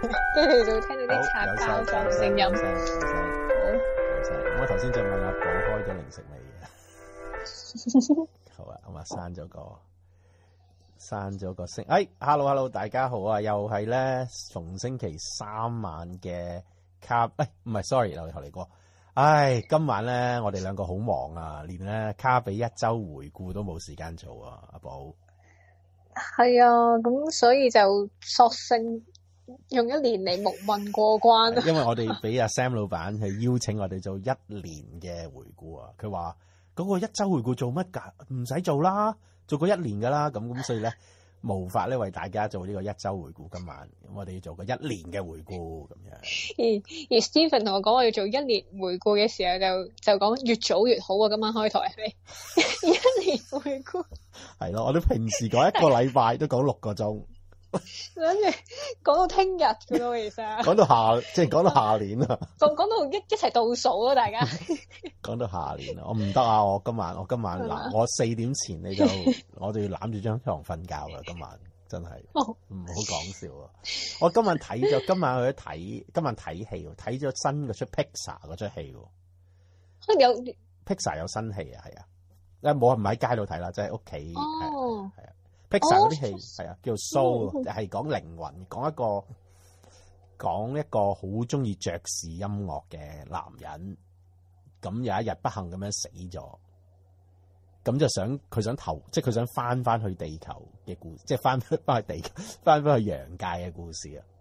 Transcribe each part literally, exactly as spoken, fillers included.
跟住就會聽到啲擦膠嘅聲音。 有聲有聲好， 有聲。我頭先就問阿寶開咗零食未嘅？好啊，咁啊刪咗個刪咗個聲。哎 ，hello hello，大家好啊，又係咧逢星期三晚嘅卡，哎唔係 sorry，又嚟過。唉，今晚咧我哋兩個好忙啊，連咧卡比一周回顧都冇時間做啊，阿寶。 係啊，咁所以就索性用一年嚟蒙混過關啦。 因為我哋俾阿 Sam 老闆去邀請我哋做一年嘅回顧啊，佢話嗰個一周回顧做乜㗎？唔使做啦，做過一年㗎啦，咁咁所以咧無法咧為大家做呢個一周回顧。今晚咁我哋要做個一年嘅回顧咁樣。 而而 Stephen 同我講我要做一年回顧嘅時候就，就就講越早越好啊！今晚開台係咪？一年回顧係咯，我哋平時講一個禮拜都講六個鐘， 跟住講到聽日嘅咯，其實講到下即係講到下年啊， 講講到一一齊倒數咯，大家講到下年啊，我唔得啊！我今晚我今晚嗱，我四點前你就我就要攬住張床瞓覺啦，今晚。真係唔好講笑啊！我今晚睇咗，今晚去咗睇，今晚睇戲喎，睇咗新嗰出 Pixar 嗰出戲喎。 有 Pixar 有新戲啊，係啊，誒冇唔喺街度睇啦，即係屋企哦， 係啊。Pixar 嗰啲戲係啊，叫做 Soul，係講靈魂，講一個講一個好中意爵士音樂嘅男人，咁有一日不幸咁樣死咗。咁就想佢想投，即係佢想翻翻去地球嘅故事，即係翻翻去地球，翻翻去陽界嘅故事啊！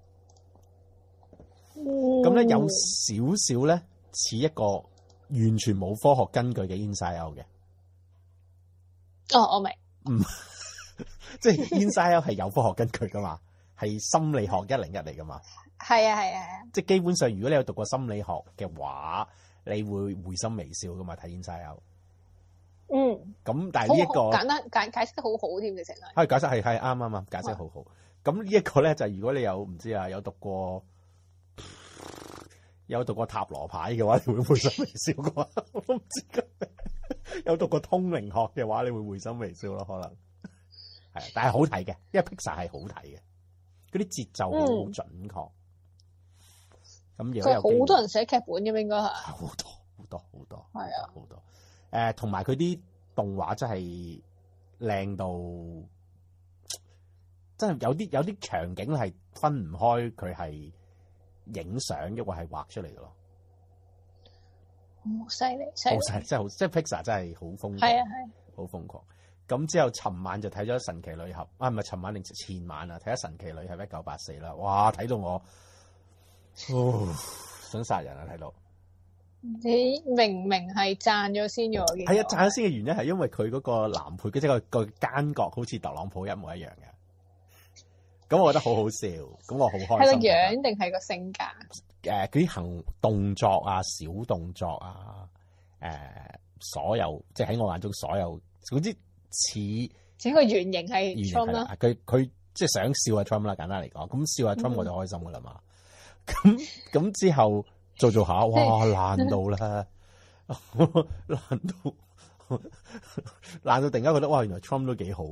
咁、嗯、咧有少少咧似一個完全冇科學根據嘅 Inside Out 嘅。 哦，我明。 唔，即係 Inside Out 係有科學根據噶嘛，係心理學一零一嚟噶嘛。係啊係啊係啊！ 即係基本上，如果你有讀過心理學嘅話，你會會心微笑噶嘛，睇 Inside Out。嗯，咁但係呢一個簡單解解釋得好好添嘅，成日係解釋係係啱啱啱解釋好好。咁呢一個咧就係如果你有唔知啊有讀過有讀過塔羅牌嘅話，你會會心微笑嘅話，我都唔知㗎。有讀過通靈學嘅話，你會會心微笑咯，可能係，但係好睇嘅，因為 Pixar 係好睇嘅，嗰啲節奏好準確。咁、嗯、如果有好多人寫劇本嘅，應該係好多好多好多係啊， 好多。誒，同埋佢啲動畫真係靚到，真係有啲有啲場景係分唔開佢係影相，抑或係畫出嚟嘅咯。 好犀利， 好犀利，真係好，即係 Pixar 真係好瘋狂， 係啊係， 好瘋狂。咁之後，尋晚就睇咗《神奇女俠》，啊唔係尋晚定前晚啊，睇咗《神奇女俠一九八四》啦。哇，睇到我，哦，想殺人啊！睇到。 你明明係讚咗先嘅，我見係啊，讚咗先嘅原因係因為佢嗰個男配，即係個個奸角好似特朗普一模一樣嘅，咁我覺得好好笑，咁我好開心。係個樣定係個性格？ 誒，嗰啲行動作啊，小動作啊，誒、呃，所有即係喺我眼中所有，總之似整個原型係 Trump 啦。 佢佢即係想笑阿 Trump 啦，簡單嚟講，咁笑阿 Trump 我就開心噶啦嘛。咁、嗯、咁之後。做做下，哇爛到啦，爛到爛到突然間覺得哇，原來 Trump 都幾好，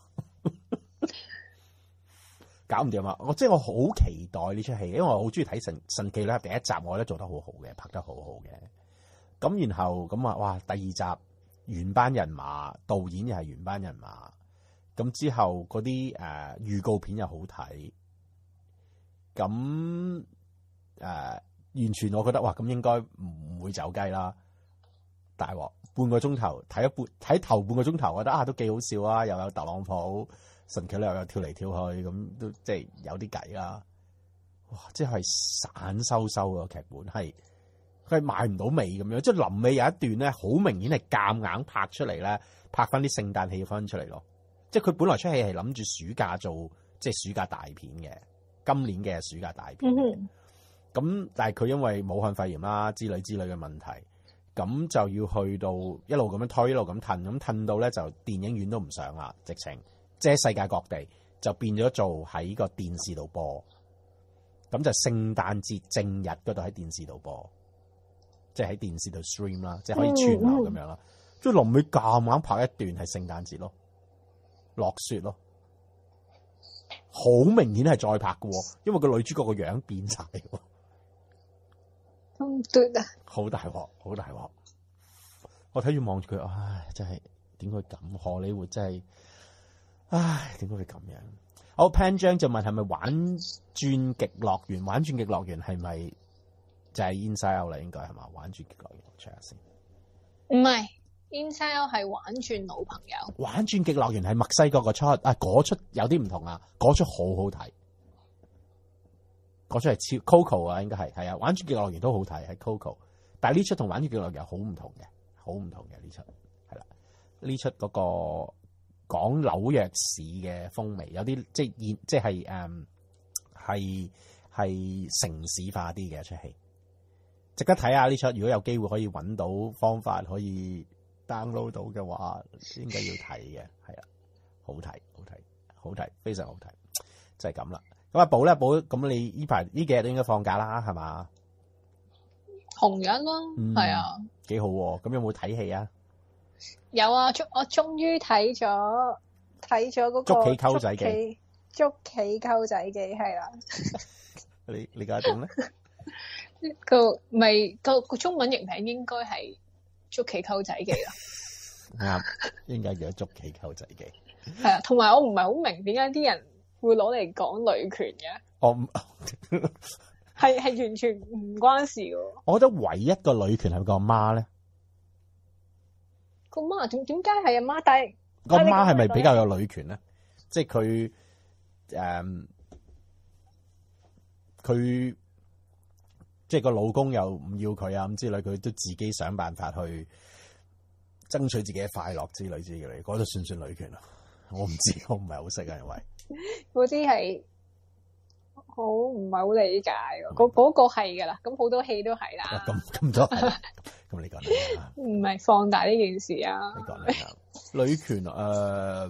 搞唔掂啊！我即係我好期待呢出戲，因為我好中意睇神神奇女俠第一集，我覺得做得好好嘅，拍得好好嘅。咁然後咁啊，哇！第二集原班人馬，導演又係原班人馬，咁之後嗰啲誒預告片又好睇，咁誒。呃完全我覺得哇，咁應該唔會走雞啦！大鑊半個鐘頭睇一半，睇頭半個鐘頭，我覺得啊都幾好笑啊！又有特朗普神奇女俠又跳嚟跳去，咁都即係有啲計啦！哇，即係散收收個劇本，係佢係賣唔到尾咁樣，即係臨尾有一段咧，好明顯係夾硬拍出嚟咧，拍翻啲聖誕氣氛出嚟咯。即係佢本來出戲係諗住暑假做，即係暑假大片嘅，今年嘅暑假大片。嗯咁，但係佢因為武漢肺炎啦之類之類嘅問題，咁就要去到一路咁樣推，一路咁褪，咁褪到咧就電影院都唔上啦，直情即係世界各地就變咗做喺個電視度播，咁就聖誕節正日嗰度喺電視度播，即係喺電視度 stream 啦，即係可以串流咁樣啦。即係臨尾夾硬拍一段係聖誕節咯，落雪咯， 好明顯係再拍嘅，因為個女主角個樣變晒， 咁奪啊！ 好大鑊，好大鑊！我睇住望住佢，唉，真係點解咁？荷里活真係，唉，點解會咁樣？好，潘章就問係咪玩轉極樂園？玩轉極樂園係咪就係 Inside Out 啦？應該係嘛？玩轉極樂園 check 下先。 唔係 Inside Out 係玩轉女朋友。玩轉極樂園係墨西哥個出啊，嗰出有啲唔同啊，嗰出好好睇，嗰出係超 Coco 啊，應該係係啊，玩轉極樂園都好睇，係 Coco， 但係呢出同玩轉極樂園好唔同嘅，好唔同嘅呢出係啦，呢出嗰個。講紐約市嘅風味，有啲即係現即係誒係係城市化啲嘅一出戲，值得睇下呢出。如果有機會可以揾到方法可以 download 到嘅話，應該要睇嘅，係啊，好睇好睇好睇，非常好睇，就係咁啦。咁阿寶咧，寶咁你呢排呢幾日都應該放假啦，係嘛？ 紅日咯，係、嗯、啊， 幾好喎。咁有冇睇戲啊？ 有啊，我終於睇咗睇咗嗰個捉棋溝仔記， 捉棋溝仔記係啦。 你你解點咧？ 個咪個個中文譯名應該係捉棋溝仔記啦。 啱，應該叫捉棋溝仔記。 係啊，同埋我唔係好明點解啲人會攞嚟講女權嘅。 我係係完全唔關事嘅。 我覺得唯一個女權係個阿媽咧。個媽點點解係阿媽？但係個媽係咪比較有女權咧？即係佢誒，佢、嗯、即係個老公又唔要佢啊咁之類，佢都自己想辦法去爭取自己嘅快樂之類之類，嗰度算唔算女權啊？我唔知，我唔係好識啊，因為嗰啲係好唔係好理解嘅。嗰嗰個係噶啦，咁好多戲都係啦。 咁咁多。咁你講啦， 唔係放大呢件事啊！ 你講啦，女權誒、呃，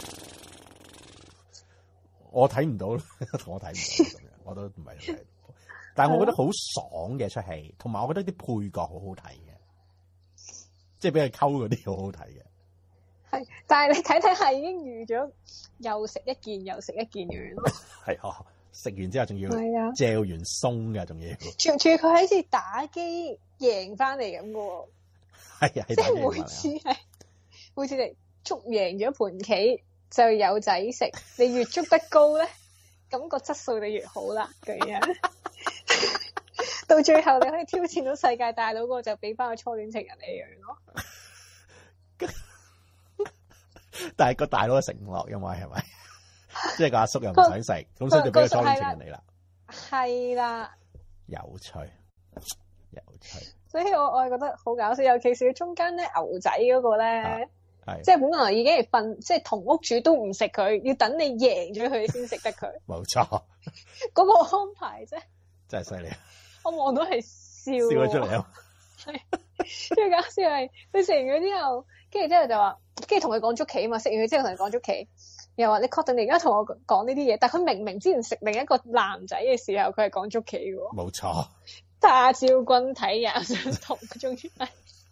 我睇唔到，我睇唔到咁樣，我都唔係睇。但係我覺得好爽嘅出戲，同埋我覺得啲配角好好睇嘅，即係俾佢溝嗰啲好好睇嘅。係， 但係你睇睇下已經預咗又食一件又食一件嘅咯。 係哦，食完之後仲要嚼完鬆嘅，仲要。 仲仲要佢好似打機。贏翻嚟咁嘅喎， 係啊， 即係每次係每次嚟捉贏咗盤棋就有仔食，你越捉得高咧，咁個質素就越好啦，咁樣到最後你可以挑戰到世界大佬嗰個，就俾翻個初戀情人你樣咯。 但係個大佬食唔落，因為係咪？即係個阿叔又唔想食，咁所以就俾個初戀情人你啦。 係啦， 有趣。有趣， 所以我我係覺得好搞笑，尤其是中間咧牛仔嗰個咧， 係即係本來已經係瞓，即係同屋主都唔食佢，要等你贏咗佢先食得佢。 冇錯， 嗰個安排啫， 真係犀利。 我望到係笑， 笑咗出嚟啊！ 係最搞笑係佢食完咗之後，跟住之後就話，跟住同佢講捉棋啊嘛，食完佢之後同佢講捉棋，又話你確定你而家同我講呢啲嘢？但係佢明明之前食另一個男仔嘅時候，佢係講捉棋嘅。 冇錯。 大招軍睇也相同，終於係。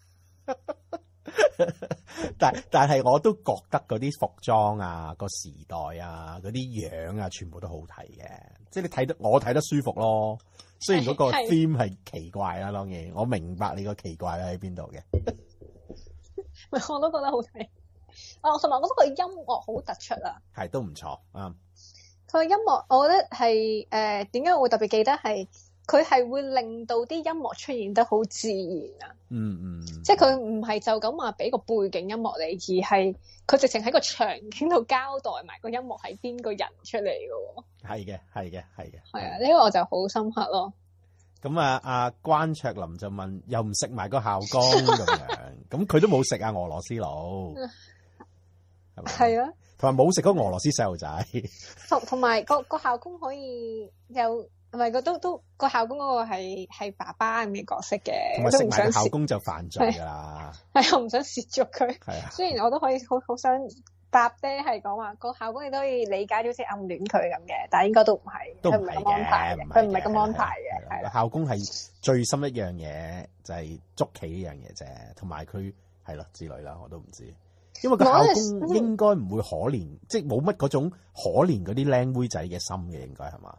但但係我都覺得嗰啲服裝啊、個時代啊、嗰啲樣啊，全部都好睇嘅。即係你睇得我睇得舒服咯。雖然嗰個 theme 係奇怪啦，當然我明白你個奇怪喺邊度嘅。 我都覺得好睇。啊，同埋我覺得個音樂好突出啊。 係都唔錯啊。 佢個音樂，我覺得係誒點解我會特別記得係？佢係會令到啲音樂出現得好自然啊！ 嗯嗯， 即係佢唔係就咁話俾個背景音樂你，而係佢直情喺個場景度交代埋個音樂係邊個人出嚟嘅喎。係嘅，係嘅，係嘅。係啊，呢個我就好深刻咯。咁啊，阿關卓林就問：又唔食埋個校工咁樣？咁佢都冇食啊，俄羅斯佬係咪？係啊，同埋冇食嗰俄羅斯細路仔。同同埋個個校工可以有。唔係，個都都個校工嗰個係係爸爸咁嘅角色嘅，同埋食埋校工就犯罪㗎啦。係我唔想蝕咗佢。係啊，雖然我都可以好好想答爹係講話個校工你都可以理解到好似暗戀佢咁嘅，但係應該都唔係，佢唔係咁安排嘅，佢唔係咁安排嘅。係啦，校工係最深一樣嘢就係捉棋呢樣嘢啫，同埋佢係咯之類啦，我都唔知。 因為個校工應該唔會可憐，即係冇乜嗰種可憐嗰啲靚妹仔嘅心嘅，應該係嘛？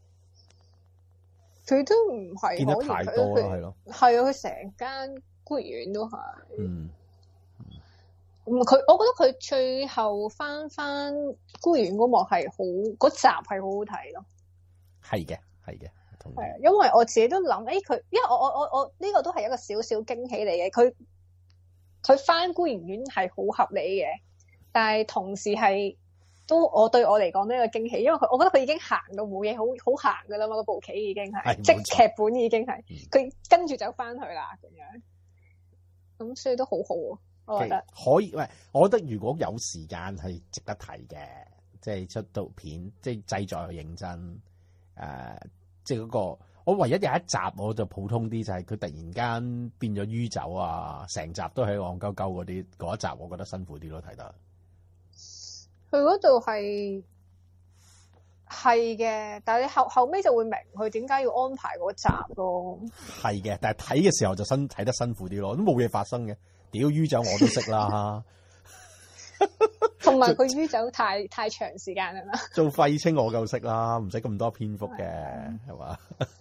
佢都唔係見得太多啦，係咯。 係啊，佢成間孤兒院都係。 嗯。 咁佢，我覺得佢最後翻翻孤兒院嗰幕係好，嗰集係好好睇咯。係嘅，係嘅，同意。 係啊，因為我自己都諗，誒、欸、佢，因為我我我我呢、這個都係一個少少驚喜嚟嘅。佢佢翻孤兒院係好合理嘅，但係同時係都我對我嚟講都係一個驚喜，因為佢我覺得佢已經行到冇嘢好好行噶啦嘛，嗰部棋已經係，即係劇本已經係，佢、嗯、跟住就翻去啦咁樣，咁所以都好好啊。我覺得可以，喂，我覺得如果有時間係值得睇嘅，即係出到片，即係製作又認真，誒、呃，即係嗰個，我唯一有一集我就普通啲，就係佢突然間變咗酗酒啊，成集都係戇鳩鳩嗰啲，嗰一集我覺得辛苦啲咯，睇得。 佢嗰度係係嘅，但係你後後尾就會明佢點解要安排嗰集咯。係嘅，但係睇嘅時候就辛睇得辛苦啲咯，都冇嘢發生嘅。屌酗酒我都識啦， 同埋佢酗酒太太長時間啦。 做廢青我夠識啦，唔使咁多篇幅嘅，係嘛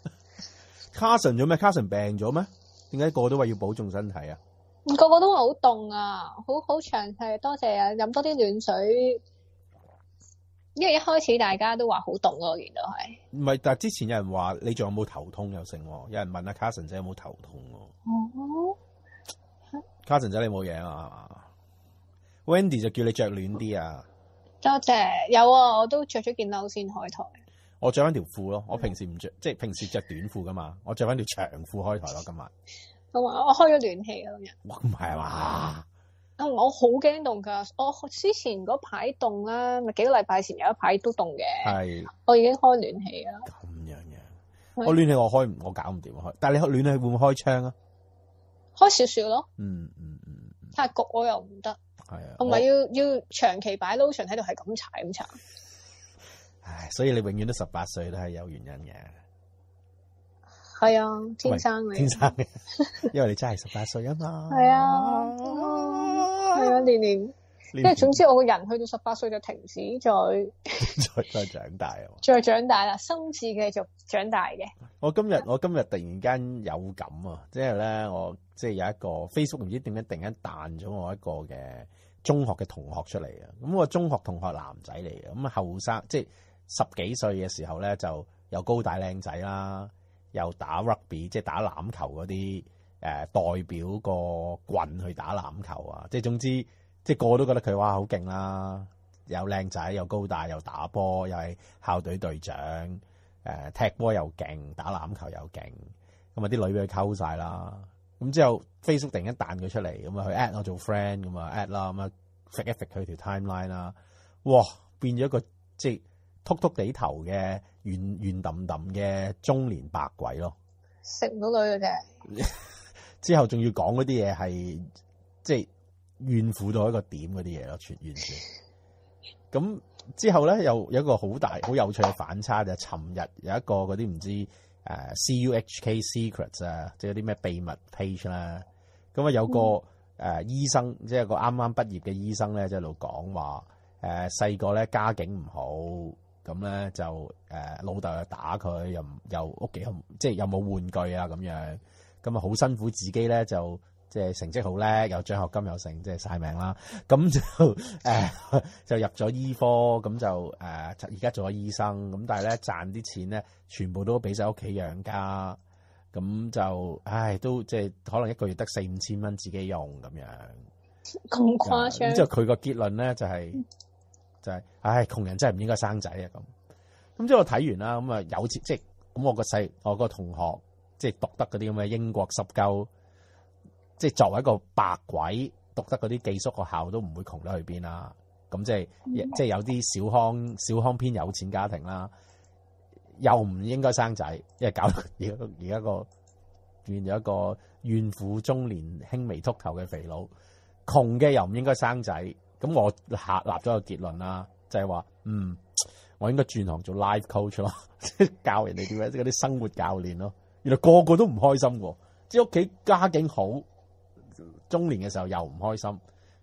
？Carson 咗咩？Carson 病咗咩？點解個個都話要保重身體啊？ 個個都話好凍啊，好好詳細，多謝啊！飲多啲暖水，因為一開始大家都話好凍咯，我見到係。唔係，但係之前有人話你仲有冇頭痛又成，有人問阿 Carson 仔有冇頭痛喎。哦。Carson 仔你冇嘢啊 ？Wendy 就叫你着暖啲啊！ 多謝，有啊，我都着咗件褸先開台。 我着翻條褲咯，我平時唔着，即係平時着短褲噶嘛，我着翻條長褲開台咯，今日。 咁啊，我開咗暖氣啊，今日。 哇，唔係嘛？啊， 我好驚凍噶，我之前嗰排凍啦，咪幾個禮拜前有一排都凍嘅。係。我已經開暖氣啦。 咁樣嘅，我暖氣我開，我搞唔掂開，但係你暖氣會唔會開窗啊？ 開少少咯， 嗯嗯嗯， 太焗我又唔得， 係啊， 同埋要要長期擺 lotion 喺度係咁搽咁搽， 唉，所以你永遠都十八歲都係有原因嘅， 係啊，天生嘅， 天生嘅，因為你真係十八歲啊嘛， 係啊，係啊，年年。即係總之，我個人去到十八歲就停止再再再長大啊！ 再長大啦，心智繼續長大嘅。 我今日我今日突然間有感啊！即係咧，我即係有一個 Facebook 唔知點解突然間彈咗我一個嘅中學嘅同學出嚟啊！咁我中學同學男仔嚟嘅，咁後生即係十幾歲嘅時候咧，就又高大靚仔啦，又打 rugby 即係打籃球嗰啲誒代表個棍去打籃球啊！即係總之。即係個個都覺得佢哇好勁啦，又靚仔又高大又打波又係校隊隊長，誒踢波又勁，打籃球又勁，咁啊啲女俾佢溝晒啦。咁之後 Facebook 突然間彈佢出嚟，咁啊去 at 我做 friend，咁啊 at 啦，咁啊揈一揈佢條 timeline 啦，哇變咗一個即係禿禿地頭嘅圓圓揼揼嘅中年白鬼咯， 食唔到女嘅啫。 之後仲要講嗰啲嘢係即係。怨婦到一個點嗰啲嘢咯，全完全。咁之後咧，又有一個好大、好有趣嘅反差，就係尋日有一個嗰啲唔知誒、呃、C U H K Secrets 啊，即係啲咩秘密 page 啦。咁啊有個誒、嗯呃、醫生，即係個啱啱畢業嘅醫生咧，就喺度講話誒細個咧家境唔好，咁咧就誒、呃、老豆又打佢，又又屋企即係又冇玩具啊咁樣，咁啊好辛苦自己咧就。即係成績好叻，有獎學金又成，即係晒命啦。咁就誒、呃、就入咗醫科，咁就誒而家做咗醫生。咁但係咧賺啲錢咧，全部都俾晒屋企養家。咁就唉，都即係可能一個月得四五千蚊自己用咁樣。 咁誇張。 咁之後佢個結論咧就係、是、就係、是，唉，窮人真係唔應該生仔啊咁。咁之後我睇完啦，咁啊有錢即係咁我個細我個同學即係讀得嗰啲咁嘅英國濕鳩。即係作為一個白鬼讀得嗰啲寄宿學校都唔會窮得去邊啦，咁即係即係有啲小康小康偏有錢家庭啦，又唔應該生仔，因為搞到而家而家個變咗一個怨婦中年輕微禿頭嘅肥佬，窮嘅又唔應該生仔，咁我下立咗個結論啦，就係話嗯，我應該轉行做 life coach 咯，即係教人哋點樣，即係嗰啲生活教練咯，原來個個都唔開心喎，即係屋企家境好。中年嘅時候又唔開心，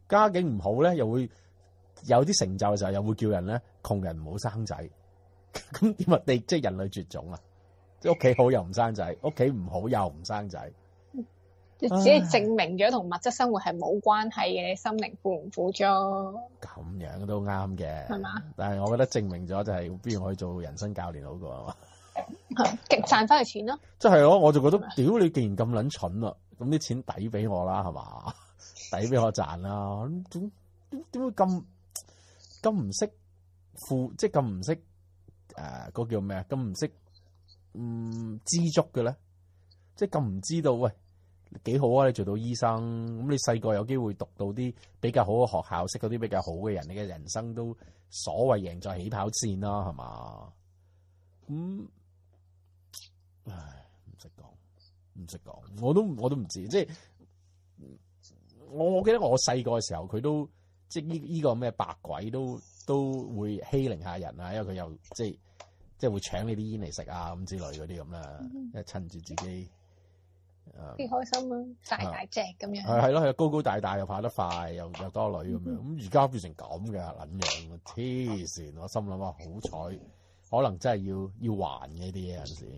家境唔好咧，又會有啲成就嘅時候，又會叫人咧窮人唔好生仔。咁點啊？你即係人類絕種啊！即係屋企好又唔生仔，屋企唔好又唔生仔。 只係證明咗同物質生活係冇關係嘅，心靈富唔富足？ 咁樣都啱嘅， 係嘛？ 但係我覺得證明咗就係、是，不如我去做人生教練好過啊嘛， 極賺翻嚟錢咯。 即係咯，我就覺得，屌你既然咁撚蠢啦，咁啲錢抵俾我啦，係嘛？抵俾我賺啦，點點點會咁咁唔識富，即係咁唔識誒嗰個叫咩啊？咁唔識嗯知足嘅咧，即係咁唔知道喂。幾好啊！你做到醫生，咁你細個有機會讀到啲比較好嘅學校，識到啲比較好嘅人，你嘅人生都所謂贏在起跑線啦，係嘛？咁、嗯，唉，唔識講，唔識講，我都我都唔知，即係我我記得我細個嘅時候，佢都即係呢呢個咩白鬼都都會欺凌下人啊，因為佢又即係即係會搶你啲煙嚟食啊咁之類嗰啲咁啦，因為趁住自己。 幾開心啊！大大隻咁樣， 係係咯係高高大大又跑得快又又多女咁樣，咁而家變成咁嘅撚樣，黐線！我心諗啊，好彩，可能真係要要還嘅啲嘢有陣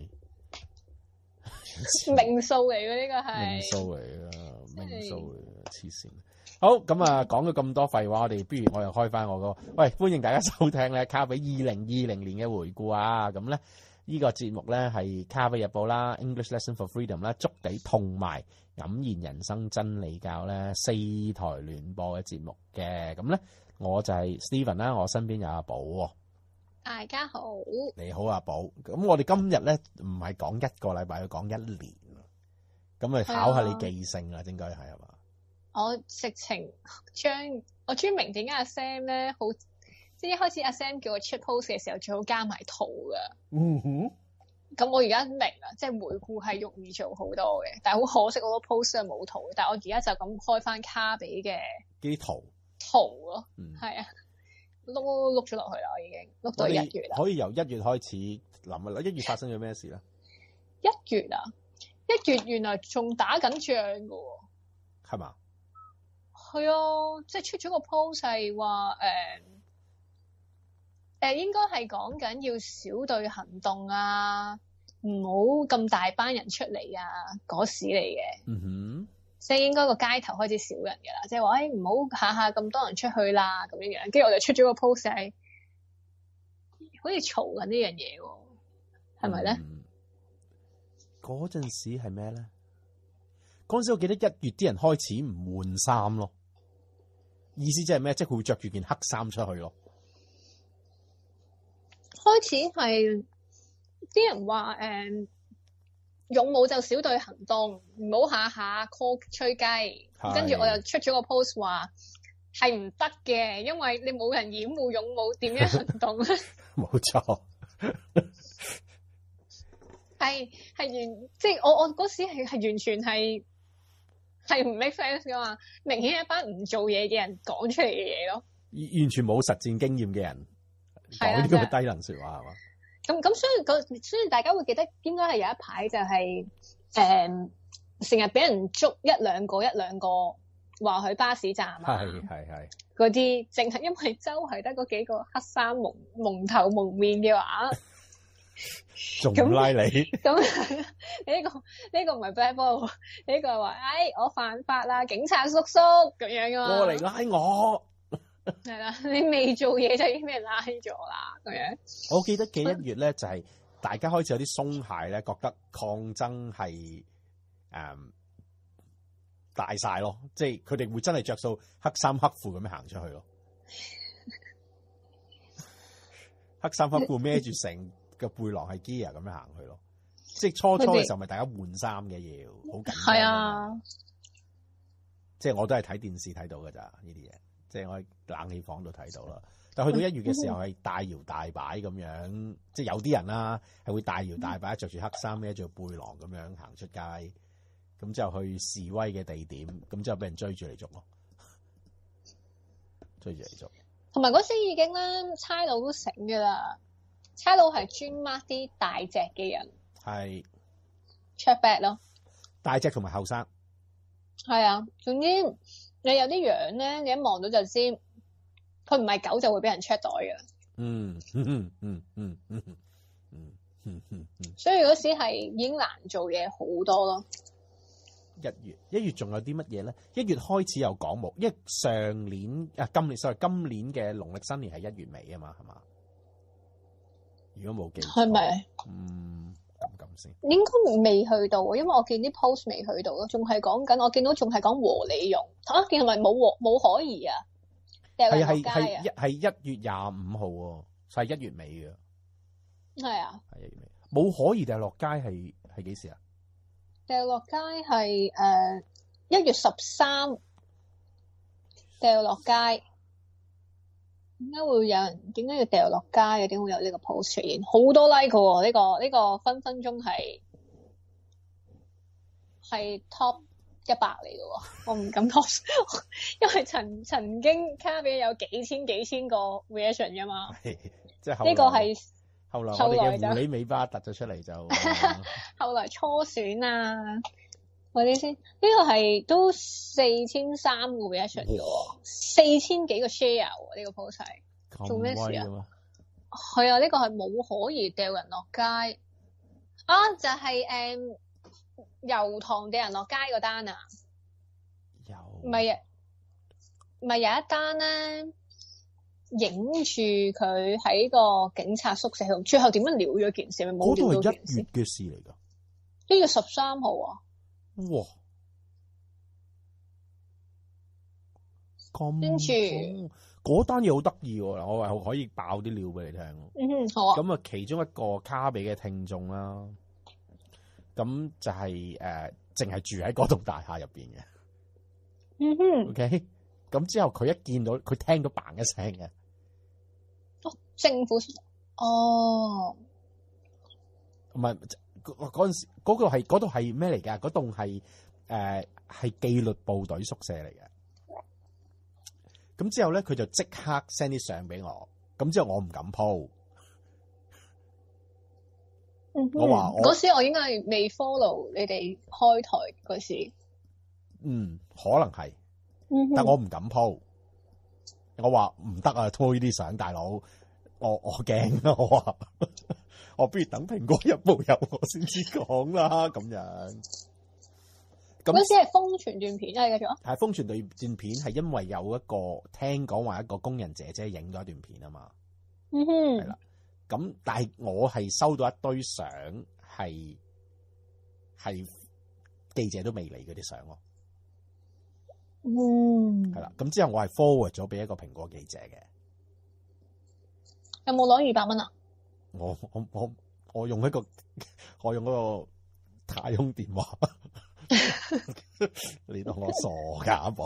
時， 命數嚟嘅呢個係命數嚟嘅，命數嚟嘅，黐線。好咁啊，講咗咁多廢話，我哋不如我又開翻我個，喂，歡迎大家收聽咧卡比二零二零年嘅回顧啊，咁咧。呢個節目咧係卡比日報啦 ，English Lesson for Freedom 啦，築地同埋黯然人生真理教咧四台聯播嘅節目嘅，咁咧我就係 Steven 啦，我身邊有阿寶喎。 大家好， 你好阿寶，咁我哋今日咧唔係講一個禮拜，要講一年，咁啊考下你記性啊，應該係係嘛？ 我直情將我專明點解阿 Sam 咧好。即係一開始阿 Sam 叫我出 post 嘅時候，最好加埋圖噶。 嗯哼。 咁我而家明啦，即係回顧係容易做好多嘅，但係好可惜我個 post 係冇圖。但係我而家就咁開翻卡比嘅啲圖圖咯， 嗯， 係啊，碌碌咗落去啦，我已經碌到一月啦。 可以由一月開始諗啦。一月發生咗咩事咧？ 一月啊，一月原來仲打緊仗噶喎。 係嘛？ 係啊，即係出咗個 post 係話誒。誒應該係講緊要小隊行動啊，唔好咁大班人出嚟啊，嗰時嚟嘅。嗯哼，即係應該個街頭開始少人㗎啦，即係話誒唔好下下咁多人出去啦咁樣樣。跟住我就出咗個 post 係，好似嘈緊呢樣嘢喎，係咪咧？ 嗰陣時係咩咧？嗰陣時我記得一月啲人開始唔換衫咯，意思即係咩？即係佢會着住件黑衫出去咯。 開始係啲人話誒、嗯，勇武就小隊行動，唔好下下 call 吹雞。跟住我又出咗個 post 話係唔得嘅，因為你冇人掩護勇武，點樣行動咧？ 冇錯， 係係完，即係我我嗰時係係完全係係唔 make sense 噶嘛，明顯係一班唔做嘢嘅人講出嚟嘅嘢咯， 完全冇實戰經驗嘅人。講呢個低能說話係嘛？ 咁咁所以個所以大家會記得應該係有一排就係誒成日俾人捉一兩個一兩個話去巴士站啊， 係係係嗰啲淨係因為周圍得嗰幾個黑衫蒙蒙頭蒙面嘅話， 仲唔拉你？ 咁呢、呢個呢、呢個唔係 black ball，呢個係話誒我犯法啦，警察叔叔咁樣噶嘛， 過嚟拉我。 係啦，你未做嘢就已經俾人拉咗啦，咁樣。 我記得嘅一月咧，就係、是、大家開始有啲鬆懈咧，覺得抗爭係誒、嗯、大晒咯，即係佢哋會真係着數黑衫黑褲咁樣行出去咯。黑衫黑褲孭住成個背囊係 gear 咁樣行去咯，即係初初嘅時候咪大家換衫嘅嘢，好緊張。係啊，即係我都係睇電視睇到㗎咋呢啲嘢。即係我喺冷氣房度睇到啦，但去到一月嘅時候係大搖大擺咁樣，即係有啲人啦係會大搖大擺着住黑衫孭住背囊咁樣行出街，咁之後去示威嘅地點，咁之後俾人追住嚟捉咯，追住嚟捉。同埋嗰時已經咧，差佬都醒㗎啦，差佬係專 mark 啲大隻嘅人，係 check back 咯，大隻同埋後生。係啊，總之。 你有啲樣咧，你一望到就知，佢唔係狗就會俾人 check 袋嘅。 嗯嗯嗯嗯嗯嗯嗯嗯嗯， 所以嗰時係已經難做嘢好多咯。 一月一月仲有啲乜嘢咧？一月開始有講冇，因為上年啊今年 sorry 今年嘅農曆新年係一月尾啊嘛，係嘛？如果冇記錯， 係咪？ 嗯，咁咁先。 應該未去到，因為我見啲 post 未去到咯，仲係講緊，我見到仲係講和理容嚇，見係咪冇和冇可疑啊？掉人落街啊？ 係係係一月廿五號喎，係一月尾嘅。 係啊， 係一月尾。冇可疑掉落街係係幾時啊？ 掉落街係誒一月十三掉落街。點解會有人？點解要掉落街嘅？點會有呢個 post 出現？好多 like 喎！呢、這個呢、這個分分鐘係係 top 一百嚟嘅喎，我唔敢講，因為曾曾經卡比有幾千幾千個 reaction 噶嘛。 即係呢個係後來我哋嘅狐狸尾巴突咗出嚟就， 後來初選啊嗰啲先，呢、這個係都四千三個 reaction 嘅喎，四千幾個 share 喎，呢、這個 post 係做咩事啊？係啊，呢、這個係冇可疑掉人落街啊！就係、是、誒、嗯、油塘掉人落街嗰單啊， 有唔係啊，唔係有一單咧，影住佢喺個警察宿舍度，最後點樣撩咗件事？咪冇撩到件事。 嗰度係一月嘅事嚟㗎， 呢月十三號啊！ 哇！咁跟住嗰單嘢好得意喎，我係可以爆啲料俾你聽。 嗯，好啊。 咁啊，其中一個卡比嘅聽眾啦，咁就係、是、誒，淨、呃、係住喺嗰棟大廈入邊嘅。 嗯哼。 OK，咁之後佢一見到佢聽到嘭一聲嘅。 哦，政府哦， 唔係嗰嗰陣時嗰個係嗰度係咩嚟㗎？嗰棟係誒係紀律部隊宿舍嚟嘅。咁之後咧，佢就即刻 send 啲相俾我。咁之後我唔敢 po。 嗯、 我話嗰時我應該係未 follow 你哋開台嗰時。 嗯，可能係、 嗯， 但我唔敢 po。我話唔得啊，拖呢啲相，大佬，我我驚啊！我話我不如等蘋果日報有我先至講啦，咁樣。咁嗰時係瘋傳段片啊，繼續啊。 係瘋傳段片，係因為有一個聽講話一個工人姐姐影咗一段片啊嘛。 嗯哼。 係啦。咁但係我係收到一堆相，係係記者都未理嗰啲相咯。 嗯。 係啦。咁之後我係 forward 咗俾一個蘋果記者嘅。 有冇攞二百蚊啊？ 我我我我用一個我用嗰個太空電話。你當我傻噶阿寶？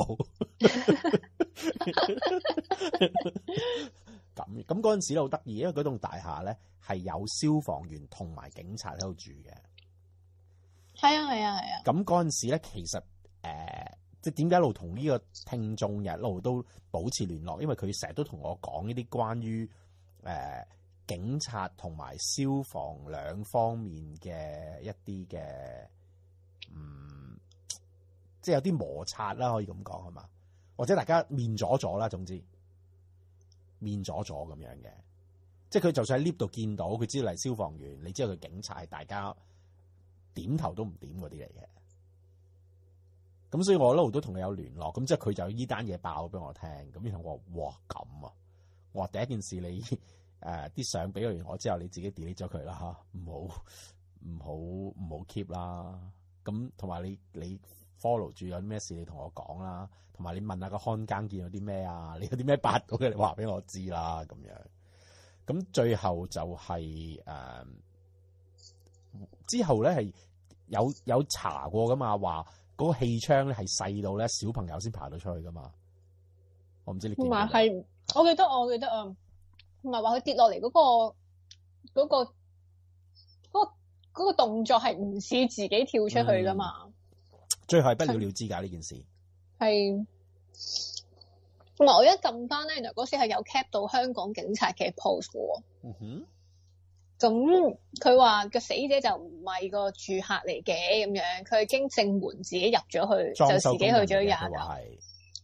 咁咁嗰陣時咧好得意，因為嗰棟大廈咧係有消防員同埋警察喺度住嘅。 係啊係啊係啊。咁嗰陣時咧，其實誒、呃，即係點解一路同呢個聽眾一路都保持聯絡？因為佢成日都同我講呢啲關於誒、呃、警察同埋消防兩方面嘅一啲嘅嗯。即係有啲摩擦啦，可以咁講係嘛？或者大家面咗咗啦，總之面咗咗咁樣嘅。即係佢就算喺 lift 度見到，佢知道係消防員，你知道佢警察，係大家點頭都唔點嗰啲嚟嘅。咁所以我一路都同佢有聯絡。咁即係佢就依單嘢爆俾我聽。咁然後我話：哇咁啊！我話第一件事你誒啲相俾完我之後，你自己 delete 咗佢啦嚇，唔好唔好唔好 keep 啦。咁同埋你你。follow 住有啲咩事你同我講啦，同埋你問下個看更見到啲咩啊，你有啲咩八到嘅你話俾我知啦咁樣。咁最後就係、是、誒、呃、之後咧係有有查過噶嘛，話嗰個氣窗咧係細到咧小朋友先爬到出去噶嘛。我唔知你見唔見到？ 係，我記得我記得啊，同埋話佢跌落嚟嗰個嗰、嗰個嗰、嗰個嗰個動作係唔似自己跳出去噶嘛。嗯， 最後係不了了之㗎呢件事。係， 同埋我一撳翻咧，原來嗰時係有 cap 到香港警察嘅 post 喎。 嗯哼。 咁佢話個死者就唔係個住客嚟嘅咁樣，佢係經正門自己入咗去，就自己去咗廿樓。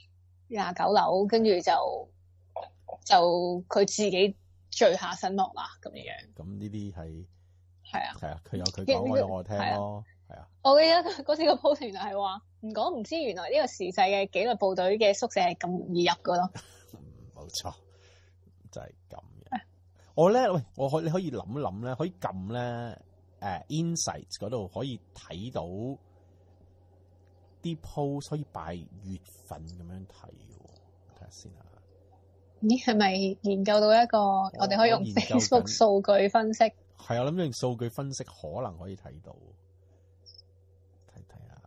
廿九樓，跟住就就佢自己墜下身亡啦咁樣。 咁呢啲係係啊， 係啊，佢有佢講，我有我聽咯，係啊。 我記得嗰次個 post 原來係話唔講唔知，原來呢個時勢嘅紀律部隊嘅宿舍係咁容易入噶咯。 冇錯，就係咁嘅。我咧喂，我可你可以諗一諗咧，可以撳咧誒 Insights 嗰度可以睇到啲 post 可以拜月份咁樣睇喎，睇下先啊。 咦，係咪研究到一個我哋可以用 Facebook 數據分析？ 係啊，我諗用數據分析可能可以睇到，睇睇下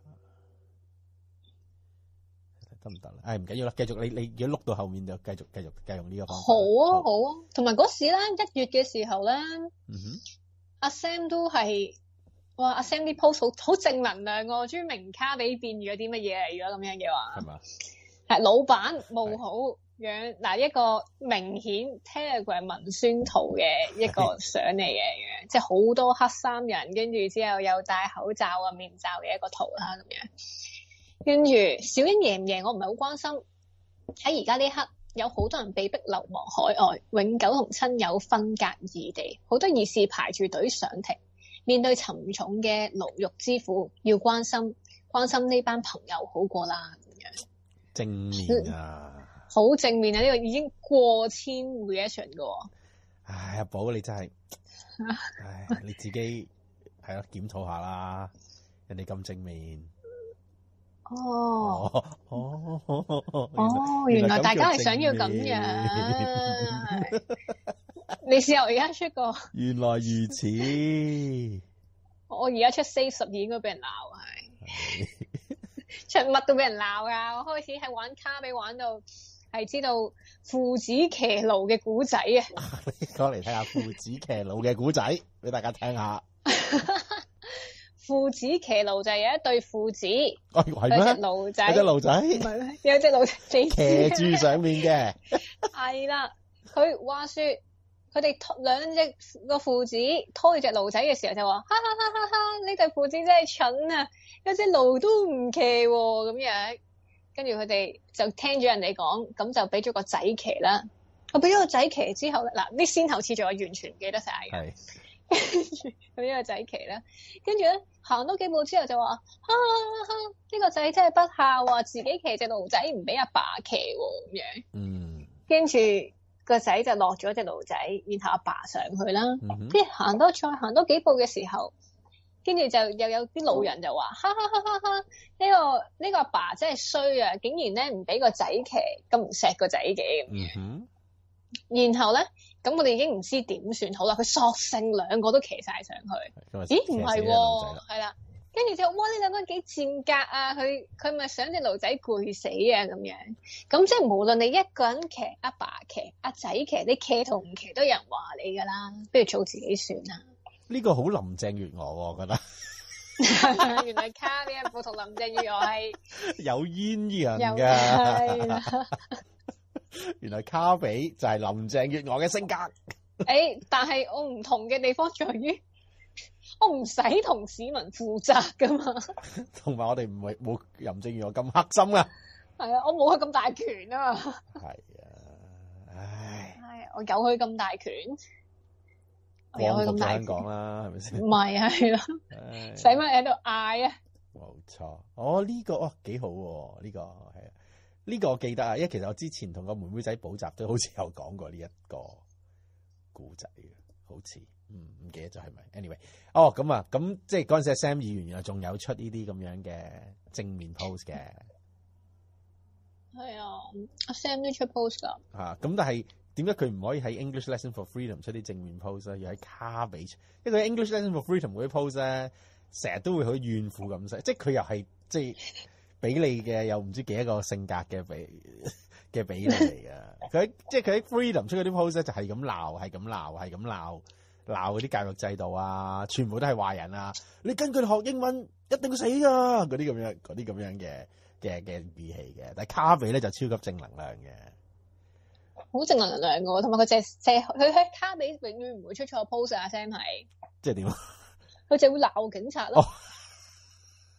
得唔得咧？誒唔緊要啦，繼續你你如果碌到後面就繼續繼續繼續用呢個方法。 好啊好啊，同埋嗰時咧一月嘅時候咧， 嗯哼， 阿 Sam 都係哇，阿 Sam 啲 post 好好正能量喎，終於明卡比變咗啲乜嘢嚟？如果咁樣嘅話， 係嘛？ 係老闆冇好。樣嗱一個明顯 Telegram 文宣圖嘅一個相嚟嘅，即係好多黑衫人，跟住之後又戴口罩啊面罩嘅一個圖啦咁樣。跟住小英贏唔贏我唔係好關心。喺而家呢刻有好多人被逼流亡海外，永久同親友分隔異地，好多義士排住隊上庭，面對沉重嘅牢獄之苦，要關心關心呢班朋友好過啦咁樣。 正面啊！ 好正面啊！呢、這個已經過千 reaction 嘅喎。 唉，阿寶你真係，唉你自己係咯檢討下啦。人哋咁正面。 哦。 哦哦哦哦，原來大家係想要咁樣。你試下我而家出個。 原來如此。 我而家出 Save 十二應該俾人鬧係。出乜都俾人鬧㗎！我開始係玩卡比玩到。係知道父子騎驢嘅古仔啊！ 你講嚟睇下父子騎驢嘅古仔，俾大家聽下。 父子騎驢就係有一對父子， 哦係咩？ 有隻驢仔， 有隻驢仔， 唔係咩？有隻驢仔騎住上面嘅。 係啦，佢話說佢哋兩隻個父子拖住隻驢仔嘅時候就話：哈哈哈哈哈！呢對父子真係蠢啊！有隻驢都唔騎喎咁樣。跟住佢哋就聽咗人哋講，咁就俾咗個仔騎啦。我俾咗個仔騎之後咧，嗱啲先後次序我完全唔記得晒嘅。 係。 跟住佢俾個仔騎啦，跟住咧行多幾步之後就話：哈哈哈！呢個仔真係不孝啊，自己騎隻驢仔唔俾阿爸騎喎咁樣。 嗯。跟住個仔就落咗隻驢仔，然後阿爸上去啦。 嗯。 跟住行多再行多幾步嘅時候。跟住就又有啲老人就話：哈哈哈哈哈！呢、這個呢、這個阿爸真係衰啊！竟然咧唔俾個仔騎，咁唔錫個仔嘅。 嗯哼。 然後咧，咁我哋已經唔知點算好啦。佢索性兩個都騎晒上去。咦？唔係喎，係啦。跟住就哇！呢兩個人幾賤格啊！佢佢咪想隻驢仔攰死啊咁樣。咁即係無論你一個人騎、阿爸騎、阿仔騎，你騎同唔騎都有人話你㗎啦。不如做自己算啦。 呢、這個好林鄭月娥，我覺得。 原來卡比一副同林鄭月娥係有鴛鴦㗎。原來卡比就係林鄭月娥嘅性格。 誒、欸，但係我唔同嘅地方在於，我唔使同市民負責㗎嘛。 同埋我哋唔係冇林鄭月娥咁黑心啊。 係啊，我冇佢咁大權啊。係啊，唉。 唉，我有佢咁大權。 光復香港啦，係咪先？ 唔係係咯，使乜喺度嗌啊？ 冇錯，哦呢、這個哦幾好喎，呢、這個係啊，呢、這個我記得啊，因為其實我之前同個妹妹仔補習都好似有講過呢一個故仔嘅，好似嗯唔記得咗係咪 ？anyway，哦咁啊，咁即係嗰陣時 Sam 議員原來仲有出呢啲咁樣嘅正面 post 嘅， 係啊，阿 Sam 都出 post 噶嚇，咁但係。點解佢唔可以喺 English Lesson for Freedom 出啲正面 post 咧？要喺卡比出，因為佢 English Lesson for Freedom 嗰啲 post 咧，成日都會好怨婦咁寫，即係佢又係即係俾你嘅，又唔知幾多個性格嘅俾嘅俾你嚟嘅。佢即係佢喺 Freedom 出嗰啲 post 咧，就係咁鬧，係咁鬧，係咁鬧，鬧嗰啲教育制度啊，全部都係壞人啊！你跟佢學英文一定要死㗎！嗰啲咁樣，嗰啲咁樣嘅嘅嘅語氣嘅，但係卡比咧就超級正能量嘅。 好正能量嘅，同埋佢淨係佢喺卡比永遠唔會出錯 post 啊 Sam 係， 即係點啊？ 佢就會鬧警察咯。誒、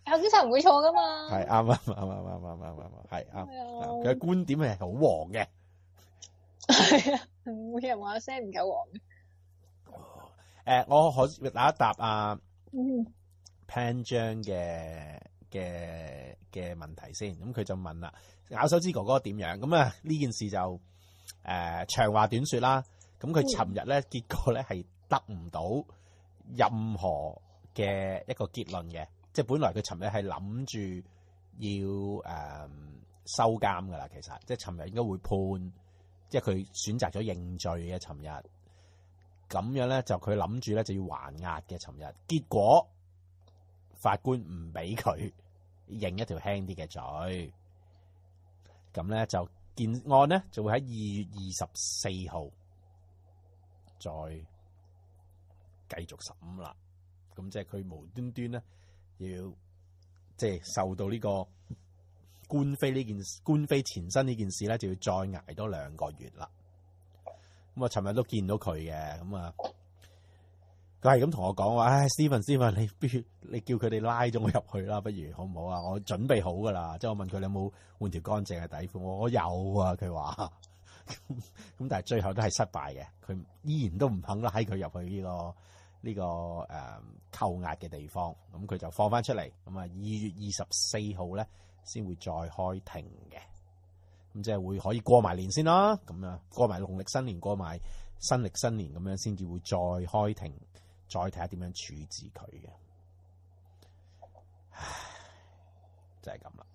有警察唔會錯噶嘛。 係啱啱啱啱啱啱啱啱係啱。佢嘅觀點係好黃嘅。 係啊，每人話聲唔夠黃嘅。 誒、呃，我可答一答啊、 嗯、 Pan 張嘅嘅嘅問題先。咁佢就問啦，咬手指哥哥點樣？咁啊呢件事就誒、呃、長話短說啦。咁佢尋日咧，結果咧係得唔到任何嘅一個結論嘅，即係本來佢尋日係諗住要誒、呃、收監噶啦，其實即係尋日應該會判，即係佢選擇咗認罪嘅。尋日咁樣咧，就佢諗住咧就要還押嘅。尋日結果法官唔俾佢認一條輕啲嘅罪，咁咧就件案咧就會喺二月二十四號再繼續審啦。咁即係佢無端端咧要即係受到呢個官非呢件官非纏身呢件事咧，就要再捱多兩個月啦。咁啊，尋日都見到佢嘅，咁啊，佢係咁同我講話，唉 Steven，Steven， 你不如你叫佢哋拉咗我入去啦，不如好唔好啊？我準備好噶啦，即係我問佢你有冇換條乾淨嘅底褲，我我有啊，佢話咁，但係最後都係失敗嘅，佢依然都唔肯拉佢入去呢個呢個誒扣押嘅地方，咁佢就放翻出嚟，咁啊二月二十四號咧先會再開庭嘅。咁即係會可以過埋年先啦，咁啊過埋農曆新年，過埋新曆新年咁樣，先至會再開庭，再睇下點樣處置佢嘅。唉，就係咁啦。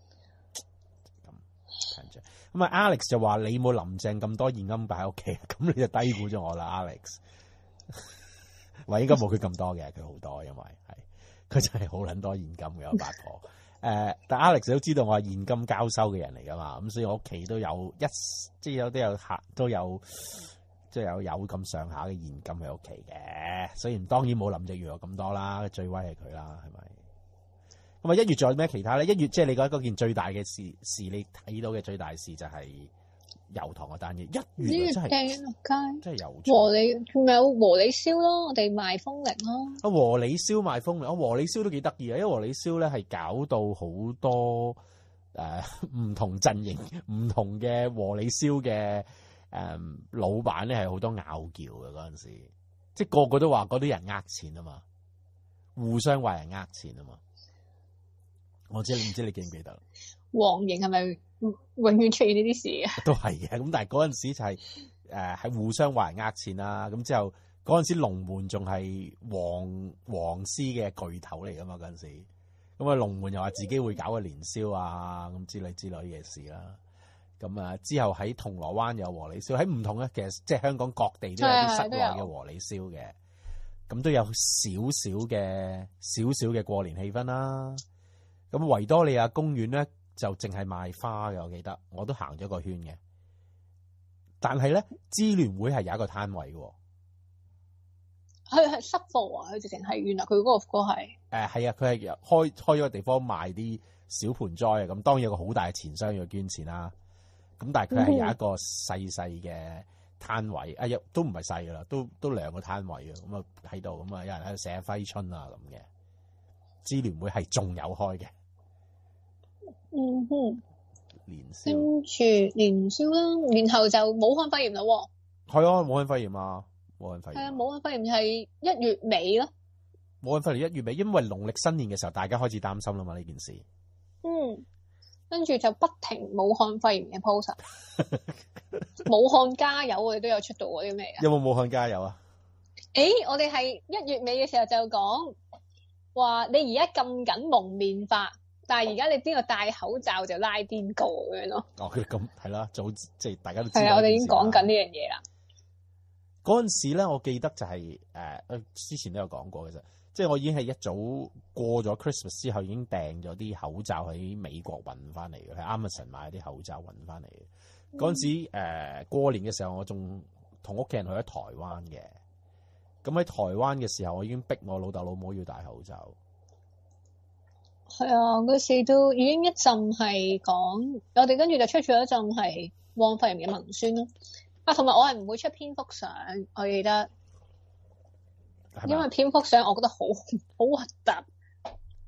咁咁啊 ，Alex 就話你冇林鄭咁多現金擺喺屋企，咁你就低估咗我啦 ，Alex。喂，應該冇佢咁多嘅，佢好多，因為係佢真係好撚多現金嘅，我八婆。誒、呃，但 Alex 都知道我係現金交收嘅人嚟噶嘛，咁所以我屋企都有一即係有都有客都有即係有有咁上下嘅現金喺屋企嘅，雖然當然冇林鄭月娥咁多啦，最威係佢啦，係咪？咁啊，一月仲有咩其他咧？一月即係你覺得嗰件最大嘅事事，你睇到嘅最大事就係油塘嗰單嘢。一月真係落街， 真係有和你咪有和你燒咯，我哋賣風鈴咯。 啊，和你燒賣風鈴，啊和你燒都幾得意啊！因為和你燒咧係搞到好多誒唔、呃、同陣營、唔同嘅和你燒嘅誒老闆咧係好多拗撬嘅嗰陣時，即係個個都話嗰啲人呃錢啊嘛，互相話人呃錢啊嘛。我知你唔知你記唔記得？黃營係咪永遠出現呢啲事啊？ 都係嘅，咁但係嗰陣時就係誒係互相話人呃錢啦。咁之後嗰陣時龍門仲係黃黃絲嘅巨頭嚟噶嘛，嗰陣時，咁啊龍門又話自己會搞個年宵啊咁之類之類嘅事啦。咁啊之後喺銅鑼灣有和你燒，喺唔同嘅其實即係香港各地都有啲室內嘅和你燒嘅，咁都有少少嘅少少嘅過年氣氛啦。咁維多利亞公園咧就淨係賣花嘅，我記得我都行咗個圈嘅。但係咧，支聯會係有一個攤位嘅， 佢係濕貨啊！佢直情係原來佢嗰個個係誒係啊，佢係開開咗個地方賣啲小盆栽啊。咁當然有個好大嘅錢箱要捐錢啦。咁但係佢係有一個細細嘅攤位，啊、嗯、都唔係細噶啦，都都兩個攤位啊。咁啊喺度，咁啊有人喺度寫揮春啊咁嘅。支聯會係仲有開嘅。 嗯哼， 年宵跟住年宵啦，然後就武漢肺炎啦喎。 係啊，武漢肺炎啊，武漢肺炎。係啊， 武漢肺炎係一月尾咯。 武漢肺炎一月尾，因為農曆新年嘅時候，大家開始擔心啦嘛呢件事。 嗯，跟住就不停武漢肺炎嘅 post。武漢加油，我哋都有出到嗰啲咩啊？ 有冇武漢加油啊？ 誒，我哋係一月尾嘅時候就講話，你而家禁緊蒙面法。但係而家你邊個戴口罩就拉邊個咁樣咯？哦，咁係啦，早即係大家都知道。係啊，我哋已經講緊呢樣嘢啦。嗰陣時咧，我記得就係、是、誒、呃，之前都有講過嘅啫。即係我已經係一早過咗 Christmas 之後，已經訂咗啲口罩喺美國運翻嚟嘅，喺 Amazon 買啲口罩運翻嚟嘅。嗰陣時誒、呃、過年嘅時候，我仲同屋企人去咗台灣嘅。咁喺台灣嘅時候，我已經逼我老豆老母要戴口罩。係啊，嗰時都已經一陣係講，我哋跟住就出咗一陣係汪肺炎嘅文宣咯。啊，同埋我係唔會出蝙蝠相，我記得，因為蝙蝠相我覺得好好核突。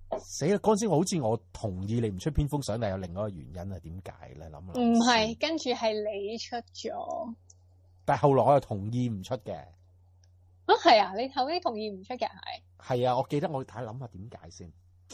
死啦！嗰陣時我好似我同意你唔出蝙蝠相，但係有另外一個原因係點解咧？諗諗唔係，跟住係你出咗。 但係後來我又同意唔出嘅。 啊，係啊！你後尾同意唔出嘅係？ 係啊，我記得我睇諗下點解先。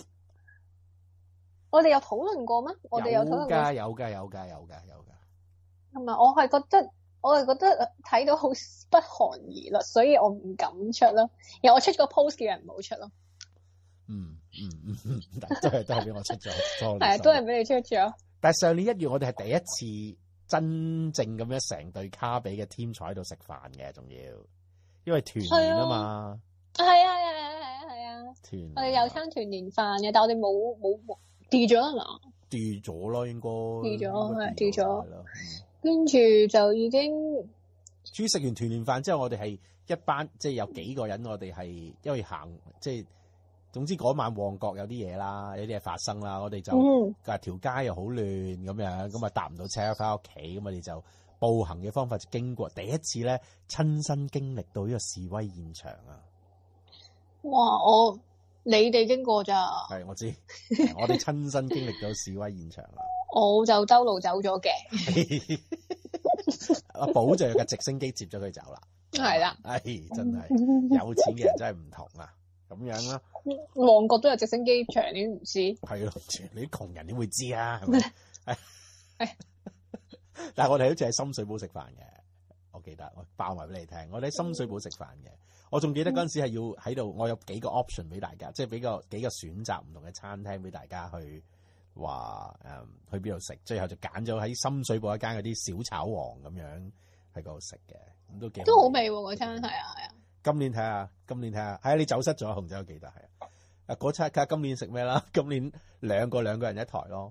我哋有討論過咩？我哋有討論過。 有㗎，有㗎，有㗎，有㗎。 係咪？我係覺得，我係覺得睇到好不寒而栗，所以我唔敢出咯。然後我出個 post 叫人唔好出咯。 嗯嗯嗯嗯，都係都係俾我出咗， 係啊，都係俾你出咗。 但係上年一月我哋係第一次真正咁樣成隊卡比嘅 team 坐喺度食飯嘅，仲要因為團年啊嘛。 係啊係啊係啊係啊係啊！ 團我哋有餐團年飯嘅，但係我哋冇冇冇掉咗啊嘛？ 掉咗咯，應該掉咗係掉咗。 嗯、 跟住就已經。 至於食完團年飯之後，我哋係一班即係有幾個人，我哋係因為行即係。總之嗰晚旺角有啲嘢啦，有啲嘢發生啦，我哋就啊條街又好亂咁樣，咁啊搭唔到車翻屋企，咁我哋就步行嘅方法就經過，第一次咧親身經歷到呢個示威現場啊！ 哇！我你哋經過咋？ 係我知，我哋親身經歷到示威現場啊！ 我就兜路走咗嘅， 阿寶就有架直升機接咗佢走啦， 係啦， 唉，真係有錢嘅人真係唔同啊！咁樣啦， 旺角都有直升機場，你都唔知？係咯，你啲窮人點會知啊？係咪？係，但係我哋好似喺深水埗食飯嘅，我記得我爆埋俾你聽，我哋喺深水埗食飯嘅，我仲記得嗰陣時係要喺度，我有幾個 option 俾大家，即係俾個幾個選擇唔同嘅餐廳俾大家去話誒、嗯、去邊度食，最後就揀咗喺深水埗一間嗰啲小炒王咁樣喺嗰度食嘅，咁都幾都好味喎嗰餐，係啊係啊。 今年睇下，今年睇下，係啊！你走失咗，紅仔我記得係啊。啊，嗰餐睇下今年食咩啦？今年兩個兩個人一台咯。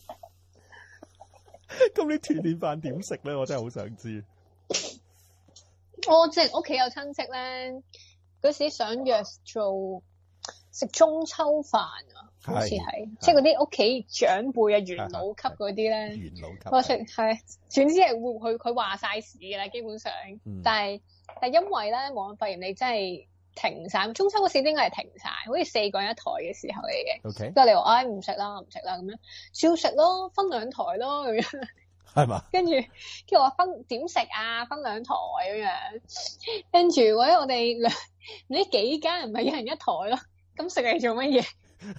今年團年飯點食咧？我真係好想知。 我即係屋企有親戚咧，嗰時想約做食中秋飯啊，好似係，即係嗰啲屋企長輩啊、元老級嗰啲咧。元老級。我食係，總之係會佢佢話晒事㗎啦，基本上。嗯、但係。但係因為咧，武漢肺炎你真係停晒，中秋嗰時應該係停晒，好似四個人一台嘅時候嚟嘅。 O K。 之後你話唉唔食啦，唔食啦咁樣，照食咯，分兩台咯咁樣。 係嘛？跟住跟住話分點食啊？分兩台咁樣。跟住或者我哋兩呢幾間人咪一人一台咯。咁食嚟做乜嘢？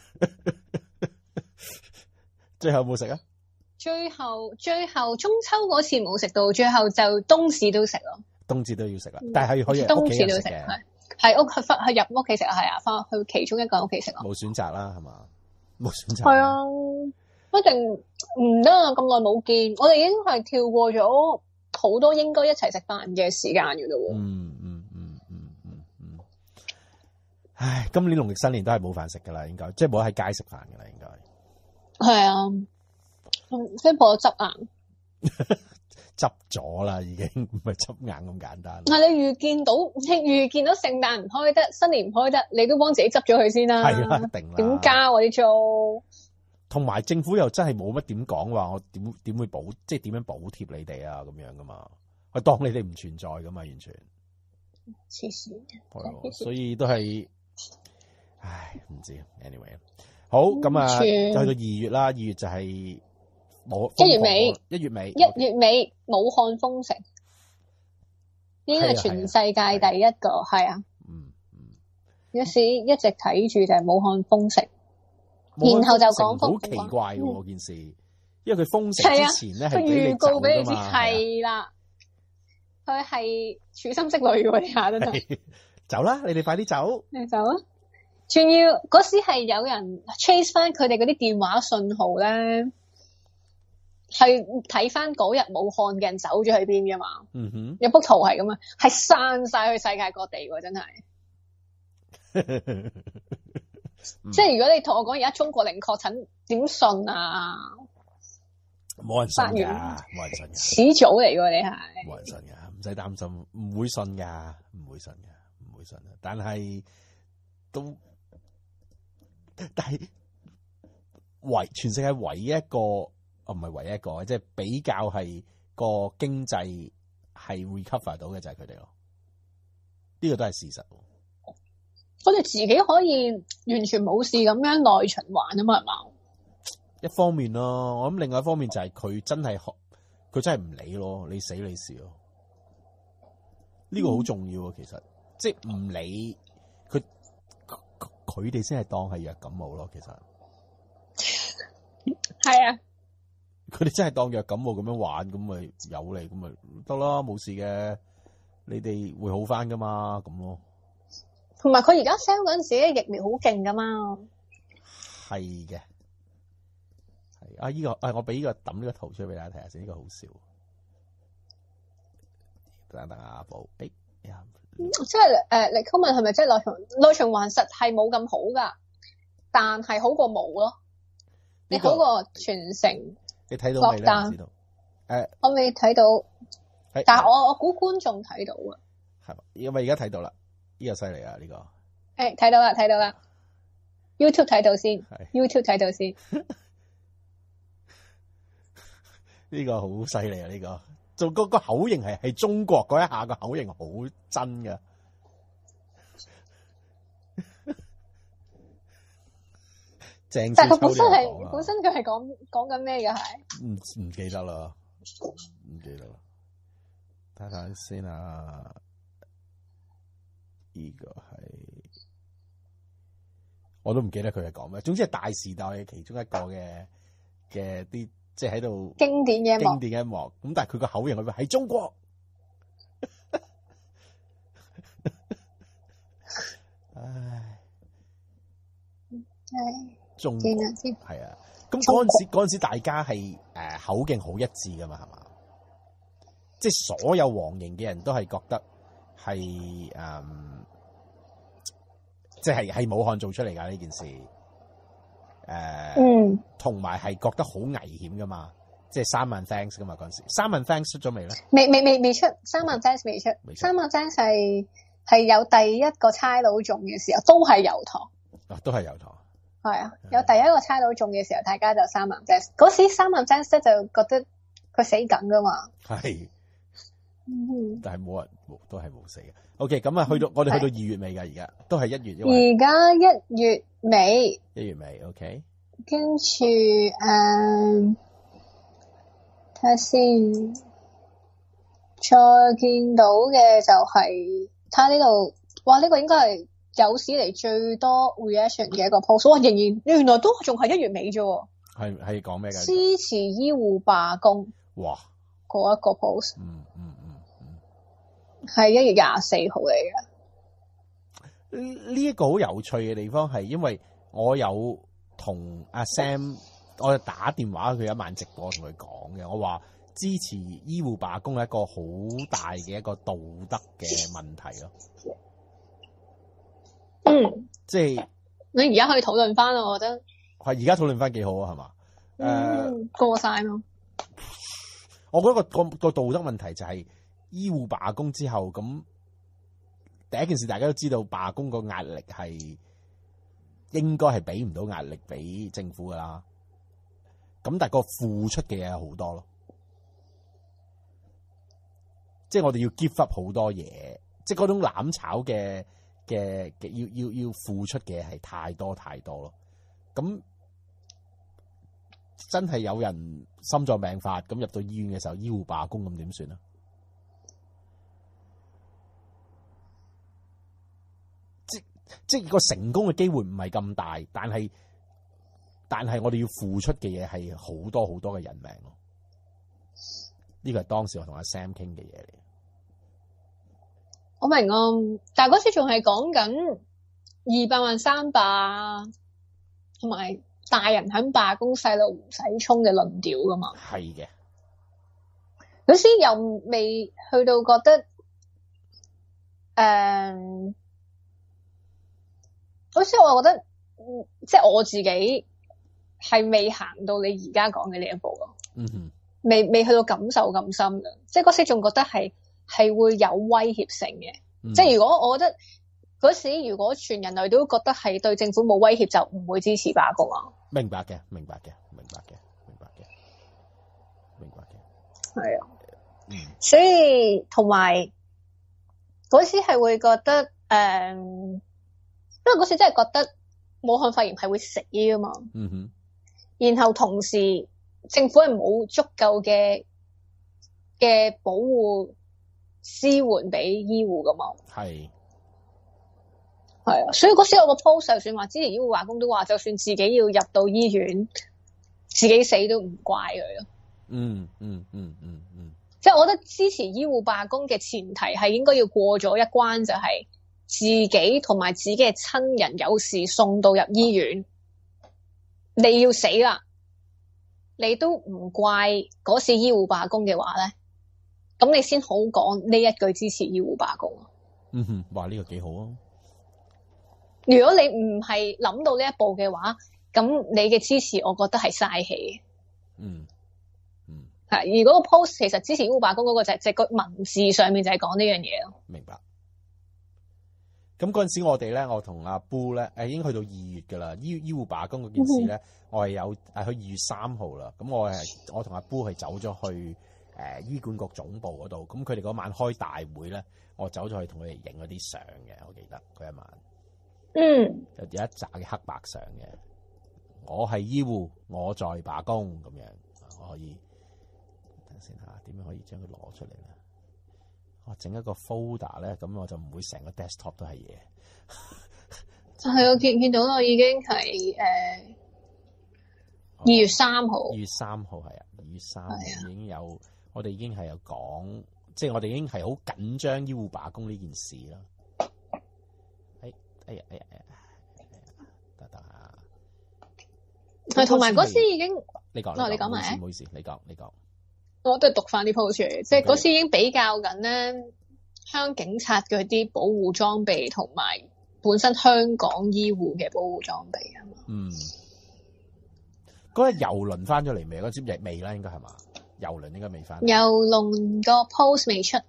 最後冇食啊？ 最後最後中秋嗰次冇食到，最後就冬至都食咯。 冬至都要食啦，但係可以冬至都食嘅，係屋翻去入屋企食啊，係啊，翻去其中一個屋企食咯。冇選擇啦，係嘛？冇選擇。 係啊，一定唔得啊！咁耐冇見，我哋已經係跳過咗好多應該一齊食飯嘅時間嘅咯。 嗯嗯嗯嗯嗯嗯。唉，今年農曆新年都係冇飯食噶啦，應該即係冇喺街食飯噶啦，應該。 係啊，即係破咗執硬。 執咗啦，已經唔係執硬咁簡單。 係你預見到，你預見到聖誕唔開得，新年唔開得，你都幫自己執咗佢先啦。 係啦，一定啦。 點加我啲租？同埋政府又真係冇乜點講話，我點點會補，即係點樣補貼你哋啊？咁樣噶嘛，我當你哋唔存在噶嘛，完全。 黐線。 係，所以都係，唉，唔知。anyway，好咁啊，就去到二月啦，二月就係。一月尾，一月尾， 一月尾，武漢封城，應該係全世界第一個，係啊。嗯嗯。有時一直睇住就係武漢封城，然後就講封城。好奇怪喎件事，因為佢封城之前咧係預告俾你知，係啦，佢係處心積慮喎，你下真係。 走啦，你哋快啲走。 你走啊！仲要嗰時係有人 chase 翻佢哋嗰啲電話信號咧。係睇翻嗰日武漢嘅人走咗去邊噶嘛？嗯哼，有幅圖係咁啊，係散晒去世界各地喎，真係。嗯、即係如果你同我講而家中國零確診，點信啊？ 冇人信噶，冇人信噶。 始祖嚟噶，你係。冇人信噶，唔使擔心，唔會信噶，唔會信噶，唔會信。但係都，但係唯全世界唯一一個。哦，唔係唯一一個，即係比較係個經濟係 recover 到嘅就係佢哋咯。呢個都係事實。 我哋自己可以完全冇事咁樣內循環啊嘛，係嘛？ 一方面咯，我諗另外一方面就係佢真係學，佢真係唔理咯，你死你事咯。呢、這個好重要啊，其實即係唔理佢，佢哋先係當係弱感冒咯。其實係啊， 佢哋真係當弱感冒咁樣玩，咁咪有嚟，咁咪得啦，冇事嘅，你哋會好翻噶嘛，咁咯。 同埋佢而家 sell 嗰陣時嘅疫苗好勁噶嘛。 係嘅，係啊，依、這個誒，我俾呢個抌呢個圖出嚟俾大家睇下先，呢、這個好笑。等等啊，寶，誒、哎、呀， 即係誒，你 comment 係咪即係內循內循環實係冇咁好噶，但係好過冇咯。你好過全城， 你睇到未咧？唔知道。誒， 我未睇到，但係我我估觀眾睇到啊。 係嘛？因為而家睇到啦，呢、這個犀利啊！呢、這個誒，睇到啦，睇到啦。YouTube 睇到先 ，YouTube 睇到先。 呢個好犀利啊！呢、這個做個個口型係係中國嗰一下個口型好真噶。鄭但係佢本身係係本身佢係講講緊咩嘅係？ 唔唔記得啦，唔記得啦。睇睇先啊，呢、這個係我都唔記得佢係講咩。總之係大時代嘅其中一個嘅嘅啲。即係喺度經典嘅一幕， 經典嘅一幕。咁但係佢個口型佢話喺中國，唉， 係中見下先係啊。咁嗰陣時嗰陣時大家係誒、呃、口徑好一致噶嘛，係嘛？即係所有黃營嘅人都係覺得係誒，即係係武漢做出嚟噶呢件事。誒、呃，嗯，同埋係覺得好危險噶嘛，即係三萬 thanks 噶嘛嗰陣時，三萬 thanks 出咗未咧？ 未未未未出，三萬 thanks 未出，三萬 thanks 係係有第一個差佬中嘅時候，都係油塘， 啊，都係油塘， 係啊，有第一個差佬中嘅時候，大家就三萬 thanks，嗰時三萬 thanks 就覺得佢死緊噶嘛， 係， 嗯， 但係冇人，都係冇死嘅。OK，咁啊，去到我哋去到二月尾噶，而家都係一月， 而家一月尾， 一月尾 OK， 跟住誒睇下先，再見到嘅就係睇下呢度，哇！呢、這個應該係有史嚟最多 reaction 嘅一個 post， 哇！仍然原來都仲係一月尾啫， 係係講咩嘅？ 支持醫護罷工， 哇！ 嗰一個 post， 嗯嗯嗯嗯， 係一月廿四號嚟嘅。 呢一個好有趣嘅地方係，因為我有同阿 Sam， 我有打電話佢一晚直播同佢講嘅，我話支持醫護罷工係一個好大嘅一個道德嘅問題咯。 嗯， 即係你而家可以討論翻，我覺得係而家討論翻幾好啊，係嘛？誒、 嗯，過晒咯。 我覺得個個個道德問題就係醫護罷工之後，咁第一件事大家都知道罷工個壓力係應該係俾唔到壓力俾政府噶啦，咁但係個付出嘅嘢有好多咯，即係我哋要 give up 好多嘢，即係嗰種攬炒嘅嘅嘅要要要付出嘅係太多太多咯，咁。真係有人心臟病發咁入到醫院嘅時候，醫護罷工咁點算啊？即即個成功嘅機會唔係咁大，但係但係我哋要付出嘅嘢係好多好多嘅人命咯。呢個係當時我同阿 Sam 傾嘅嘢嚟。 我明啊，但係嗰次仲係講緊二百萬三百同埋。大人肯罷工，細路唔使衝嘅論調噶嘛？ 係嘅， 有時又未去到覺得，誒、呃，有時我覺得，即係我自己係未行到你而家講嘅呢一步咯。 嗯哼， 未未去到感受咁深嘅，即係嗰時仲覺得係係會有威脅性嘅。嗯、即係如果我覺得。嗰時如果全人類都覺得係對政府冇威脅，就唔會支持罷工啊！ 明白嘅，明白嘅，明白嘅，明白嘅，明白嘅， 係啊， 嗯， 所以同埋嗰時係會覺得誒、嗯， 因為嗰時真係覺得武漢肺炎係會死噶嘛。 嗯哼。 然後同時政府係冇足夠嘅嘅保護支援俾醫護噶嘛。 係。 係啊，所以嗰時我個 post 就算話支持醫護罷工，都話就算自己要入到醫院，自己死都唔怪佢咯。 嗯嗯嗯嗯嗯。 即係我覺得支持醫護罷工嘅前提係應該要過咗一關，就係自己同埋自己嘅親人有事送到入醫院，你要死啦，你都唔怪嗰時醫護罷工嘅話咧，咁你先好講呢一句支持醫護罷工。 嗯哼，哇呢個幾好啊！ 如果你唔係諗到呢一步嘅話，咁你嘅支持我覺得係嘥氣。 嗯嗯， 係而嗰個 post 其實支持醫護罷工嗰個就係即係個文字上面就係講呢樣嘢咯。 明白。咁嗰陣時我哋咧，我同阿 Boo 咧，誒已經去到二月噶啦。醫醫護罷工嗰件事咧，嗯、我係有誒去二月三號啦。咁我係我同阿 Boo 係走咗去誒、呃、醫管局總部嗰度。咁佢哋嗰晚開大會咧，我走咗去同佢哋影嗰啲相嘅。我記得嗰一晚。 嗯， 有一紮嘅黑白相嘅，我係醫護，我在罷工咁樣，我可以等先下，點樣可以將佢攞出嚟咧？我整一個 folder 咧，咁我就唔會成個 desktop 都係嘢。 係我見見到啦，已經係誒二月三號。二月三號係啊，二月三號已經有，我哋已經係有講，即係我哋已經係好緊張醫護罷工呢件事啦。哎呀哎呀哎呀，得得下， 係同埋嗰時已經， 你講， 哦你講埋， 唔好意思，你講你講， 我都係讀翻啲 post 出嚟，即係嗰時已經比較緊咧，香港警察嘅啲保護裝備同埋本身香港醫護嘅保護裝備啊嘛。嗯， 嗰日郵輪翻咗嚟未？嗰支亦未啦，應該係嘛？郵輪應該未翻。 郵輪個 post 未出。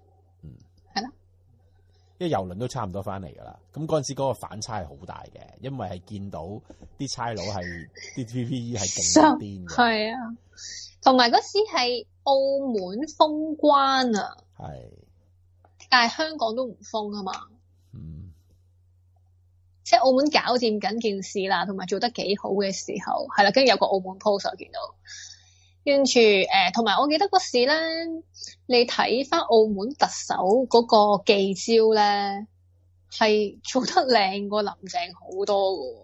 因為郵輪都差唔多翻嚟噶啦，咁嗰陣時嗰個反差係好大嘅，因為係見到啲差佬係啲 P P E 係勁癲嘅， 係啊，同埋嗰時係澳門封關啊， 係， 但係香港都唔封啊嘛， 嗯， 即係澳門搞掂緊件事啦，同埋做得幾好嘅時候，係啦，跟住有個澳門 post 我見到。跟住誒，同、呃、埋我記得嗰時咧，你睇翻澳門特首嗰個記招咧，係做得靚過林鄭好多㗎。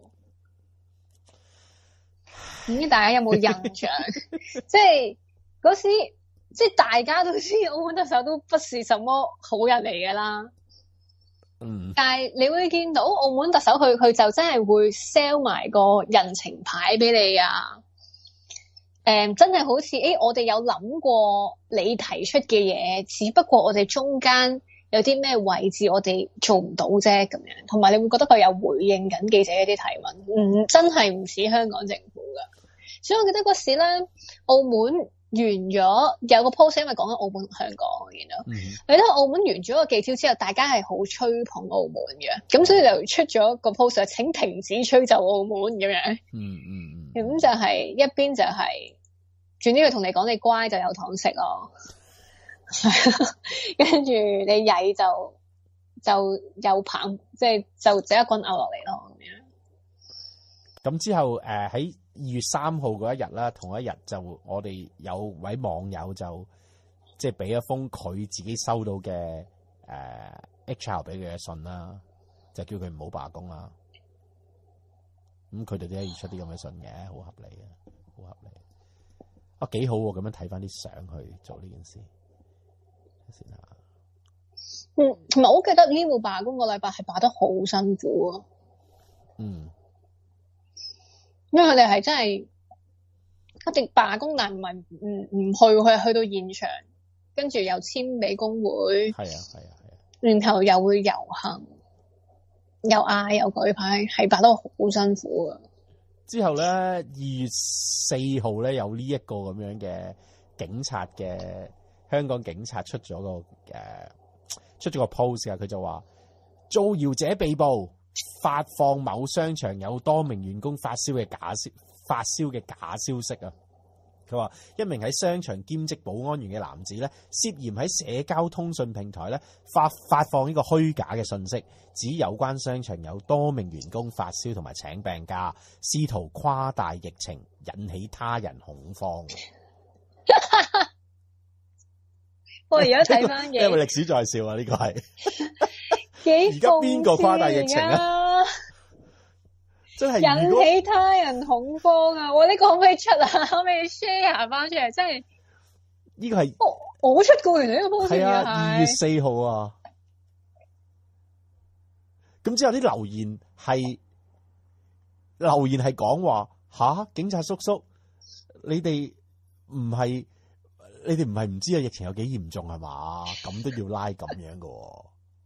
唔知大家有冇印象？即係嗰時，即係大家都知澳門特首都不是什麼好人嚟㗎啦。 嗯。但係你會見到澳門特首佢佢就真係會 sell 埋個人情牌俾你啊！誒、嗯，真係好似誒、欸，我哋有諗過你提出嘅嘢，只不過我哋中間有啲咩位置我哋做唔到啫，咁樣。同埋你會覺得佢有回應緊記者一啲提問，唔真係唔似香港政府噶。所以我記得嗰時咧，澳門完咗有個 post，因為講緊澳門同香港，我見到。你睇、嗯、澳門完咗個記招之後，大家係好吹捧澳門嘅，咁所以就出咗個 post，請停止吹奏澳門咁樣。嗯嗯。咁就係一邊就係、是，轉呢個同你講你乖就有糖食咯，跟住你曳就就有棒，即係就即一棍拗落嚟咯咁樣。咁之後誒喺二月三號嗰一日啦，同一日就我哋有位網友就即係俾一封佢自己收到嘅誒、呃、H R 俾佢嘅信啦，就叫佢唔好罷工啦。咁佢哋都可以出啲咁嘅信嘅，好合理嘅，好合理。啊，幾好喎！咁樣睇翻啲相去做呢件事先啦。 嗯，同埋我記得醫護罷工個禮拜係罷得好辛苦啊。 嗯， 因為佢哋係真係一定罷工，但係唔係唔唔去，佢係去到現場，跟住又簽俾工會。係啊，係啊，係啊。然後又會遊行。又嗌又舉牌，係罷得好辛苦啊！ 之後咧，二月四號咧有呢一個咁樣嘅警察嘅香港警察出咗個誒、呃、出咗個 post 啊，佢就話造謠者被捕，發放某商場有多名員工發燒嘅假消發燒嘅假消息啊！ 佢話一名喺商場兼職保安員嘅男子咧，涉嫌喺社交通訊平台咧發發放呢個虛假嘅信息，指有關商場有多名員工發燒同埋請病假，試圖誇大疫情，引起他人恐慌。 我而家睇翻嘅， 因為歷史在笑啊，呢、這個係幾而家邊個誇大疫情啊？真係引起他人恐慌啊！我呢、這個可唔可以出啊？可唔可以 share 翻出嚟？真係呢個係我我出過原來呢個 post 係啊，二月四號啊。咁之後啲留言係留言係講話吓，警察叔叔，你哋唔係你哋唔係唔知啊，疫情有幾嚴重係嘛？咁都要拉咁樣噶、哦。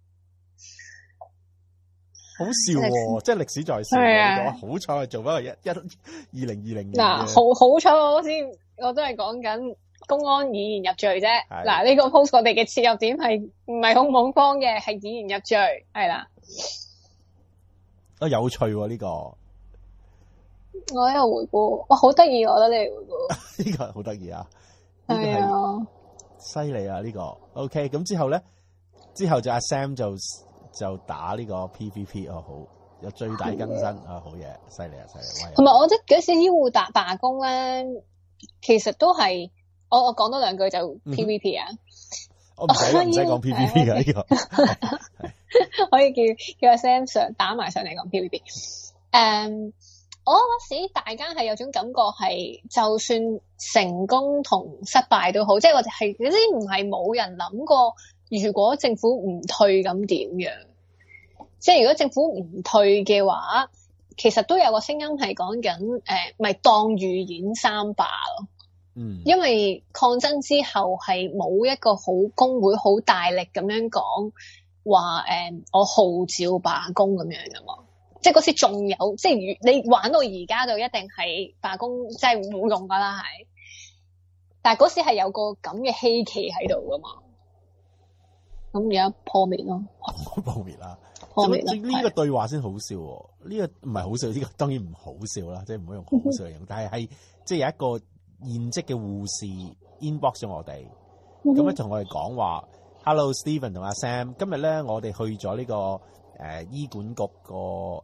好笑喎、哦，即係歷史在笑嘅。好彩係做翻個一一二零二零年。嗱， 好好彩我先，我都係講緊公安以言入罪啫。嗱，呢、這個 post 我哋嘅切入點係唔係好恐慌嘅，係以言入罪，係啦。 啊，有趣喎、哦、呢、這個。 我喺度回顧，哇，好得意，我覺得你回顧。 呢個好得意啊！ 係啊， 犀利啊！呢、這個 OK，咁之後咧，之後就阿 Sam 就。就打呢個 P V P 哦，好有最大更新啊，好嘢，犀利啊，犀利！ 同埋我覺得嗰時醫護罷罷工咧，其實都係我我講多兩句就 P V P 啊， 嗯、我唔使唔使講 P V P 嘅呢個， 可以叫叫阿 Sam 上打埋上嚟講 P V P。誒，我嗰時大家係有種感覺係，就算成功同失敗都好，即係我哋係嗰啲唔係冇人諗過。如果政府唔退咁點樣？即係如果政府唔退嘅話，其實都有個聲音係講緊誒，咪、呃、當預演三罷咯。嗯，因為抗爭之後係冇一個好工會好大力咁樣講話誒，我號召罷工咁樣噶嘛。即係嗰時仲有，即係你玩到而家就一定係罷工，即係冇用噶啦，係。但係嗰時係有個咁嘅希冀喺度噶嘛。咁而家破滅咯， 破滅啦， 破滅啦。 呢個對話先好笑喎，呢、這個唔係好笑，呢、這個當然唔好笑啦，即係唔好用好笑嚟用。但係係即係有一個現職嘅護士 inbox 咗我哋，咁咧同我哋講話 ，Hello Stephen 同阿 Sam， 今日咧我哋去咗呢、這個誒、呃、醫管局個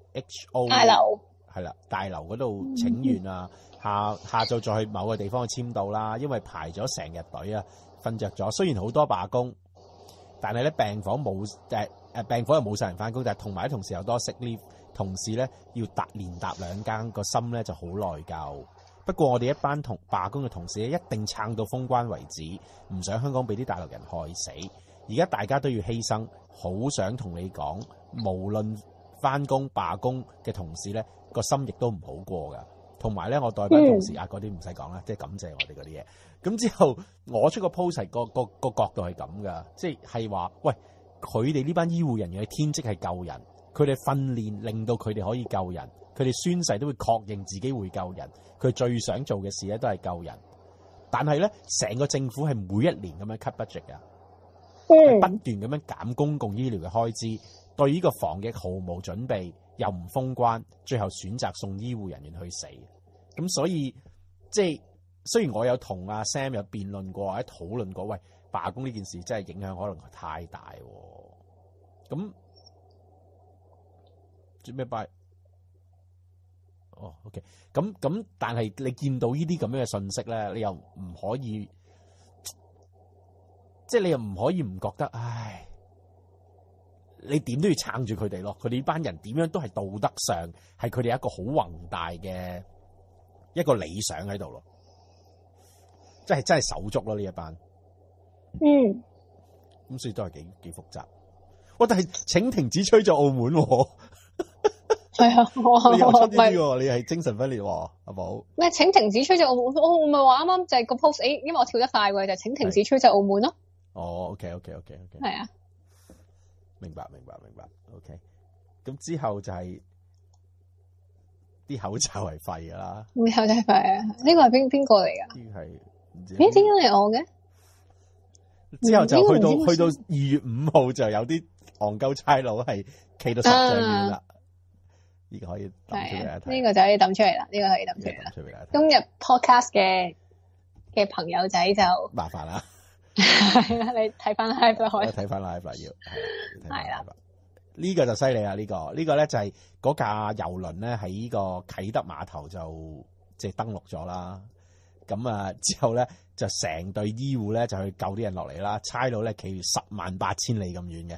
H O 大樓， 係啦大樓嗰度請願啊，下下晝再去某個地方去簽到啦，因為排咗成日隊啊，瞓着咗。雖然好多罷工。但係咧病房冇誒誒病房又冇晒人翻工，但係同埋啲同事又多 sick leave，同事咧要搭連搭兩間，個心咧就好內疚。不過我哋一班同罷工嘅同事咧，一定撐到封關為止，唔想香港俾啲大陸人害死。而家大家都要犧牲，好想同你講，無論翻工罷工嘅同事咧，個心亦都唔好過噶。同埋咧，我代班同事、嗯、啊，嗰啲唔使講啦，即係感謝我哋嗰啲嘢。咁之後，我出個 post 個個個角度係咁噶，即係係話，喂，佢哋呢班醫護人員嘅天職係救人，佢哋訓練令到佢哋可以救人，佢哋宣誓都會確認自己會救人，佢最想做嘅事咧都係救人。但係咧，成個政府係每一年咁樣 cut budget 噶，係、嗯、不斷咁樣減公共醫療嘅開支，對呢個防疫毫無準備，又唔封關，最後選擇送醫護人員去死。咁所以即係。雖然我有同阿 Sam 有辯論過，或者討論過，喂，罷工呢件事真係影響可能太大喎。咁做咩罷？哦 ，OK。咁咁，但係你見到呢啲咁樣嘅信息咧，你又唔可以，即係你又唔可以唔覺得，唉，你點都要撐住佢哋咯。佢哋呢班人點樣都係道德上係佢哋一個好宏大嘅一個理想喺度咯。真係真係手足咯呢一班， 嗯， 咁所以都係幾幾複雜。哇！但係請停止吹咗澳門， 係啊， 你又出呢啲喎，你係精神分裂喎，阿寶。 咩？請停止吹咗澳門，我我唔係話啱啱就係個 post，誒，因為我跳得快嘅，就係請停止吹咗澳門咯。 哦 ，OK OK OK OK， 係啊， 明白明白明白 ，OK。咁之後就係啲口罩係廢噶啦， 口罩係廢啊！呢個係邊邊個嚟噶？ 呢係。 咦？點解係我嘅？ 之後就去到去到二月五號就有啲戇鳩差佬係企到十丈遠啦。呢、啊、個可以抌出嚟睇。呢、 這個就可以抌出嚟啦。呢、這個可以抌出嚟啦。今日 podcast 嘅嘅朋友仔就麻煩啦。 係啦，你睇翻 live 啦，可以睇翻 live 啦，要係啦。 呢個就犀利啦！呢、這個呢、這個咧就係嗰架郵輪咧喺呢個啟德碼頭就即係登陸咗啦。咁啊之後咧就成隊醫護咧就去救啲人落嚟啦。差佬咧企十萬八千里咁遠嘅。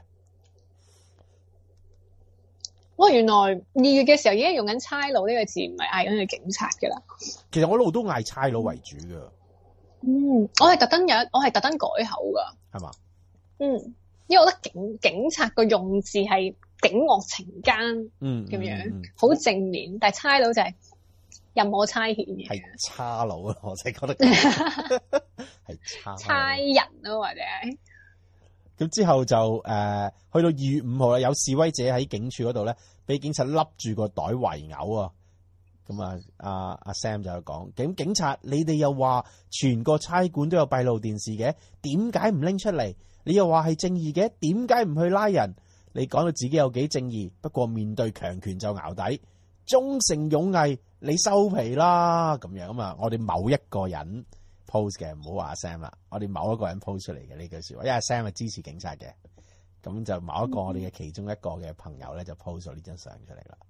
哇！原來二月嘅時候已經用緊差佬呢個字，唔係嗌緊佢警察㗎啦。 其實我一路都嗌差佬為主㗎。 嗯，我係特登有，我係特登改口㗎。 係嘛？ 嗯。因為我覺得警警察個用字係警惡懲奸， 嗯咁樣好、 嗯嗯、正面，但係差佬就係任我差遣嘅， 係差佬啊！我真係覺得係差差人咯，或者係咁之後就誒、呃、去到二月五號啦，有示威者喺警署嗰度咧，俾警察笠住個袋圍毆啊！咁啊，阿阿 Sam 就有講，警警察你哋又話全個差館都有閉路電視嘅，點解唔拎出嚟？你又話係正義嘅，點解唔去拉人？你講到自己有幾正義，不過面對強權就淆底，忠誠勇毅，你收皮啦咁樣啊嘛！我哋某一個人 post 嘅，唔好話阿 Sam 啦，我哋某一個人 post 出嚟嘅呢句說話，因為阿 Sam 係支持警察嘅，咁就某一個我哋嘅其中一個嘅朋友咧就 post 咗呢張相出嚟啦。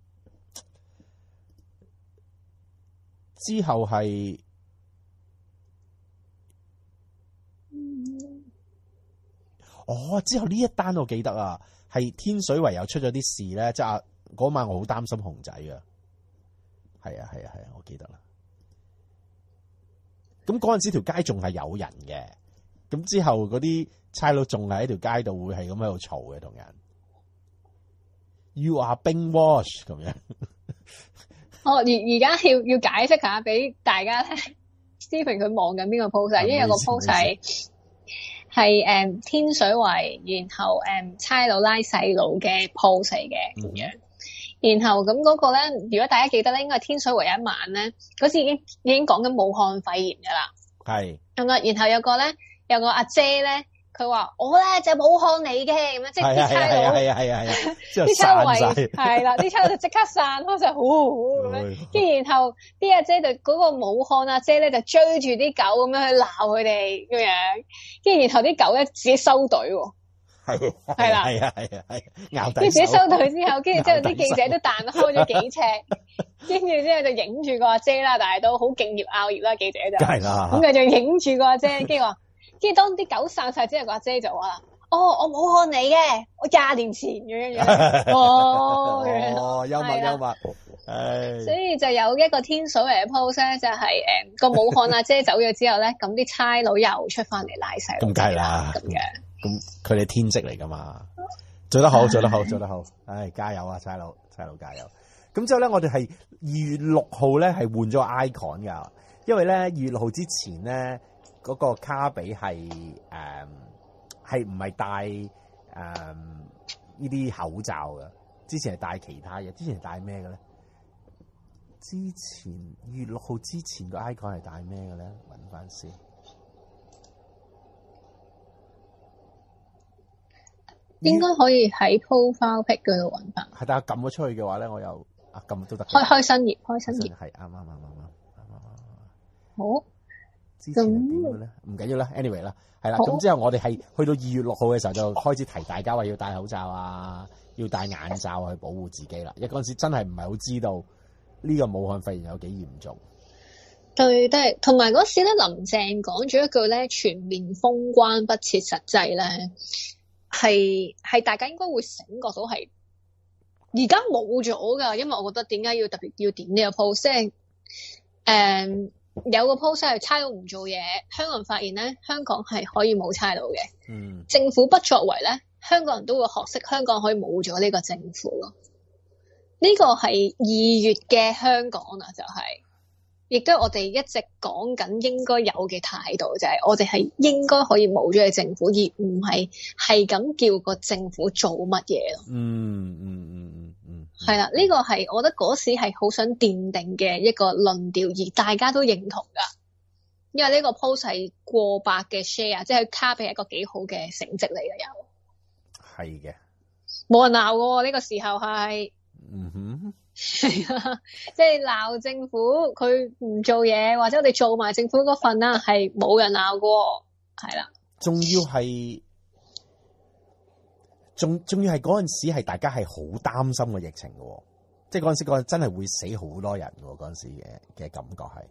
之後係。哦，之後呢一單我記得啊，係天水圍又出咗啲事咧，即係嗰晚我好擔心熊仔啊，係啊係啊係啊，我記得啦。咁嗰陣時條街仲係有人嘅，咁之後嗰啲差佬仲係喺條街度會係咁喺度嘈嘅同人。You are being watched 咁樣。 哦，而而家要要解釋下俾大家聽 ，Stephen 佢望緊邊個 post 啊？因為有個 post 係。係誒、嗯、天水圍，然後誒、嗯、差佬拉細路嘅 pose 嚟嘅咁樣，然後咁嗰個咧，如果大家記得咧，應該係天水圍一晚咧，嗰時已經已經講緊武漢肺炎噶啦，係咁啊，然後有個咧有個阿姐咧，佢話我咧就武漢嚟嘅咁樣，即係啲差佬係啊係啊係啊，啲差佬係啦，啲差佬就即刻散開就呼呼咁樣，跟住然後啲阿姐就嗰個武漢阿姐咧就追住啲狗咁樣去鬧佢哋咁樣。跟住然後啲狗咧自己收隊喎，係係啦，係啊係啊係，咬底手。跟住自己收隊之後，跟住之後啲記者都彈開咗幾尺，跟住之後就影住個阿姐啦，但係都好敬業拗業啦，記者就。梗係啦。咁佢就影住個阿姐，跟住話，跟住當啲狗散晒之後，個阿姐就話啦：，哦，我武漢嚟嘅，我廿年前咁樣樣。哦， 哦，幽默幽默。 所以就有一個天水圍嘅 post 咧，就係誒個武漢阿姐走咗之後咧，咁啲差佬又出翻嚟拉細。咁梗係啦，咁樣。咁佢哋天職嚟噶嘛，做得好，做得好，做得好。唉，加油啊，差佬，差佬加油。咁之後咧，我哋係二月六號咧係換咗 icon 噶，因為咧二月六號之前咧嗰個卡比係誒係唔係戴誒呢啲口罩噶，之前係戴其他嘢，之前係戴咩嘅咧？之前二月六號之前個 icon 係戴咩嘅咧？揾翻先， 應該可以喺 profile pic 嗰度揾翻。 係，但係撳咗出去嘅話咧，我又啊撳都得。開開新頁，開新頁係啱啱啱啱啱啱啱。 好。 之前係點嘅咧？唔緊要啦 ，anyway 啦，係啦。咁之後我哋係去到二月六號嘅時候就開始提大家話要戴口罩啊，要戴眼罩去保護自己啦。因為嗰陣時真係唔係好知道。呢、這個武漢肺炎有幾嚴重？ 對，都係同埋嗰時咧，林鄭講咗一句咧，全面封關不切實際咧，係係大家應該會醒覺到係而家冇咗噶，因為我覺得點解要特別要點呢個 post？ 即係誒有個 post 係差佬唔做嘢，香港人發現咧，香港係可以冇差佬嘅。嗯，政府不作為咧，香港人都會學識香港可以冇咗呢個政府咯。呢、這個係二月嘅香港啊，就係、是，亦都係我哋一直講緊應該有嘅態度，就係、是、我哋係應該可以冇咗嘅政府，而唔係係咁叫個政府做乜嘢咯。嗯嗯嗯嗯嗯，係啦，呢個係我覺得嗰時係好想奠定嘅一個論調，而大家都認同噶，因為呢個 post 係過百嘅 share，即係卡比係一個幾好嘅成績嚟嘅，有係嘅，冇人鬧喎，呢個時候係。嗯哼， 係啊，即係鬧政府佢唔做嘢，或者我哋做埋政府嗰份啦，係冇人鬧過，係啦。 仲要係，仲仲要係嗰陣時係大家係好擔心個疫情嘅，即係嗰陣時嗰陣真係會死好多人嘅嗰陣時嘅嘅感覺係，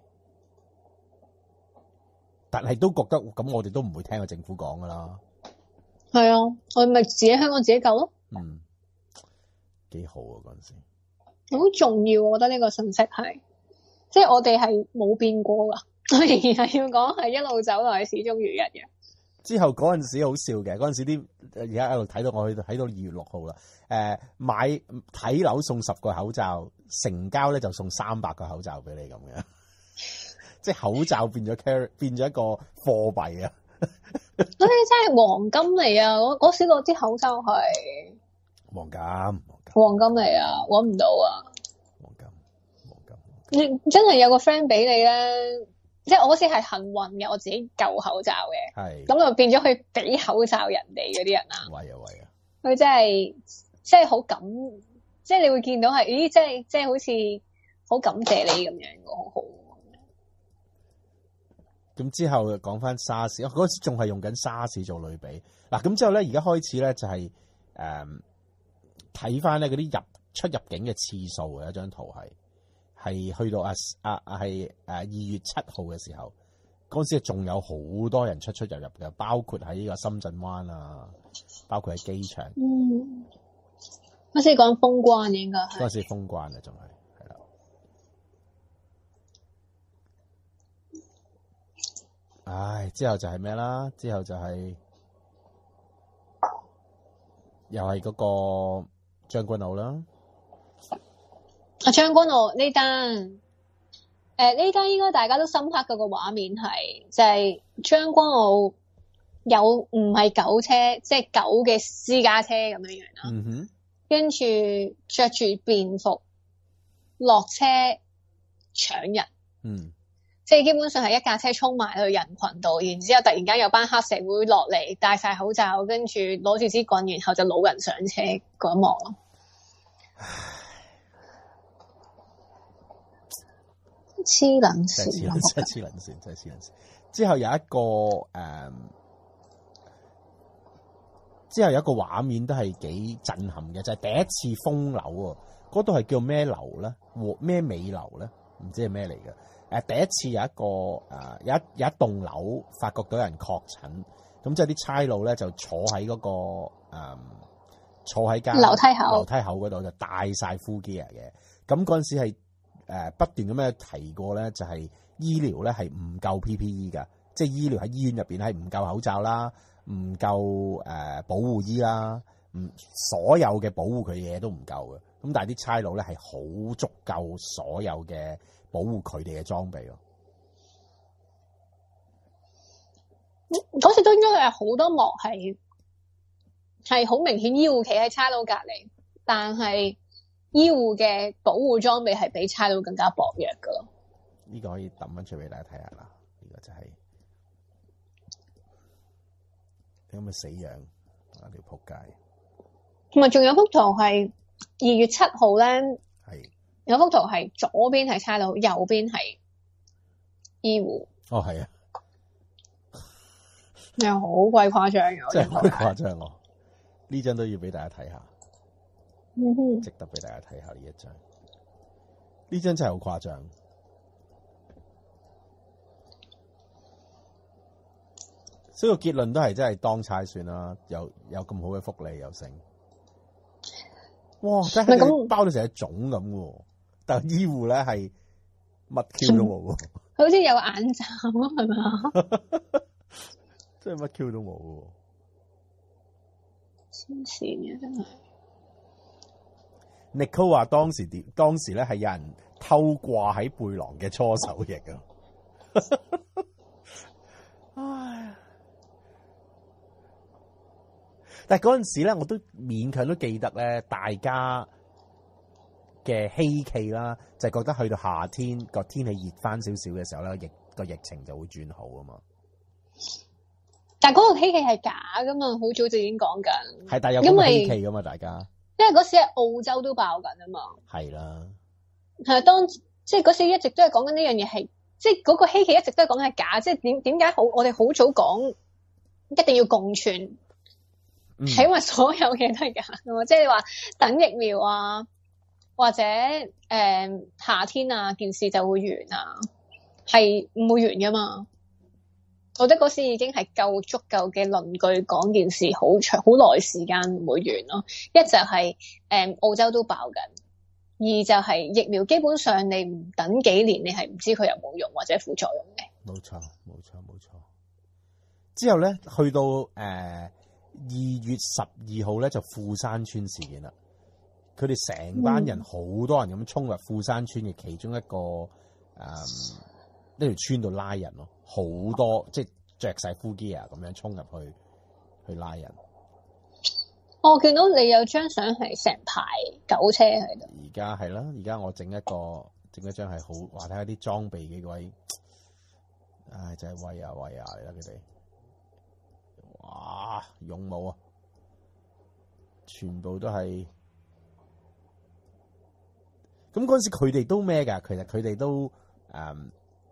但係都覺得咁，我哋都唔會聽個政府講噶啦。 係啊，我咪自己香港自己救咯。 嗯，幾好啊嗰陣時。 好重要，我覺得呢個信息係，即係我哋係冇變過噶，我仍然係要講係一路走來始終如一嘅。 之後嗰陣時好笑嘅，嗰陣時啲而家喺度睇到我去睇到二月六號啦。誒、呃，買睇樓送十個口罩，成交咧就送三百個口罩俾你咁樣，即係口罩變咗 carry 變咗一個貨幣啊！ 嗰啲真係黃金嚟啊！我嗰時嗰啲口罩係黃金。 黃金嚟啊，搵唔到啊！ 黃金，黃金， 你真係有個 friend 俾你咧，即係我嗰時係幸運嘅，我自己舊口罩嘅， 係咁就變咗去俾口罩人哋嗰啲人啊！ 喂啊喂啊！ 佢真係即係好感，即係你會見到係，咦，即係即係好似好感謝你咁樣，好好。 咁之後講翻沙士，嗰時仲係用緊沙士做類比。嗱，咁之後咧，而家開始咧就係、是、誒。嗯睇翻咧嗰啲入出入境嘅次數嘅一張圖係係去到啊啊啊係誒二月七號嘅時候，嗰陣時仲有好多人出出入入嘅，包括喺呢個深圳灣啊，包括喺機場。 嗯，嗰時講封關應該係。 嗰陣時封關啊，仲係係啦。唉，之後就係咩啦？之後就係、是、又係嗰、那個。將軍澳啦， 啊將軍澳呢單，誒呢單應該大家都深刻嗰個畫面係，就係、是、將軍澳有唔係狗車，即係狗嘅私家車咁樣樣啦。 嗯哼， 跟住着住便服落車搶人， 嗯， 即係基本上係一架車衝埋去人群度，然之後突然間有班黑社會落嚟，戴晒口罩，跟住攞住支棍，然後就老人上車嗰一幕咯。黐撚線， 真係黐撚線，黐撚線，真係黐撚線。之後有一個誒、嗯，之後有一個畫面都係幾震撼嘅，就係、是、第一次封樓喎。嗰度係叫咩樓咧？咩美樓咧？唔知係咩嚟嘅。誒，第一次有一個誒，有一有一棟樓發覺到有人確診，咁即係啲差佬咧就坐喺嗰、那個誒。嗯坐喺間樓梯口， 樓梯口嗰度就戴晒 full gear 嘅。咁嗰陣時係誒不斷咁樣提過咧，就係醫療咧係唔夠 P P E 㗎，即係醫療喺醫院入邊係唔夠口罩啦，唔夠誒保護衣啦，唔所有嘅保護佢嘅嘢都唔夠嘅。咁但係啲差佬咧係好足夠所有嘅保護佢哋嘅裝備咯。 嗰時都應該係好多幕係。係好明顯，醫護企喺差佬隔離，但係醫護嘅保護裝備係比差佬更加薄弱噶咯。 呢個可以抌翻出俾大家睇下啦。呢、這個就係你咁嘅死樣啊！條仆街。 同埋仲有幅圖係二月七號咧， 係有幅圖係左邊係差佬，右邊係醫護。 哦，係啊， 又好鬼誇張嘅， 真係好誇張喎！呢張都要俾大家睇下， 嗯哼， 值得俾大家睇下呢一張。呢張真係好誇張，所以個結論都係真係當差算啦。有有咁好嘅福利又成，哇！真係包到成隻粽咁喎。但係醫護咧係乜 Q 都冇喎， 好似有眼罩啊，係咪啊？ 真係乜 Q 都冇喎。 黐線嘅真係。 Nicole 話當時點？當時咧係有人偷掛喺背囊嘅搓手液啊！唉，但係嗰陣時咧，我都勉強都記得咧，大家嘅希冀啦，就係覺得去到夏天個天氣熱翻少少嘅時候咧，疫個疫情就會轉好啊嘛。但係嗰個希冀係假噶嘛，好早就已經講緊。係，但係有咁嘅希冀噶嘛，大家。 因為嗰時喺澳洲都爆緊啊嘛。 係啦， 係當即係嗰時一直都係講緊呢樣嘢係，即係嗰個希冀一直都係講緊係假，即係點點解好我哋好早講一定要共存，係、嗯、因為所有嘢都係假㗎嘛，即係你話等疫苗啊，或者誒、呃、夏天啊件事就會完啊，係唔會完㗎嘛。我覺得嗰時已經係夠足夠嘅論據講件事好長好耐時間唔會完咯。一就係、是、誒、呃、澳洲都爆緊，二就係疫苗基本上你唔等幾年，你係唔知佢有冇用或者副作用嘅。冇錯，冇錯，冇錯。之後咧，去到誒二月十二號咧，就富山村事件啦。佢哋成班人好、嗯、多人咁衝入富山村嘅其中一個誒呢條村度拉人咯，好多即係着晒 full gear 咁樣衝入去去拉人。 我見到你有張相係成排狗車喺度。 而家係啦，而家我整一個整一張係好話睇下啲裝備幾位，唉真係威啊威啊嚟啦佢哋，哇勇武啊，全部都係。咁嗰陣時佢哋都咩㗎？其實佢哋都誒，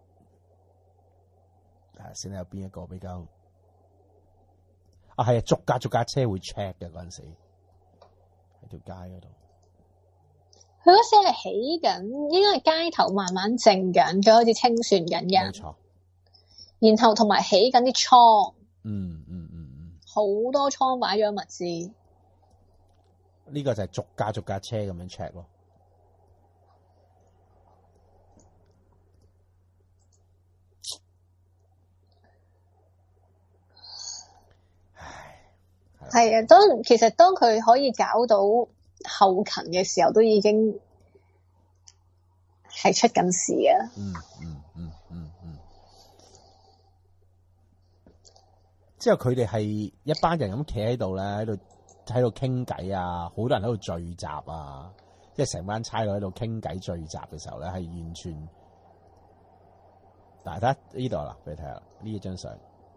誒先睇有邊一個比較。啊，係啊，逐架逐架車會 check 嘅嗰陣時，喺條街嗰度。 佢嗰時係起緊，應該係街頭慢慢靜緊，佢開始清算緊人。冇錯。然後同埋起緊啲倉。嗯嗯嗯嗯。好多倉擺咗物資。 呢個就係逐架逐架車咁樣 check 咯。 係啊，當其實當佢可以搞到後勤嘅時候，都已經係出緊事啊！ 嗯嗯嗯嗯嗯。之後佢哋係一班人咁企喺度咧，喺度喺度傾偈啊，好多人喺度聚集啊，即係成班差佬喺度傾偈聚集嘅時候咧，係完全。嗱，睇呢度啦，俾你睇下呢一張相。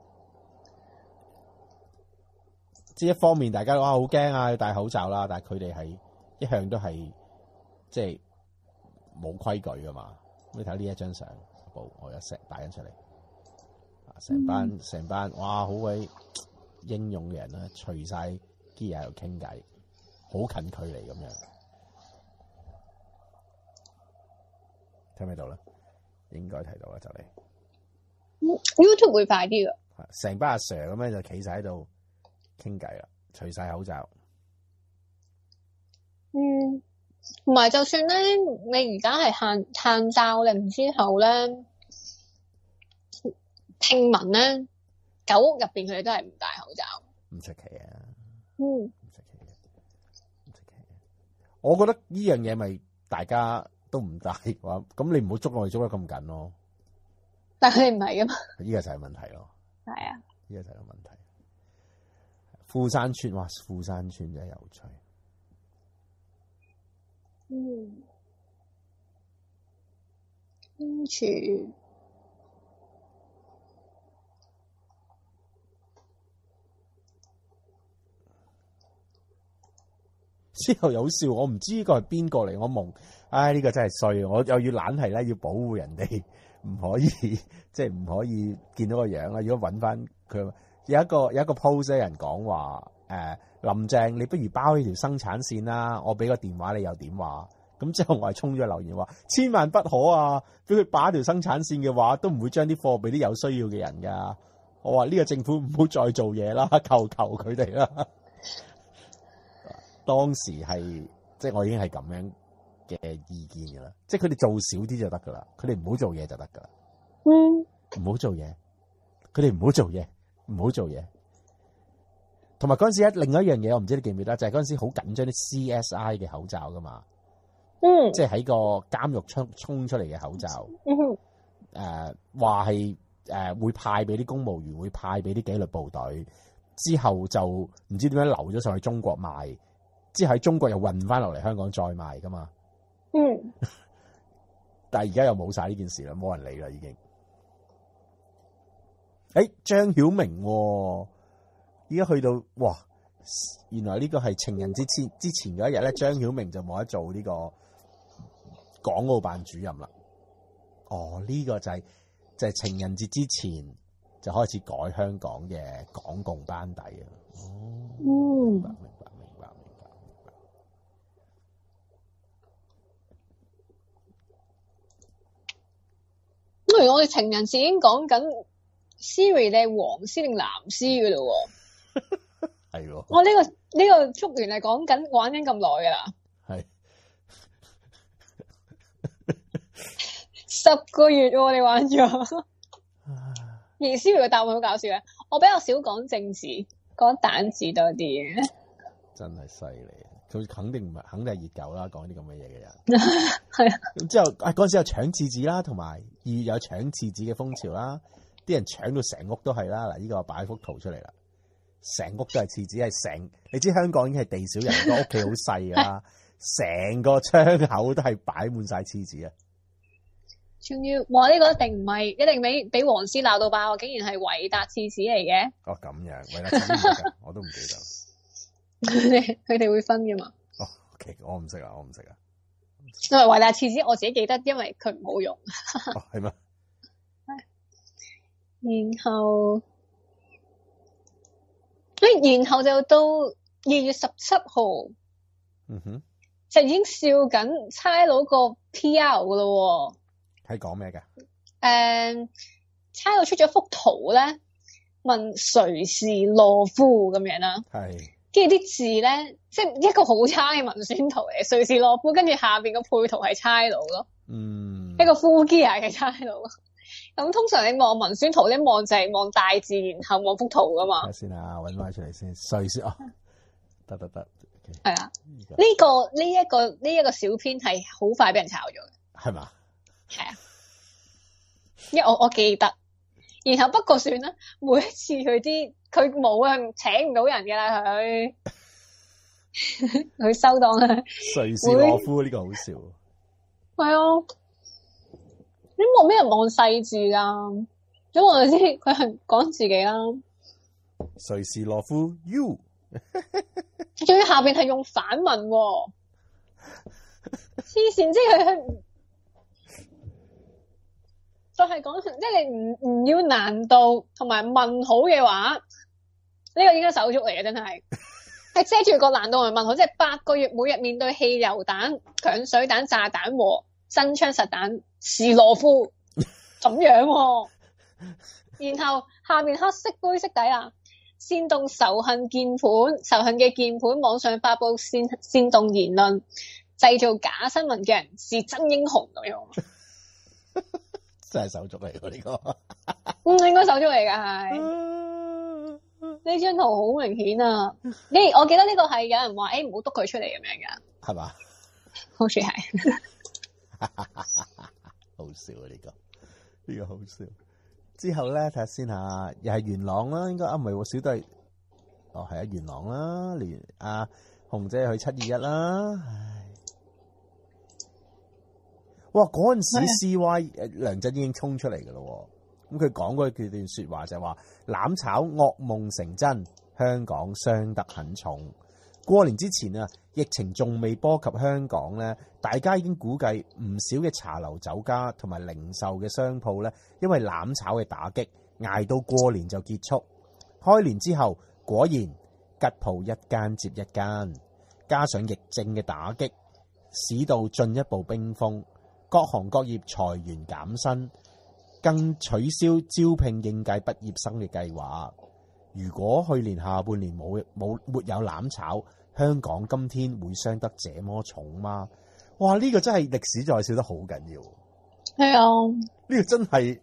即係一方面，大家哇好驚啊，要戴口罩啦。但係佢哋係一向都係即係冇規矩噶嘛。你睇呢一張相，我有石擺緊出嚟，成班成、嗯、班哇好鬼英勇嘅人啦，除晒啲嘢喺度傾偈，好近距離咁樣。睇唔睇到咧？應該睇到啦，就嚟。 YouTube 會快啲噶。 成班阿 Sir 咁樣就企晒喺度。傾偈啦，除晒口罩。 嗯，同埋就算咧，你而家係限限罩令之後咧，聽聞咧，狗屋入邊佢哋都係唔戴口罩。 唔出奇啊。 嗯。 唔出奇嘅，唔出奇嘅。我覺得呢樣嘢咪大家都唔戴嘅話，咁你唔好捉我哋捉得咁緊咯。 但係佢哋唔係噶嘛。 呢個就係問題咯。 係啊。 呢個就係個問題。富山村，哇！富山村真係有趣。 嗯，跟住之後有笑，我唔知呢個係邊個嚟，我夢，唉呢、這個真係衰，我又要懶係咧，要保護人哋，唔可以即係唔可以見到個樣啦。如果揾翻佢。有一個有一個 post 有人講話，誒、呃、林鄭你不如包起條生產線啦，我俾個電話你又點話？咁之後我係衝咗留言話，千萬不可啊！俾佢把條生產線嘅話，都唔會將啲貨俾啲有需要嘅人噶。我話呢個政府唔好再做嘢啦，求求佢哋啦。當時係即係我已經係咁樣嘅意見噶啦，即係佢哋做少啲就得噶啦，佢哋唔好做嘢就得噶啦。嗯，唔好做嘢，佢哋唔好做嘢。唔好做嘢，同埋嗰陣時另外一樣嘢，我唔知你記唔記得，就係嗰陣時好緊張啲 C S I 嘅口罩噶嘛，嗯，即係喺個監獄衝衝出嚟嘅口罩，嗯哼，誒話係誒會派俾啲公務員，會派俾啲紀律部隊，之後就唔知點樣流咗上去中國賣，之後喺中國又運翻落嚟香港再賣噶嘛，嗯，但係而家又冇晒呢件事啦，冇人理啦已經。誒，張曉明，而家去到哇， 原來呢個係情人節之之前嗰一日咧，張曉明就冇得做呢個港澳辦主任啦。哦，呢、這個就係、是、就係、是、情人節之前就開始改香港嘅港共班底啊。哦，明白明白明白明白明白。 咁如果我哋情人節已經講緊 Siri 你係黃絲定藍絲噶咯喎？ 係喎。 我呢、這個呢、這個祝願係講緊玩緊咁耐噶啦。 係。 十個月喎、啊，你玩咗。而 Siri 嘅答案好搞笑嘅，我比較少講政治，講蛋字多啲嘅。 真係犀利，佢肯定唔係，肯定係熱狗啦，講啲咁嘅嘢嘅人。 係啊。 咁之後啊，嗰陣時有搶廁紙啦，同埋二月有搶廁紙嘅風潮啦，啲人搶到成屋都係啦。嗱，呢個擺幅圖出嚟啦，成屋都係廁紙，係成。你知香港已經係地少人多，屋企好細噶啦，成個窗口都係擺滿晒廁紙啊！ 仲要話呢個一定唔係，一定俾俾黃絲鬧到爆，竟然係維達廁紙嚟嘅。 哦，咁樣維達廁紙唔得㗎，我都唔記得。 佢哋佢哋會分噶嘛？ 哦，OK，我唔識啊，我唔識啊。 因為維達廁紙我自己記得，因為佢唔好用。 哦，係咩？ 然後，誒，然後就到二月十七號， 嗯哼， 就已經笑緊差佬個 P R 噶咯。 係講咩嘅？ 誒、嗯，差佬出咗幅圖咧，問誰是懦夫咁樣啦。 係。 跟住啲字咧，即係一個好差嘅文宣圖嚟，誰是懦夫，跟住下邊個配圖係差佬咯。 嗯。 一個 full gear 嘅差佬。咁通常你望文宣圖，一望就係望大字，然後望幅圖噶嘛。 睇下先啊，搵翻出嚟先。誰是哦？得得得。 係啊。呢、這個呢一、這個呢一、這個小編係好快俾人炒咗嘅。 係嘛？ 係啊，因為我我記得，然後不過算啦，每一次佢啲佢冇啊，請唔到人噶啦佢，佢收檔啦。 誰是懦夫呢個好笑。 係啊，你望咩人望細字噶？咁我就知佢係講自己啦。 誰是懦夫 ？You， 仲要下邊係用反問喎，黐線，即係佢。就係講，即係你唔唔要難度同埋問號嘅話，呢、這個應該手足嚟嘅，真係係遮住個難度同埋問號，即係八個月每日面對汽油彈、強水彈、炸彈和真槍實彈，是懦夫咁樣、啊。然後下面黑色灰色底啊，煽動仇恨鍵盤，仇恨嘅鍵盤網上發佈煽煽動言論，製造假新聞嘅人是真英雄咁樣。 真係手足嚟㗎呢個， 嗯，應該手足嚟㗎係。呢張圖好明顯啊！你我記得呢個係有人話，誒唔好督佢出嚟咁樣㗎， 係嘛？ 好似係。 好笑啊！呢、這個呢、這個好笑。之後咧睇下先嚇，又係元朗啦，應該啊唔係喎，小弟哦係啊元朗啦，連阿紅姐去七二一啦，唉。哇！嗰陣時 C Y 梁振英已經衝出嚟㗎咯，咁佢講過佢段説話就係話攬炒噩夢成真，香港傷得很重。過年之前啊，疫情仲未波及香港咧，大家已經估計唔少嘅茶樓、酒家同埋零售嘅商鋪咧，因為攬炒嘅打擊，捱到過年就結束。開年之後，果然吉鋪一間接一間，加上疫症嘅打擊，市道進一步冰封。各行各業裁員減薪，更取消招聘應屆畢業生嘅計劃。如果去年下半年冇冇沒有攬炒，香港今天會傷得這麼重嗎？哇！呢、這個真係歷史在笑得好緊要。 係啊， 呢個真係，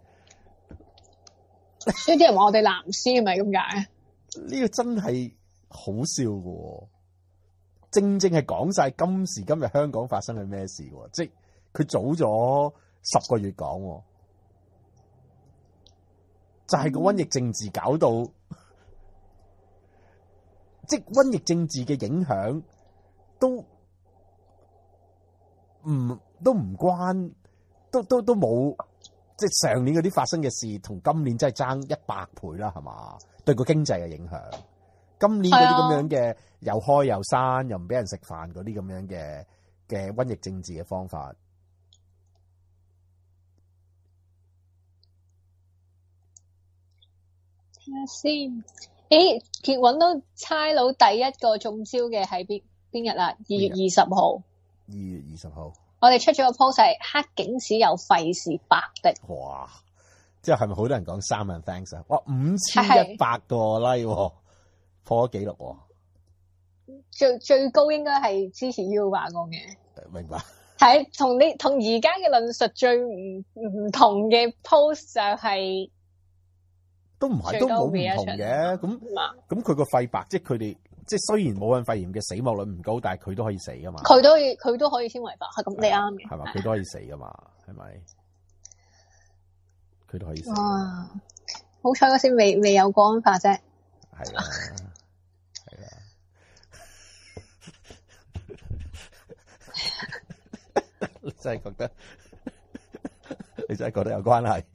所以啲人話我哋藍絲係咪咁解？ 呢個真係好笑嘅，正正係講晒今時今日香港發生嘅咩事，即係。佢早咗十個月講，就係、是、個瘟疫政治搞到，嗯、即係瘟疫政治嘅影響都唔都唔關，都都都冇，即係上年嗰啲發生嘅事，同今年真係爭一百倍啦，係嘛？對個經濟嘅影響， 今年嗰啲咁樣嘅又開又閂又唔俾人食飯嗰啲咁樣嘅嘅瘟疫政治嘅方法。 睇下先，誒，結揾到差佬第一個中招嘅係邊邊日啊？二月二十號。 二月二十號， 我哋出咗個 post 係黑警史又費事白的。 哇！之後係咪好多人講三萬 thanks 啊？哇，五千一百個 like，破咗紀錄喎。 最最高應該係支持 U 吧講嘅。 明白。 係同你同而家嘅論述最唔唔同嘅 post 就係、是。 都唔係，都冇唔同嘅。咁咁佢個肺白，即係佢哋，即係雖然武漢肺炎嘅死亡率唔高，但係佢都可以死噶嘛。 佢都佢都可以稱為白，係咁你啱嘅。 係嘛？佢都可以死噶嘛？係咪？佢都可以死。 哇！好彩嗰時未未有國安法啫。 係啊，係啊。你真係覺得？你真係覺得有關係？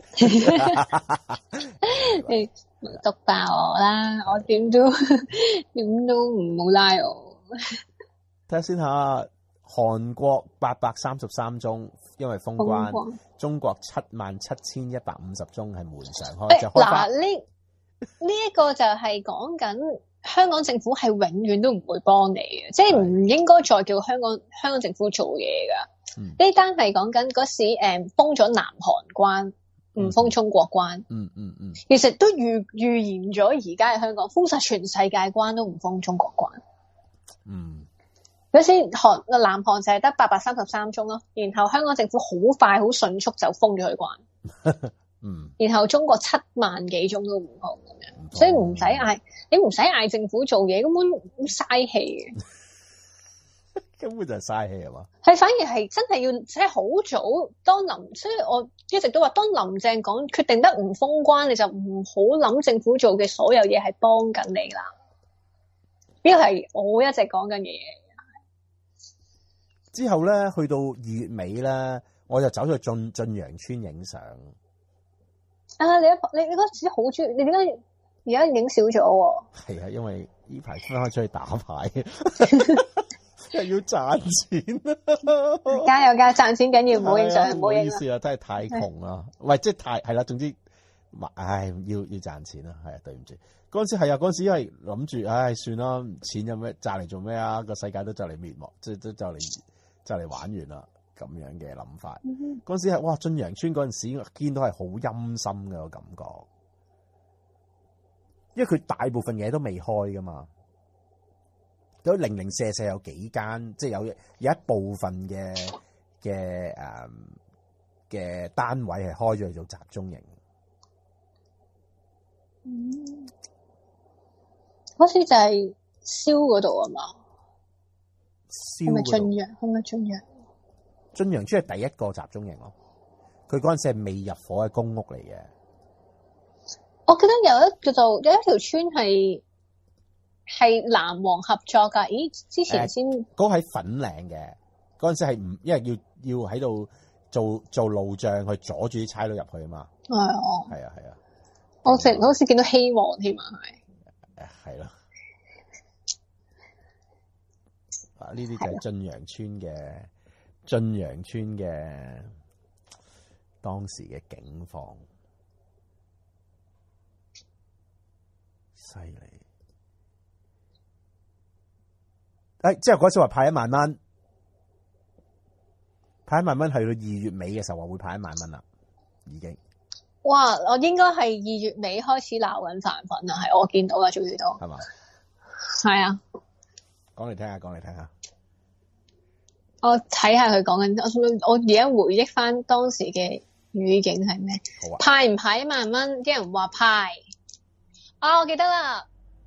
你毒爆我啦！我點都點都唔好拉我。 睇下先下，韓國八百三十三宗，因為封關；中國七萬七千一百五十宗係門常開。就開嗱，呢呢一個就係講緊香港政府係永遠都唔會幫你嘅，即係唔應該再叫香港香港政府做嘢噶。呢單係講緊嗰時誒封咗南韓關，唔封中國關。 嗯嗯嗯， 其實都預預言咗而家嘅香港封晒全世界關都唔封中國關。 嗯， 嗰時韓南韓就係得八百三十三宗咯，然後香港政府好快好迅速就封咗佢關。 嗯， 然後中國七萬幾宗都唔封咁樣，所以唔使嗌，你唔使嗌政府做嘢，根本嘥氣嘅。 根本就係嘥氣係嘛？ 係反而係真係要即係好早當林，所以我一直都話，當林鄭講決定得唔封關，你就唔好諗政府做嘅所有嘢係幫緊你啦。呢個係我一直講緊嘅嘢。 之後咧，去到二月尾咧，我就走咗去晉晉陽村影相。 啊！你一你你嗰時好中意，你點解而家影少咗喎？ 係啊，因為呢排分開出去打牌。即係要賺錢啊！ 加油加賺錢緊要，唔好影相，唔好影。 唔好意思啊，真係太窮啦。喂，即係太係啦。總之，唉，要要賺錢啦。係啊，對唔住。嗰陣時係啊，嗰陣時因為諗住，唉，算啦，錢有咩賺嚟做咩啊？個世界都就嚟滅亡，即係都就嚟就嚟玩完啦。咁樣嘅諗法。嗰陣、嗯、哼時係哇，晉陽村嗰陣時見到係好陰森嘅個感覺，因為佢大部分嘢都未開噶嘛。有零零舍舍有幾間，即係有有一部分嘅嘅誒嘅單位係開咗嚟做集中營。 嗯，好似就係燒嗰度啊嘛？ 燒係咪晉陽？係咪晉陽？ 晉陽村係第一個集中營咯。佢嗰陣時係未入伙嘅公屋嚟嘅。 我記得有一叫做有一條村係。係藍黃合作噶？咦，之前先嗰個喺粉嶺嘅，嗰陣時係唔，因為要要喺度做做路障去阻住啲差佬入去啊嘛。係啊，係啊，係啊。 我成好似見到希望添啊，係。 誒，係咯。啊，呢啲就係晉陽村嘅晉陽村嘅當時嘅境況，犀利。誒，之後嗰次話派一萬蚊，派一萬蚊，去到二月尾嘅時候話會派一萬蚊啦，已經。 哇！我應該係二月尾開始鬧緊飯粉啊，係我見到啦，終於都係嘛？係啊， 講嚟聽下，講嚟聽下。 我睇下佢講緊，我我而家回憶翻當時嘅語境係咩？好啊，派唔派一萬蚊？啲人話派。啊，我記得啦。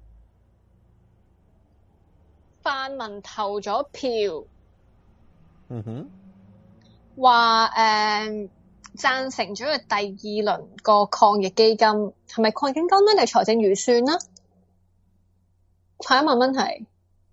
泛民投咗票， 嗯哼， 話誒贊成咗佢第二輪個抗疫基金，係咪抗疫基金咧定係財政預算啦？派一萬蚊係，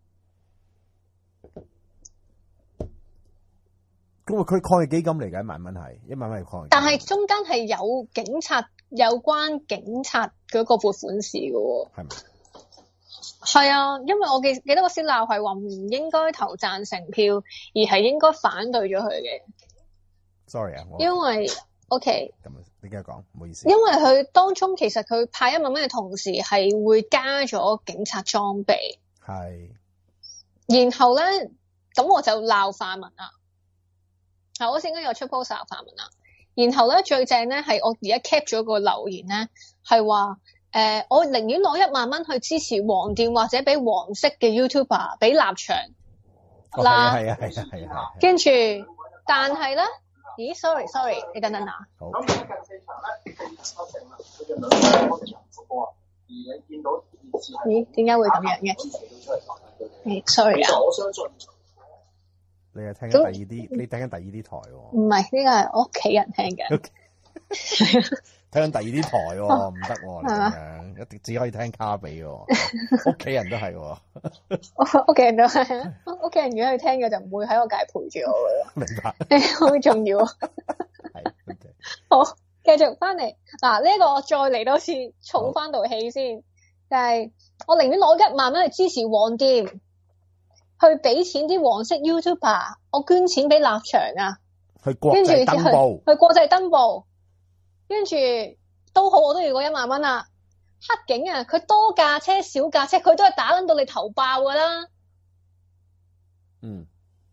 咁佢抗疫基金嚟嘅一萬蚊係一萬蚊係抗疫基金， 但係中間係有警察有關警察嗰個撥款事嘅喎， 係咪？ 係啊，因為我記記得嗰時鬧係話唔應該投贊成票，而係應該反對咗佢嘅。 Sorry 啊，我因為 OK， 咁你繼續講，唔好意思。 因為佢當中其實佢派一萬蚊嘅同時係會加咗警察裝備， 係。 然後咧咁我就鬧泛民啦。係我先應該有出 post 鬧泛民啦。然後咧最正咧係我而家 cap 咗個留言咧係話。誒、呃，我寧願攞一萬蚊去支持黃店或者俾黃色嘅 YouTuber 俾立場啦。係、哦、啊係啊係啊。跟住，但係咧，咦 ？sorry sorry， 你等等啊。好。咁而家近四場咧，四十七勝啦，佢嘅兩場波就贏咗波啊。而你見到咦？點解會咁樣嘅？誒 ，sorry 啊。我相信。 你係聽緊第二啲，你聽緊第二啲台喎、哦。 唔係，呢個係我屋企人聽嘅。 Okay. 睇緊第二啲台喎、哦，唔得喎，咁樣一定只可以聽卡比喎、哦，屋企人都係喎、哦， 屋企人都係，屋企人如果去聽嘅就唔會喺我隔籬陪住我嘅。 明白， 好重要。係， okay. 好，繼續翻嚟嗱，呢、這個我再嚟多次，儲翻道氣先，就係、是、我寧願攞一萬蚊去支持黃店，去俾錢啲黃色 YouTuber， 我捐錢俾立場啊， 去國際登報， 去國際登報。跟住都好，我都要嗰一萬蚊啦。黑警啊，佢多架車少架車，佢都係打撚到你頭爆噶啦。 嗯。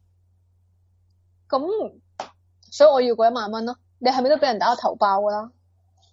咁，所以我要嗰一萬蚊咯。你係咪都俾人打到頭爆噶啦？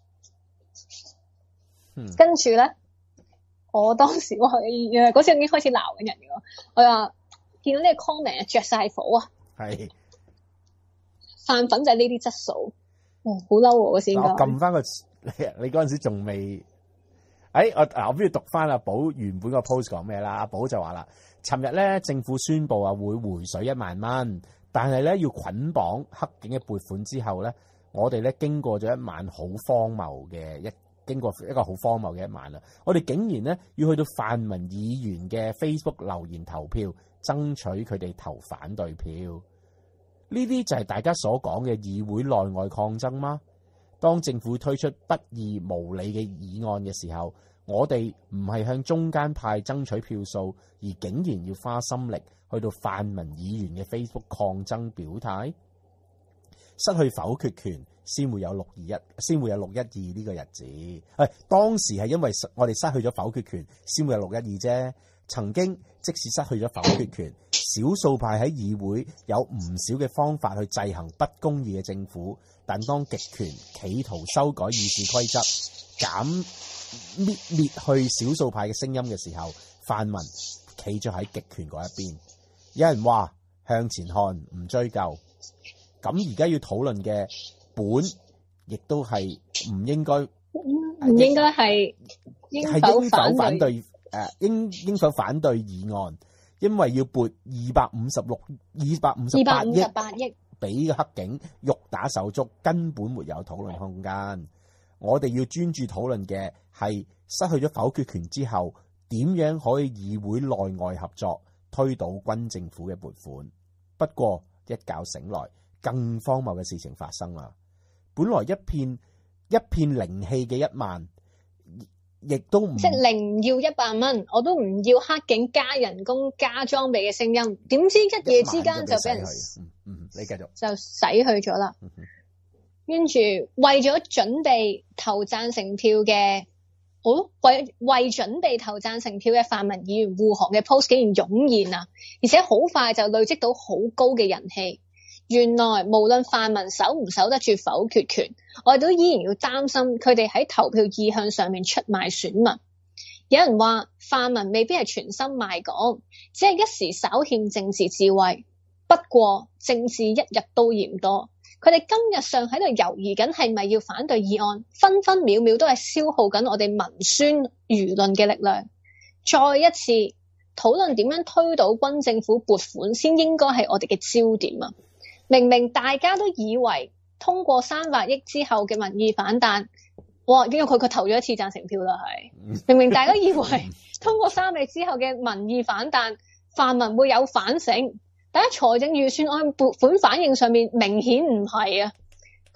嗯。 跟住咧，我當時我誒嗰時已經開始鬧緊人嘅，我話見到呢個 comment 着晒火啊。係。飯粉就係呢啲質素。哦，好嬲喎！嗰時我撳翻個你，你嗰陣時仲未？誒，我嗱，我不如讀翻阿寶原本個 post 講咩啦？阿寶就話啦，尋日咧政府宣布啊會回水一萬蚊，但係咧要捆綁黑警嘅撥款之後咧，我哋咧經過咗一晚好荒謬嘅一，經過一個好荒謬嘅一晚啦。我哋竟然咧要去到泛民議員嘅 Facebook 留言投票，爭取佢哋投反對票。呢啲就係大家所講嘅議會內外抗爭嗎？當政府推出不義無理嘅議案嘅時候，我哋唔係向中間派爭取票數，而竟然要花心力去到泛民議員嘅 Facebook 抗爭表態，失去否決權先會有六二一，先會有六一二呢個日子。誒，當時係因為我哋失去咗否決權，先會有六一二啫。曾經即使失去咗否決權，少數派喺議會有唔少嘅方法去制衡不公義嘅政府，但當極權企圖修改議事規則，減滅滅去少數派嘅聲音嘅時候，泛民企咗喺極權嗰一邊。有人話向前看，唔追究。咁而家要討論嘅本，亦都係唔應該， 唔應該係應否反對？ 誒，應應否反對議案？因為要撥二百五十六、二百五十八億，二百五十八億俾個黑警肉打手足，根本沒有討論空間。我哋要專注討論嘅係失去咗否決權之後，點樣可以議會內外合作推倒軍政府嘅撥款。不過一覺醒來，更荒謬嘅事情發生啦。本來一片一片靈氣嘅一萬。亦都唔即係零要一百蚊，我都唔要黑警加人工加裝備嘅聲音。點知一夜之間就俾人嗯嗯，你繼續就洗去咗啦。跟住為咗準備投贊成票嘅，哦為為準備投贊成票嘅泛民議員護航嘅 post 竟然湧現啊！而且好快就累積到好高嘅人氣。原來無論泛民守唔守得住否決權，我哋都依然要擔心佢哋喺投票意向上面出賣選民。有人話泛民未必係全心賣港，只係一時稍欠政治智慧。不過政治一日都嫌多，佢哋今日上喺度猶豫緊係咪要反對議案，分分秒秒都係消耗緊我哋民宣輿論嘅力量。再一次討論點樣推倒軍政府撥款先應該係我哋嘅焦點啊！明明大家都以為通過三百億之後嘅民意反彈，哇！因為佢佢投咗一次贊成票啦，係明明大家以為通過三百億之後嘅民意反彈，泛民會有反省，但喺財政預算案撥款反應上面明顯唔係啊！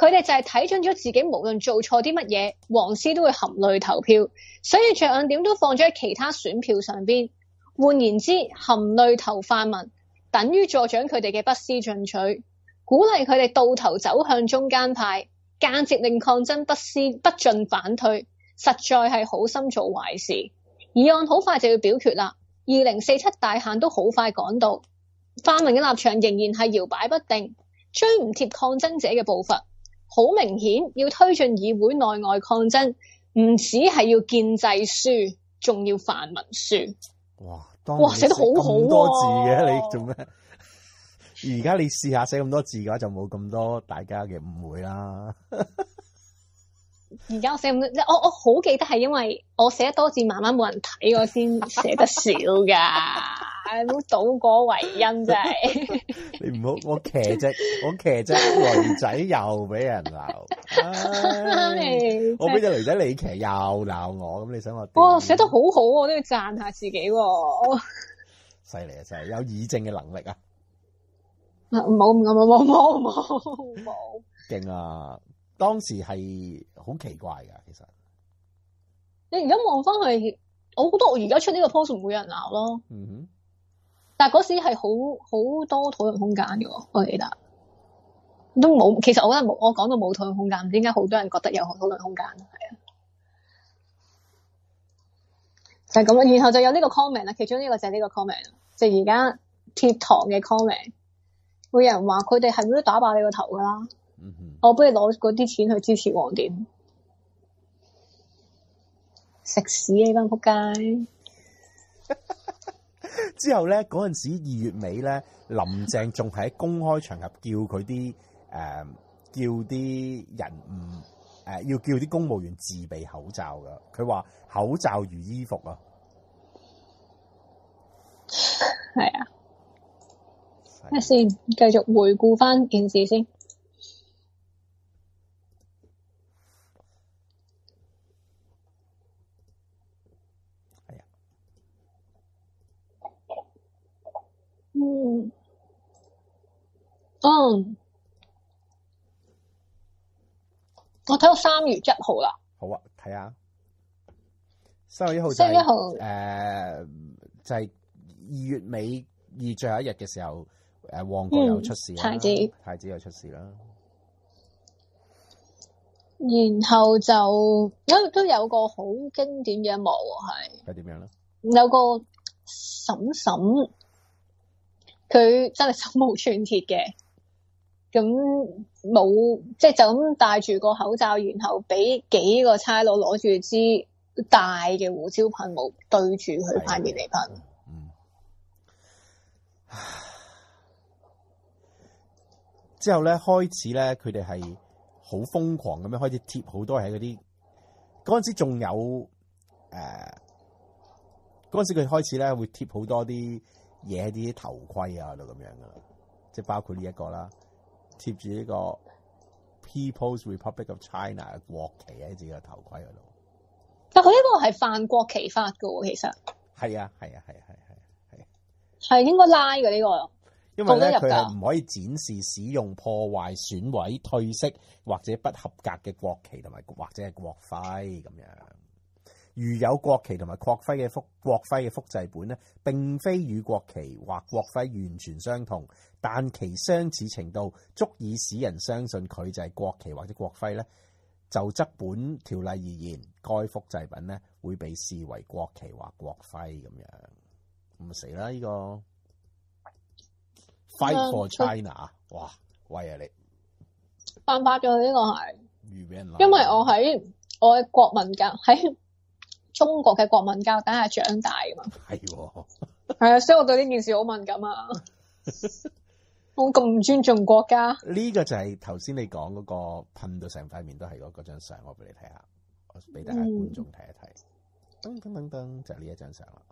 佢哋就係睇準咗自己無論做錯啲乜嘢，黃絲都會含淚投票，所以着眼點都放咗喺其他選票上邊。換言之，含淚投泛民，等於助長佢哋嘅不思進取，鼓勵佢哋到頭走向中間派，間接令抗爭不思不進反退，實在係好心做壞事。議案好快就要表決啦，二零四七大限都好快趕到，泛民嘅立場仍然係搖擺不定，追唔貼抗爭者嘅步伐。好明顯，要推進議會內外抗爭，唔止係要建制輸，仲要泛民輸。 哇！ 哇，寫得好好咁多字嘅， 啊， 你做咩？而家你試下寫咁多字嘅話，就冇咁多大家嘅誤會啦。 而家我寫咁多，我我好記得係因為我寫得多字，慢慢冇人睇，我先寫得少噶，唔好倒果為因，真係。 你唔好我騎只我騎只女仔又俾人鬧，唉我俾隻女仔你騎又鬧我，咁你想我點？ 哇，寫得好好，我都要讚下自己喎。 犀利啊！真係有議政嘅能力啊！ 冇冇冇冇冇冇冇， 勁啊！當時係好奇怪噶，其實你而家望翻去，我覺得我而家出呢個 post 唔會有人鬧咯。 嗯哼， 但係嗰時係好好多討論空間嘅，我記得都冇。其實我覺得冇，我講到冇討論空間，唔知點解好多人覺得有討論空間，係啊，就係咁啦。然後就有呢個 comment 啦，其中呢個就係呢個 comment，就而家貼堂嘅 comment，會有人話佢哋係咪都打爆你個頭噶啦？ 嗯哼， 我不如攞嗰啲錢去支持黃點，食屎啊！呢班仆街。 之後咧，嗰陣時二月尾咧，林鄭仲喺公開場合叫佢啲誒，叫啲人唔誒、呃，要叫啲公務員自備口罩噶。佢話口罩如衣服啊。 係啊。咩先？繼續回顧翻件事先。嗯，嗯，我睇到三月一號啦。 好啊，睇下三月一號就係三月一號誒，就係二月尾二月最後一日嘅時候，誒旺角有出事啦， 太子太子有出事啦。 然後就有都有個好經典嘅一幕係係點樣咧？ 有個嬸嬸。佢真係手無寸鐵嘅，咁冇即係就咁戴住個口罩，然後俾幾個差佬攞住支大嘅胡椒噴霧對住佢塊面嚟噴。 嗯。之後咧，開始咧，佢哋係好瘋狂咁樣開始貼好多喺嗰啲嗰陣時仲有誒，嗰陣時佢開始咧會貼好多啲嘢喺啲頭盔啊度咁樣噶啦，即係包括呢一個啦，貼住呢個 People's Republic of China 嘅國旗喺自己個頭盔嗰度。 但佢呢個係犯國旗法噶喎，其實係啊係啊係啊係啊係啊， 係應該拉嘅呢個。 因為咧佢係唔可以展示使用破壞、損毀、褪色或者不合格嘅國旗同埋或者係國徽咁樣。如有國旗同埋國徽嘅複國徽嘅複製本咧，並非與國旗或國徽完全相同，但其相似程度足以使人相信佢就係國旗或者國徽咧，就則本條例而言，該複製品咧會被視為國旗或國徽咁樣。咁死啦！呢、這個 Fight for China，嗯、哇喂啊你犯法咗呢個係， 預俾人鬧， 因為我喺我嘅國民教喺。中國嘅國民教底下長大噶嘛，係喎，係啊，所以我對呢件事好敏感啊。我咁唔尊重國家， 呢個就係頭先你講嗰個噴到成塊面都係嗰嗰張相，我俾你睇下，我俾大家觀眾睇一睇。噔噔噔噔，就係呢一張相啦。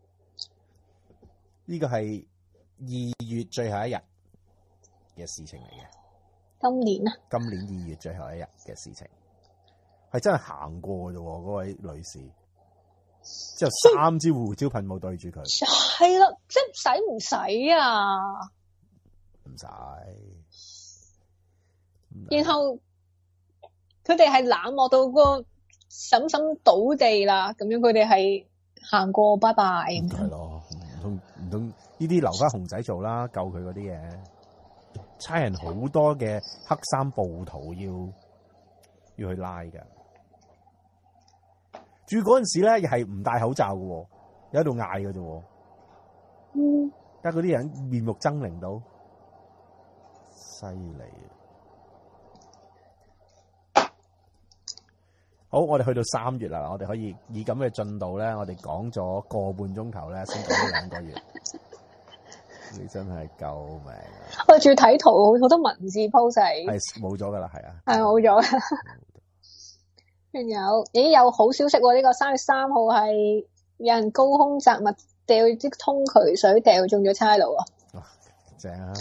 呢個係二月最後一日嘅事情嚟嘅。 今年啊？ 今年二月最後一日嘅事情，係真係行過啫，嗰位女士。之後三支胡椒噴霧對住佢， 係啦，即係使唔使啊？ 唔使。 然後佢哋係冷漠到個嬸嬸倒地啦，咁樣佢哋係行過拜拜咁樣。 係咯，唔通唔通呢啲留翻熊仔做啦，救佢嗰啲嘢。差人好多嘅黑衫暴徒要要去拉噶。住嗰陣時咧，又係唔戴口罩嘅，有喺度嗌嘅啫。 嗯， 但係嗰啲人面目猙獰到，犀利。好，我哋去到三月啦，我哋可以以咁嘅進度咧，我哋講咗個半鐘頭咧，先講咗兩個月。你真係救命啊！ 我仲要睇圖，好多文字 post 係係冇咗噶啦，係啊， 係冇咗。仲有，咦有好消息喎！呢個三月三號係有人高空擲物掉啲通渠水掉中咗差佬啊！ 哇，正啊，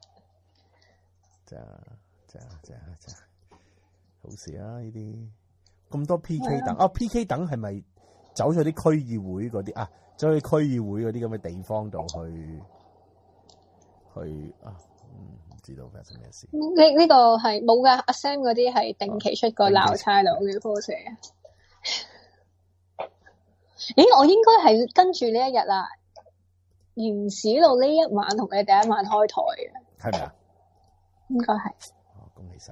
正啊，正啊，正啊，正啊，好事啊！呢啲咁多 P K 等啊 ，P K 等係咪走咗啲區議會嗰啲啊？走去區議會嗰啲咁嘅地方度去去啊？嗯，唔知道發生咩事。 呢呢個係冇噶，阿 Sam 嗰啲係定期出個鬧差佬嘅 post 啊。咦，我應該係跟住呢一日啦，原始路呢一晚同你第一晚開台嘅， 係咪啊？ 應該係。 哦，恭喜晒！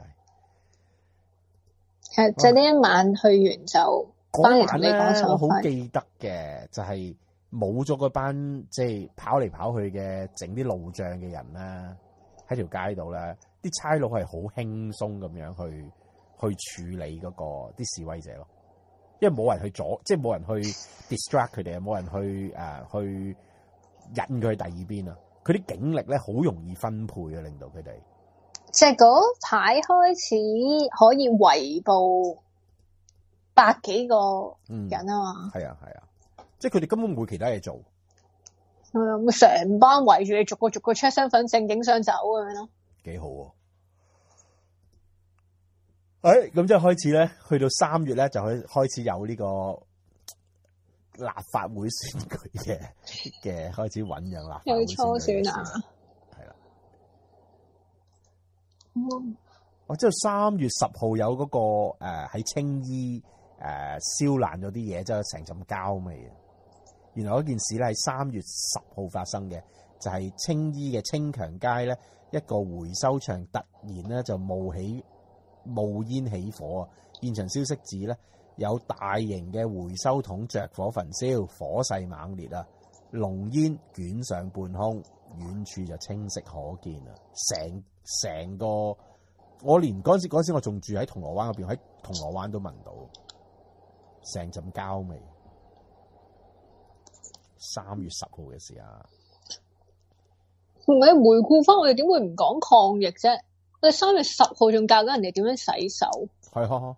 係就呢一晚去完就翻嚟同你講數。 我好記得嘅就係冇咗嗰班即係跑嚟跑去嘅整啲路障嘅人啦，喺條街度咧，啲差佬係好輕鬆咁樣去去處理嗰個啲示威者咯，因為冇人去阻，即係冇人去 distract 佢哋啊，冇人去誒、呃、去引佢去第二邊啊，佢啲警力咧好容易分配啊，令到佢哋。 即係嗰排開始可以圍捕百幾個人啊嘛， 係啊係啊，即係佢哋根本冇其他嘢做， 咁成班圍住你，逐個逐個 check 身份證、影相走咁樣咯， 幾好喎！誒，咁即係開始咧，去到三月咧就開開始有呢個立法會選舉嘅嘅開始醞釀立法會選舉， 有初選啊， 係啦。 嗯， 我知道三月十號有嗰個誒喺青衣誒燒爛咗啲嘢，即係成陣膠味啊！原來嗰件事咧係三月十號發生嘅，就係青衣嘅青強街咧一個回收場突然咧就冒起冒煙起火啊！現場消息指咧有大型嘅回收桶着火焚燒，火勢猛烈啊！濃煙捲上半空，遠處就清晰可見啊！成成個我連嗰陣時嗰陣時我仲住喺銅鑼灣嗰邊，喺銅鑼灣都聞到成陣膠味。三月十號嘅事啊， 唔係回顧翻我哋點會唔講抗疫啫？我哋三月十號仲教緊人哋點樣洗手， 係啊，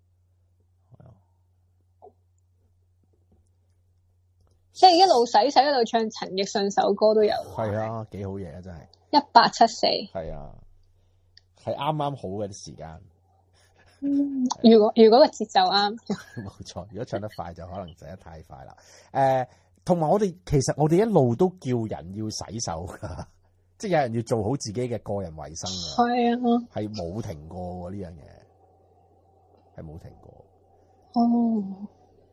即係一路洗洗一路唱陳奕迅首歌都有。 係啊，幾好嘢啊，真係一八七四。 係啊，係啱啱好嘅啲時間。 嗯，如果如果個節奏啱， 冇錯。如果唱得快就可能走得太快啦。誒、呃，同埋我哋其實我哋一路都叫人要洗手噶，即係有人要做好自己嘅個人衛生啊。 係啊， 係冇停過呢樣嘢，係冇停過。 哦，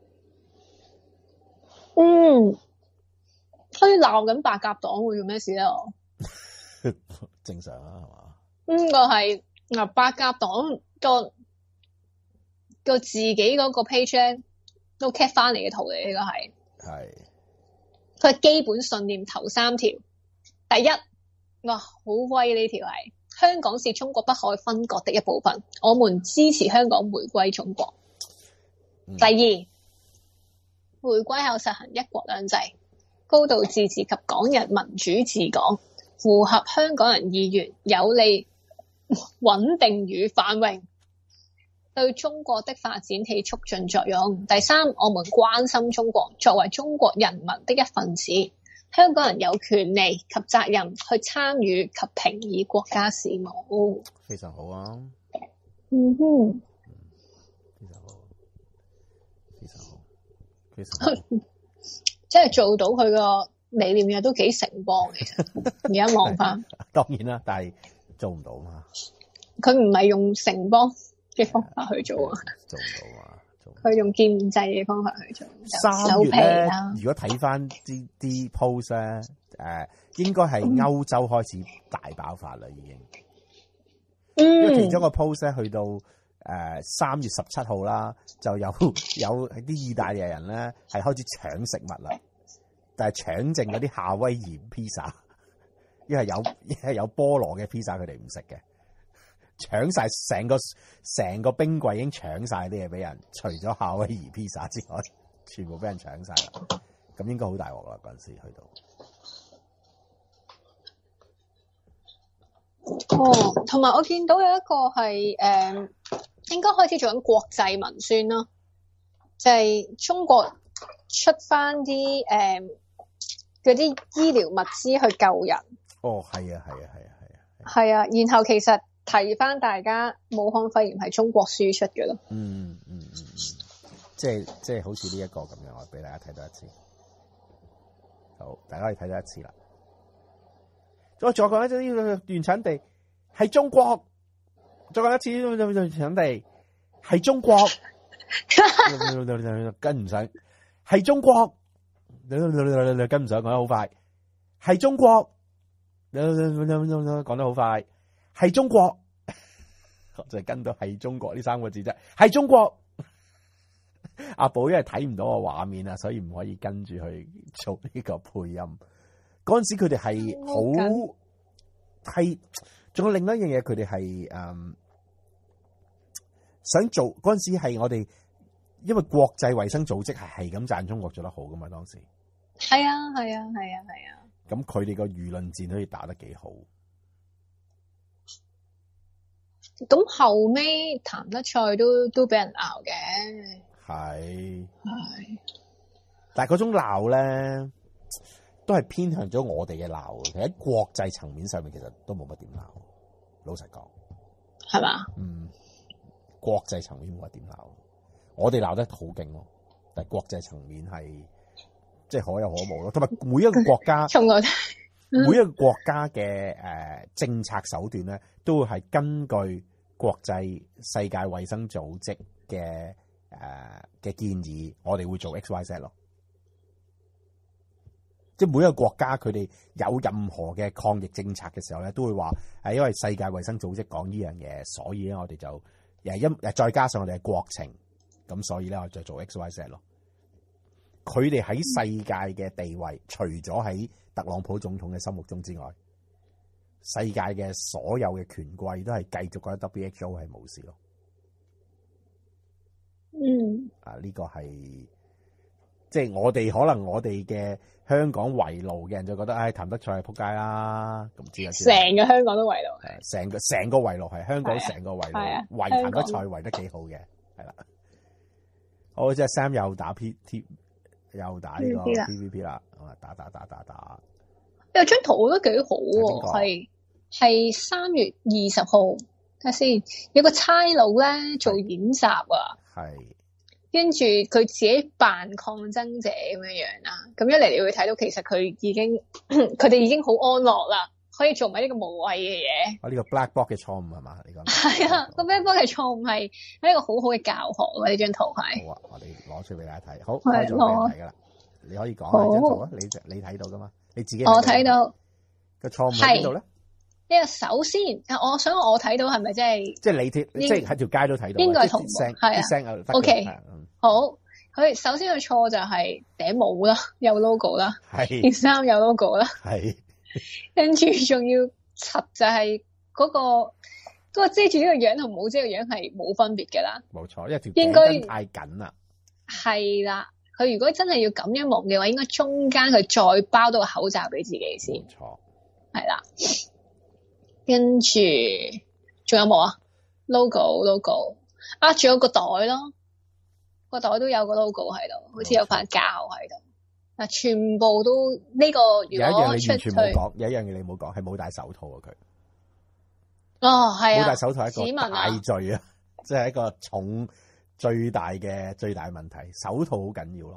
嗯，可以鬧緊白鴿黨會做咩事咧？ 正常啊，係嘛？ 呢個係嗱，白鴿黨個個自己嗰個 page 咧都 cap 翻嚟嘅圖嚟，呢個係係佢基本信念頭三條。第一，哇，好威呢條係香港是中國不可分割的一部分，我們支持香港回歸中國。 嗯、 第二，回歸後實行一國兩制、高度自治及港人民主治港，符合香港人意願，有利穩定與繁榮，對中國的發展起促進作用。第三，我們關心中國，作為中國人民的一份子，香港人有權利及責任去參與及評議國家事務。 非常好啊！ 嗯哼， 非常好，非常好，非常好， 即係做到佢個理念嘅都幾成功嘅。其實而家望翻， 當然啦，但係做唔到嘛。 佢唔係用城邦， 嘅方法去做啊， 做唔到啊！ 佢用建制嘅方法去做。 三月咧，如果睇翻啲啲 post 咧，誒、呃，應該係歐洲開始大爆發啦，已經。嗯。因為其中一個 post 咧，去到誒三月十七號啦，就有有啲意大利人咧係開始搶食物啦，但係搶剩嗰啲夏威夷披薩，因為有因為有菠蘿嘅披薩佢哋唔食嘅。搶晒成個成個冰櫃已經搶晒啲嘢俾人，除咗夏威夷披薩之外，全部俾人搶晒啦。咁應該好大鑊啦，嗰陣時去到。哦，同埋我見到有一個係誒、嗯，應該開始做緊國際文宣咯，就係、是、中國出翻啲誒嗰啲醫療物資去救人。 哦，係啊，係啊，係啊，係啊， 係啊，然後其實。提翻大家，武漢肺炎係中國輸出嘅咯。 嗯嗯嗯嗯，即係即係好似呢一個咁樣，我俾大家睇多一次。好，大家可以睇多一次啦。再再講一次呢個原產地係中國，再講一次呢個原產地係中國，跟唔上係中國，跟唔上講得好快，係中國，講得好快。係中國，我就係跟到係中國呢三個字啫。係中國，阿寶因為睇唔到個畫面啊，所以唔可以跟住去做呢個配音。嗰陣時佢哋係好係，仲有另一樣嘢，佢哋係誒想做。嗰陣時係我哋，因為國際衛生組織係係咁讚中國做得好噶嘛，當時係啊係啊係啊係啊。 咁佢哋個輿論戰可以打得幾好。 咁後尾譚德塞都都俾人鬧嘅， 係係， 但係嗰種鬧咧，都係偏向咗我哋嘅鬧。其實喺國際層面上面，其實都冇乜點鬧。老實講， 係嘛？ 嗯，國際層面冇乜點鬧，我哋鬧得好勁咯。但係國際層面係即係可有可無咯。同埋每一個國家，每一個國家嘅誒政策手段咧，都會係根據國際世界衛生組織嘅誒嘅建議，我哋會做 X Y Z 咯。即係每一個國家佢哋有任何嘅抗疫政策嘅時候咧，都會話係因為世界衛生組織講呢樣嘢，所以咧我哋就誒因誒再加上我哋嘅國情，咁所以咧我哋就做 X Y Z 咯。佢哋喺世界嘅地位，除咗喺特朗普總統嘅心目中之外，世界嘅所有嘅權貴都係繼續覺得 W H O 係冇事咯。 嗯， 啊呢、這個係即係我哋可能我哋嘅香港圍爐嘅人就覺得，唉、哎，譚德塞係撲街啦，咁知啊？ 成個香港都圍爐， 成個成個圍爐係香港成個圍爐圍譚德塞圍得幾好嘅，係啦。好，即係 Sam 又打 P T。又打呢個 P V P 啦，打打打打打。 有張圖都幾好喎，係係三月二十號，睇下先，有個差佬咧做演習啊， 係， 跟住佢自己扮抗爭者咁樣樣啦，咁一嚟你會睇到其實佢已經佢哋已經好安樂啦，可以做埋呢個無謂嘅嘢。 啊，呢個 black box 嘅錯誤係嘛？你講係啊，個 black box 嘅錯誤係係一個好好嘅教學喎，呢張圖係。 好啊，我哋攞出俾大家睇，好，開咗俾你睇噶啦。你可以講下張圖啊，你你睇到噶嘛？你自己我睇到個錯誤喺邊度咧？ 呢個首先，我想我睇到係咪即係即係你貼，即係喺條街都睇到， 應該係同步，係啊。O K，好，佢首先個錯就係頂帽啦，有 logo 啦， 係件衫有 logo 啦， 係， 跟住仲要柒就係嗰個嗰個遮住呢個樣同冇遮個樣係冇分別嘅啦。 冇錯，因為條頸巾太緊啦。係啦。佢如果真係要咁樣蒙嘅話，應該中間佢再包到個口罩俾自己先。 冇錯， 係啦。跟住仲有冇啊 ？logo logo 啊，仲有個袋咯，個袋都有個 logo 喺度，好似有塊膠喺度。嗱，全部都呢、這個如果出去，有一樣你完全冇講， 有一樣嘢你冇講，係冇戴手套啊佢。 哦，係啊， 冇戴手套係一個大罪啊，即係一個重。最大嘅最大嘅問題，手套好緊要咯。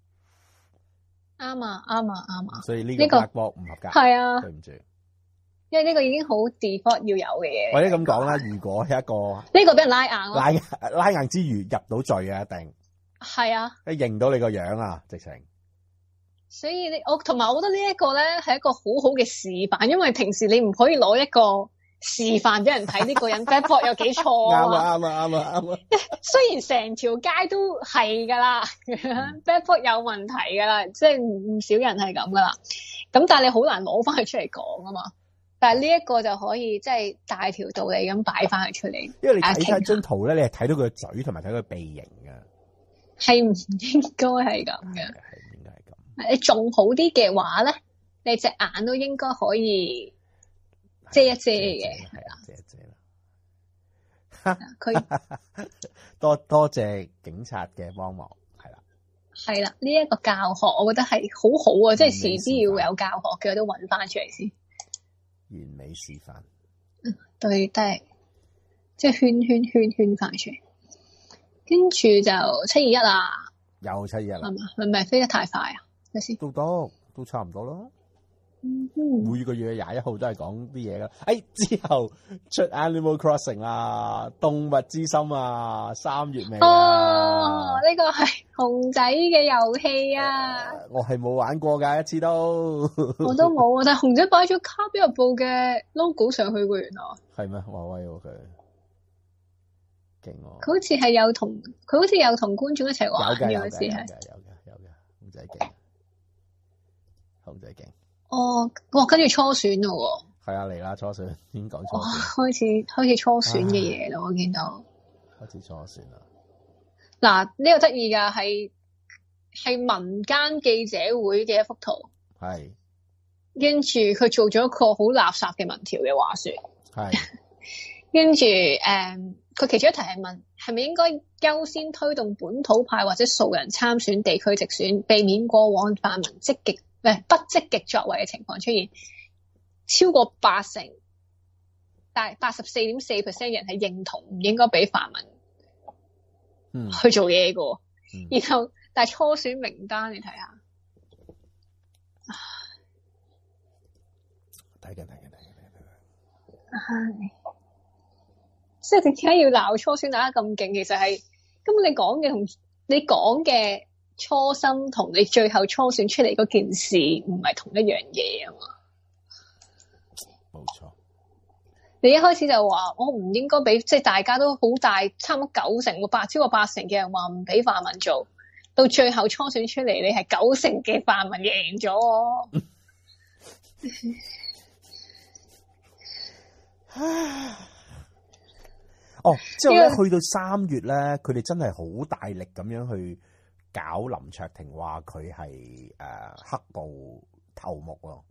啱啊，啱啊，啱啊。 所以呢個 black box 唔合格。 係啊， 對唔住。 因為呢個已經好 default 要有嘅嘢。 或者咁講啦，如果係一個呢個俾人拉硬咯， 拉拉硬之餘入到罪嘅一定係啊， 你認到你個樣啊，直情。 所以你我同埋我覺得呢一個咧係一個好好嘅示範，因為平時你唔可以攞一個示範俾人睇呢個人 bad boy 有幾錯啊。 啱啊啱啊啱啊啱啊！ 雖然成條街都係噶啦，bad boy 有問題噶啦，即係唔少人係咁噶啦。咁但係你好難攞翻佢出嚟講啊嘛。但係呢一個就可以即係大條道理咁擺翻佢出嚟。 因為你睇睇張圖咧，你係睇到佢個嘴同埋睇到佢鼻型嘅， 係唔應該係咁嘅。 係應該係咁。 你仲好啲嘅話咧，你隻眼都應該可以遮一遮嘅，係啦， 遮一遮啦。 佢多多謝警察嘅幫忙，係啦， 係啦，呢一個教學我覺得係好好啊，即係遲啲要有教學嘅，我都揾翻出嚟先。 完美示範， 對，都係即係圈圈圈圈翻出嚟，跟住就七二一啊， 又七二一啦， 係嘛？係咪飛得太快啊？睇先， 都多都差唔多咯。 嗯， 每個月廿一號都係講啲嘢噶。誒，之後出 Animal Crossing 啦，動物之心啊，三月尾哦，呢個係熊仔嘅遊戲啊！ 我係冇玩過㗎，一次都我都冇啊，但係熊仔擺咗卡比日報嘅 logo 上去喎，原來係咩？華威喎佢，勁喎！ 佢好似係有同佢好似有同觀眾一齊玩嘅，好似係有嘅有嘅有嘅，熊仔勁，熊仔勁。 哦，哇！跟住初選咯喎， 係啊，嚟啦初選，已經講初哇！ 選， 開始開始初選嘅嘢咯，我見到開始初選啦。 嗱，呢個得意噶，係係民間記者會嘅一幅圖， 係跟住佢做咗一個好垃圾嘅民調嘅話說， 係跟住誒，佢其中一題係問係咪應該優先推動本土派或者素人參選地區直選，避免過往泛民積極誒不積極作為嘅情況出現，超過八成，但係八十四點四 percent 人係認同唔應該俾泛民嗯去做嘢嘅， 嗯然後但係初選名單你睇下， 睇緊睇緊睇緊睇緊， 唉，即係點解要鬧初選打得咁勁？其實係根本你講嘅同你講嘅初心同你最後初選出嚟嗰件事唔係同一樣嘢啊嘛。 冇錯。 你一開始就話我唔應該俾，即係大家都好大，差唔多九成，八超過八成嘅人話唔俾泛民做，到最後初選出嚟，你係九成嘅泛民贏咗。 哦，之後咧去到三月咧，佢哋真係好大力咁樣去搞林卓廷，話佢係誒黑暴頭目咯。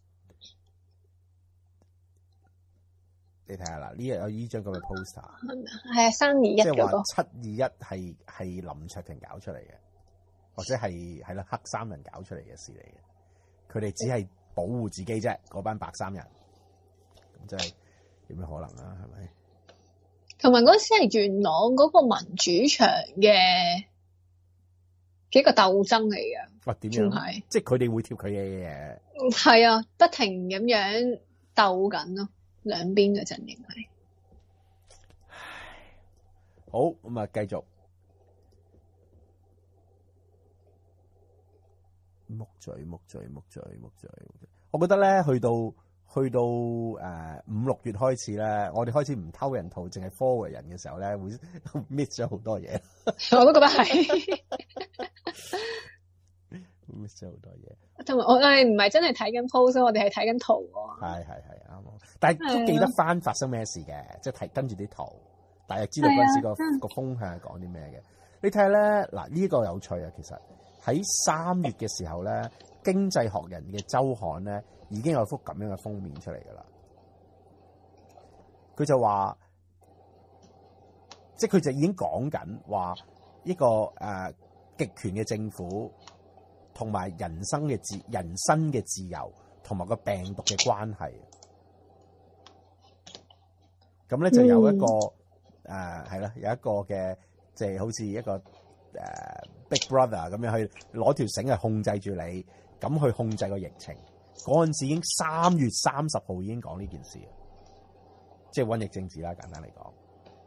你睇下啦，呢日有呢張咁嘅 poster， 係啊，三二一即係嗰個話七二一係係林卓廷搞出嚟嘅，或者係係啦黑衫人搞出嚟嘅事嚟嘅。佢哋只係保護自己啫，嗰班白衫人，咁真係有咩可能啊？係咪？ 同埋嗰時係元朗嗰個民主牆嘅幾個鬥爭嚟嘅。 哇！點樣？ 係即係佢哋會貼佢嘅嘢。 係啊，不停咁樣鬥緊咯，兩邊嘅陣營係。 好，咁啊，繼續木嘴木嘴木嘴木嘴。我覺得咧，去到去到誒五六月開始咧，我哋開始唔偷人圖，淨係 forward 人嘅時候咧，會 miss 咗好多嘢。 我都覺得係 miss 咗好多嘢。 同埋我哋唔係真係睇緊 post，我哋係睇緊圖喎。 係係係啱，但係都記得翻發生咩事嘅，即係睇跟住啲圖，大約知道嗰陣時個個風向係講啲咩嘅。你睇下咧，嗱呢個有趣啊！其實喺三月嘅時候咧，經濟學人嘅週刊咧已經有幅咁樣嘅封面出嚟㗎啦。佢就話，即係佢就已經講緊話一個誒、呃、極權嘅政府同埋人生嘅自人身嘅自由同埋個病毒嘅關係。咁咧就有一個誒係啦，有一個嘅即係好似一個誒、呃、Big Brother 咁樣去攞條繩去控制住你，咁去控制個疫情。 嗰陣時已經三月三十號已經講呢件事，即係瘟疫政治啦，簡單嚟講。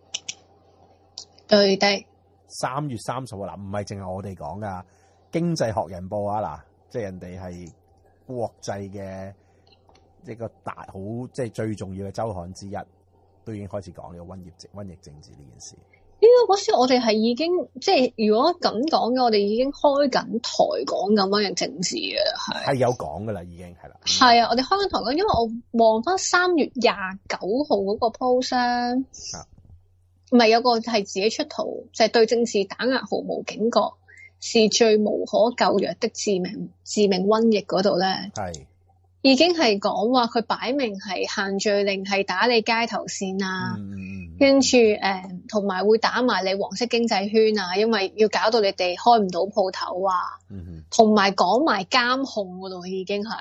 對的。 三月三十號嗱，唔係淨係我哋講噶，經濟學人報啊嗱，即係人哋係國際嘅一個大好，即係最重要嘅週刊之一，都已經開始講呢個瘟疫瘟疫政治呢件事。 應該嗰時我哋係已經即係如果咁講嘅，我哋已經開緊台講緊瘟疫政治嘅，係係有講噶啦，已經係啦。 係啊，我哋開緊台講，因為我望翻三月廿九號嗰個 post 咧，唔係有個係自己出圖，就係、是、對政治打壓毫無警覺，是最無可救藥的致命致命瘟疫嗰度咧，係已經係講話佢擺明係限聚令，係打你街頭線啊，嗯、跟住誒同埋會打埋你黃色經濟圈啊，因為要搞到你哋開唔到鋪頭啊，同埋講埋監控嗰度已經係。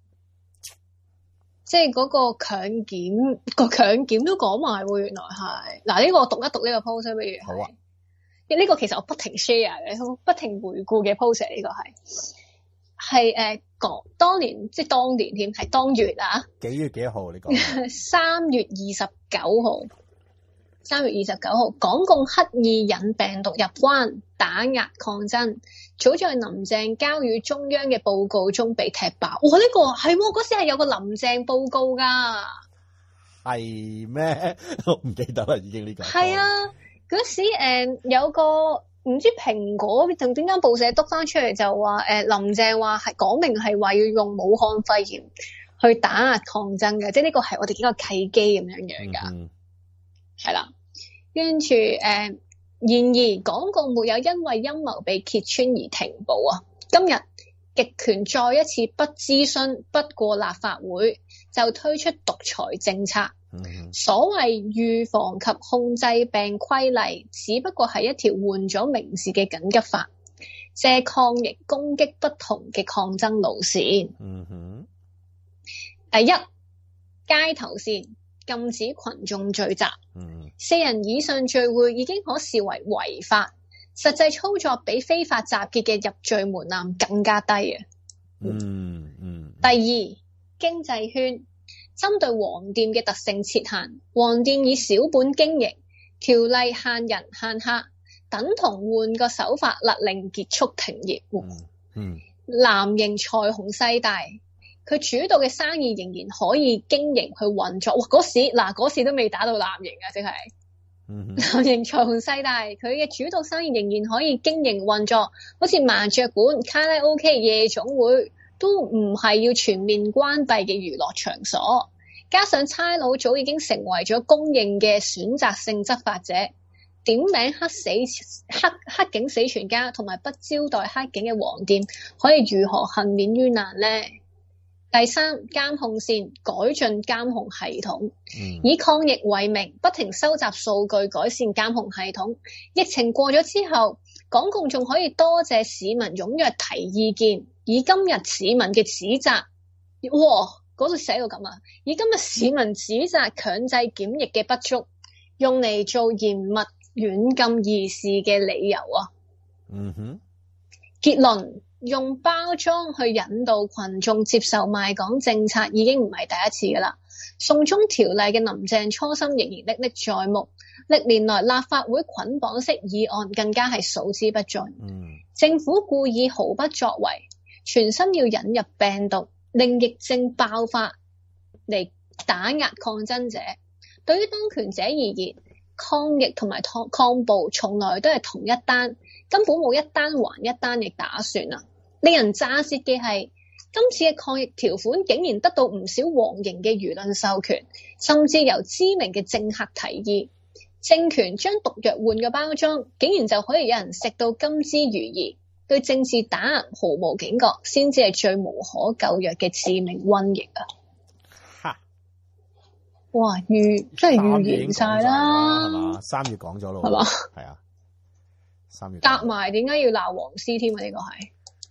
即係嗰個強檢，個強檢都講埋喎，原來係嗱呢個我讀一讀呢個 post 不如好啊？呢個其實我不停 share 嘅，不停回顧嘅 post 呢個係係誒講當年即係當年添係當月啊幾月幾號你講？三月二十九號，三月二十九號，港共刻意引病毒入關，打壓抗爭。早在林鄭交予中央嘅報告中被踢爆。哇！呢、這個係嗰時係有個林鄭報告㗎，係咩？我唔記得啦，已經呢個係啊。嗰時誒、呃、有個唔知蘋果同邊間報社督翻出嚟就話誒、呃、林鄭話係講明係話要用武漢肺炎去打壓抗爭嘅，即係呢個係我哋幾個契機咁樣樣㗎，係、嗯、啦。跟住誒。然而，港共沒有因為陰謀被揭穿而停步啊！今日極權再一次不諮詢、不過立法會就推出獨裁政策。嗯、所謂預防及控制病規例，只不過係一條換咗名字嘅緊急法，借抗疫攻擊不同嘅抗爭路線。嗯哼，第一，街頭線禁止群眾聚集。嗯，四人以上聚會已經可視為違法，實際操作比非法集結嘅入罪門檻更加低啊！嗯嗯。第二，經濟圈針對黃店嘅特性設限，黃店以小本經營，條例限人限客，等同換個手法勒令結束停業。嗯嗯。藍營財雄勢大。佢主導嘅生意仍然可以經營去運作，哇！嗰時嗱嗰時都未打到藍營啊，即係，嗯、藍營財雄勢大，佢嘅主導生意仍然可以經營運作，好似麻雀館、卡拉 OK、夜總會都唔係要全面關閉嘅娛樂場所，加上差佬早已經成為咗公認嘅選擇性執法者，點名黑死黑黑警死全家，同埋不招待黑警嘅黃店，可以如何幸免於難呢？第三，監控線改進監控系統，嗯、以抗疫為名，不停收集數據改善監控系統。疫情過咗之後，港共仲可以多謝市民踴躍提意見，以今日市民嘅指責，哇，嗰度寫到咁啊！以今日市民指責強制檢疫嘅不足，用嚟做嚴密軟禁議事嘅理由啊！嗯哼，結論。用包裝去引導群眾接受賣港政策已經唔係第一次噶啦。送中條例嘅林鄭初心仍然歷歷在目，歷年來立法會捆綁式議案更加係數之不盡。嗯、政府故意毫不作為，全心要引入病毒，令疫症爆發嚟打壓抗爭者。對於當權者而言，抗疫同埋抗抗暴從來都係同一單，根本冇一單還一單嘅打算啊！令人咋舌嘅係，今次嘅抗疫條款竟然得到唔少黃營嘅輿論授權，甚至由知名嘅政客提議，政權將毒藥換個包裝，竟然就可以有人食到甘之如飴。對政治打壓毫無警覺，先至係最無可救藥嘅致命瘟疫啊！哈！哇，預真係預言晒啦，係嘛？三月講咗咯，係嘛？係啊，三月夾埋，點解要鬧黃絲添啊？呢個係。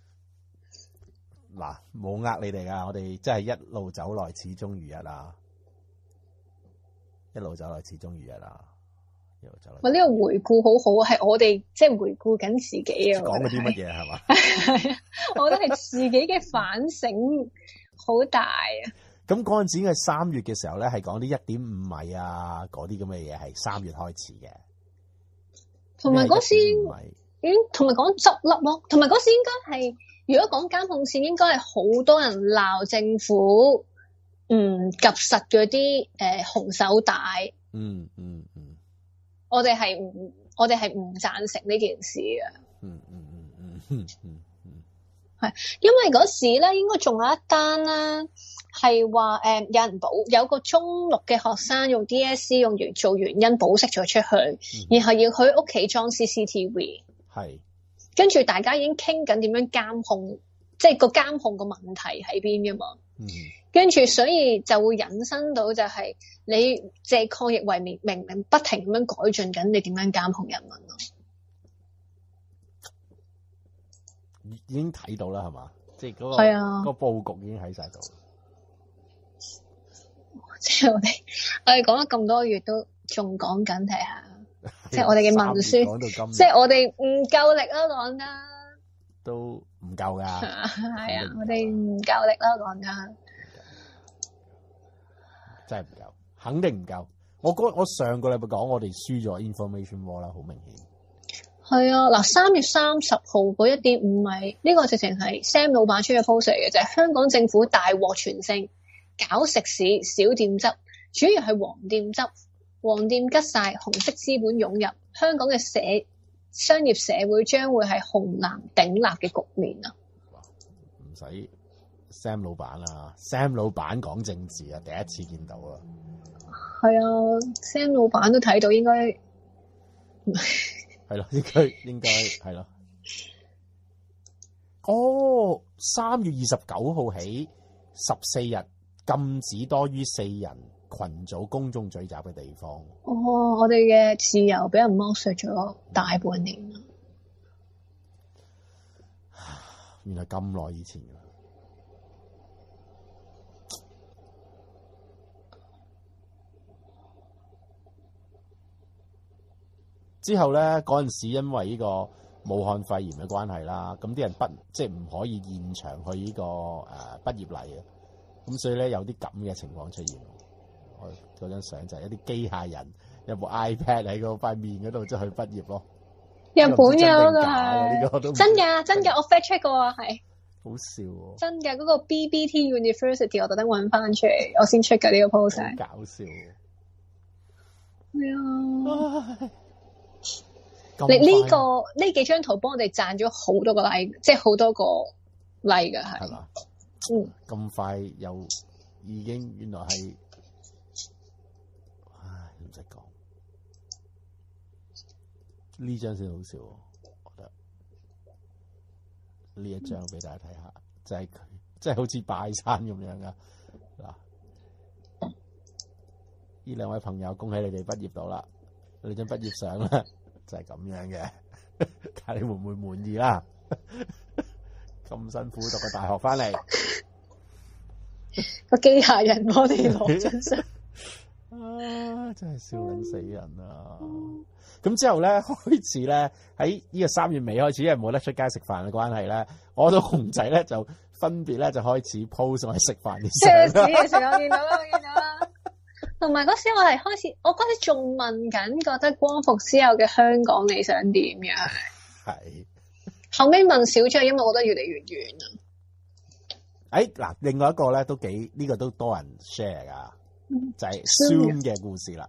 嗱，冇呃你哋噶，我哋真係一路走來始終如一啊！一路走來始終如一啊！一路走來。喂，呢個回顧好好啊，係我哋即係回顧緊自己啊！講嗰啲乜嘢係嘛？係啊，我覺得係自己嘅反省， 好大啊！ 咁嗰陣時係三月嘅時候咧，係講啲一點五米啊，嗰啲咁嘅嘢係三月開始嘅。 同埋嗰時已經同埋講執笠咯，同埋嗰時應該係，如果講監控線，應該係好多人鬧政府唔及實嗰啲誒紅手帶。 嗯嗯嗯， 我哋係唔，我哋係唔贊成呢件事嘅。 嗯嗯嗯嗯嗯嗯嗯， 係因為嗰時咧，應該仲有一單啦。係話誒，有人保有個中六嘅學生用 D S C 用完做原因保釋咗出去，嗯、然後要佢屋企裝 C C T V， 係跟住大家已經傾緊點樣監控，即係個監控個問題喺邊噶嘛。嗯、跟住所以就會引申到就係你借抗疫為名，明明不停咁樣改進緊，你點樣監控人民咯？ 已經睇到啦，係嘛？即係嗰個係啊， 個佈局已經喺晒度。 即係我哋，我哋講咗咁多月都仲講緊，睇下，即係我哋嘅文書，即係我哋唔夠力啦，講得都唔夠噶，係啊，我哋唔夠力啦，講得真係唔夠，肯定唔夠。我嗰我上個禮拜講，我哋輸咗 information war 啦，好明顯。係啊，嗱，三月三十號嗰一點五米，呢個直情係 Sam 老闆出嘅 post 嚟嘅，就係香港政府大獲全勝。搞食肆小店執，主要係黃店執，黃店吉晒，紅色資本湧入，香港嘅社商業社會將會係紅藍鼎立嘅局面啊！ 唔使 Sam 老闆啊 ，Sam 老闆講政治啊，第一次見到啊！ 係啊 ，Sam 老闆都睇到應該係咯，應該應該係咯。哦，三月二十九號起十四日。禁止多於四人群組公眾聚集嘅地方。 哦，我哋嘅自由俾人剝削咗大半年啦。 原來咁耐以前㗎。之後咧，嗰陣時因為呢個武漢肺炎嘅關係啦，咁啲人不即係唔可以現場去呢、這個誒畢業禮啊。咁所以咧有啲咁嘅情況出現，我嗰張相就係一啲機械人有部 iPad 喺嗰塊面嗰度，即係去畢業咯。 日本有㗎係真㗎，真㗎，我 fact check 過啊，係好笑喎！ 真㗎，嗰個 B B T University 我特登揾翻出嚟，我先出㗎呢個 post。 好搞笑喎！ 係啊，你呢個呢幾張圖幫我哋賺咗好多個 like， 即係好多個 like 㗎係。係嘛？嗯， 咁快又已經原來係，唉，唔使講，呢張先好笑，我覺得呢一張俾大家睇下，就係佢，即係好似拜山咁樣噶嗱。呢兩位朋友，恭喜你哋畢業到啦！你張畢業相咧就係咁樣嘅，睇下你會唔會滿意啦？咁辛苦讀個大學翻嚟， 個機械人幫你攞張相啊！真係笑緊死人啊！咁之後咧，開始咧喺呢個三月尾開始，因為冇得出街食飯嘅關係咧，我同熊仔咧就分別咧就開始 post 我哋食飯啲相。 嘅時候我見到啦，我見到啦。同埋嗰時我係開始，我嗰時仲問緊，覺得光復之後嘅香港你想點樣？係。後尾問少咗，因為我覺得越嚟越遠啊。 誒，嗱，另外一個咧都幾呢、這個都多人 share 噶，嗯、就係 Zoom 嘅故事啦。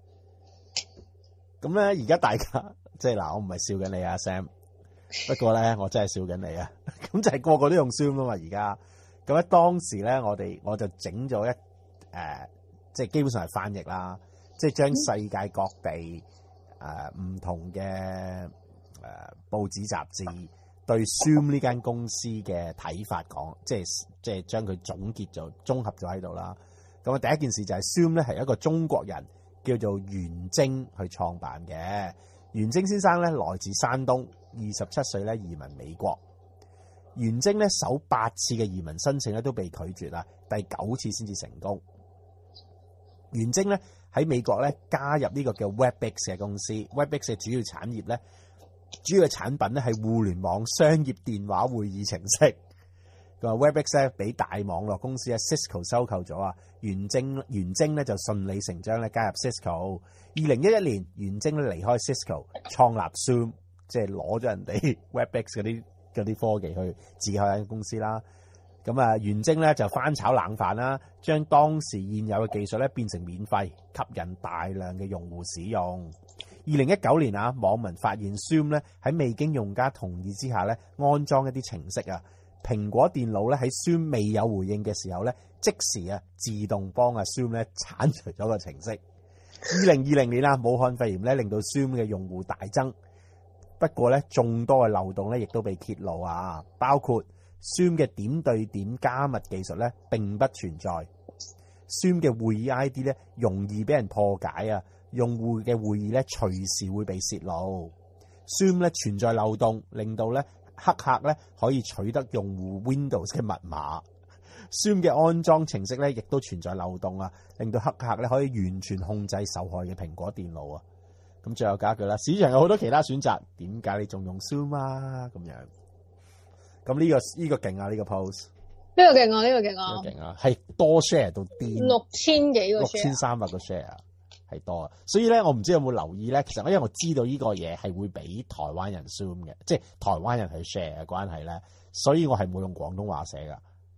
咁咧而家大家即係嗱，我唔係笑緊你啊 Sam，不過咧我真係笑緊你啊。咁就係個個都用 Zoom 啊嘛，而家咁咧當時咧我哋我就整咗一誒、呃，即係基本上係翻譯啦，即係將世界各地誒唔、呃、同嘅誒、呃、報紙雜誌對 Zoom 呢間公司嘅睇法講，即係即係將佢總結咗、綜合咗喺度啦。咁啊，第一件事就係 Zoom 咧係一個中國人叫做袁征去創辦嘅。袁征先生咧來自山東，二十七歲咧移民美國。袁征咧首八次嘅移民申請咧都被拒絕啦，第九次先至成功。袁征咧喺美國咧加入呢個叫 Webex 嘅公司 ，Webex 嘅主要產業咧。主要嘅產品咧係互聯網商業電話會議程式， 咁啊 Webex 咧俾大網絡公司咧 Cisco 收購咗啊，元晶元晶咧就順理成章咧加入 Cisco。二零一一年，元晶咧離開 Cisco， 創立 Zoom， 即係攞咗人哋 Webex 嗰啲嗰啲科技去自己開間公司啦。咁啊，元晶咧就翻炒冷飯啦，將當時現有嘅技術咧變成免費，吸引大量嘅用戶使用。二零一九年啊，網民發現 Zoom 咧喺未經用家同意之下咧安裝一啲程式啊。蘋果電腦咧喺 Zoom 未有回應嘅時候咧，即時啊自動幫啊 Zoom 咧剷除咗個程式。二零二零年啊，武漢肺炎咧令到 Zoom 嘅用戶大增，不過咧眾多嘅漏洞咧亦都被揭露啊，包括 Zoom 嘅點對點加密技術咧並不存在 ，Zoom 嘅會議 I D 咧容易俾人破解啊，用戶嘅會議咧隨時會被泄露 ，Zoom 咧存在漏洞，令到咧黑客咧可以取得用戶 Windows 嘅密碼。Zoom 嘅安裝程式咧亦都存在漏洞啊，令到黑客咧可以完全控制受害嘅蘋果電腦啊。咁最後加一句啦，市場有好多其他選擇，點解你仲用 Zoom 啊？咁樣，咁呢、這個呢、這個勁啊！呢、這個 post 呢個勁啊！呢、這個勁啊！ 呢個勁啊！係多 share 到癲， 六千幾個 share， 六千三百個 share 係多啊！所以咧，我唔知有冇留意咧。其實因為我知道呢個嘢係會俾台灣人 Zoom 嘅，即係台灣人去 share 嘅關係咧，所以我係冇用廣東話寫噶。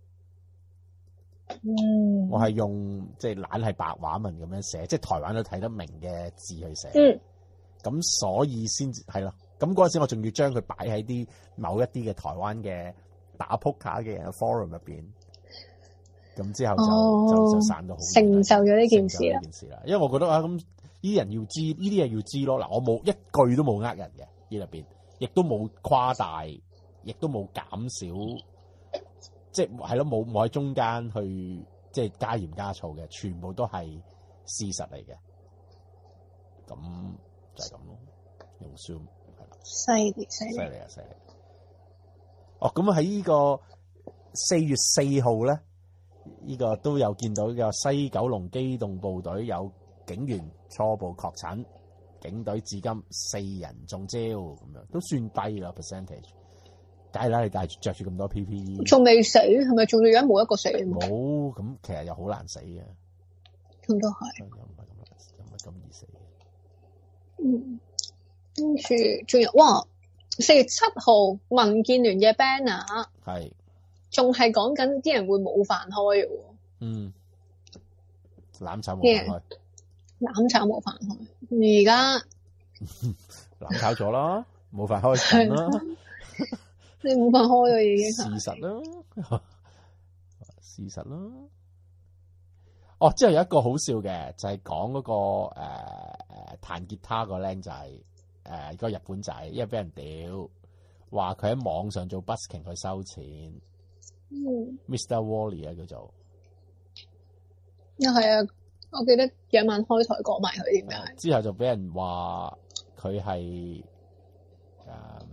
嗯， 我係用即係懶係白話文咁樣寫，即係台灣都睇得明嘅字去寫。 嗯， 咁所以先至係咯。咁嗰陣時我仲要將佢擺喺啲某一啲嘅台灣嘅打撲克嘅人嘅 forum 入邊。咁之後就、哦、就就散到好成就咗呢件事啦。 呢件事啦，因為我覺得啊，咁呢啲人要知，呢啲嘢要知咯。嗱，我冇一句都冇呃人嘅呢入邊，亦都冇誇大，亦都冇減少。即係係咯，冇冇喺中間去即係加鹽加醋嘅，全部都係事實嚟嘅。咁就係咁咯，用 Zoom 係啦， 犀利犀利， 犀利啊犀利！哦，咁喺呢個四月四號咧，呢、這個都有見到嘅西九龍機動部隊有警員初步確診，警隊至今四人中招，咁樣都算低啦 percentage。梗係啦，你帶住著住咁多 P P E， 仲未死，係咪仲到而家冇一個死？ 冇，咁其實又好難死嘅。 咁都係， 又唔係咁難，又唔係咁易死嘅。 嗯，跟住仲有，哇！四月七號民建聯嘅 banner 係， 仲係講緊啲人會冇飯開嘅喎。 嗯，攬炒冇飯開， 攬炒冇飯開，而家攬炒咗啦，冇飯開緊啦。 你冇飯開啊，已經事實啦，事實啦。哦，之後有一個好笑嘅，就係講嗰個誒誒彈吉他個僆仔，誒、呃嗰個日本仔，因為俾人屌，話佢喺網上做 busking 去收錢。 嗯 ，Mister Wally 啊，叫做。 啊，係啊，我記得有晚開台講埋佢點解。 之後就俾人話佢係誒。呃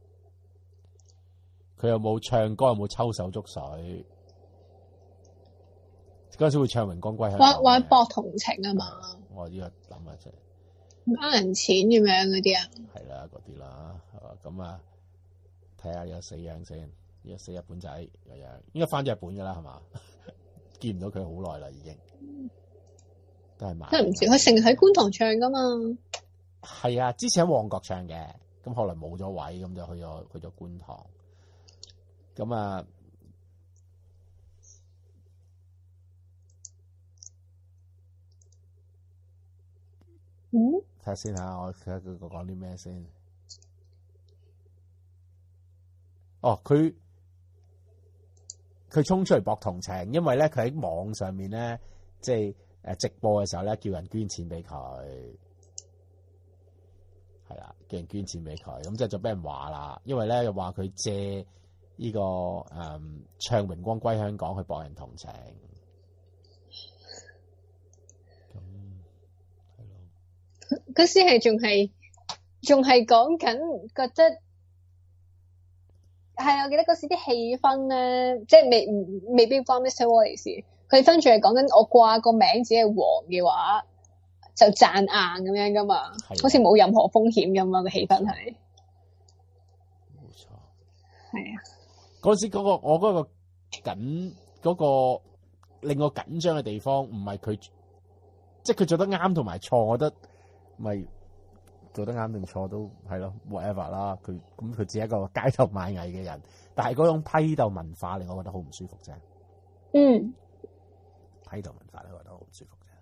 佢又冇唱歌，又冇抽手捉水。嗰陣時會唱榮光歸香港。 話話博同情啊嘛。 我呢個諗下啫。 呃人錢咁樣嗰啲啊。 係啦，嗰啲啦。咁啊，睇下有死樣先。呢個死日本仔個樣，應該翻咗日本噶啦，係嘛？見唔到佢好耐啦，已經。都係慢。真係唔知，佢成日喺觀塘唱噶嘛。係啊，之前喺旺角唱嘅，咁後來冇咗位，咁就去咗去咗觀塘。咁啊，嗯，睇下先吓，我睇下佢講啲咩先。哦，佢佢衝出嚟博同情，因為咧佢喺網上面咧，即係誒直播嘅時候咧，叫人捐錢俾佢，係啦，叫人捐錢俾佢，咁即係就俾人話啦，因為咧又話佢借。呢、這個誒、嗯、唱榮光歸香港去博人同情，咁係咯。嗰時係仲係仲係講緊，覺得係我記得嗰時啲氣氛咧，即係未未必關 Mister Wally 事。佢分住係講緊我掛個名只係黃嘅話，就賺硬咁樣噶嘛，好似冇任何風險咁樣嘅氣氛係。冇錯，係啊。嗰時嗰、嗰個我嗰個緊嗰個令我緊張嘅地方，唔係佢，即係佢做得啱同埋錯，我覺得咪做得啱定錯都係咯 whatever 啦。佢咁佢只係一個街頭賣藝嘅人，但係嗰種批鬥文化令我覺得好唔舒服啫。 嗯， 批鬥文化令我覺得好唔舒服啫。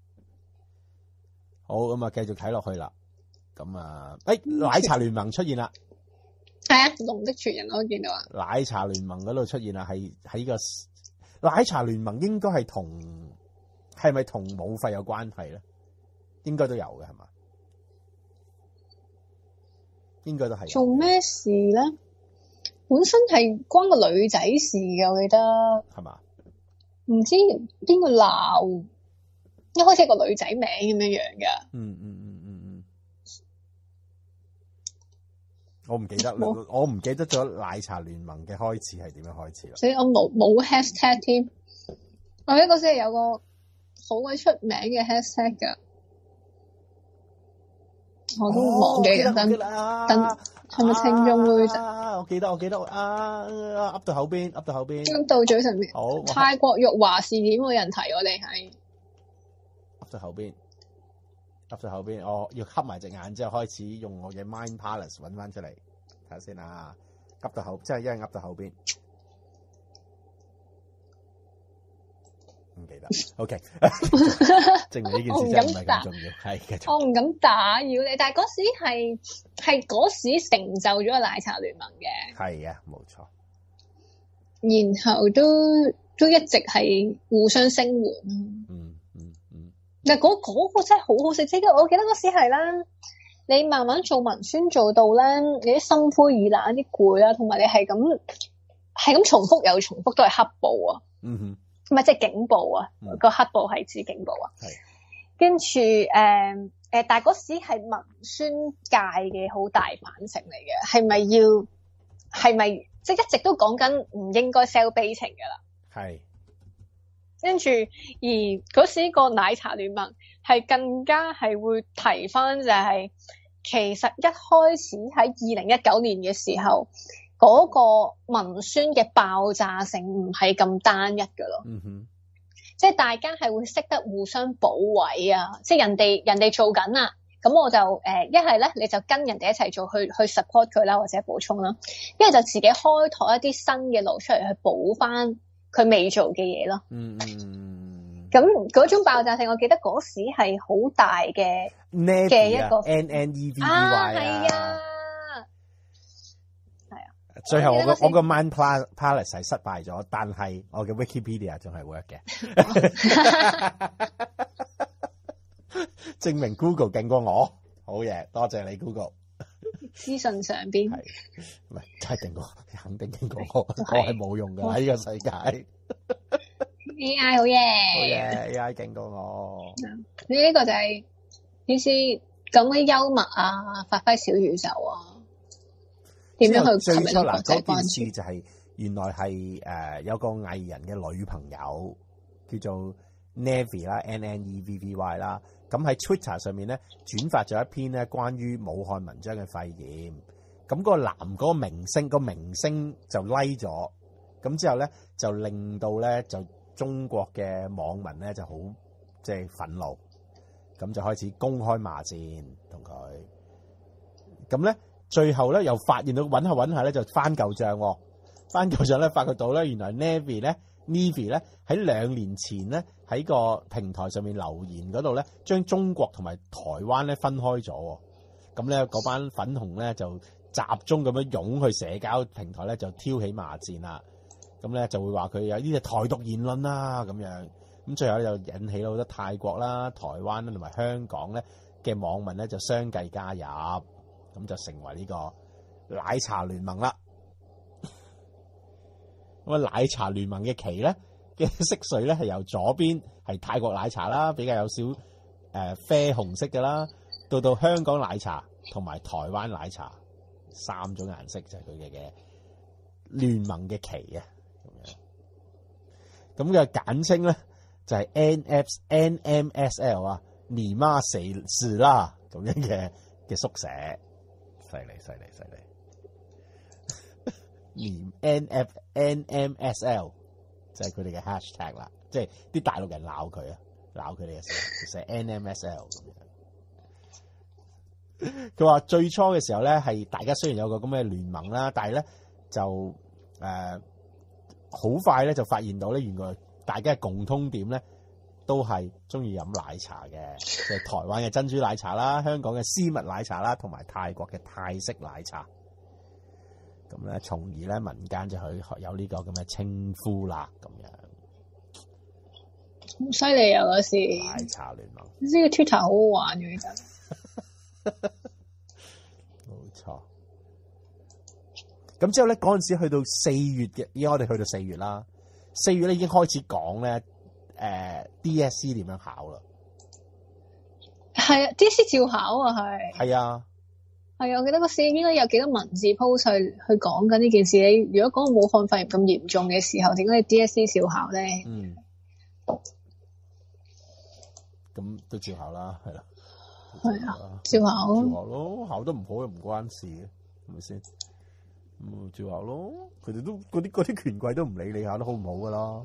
好，咁啊，繼續睇落去啦。咁啊，誒、欸，奶茶聯盟出現啦。 係啊，龍的傳人我都見到啊。 奶茶聯盟嗰度出現啦，係喺個奶茶聯盟應該係同係咪同武肺有關係咧？應該都有嘅係嘛？應該都係。 做咩事咧？本身係關個女仔事嘅，我記得係嘛？唔知邊個鬧，一開始係個女仔名咁樣樣嘅。 嗯嗯嗯嗯嗯，我唔記得啦，我唔記得咗奶茶聯盟嘅開始係點樣開始啦。 所以我冇冇 hashtag 添。我記得嗰時係有個好鬼出名嘅 hashtag 噶，我都忘記咗。等等，係咪聽眾會？ 啊，我記得，我記得啊，噏到口邊，噏到口邊， 噏到嘴唇邊。 好， 泰國玉華事件冇人提，我哋係噏到口邊，噏到口邊，我要瞌埋隻眼之後開始用我嘅 Mind Palace 揾翻出嚟睇下先啊！噏到口，即係因為噏到口邊，唔記得。OK， 證明呢件事真係唔係咁重要。係繼續。 我唔敢打擾你，但係嗰時係係嗰時成就咗個奶茶聯盟嘅。 係啊，冇錯。 然後都都一直係互相聲援。 嗯嗯嗯。 但係嗰嗰個真係好好食，即係我記得嗰時係啦，你慢慢做文宣做到咧，你啲心灰意冷、啲攰啦，同埋你係咁係咁重複又重複都係黑暴啊。 嗯哼。 唔係即係警暴啊，嗯，個黑暴係指警暴啊。係。跟住誒誒，但係嗰時係文宣界嘅好大反省嚟嘅，係咪要係咪即係一直都講緊唔應該 sell 悲情㗎啦？係。跟住而嗰時個奶茶聯盟係更加係會提翻就係、是，其實一開始喺二零一九年嘅時候，嗰、那個文宣嘅爆炸性唔係咁單一㗎咯。嗯哼，即係大家係會識得互相補位啊，即係人哋人哋做緊啊，咁我就誒一係咧你就跟人哋一齊做去去 support 佢啦，或者補充啦，一係就自己開拓一啲新嘅路出嚟去補翻佢未做嘅嘢咯。嗯嗯，咁嗰種爆炸性，我記得嗰時係好大嘅嘅一個 N N E V V Y 啊，係啊，係啊。 最後我個我個 Mind Palace 係失敗咗，但係我嘅 Wikipedia 仲係 work 嘅，證明 Google 勁過我。好嘢，多謝你 Google。 資訊上邊係唔係真係勁過，肯定勁過我。我係冇用噶喺呢個世界。 A I 好嘢， 好嘢 A I 勁過我。 你呢個就係意思咁嘅幽默啊，發揮小宇宙啊，點樣去吸引國際關注？ 件事就係原來係誒、呃、有個藝人嘅女朋友叫做 Navy 啦 ，N N E V V Y 啦。咁喺 Twitter 上面咧轉發咗一篇咧關於武漢文章嘅肺炎，咁、那個男嗰個明星、那個明星就 like 咗，咁之後咧就令到咧就中國嘅網民咧就好即係憤怒，咁就開始公開罵戰同佢，咁咧最後咧又發現到揾下揾下咧就翻舊賬，翻舊賬咧發覺到咧原來 Navy 咧 Navy 咧喺兩年前咧。喺個平台上面留言嗰度咧，將中國同埋台灣咧分開咗，咁咧嗰班粉紅咧就集中咁樣湧去社交平台咧，就挑起罵戰啦。咁咧就會話佢有呢啲台獨言論啦，咁樣咁最後咧就引起咗好多泰國啦、台灣啦同埋香港咧嘅網民咧就相繼加入，咁就成為呢個奶茶聯盟啦。咁啊，奶茶聯盟嘅旗咧。嘅色水咧係由左邊係泰國奶茶啦，比較有少誒、呃、啡紅色嘅啦，到到香港奶茶同埋台灣奶茶三種顏色就係佢哋嘅聯盟嘅旗啊，咁樣咁嘅簡稱咧就係 N F N M S L 啊，尼媽死事啦咁樣嘅嘅縮寫，犀利犀利犀利。 連 N F N M S L 就係佢哋嘅 hashtag 啦，即係啲大陸人鬧佢啊，鬧佢哋嘅時候就寫 N M S L 咁樣。佢話最初嘅時候咧，係大家雖然有個咁嘅聯盟啦，但係咧就誒好快咧就發現到咧，原來大家嘅共通點咧都係中意飲奶茶嘅，即係台灣嘅珍珠奶茶啦，香港嘅絲襪奶茶啦，同埋泰國嘅泰式奶茶。咁咧，從而咧民間就去有呢個咁嘅稱呼啦，咁樣。 好犀利啊！嗰時奶茶聯盟呢個 Twitter 好好玩嘅，其實。 冇錯。咁之後咧，嗰陣時去到四月嘅，而家我哋去到四月啦。四月咧已經開始講咧，誒、呃、D S E 點樣考啦。 係啊 ，D S E 照考啊，係。 係啊。 係啊，我記得嗰時應該有幾多文字 post 去去講緊呢件事。你如果講武漢肺炎咁嚴重嘅時候，點解你 D S E 照考咧？ 嗯。咁都照考啦，係啦。 係啊，照考。 照考咯，考得唔好又唔關事嘅，係咪先？咁照考咯，佢哋都嗰啲嗰啲權貴都唔理你考得好唔好噶啦。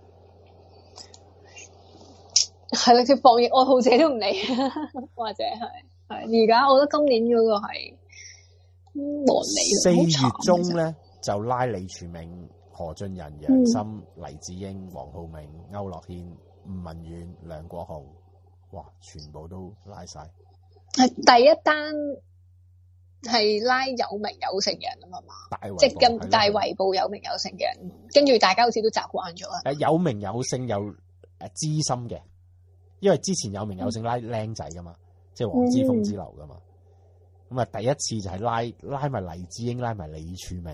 係啦，佢防疫愛好者都唔理，或者係係而家，我覺得今年嗰個係冇理。 四月中咧就拉李柱銘、何俊仁、楊森、嗯、黎智英、黃浩銘、區諾軒、吳文遠、梁國雄，哇，全部都拉晒。 係第一單係拉有名有姓嘅人啊嘛，即係咁大圍捕有名有姓嘅人，跟住大家好似都習慣咗啦。 誒，有名有姓有誒資深嘅，因為之前有名有姓拉僆仔噶嘛，嗯、即係黃之鋒之流噶嘛。咁啊、嗯，第一次就係拉拉埋黎智英，拉埋李柱銘。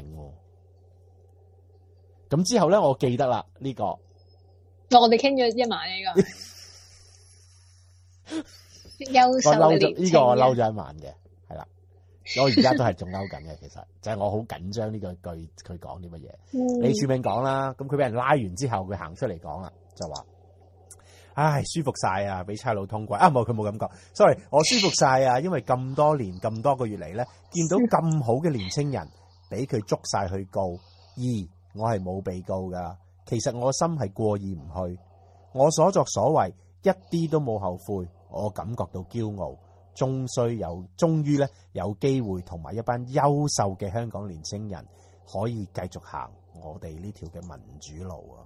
咁之後咧，我記得啦呢、這個， 我哋傾咗一晚呢、這個。優秀嘅年青人， 呢個我嬲咗一晚嘅，係啦，我而家都係仲嬲緊嘅。其實就係、是、我好緊張呢個句佢講啲乜嘢。嗯、李柱銘講啦，咁佢俾人拉完之後，佢行出嚟講啦，就話：唉，舒服晒啊，俾差佬通關啊！冇，佢冇咁講 ，sorry， 我舒服晒啊，因為咁多年咁多個月嚟咧，見到咁好嘅年青人俾佢捉晒去告，而我係冇被告噶。其實我心係過意唔去，我所作所為一啲都冇後悔。我感覺到驕傲，終須有，終於咧有機會同埋一班優秀嘅香港年青人可以繼續行我哋呢條嘅民主路啊！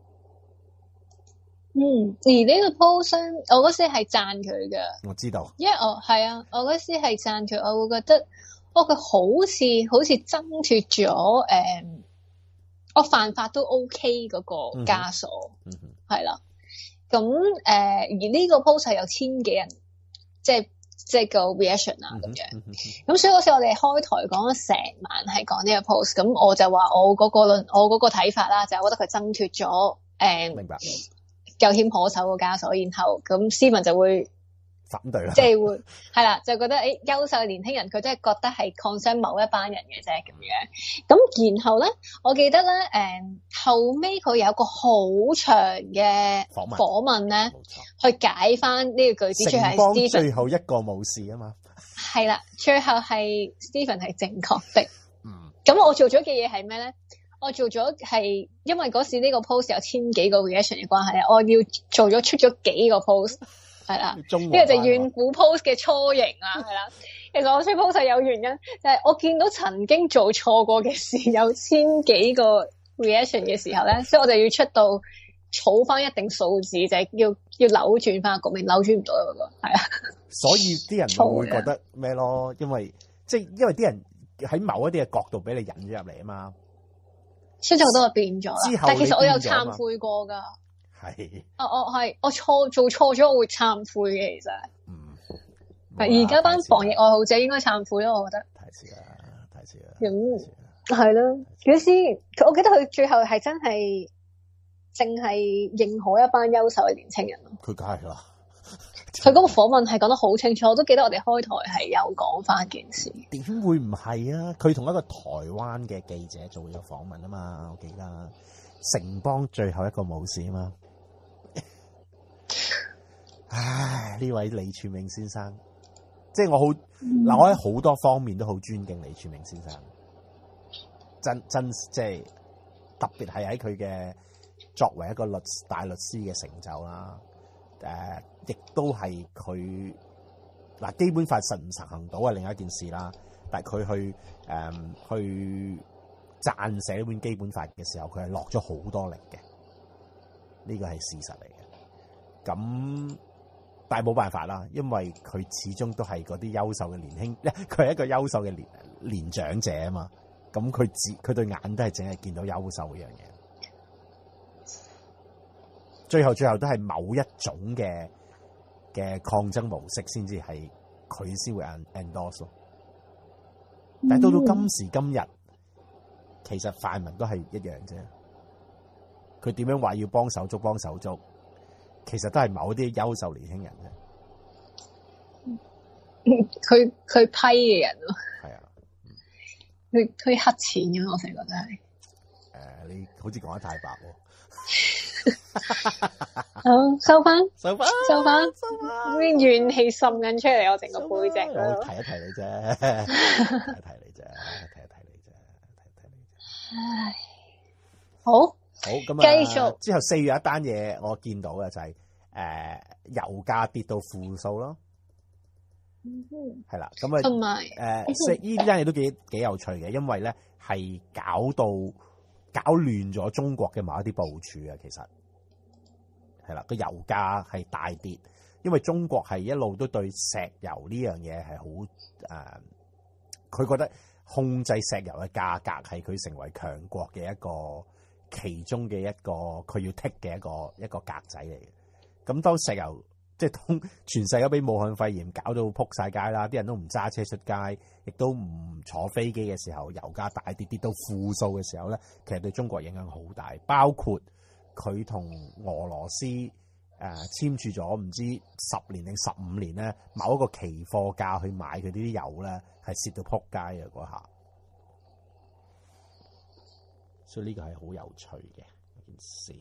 嗯，而呢個 post 我嗰時係讚佢嘅， 我知道， 因為我係啊，我嗰時係讚佢，我會覺得，哦，佢好似好似掙脫咗誒，我犯法都 OK 嗰個枷鎖， 嗯哼， 係啦。咁誒、呃，而呢個 post 係有千幾人，即係即係個 reaction 啊咁樣。咁、嗯嗯、所以嗰時我哋開台講咗成晚係講呢個 post，咁我就話我嗰個論，我嗰個睇法啦，就係、是、我覺得佢掙脫咗誒，明白，有險可守個枷鎖，然後咁斯文就會反對啦， 即係會係啦，就覺得誒優秀嘅年輕人，佢都係覺得係 concern 某一班人嘅啫咁樣。咁然後咧，我記得咧，誒、嗯、後尾佢有個好長嘅訪問咧，去解翻呢個句子，最後係 Stephen 最後一個冇事啊嘛。 係啦，最後係 Stephen 係正確的。 嗯。咁我做咗嘅嘢係咩咧？我做咗係因為嗰時呢個 post 有千幾個 reaction 嘅關係，我要做咗出咗幾個 post。係啦，呢個就怨婦 post 嘅雛形啦，係啦。其實我出 post 係有原因，就係、是、我見到曾經做錯過嘅事有千幾個 reaction 嘅時候咧，所以我就要出到儲翻一定數字，就係、是、要要扭轉翻個局面，扭轉唔到嗰個係啊。所以啲人會覺得咩咯？因為即係因為啲人喺某一啲嘅角度俾你引咗入嚟啊嘛， 所以好多就變咗啦。但係其實我有懺悔過㗎。 係， 啊我係我錯做錯咗，我會懺悔嘅。其實， 嗯， 係而家班防疫愛好者應該懺悔咯，我覺得。 太遲啦，太遲啦。 咁係咯，嗰時我記得佢最後係真係淨係認可一班優秀嘅年青人咯。 佢梗係啦， 佢嗰個訪問係講得好清楚，我都記得我哋開台係有講翻件事。 點會唔係啊？佢同一個台灣嘅記者做咗訪問啊嘛，我記得城邦最後一個武士啊嘛。唉，呢位李柱銘先生，即係我好嗱，我喺好多方面都好尊敬李柱銘先生， 真真即係特別係喺佢嘅作為一個律大律師嘅成就啦。誒、呃，亦都係佢嗱基本法實唔實行到係另一件事啦。但係佢去誒、呃、去撰寫呢本基本法嘅時候，佢係落咗好多力嘅。呢個係事實嚟嘅。咁但係冇辦法啦，因為佢始終都係嗰啲優秀嘅年輕，佢係一個優秀嘅年年長者啊嘛。咁佢只佢對眼都係淨係見到優秀呢樣嘢。最後最後都係某一種嘅嘅抗爭模式先至係佢先會 endorse 咯。但係到到今時今日，其實泛民都係一樣啫。佢點樣話要幫手足幫手足，其實都係某啲優秀年輕人啫。 佢佢批嘅人咯， 係啊， 佢佢黑錢嘅，我成日覺得係。誒、 呃，你好似講得太白喎。 好，收翻， 收翻， 收翻，啲怨氣滲緊出嚟，我成個背脊嗰度。 我提一提你啫，提一提你啫，提一提你啫，提一提你啫。 唉，好， 好咁啊， 繼續之後四月一單嘢，我見到嘅就係、是、誒、呃、油價跌到負數咯。 嗯哼， 係啦，咁啊， 同埋誒四呢單嘢都幾幾有趣嘅，因為咧係搞到搞亂咗中國嘅某一啲部署啊，其實係啦，個油價係大跌，因為中國係一路都對石油呢樣嘢係好誒，佢、呃、覺得控制石油嘅價格係佢成為強國嘅一個其中嘅一個佢要剔嘅一個一個格仔嚟嘅。咁當石油即係當全世界俾武漢肺炎搞到撲晒街啦，啲人都唔揸車出街，亦都唔坐飛機嘅時候，油價大跌跌到負數嘅時候咧，其實對中國影響好大。包括佢同俄羅斯誒、呃、簽署咗唔知十年定十五年咧，某一個期貨價去買佢啲油咧，係蝕到撲街嘅嗰下。所以呢個係好有趣嘅一件事。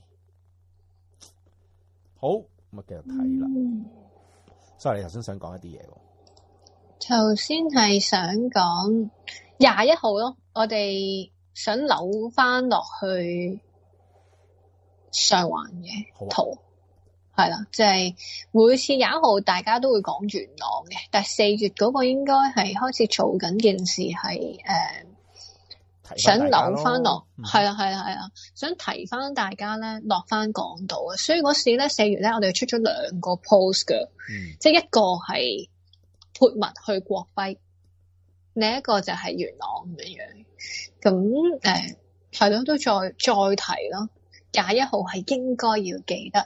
好。咁啊，繼續睇啦。所以你頭先想講一啲嘢喎。 頭先係想講廿一號咯，我哋想扭翻落去上環嘅圖，係啦、啊，就係、是、每次廿一號大家都會講元朗嘅，但係四月嗰個應該係開始做緊件事係誒。呃想扭翻落，係啦係啦係啦，想提翻大家咧落翻港島啊！所以嗰時咧四月咧，我哋出咗兩個 post 嘅，嗯、即係一個係潑墨去國徽，另一個就係元朗咁樣樣。咁誒係咯，都再再提咯。廿一號係應該要記得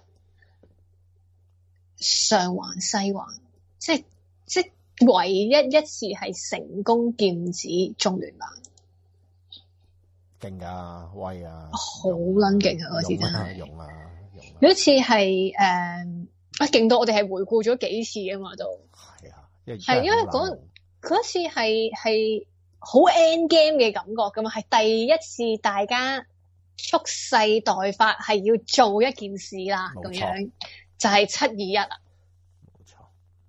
上環西環，即係即係唯一一次係成功劍指中聯辦。 勁噶，威啊！ 好撚勁啊！嗰次真係用啊，用啊！ 嗰次係誒啊，勁到我哋係回顧咗幾次啊嘛，都係啊， 係因為嗰嗰次係係好 end game 嘅感覺噶嘛，係第一次大家蓄勢待發，係要做一件事啦，咁樣就係七二一啦。 冇錯，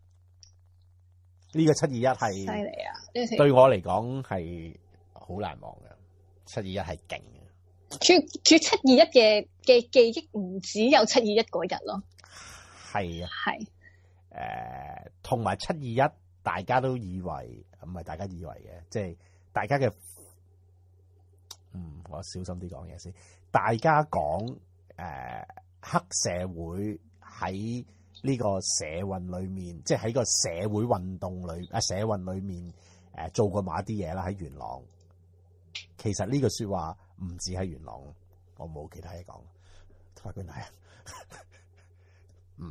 呢個七二一係犀利啊！ 對我嚟講係好難忘嘅。七二一係勁嘅， 主主七二一嘅嘅記憶唔只有七二一嗰日咯， 係啊， 係誒，同埋七二一大家都以為唔係大家以為嘅，即係大家嘅，嗯，我小心啲講嘢先。大家講誒、呃、黑社會喺呢個社運裏面，即係喺個社會運動裏啊社運裏面誒、呃、做過某一啲嘢啦，喺元朗。其實呢個說話唔止喺元朗，我冇其他嘢講。法官大人，嗯，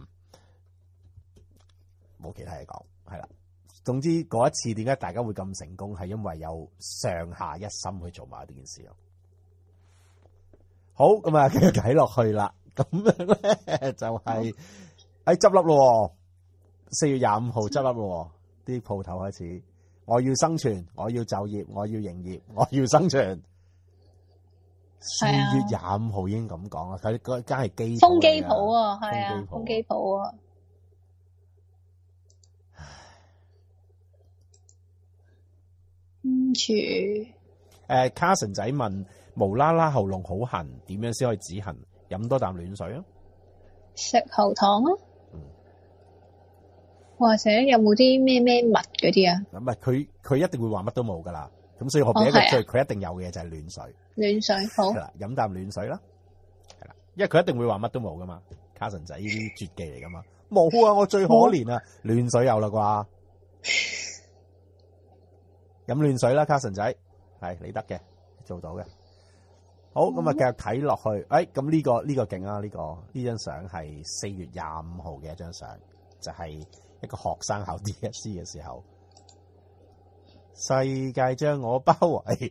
冇其他嘢講，係啦。總之嗰一次點解大家會咁成功，係因為有上下一心去做埋呢件事咯。好，咁啊，繼續睇落去啦。咁樣咧就係喺執笠咯。四月廿五號執笠咯，啲鋪頭開始。我要生存，我要就業，我要營業，我要生存。四月廿五號已經咁講啦，佢嗰間係機風機鋪啊，係啊，風機鋪啊。 跟住誒，Carson仔問無啦啦喉嚨好痕，點樣先可以止痕？飲多啖暖水啊！ 食喉糖啊！嗯、或者有冇啲咩咩物嗰啲啊？ 唔係佢佢一定會話乜都冇噶啦，咁所以我俾一個最佢、哦啊、一定有嘅嘢就係暖水。暖水好係啦，飲啖暖水啦，係啦，因為佢一定會話乜都冇噶嘛。Carson仔呢啲絕技嚟噶嘛，冇啊！我最可憐啊，暖水有啦啩，飲暖水啦，Carson仔係你得嘅，做到嘅。好，咁啊，繼續睇落去。誒、哎，咁呢、這個呢、這個勁啊！呢、這個呢張相係四月廿五號嘅一張相，就係、是、一個學生考 D S C 嘅時候，世界將我包圍。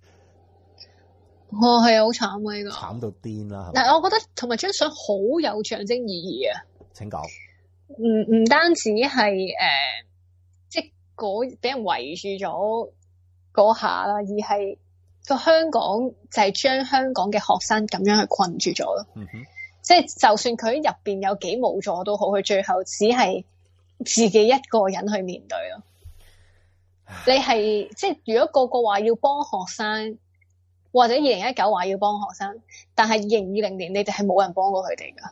哦，係啊，好慘啊！呢、這個慘到癲啦！ 但係我覺得同埋張相好有象徵意義啊！ 請講。 唔唔單止係誒、呃，即係嗰俾人圍住咗嗰下啦，而係。個香港就係將香港嘅學生咁樣去困住咗咯，嗯哼，即係就算佢入邊有幾無助都好，佢最後只係自己一個人去面對咯。你係即係如果個個話要幫學生，或者二零一九話要幫學生，但係二零二零年你哋係冇人幫過佢哋噶，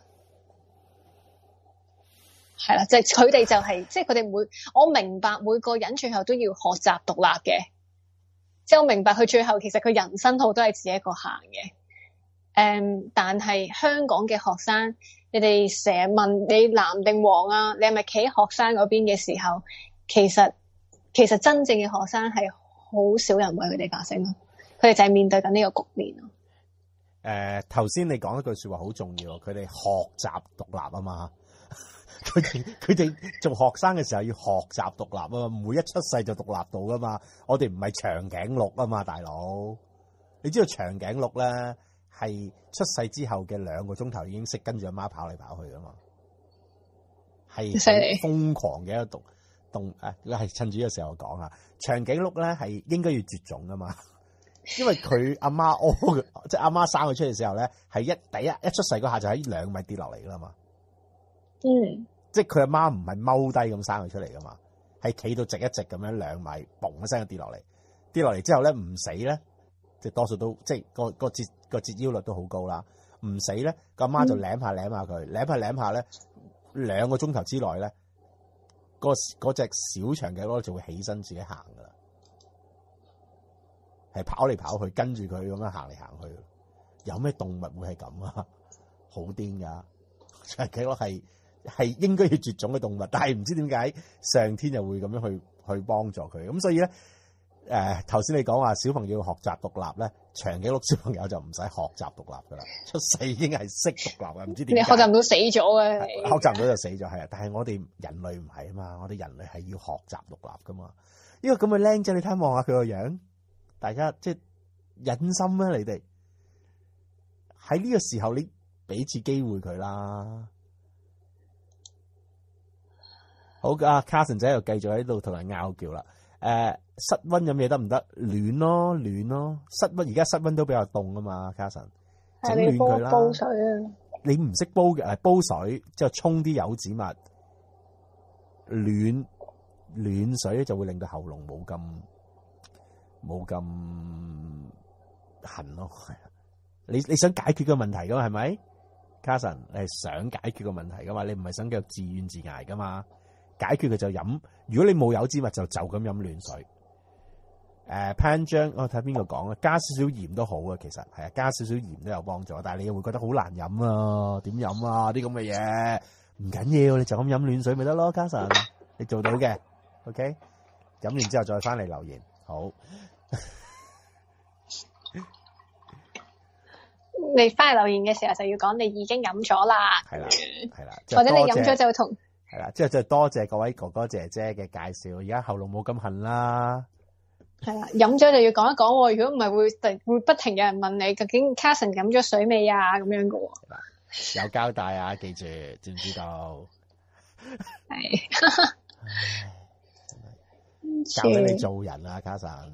係啦，就係佢哋就係、是、即係佢哋每我明白每個人最後都要學習獨立嘅。即係我明白佢最後其實佢人生路都係自己一個行嘅，誒、um，但係香港嘅學生，你哋成日問你藍定黃啊，你係咪企喺學生嗰邊嘅時候，其實其實真正嘅學生係好少人為佢哋發聲咯，佢哋就係面對緊呢個局面咯。誒、 呃，頭先你講一句說話好重要，佢哋學習獨立啊嘛。佢哋佢哋做學生嘅時候要學習獨立啊嘛，唔會一出世就獨立到噶嘛。我哋唔係長頸鹿啊嘛，大佬。你知道長頸鹿咧係出世之後嘅兩個鐘頭已經識跟住阿媽跑嚟跑去噶嘛，係瘋狂嘅一個動動誒，係趁住呢個時候講啊。長頸鹿咧係應該要絕種噶嘛，因為佢阿媽屙，即係阿媽生佢出嚟嘅時候咧，係一第一一出世嗰下就喺兩米跌落嚟噶啦嘛。嗯，即係佢阿媽唔係踎低咁生佢出嚟噶嘛，係企到直一直咁樣兩米，嘣一聲就跌落嚟，跌落嚟之後咧唔死咧，即係多數都即係個個折個折腰率都好高啦，唔死咧個阿媽就舐下舐下佢，舐下舐下咧，兩個鐘頭之內咧，嗰嗰隻小長頸鹿就會起身自己行噶啦，係跑嚟跑去跟住佢咁樣行嚟行去，有咩動物會係咁啊？好癲噶，長頸鹿係。係應該要絕種嘅動物，但係唔知點解上天又會咁樣去去幫助佢，咁所以咧，誒頭先你講話小朋友要學習獨立咧，長頸鹿小朋友就唔使學習獨立噶啦，出世已經係識獨立嘅，唔知點解。你學習唔到死咗嘅，學習唔到就死咗係啊！但係我哋人類唔係啊嘛，我哋人類係要學習獨立噶嘛。呢個咁嘅僆仔，你睇望下佢個樣，大家即係忍心啊！你哋喺呢個時候，你俾次機會佢啦。好啊 Carson 仔又繼續喺度同人拗撬啦。誒，室溫飲嘢得唔得？暖咯，暖咯。室溫而家室溫都比較凍啊嘛 Carson 整暖佢啦。煲水啊！你唔識煲嘅，誒，煲水之後沖啲柚子蜜，暖暖水咧就會令到喉嚨冇咁冇咁痕咯。你你想解決個問題噶嘛？係咪 Carson 你係想解決個問題噶嘛？你唔係想繼續自怨自艾噶嘛？解決佢就飲，如果你冇柚子蜜就就咁飲暖水。誒、呃，潘章，我睇邊個講啊？加少少鹽都好啊，其實係啊，加少少鹽都有幫助，但係你又會覺得好難飲啊？點飲啊？啲咁嘅嘢唔緊要，你就咁飲暖水咪得咯。Carson，你做到嘅 ，OK。飲完之後再翻嚟留言，好。 你翻嚟留言嘅時候就要講你已經飲咗啦， 係啦，係啦， 或者你飲咗就同。 係啦，之後就多謝各位哥哥姐姐嘅介紹，而家喉嚨冇咁痕啦。 係啦，飲咗就要講一講，如果唔係會會不停有人問你究竟 Carson 飲咗水未啊咁樣噶。 有交代啊，記住，知唔知道？ 係。 教俾你做人啊 Carson。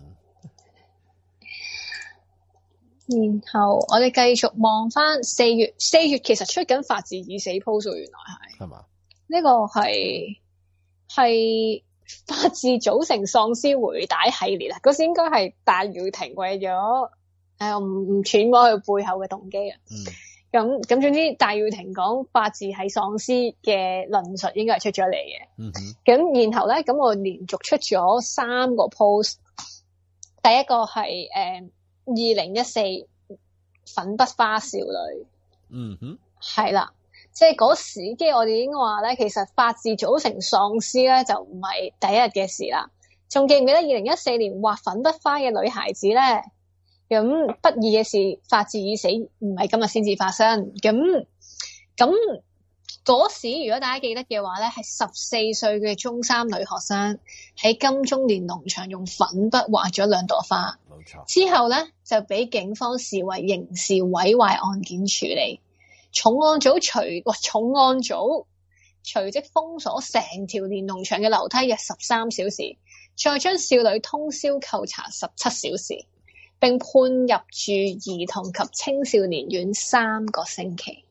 然後我哋繼續望翻四月，四月其實出緊法治已死 post，原來係係嘛？呢個係係法治組成喪屍回帶系列啊，嗰時應該係戴耀廷為咗誒唔唔揣摩佢背後嘅動機啊。 嗯。 咁咁總之戴耀廷講法治係喪屍嘅論述應該係出咗嚟嘅。 嗯哼。 咁然後咧，咁我連續出咗三個 post， 第一個係誒二零一四粉筆花少女。 嗯哼。係啦。即係嗰時，即係我哋已經話咧，其實法治組成喪屍咧，就唔係第一日嘅事啦。仲記唔記得二零一四年畫粉筆花嘅女孩子咧？咁不義嘅事，法治已死，唔係今日先至發生。咁咁嗰時，如果大家記得嘅話咧，係十四歲嘅中三女學生喺金鐘連儂牆用粉筆畫咗兩朵花。 冇錯。之後咧就俾警方視為刑事毀壞案件處理。重案組隨哇重案組隨即封鎖成條連儂牆嘅樓梯約十三小時，再將少女通宵扣查十七小時，並判入住兒童及青少年院三個星期。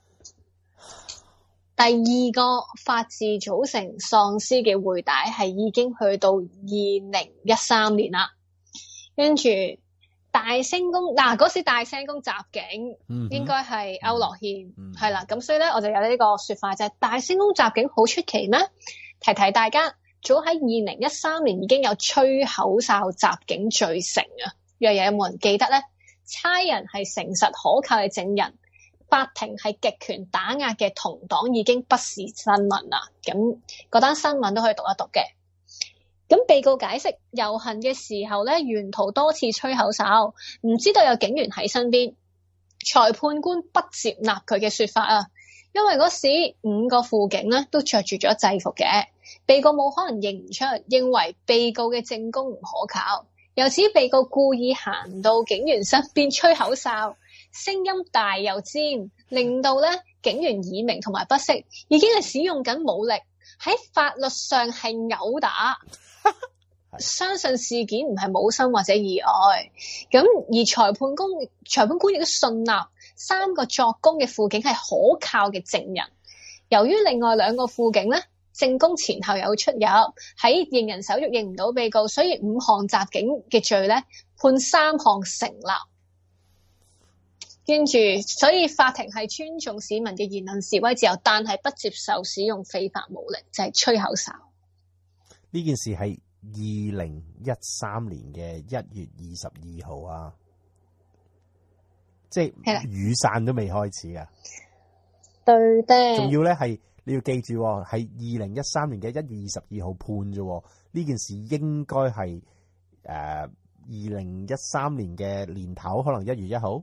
第二個法治組成喪屍嘅回帶係已經去到二零一三年啦，跟住。大聲公嗱嗰時大聲公襲警，嗯、應該係區諾軒係啦，咁、嗯、所以咧我就有呢個說法就係、是、大聲公襲警好出奇咩？提提大家，早喺二零一三年已經有吹口哨襲警罪成啊！若有冇人記得咧？差人係誠實可靠嘅證人，法庭係極權打壓嘅同黨已經不是新聞啦。咁嗰單新聞都可以讀一讀嘅。咁被告解釋，遊行嘅時候咧，沿途多次吹口哨，唔知道有警員喺身邊。裁判官不接納佢嘅說法啊，因為嗰時五個輔警咧都着住咗制服嘅，被告冇可能認唔出，認為被告嘅證供唔可靠。由此，被告故意行到警員身邊吹口哨，聲音大又尖，令到咧警員耳鳴同埋不適，已經係使用緊武力，喺法律上係毆打。相信事件唔係冇心或者意外，咁而裁判官裁判官亦都信納三個作供嘅輔警係可靠嘅證人。由於另外兩個輔警咧證供前後有出入，喺認人手續認唔到被告，所以五項襲警嘅罪咧判三項成立。跟住，所以法庭係尊重市民嘅言論示威自由，但係不接受使用非法武力，就係、是、吹口哨。 呢件事係二零一三年嘅一月二十二號啊，即係雨傘都未開始啊。 對的。 仲要咧係你要記住，係二零一三年嘅一月二十二號判啫。呢件事應該係誒二零一三年嘅年頭，可能一月一號，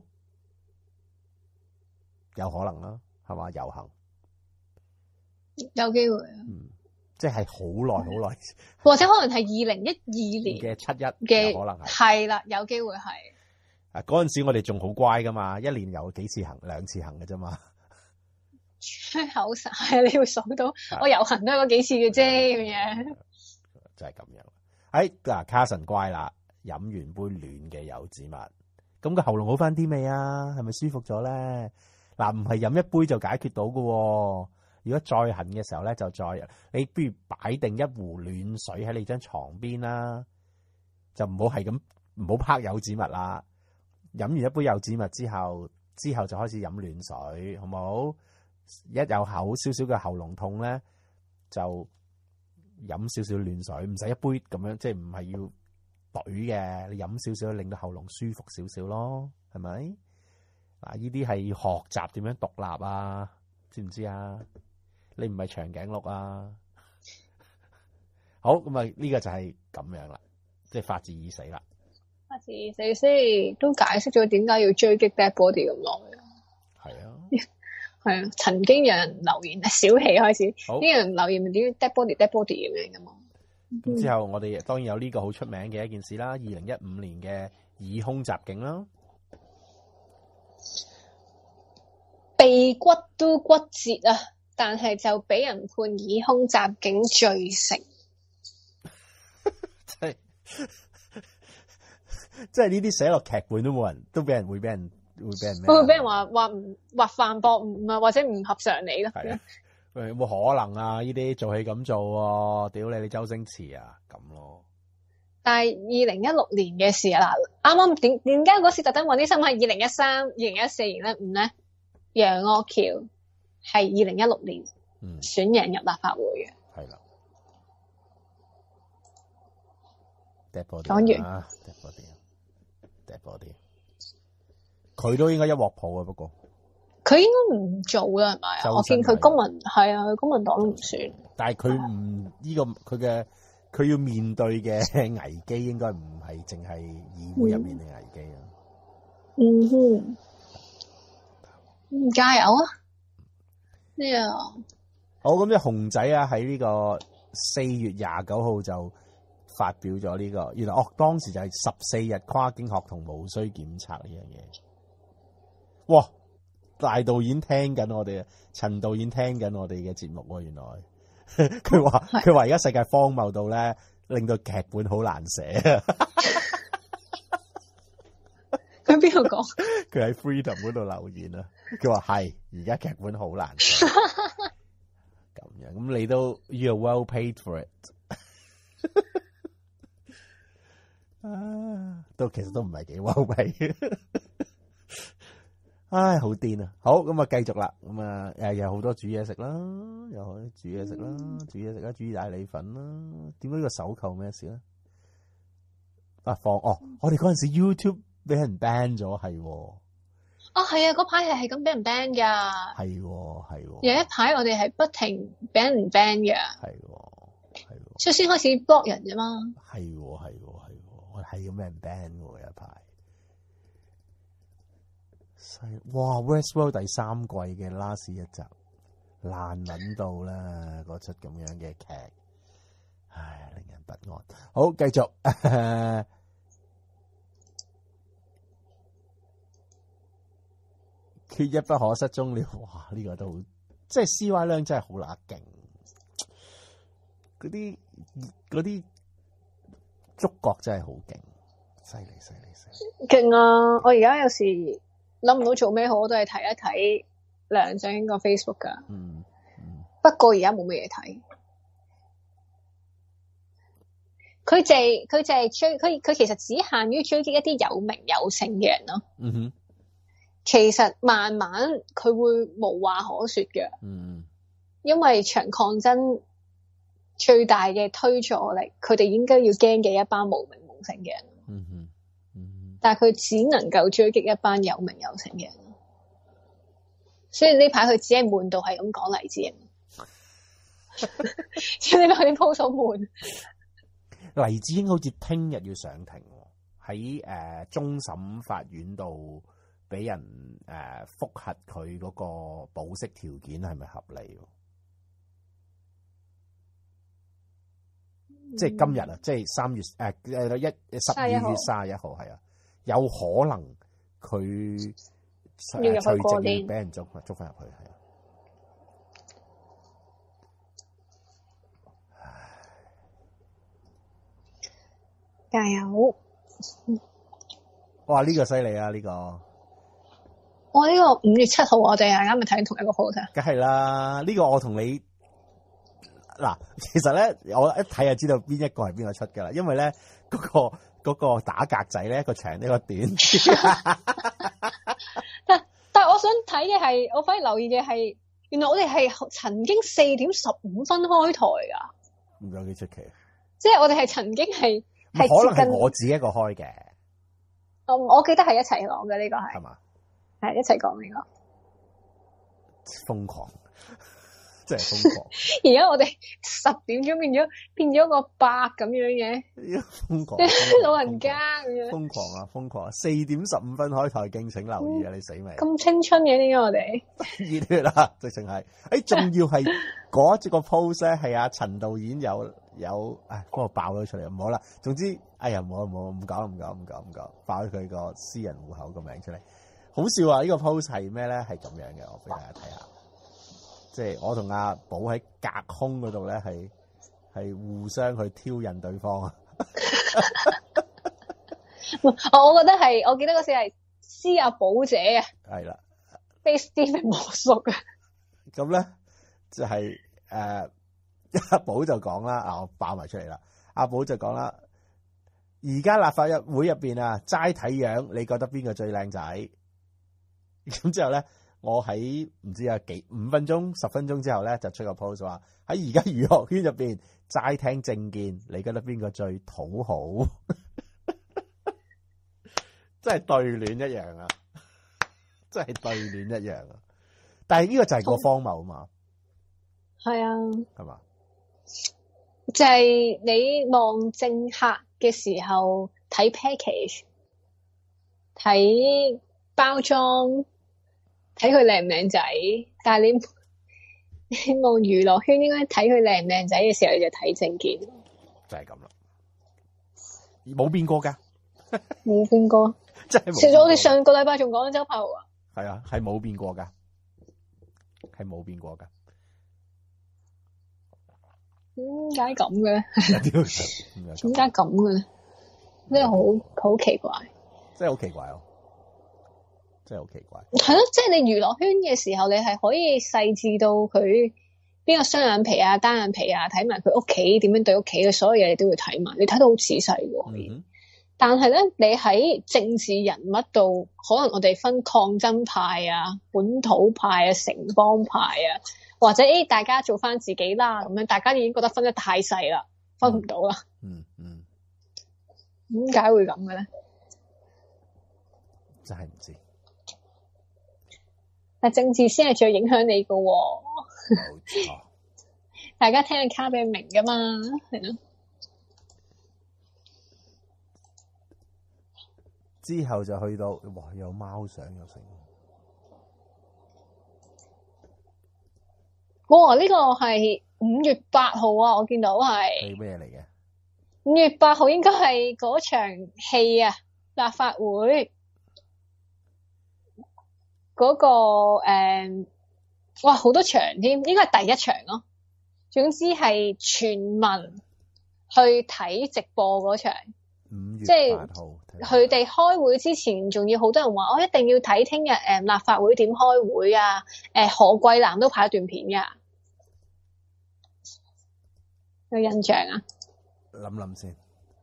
有可能啦，係嘛？遊行有機會啊。 嗯。即係好耐好耐， 或者可能係二零一二年嘅七一嘅， 可能係係啦，有機會係。 啊，嗰陣時我哋仲好乖噶嘛，一年有幾次行，兩次行嘅啫嘛。 吹口哨係你會數到，我遊行都係嗰幾次嘅啫，咁樣。 就係咁樣。哎，嗱，卡神乖啦，飲完杯暖嘅柚子蜜，咁個喉嚨好翻啲未啊？係咪舒服咗咧？嗱，唔係飲一杯就解決到噶。如果再痕嘅時候咧，就再你不如擺定一壺暖水喺你張床邊啦，就唔好係咁唔好拍柚子蜜啦。飲完一杯柚子蜜之後，之後就開始飲暖水，好唔好？一有口少少嘅喉嚨痛咧，就飲少少暖水，唔使一杯咁樣，即係唔係要懟嘅，你飲少少令到喉嚨舒服少少咯，係咪？嗱，呢啲係要學習點樣獨立啊，知唔知啊？你唔係長頸鹿啊！好，咁啊，呢個就係咁樣啦，即係法治已死啦。 法治已死先都解釋咗點解要追擊 Dead Body 咁耐。 係啊， 係啊，曾經有人留言，小氣開始，啲人留言點 Dead Body Dead Body 咁樣噶嘛。 咁之後我哋當然有呢個好出名嘅一件事啦，二零一五年嘅以空襲警啦， 鼻骨都骨折啊！但係就俾人判以空襲警罪成， 即係即係呢啲寫落劇本都冇人，都俾人會俾人會俾人咩？ 會俾人話話唔話犯駁唔啊，或者唔合常理咯。 係啊， 喂，有冇可能啊？呢啲做戲咁做喎，屌你你周星馳啊咁咯。 但係二零一六年嘅事啊，嗱，啱啱點點解嗰時特登揾啲新聞係二零一三、二零一四、二零一五咧？楊岳橋係二零一六年選贏入立法會嘅。 係啦。 講完。 dead body，佢都應該一鑊泡啊，不過佢應該唔做啦，係咪啊？我見佢公民係啊，佢公民黨都唔算。但係佢唔呢個佢嘅佢要面對嘅危機，應該唔係淨係議會入面嘅危機啊。嗯哼，嗯，加油啊！呢個好咁，即熊仔啊，喺呢個四月廿九號就發表咗呢個，原來哦當時就係十四日跨境學童無需檢測呢樣嘢。哇！大導演聽緊我哋啊，陳導演聽緊我哋嘅節目喎，原來佢話佢話而家世界荒謬到咧，令到劇本好難寫啊！佢邊度講？佢喺 Freedom 嗰度留言啊！佢話係而家劇本好難寫，咁樣咁你都 You're well paid for it 啊！都其實都唔係幾 well paid。唉，好癲啊！好咁啊，繼續啦。咁啊，誒，有好多煮嘢食啦，又可以煮嘢食啦，煮嘢食啦，煮意大利粉啦。點解呢個手扣咩事咧？啊，放哦，我哋嗰陣時 YouTube 俾人 ban 咗，係。哦，係啊，嗰排係係咁俾人 ban 噶。係，係。有一排我哋係不停俾人 ban 嘅。係，係。所以先開始 block 人啫嘛。係，係，係。我係咁俾人 ban 嘅有一排。哇 Westworld 第三季嘅 last 一集爛撚到啦，嗰出咁樣嘅劇，唉，令人不安。好，繼續，呃、缺一不可，失蹤了。哇，呢、這個都好，即係 C Y 量真係好乸勁，嗰啲嗰啲觸覺真係好勁，犀利犀利犀利，勁啊！我而家有時諗唔到做咩好，我都係睇一睇梁振英個 Facebook 噶。嗯嗯。不過而家冇乜嘢睇。佢就係佢就係追佢佢其實只限於追擊一啲有名有姓嘅人咯。嗯哼。其實慢慢佢會無話可說嘅。嗯。因為場抗爭最大嘅推助力，佢哋應該要驚嘅一班無名無姓嘅人。嗯哼。但係佢只能夠追擊一班有名有姓嘅人，所以呢排佢只係悶到係咁講黎智英，所以呢排啲 post 好悶。黎智英好似聽日要上庭，喺誒、呃、終審法院度俾人誒複核佢嗰個保釋條件係咪合理？嗯、即係今日啊，即係三月誒誒一十二月卅一號係啊。有可能佢除夕要俾人捉捉翻入去，係啊！加油！哇！呢、這個犀利啊！呢、這個我呢、這個五月七號，我哋係啱咪睇同一個 post 啊！梗係啦，呢、這個我同你嗱，其實咧，我一睇就知道邊一個係邊個出噶啦，因為咧嗰、那個。嗰個打格仔咧，一個長一個短。但但係我想睇嘅係，我反而留意嘅係，原來我哋係曾經四點十五分開台噶。唔有幾出奇。即係我哋係曾經係係可能係我自己一個開嘅。我我記得係一齊講嘅呢個係。係嘛？係一齊講呢個。瘋狂。真係瘋狂！而家我哋十點鐘變咗變咗個八咁樣嘅，瘋狂！老人家咁樣，瘋狂啊！瘋狂啊！四點十五分開台，敬請留意啊！嗯、你死未？咁青春嘅點解我哋熱血啊！直情係，誒，仲要係嗰一個 post 咧，係阿陳導演有有，唉，嗰個爆咗出嚟，唔好啦。總之，哎呀，唔好唔好唔講唔講唔講唔講，爆咗佢個私人戶口個名出嚟，好笑啊！呢、這個 post 係咩咧？係咁樣嘅，我俾大家睇下。即係我同阿寶喺隔空嗰度咧，係係互相去挑釁對方啊！我我覺得係，我記得嗰時係施阿寶姐啊，係啦，被 Stephen 魔叔啊。咁咧就係誒阿寶就講啦，啊我爆埋出嚟啦，阿寶就講啦，而家立法會入邊啊，齋睇樣，你覺得邊個最靚仔？咁之後咧，我喺唔知啊幾五分鐘、十分鐘之後咧，就出個 post 話喺而家娛樂圈入邊齋聽政見，你覺得邊個最討好？真係對聯一樣啊！真係對聯一樣啊！但係呢個就係個荒謬啊嘛， 係啊， 係嘛？ 就係你望政客嘅時候睇 package， 睇包裝，睇佢靚唔靚仔。但係你你望娛樂圈，應該睇佢靚唔靚仔嘅時候，你就睇政見， 就係咁啦，冇變過噶， 冇變過。 真係冇。 其實我哋上個禮拜仲講緊周柏豪啊， 係啊，係冇變過噶，係冇變過噶。 點解咁嘅咧？點解咁嘅咧？真係好好奇怪， 真係好奇怪哦！真係好奇怪。 係咯，即係你娛樂圈嘅時候，你係可以細緻到佢邊個雙眼皮啊、單眼皮啊，睇埋佢屋企點樣對屋企嘅所有嘢，你都會睇埋。你睇到好仔細嘅可以。嗯、但係咧，你喺政治人物度，可能我哋分抗爭派啊、本土派啊、城邦派啊。或者誒，大家做翻自己啦，咁樣大家已經覺得分得太細啦，分唔到啦。 嗯嗯， 點解會咁嘅咧？ 真係唔知。 但政治先係最影響你噶、哦。 冇錯。 大家聽下卡比明噶嘛，係咯。 之後就去到，哇！有貓相又成。 哇！呢、這個係五月八號啊，我見到係。 係咩嚟嘅？ 五月八號應該係嗰場戲啊，立法會嗰、那個誒、嗯，哇好多場添，應該係第一場咯。總之係全民去睇直播嗰場。 五月八號。 佢哋開會之前，仲要好多人話，我一定要睇聽日誒立法會點開會啊！誒、呃、何桂藍都拍一段片噶，有印象啊？ 諗諗先。誒、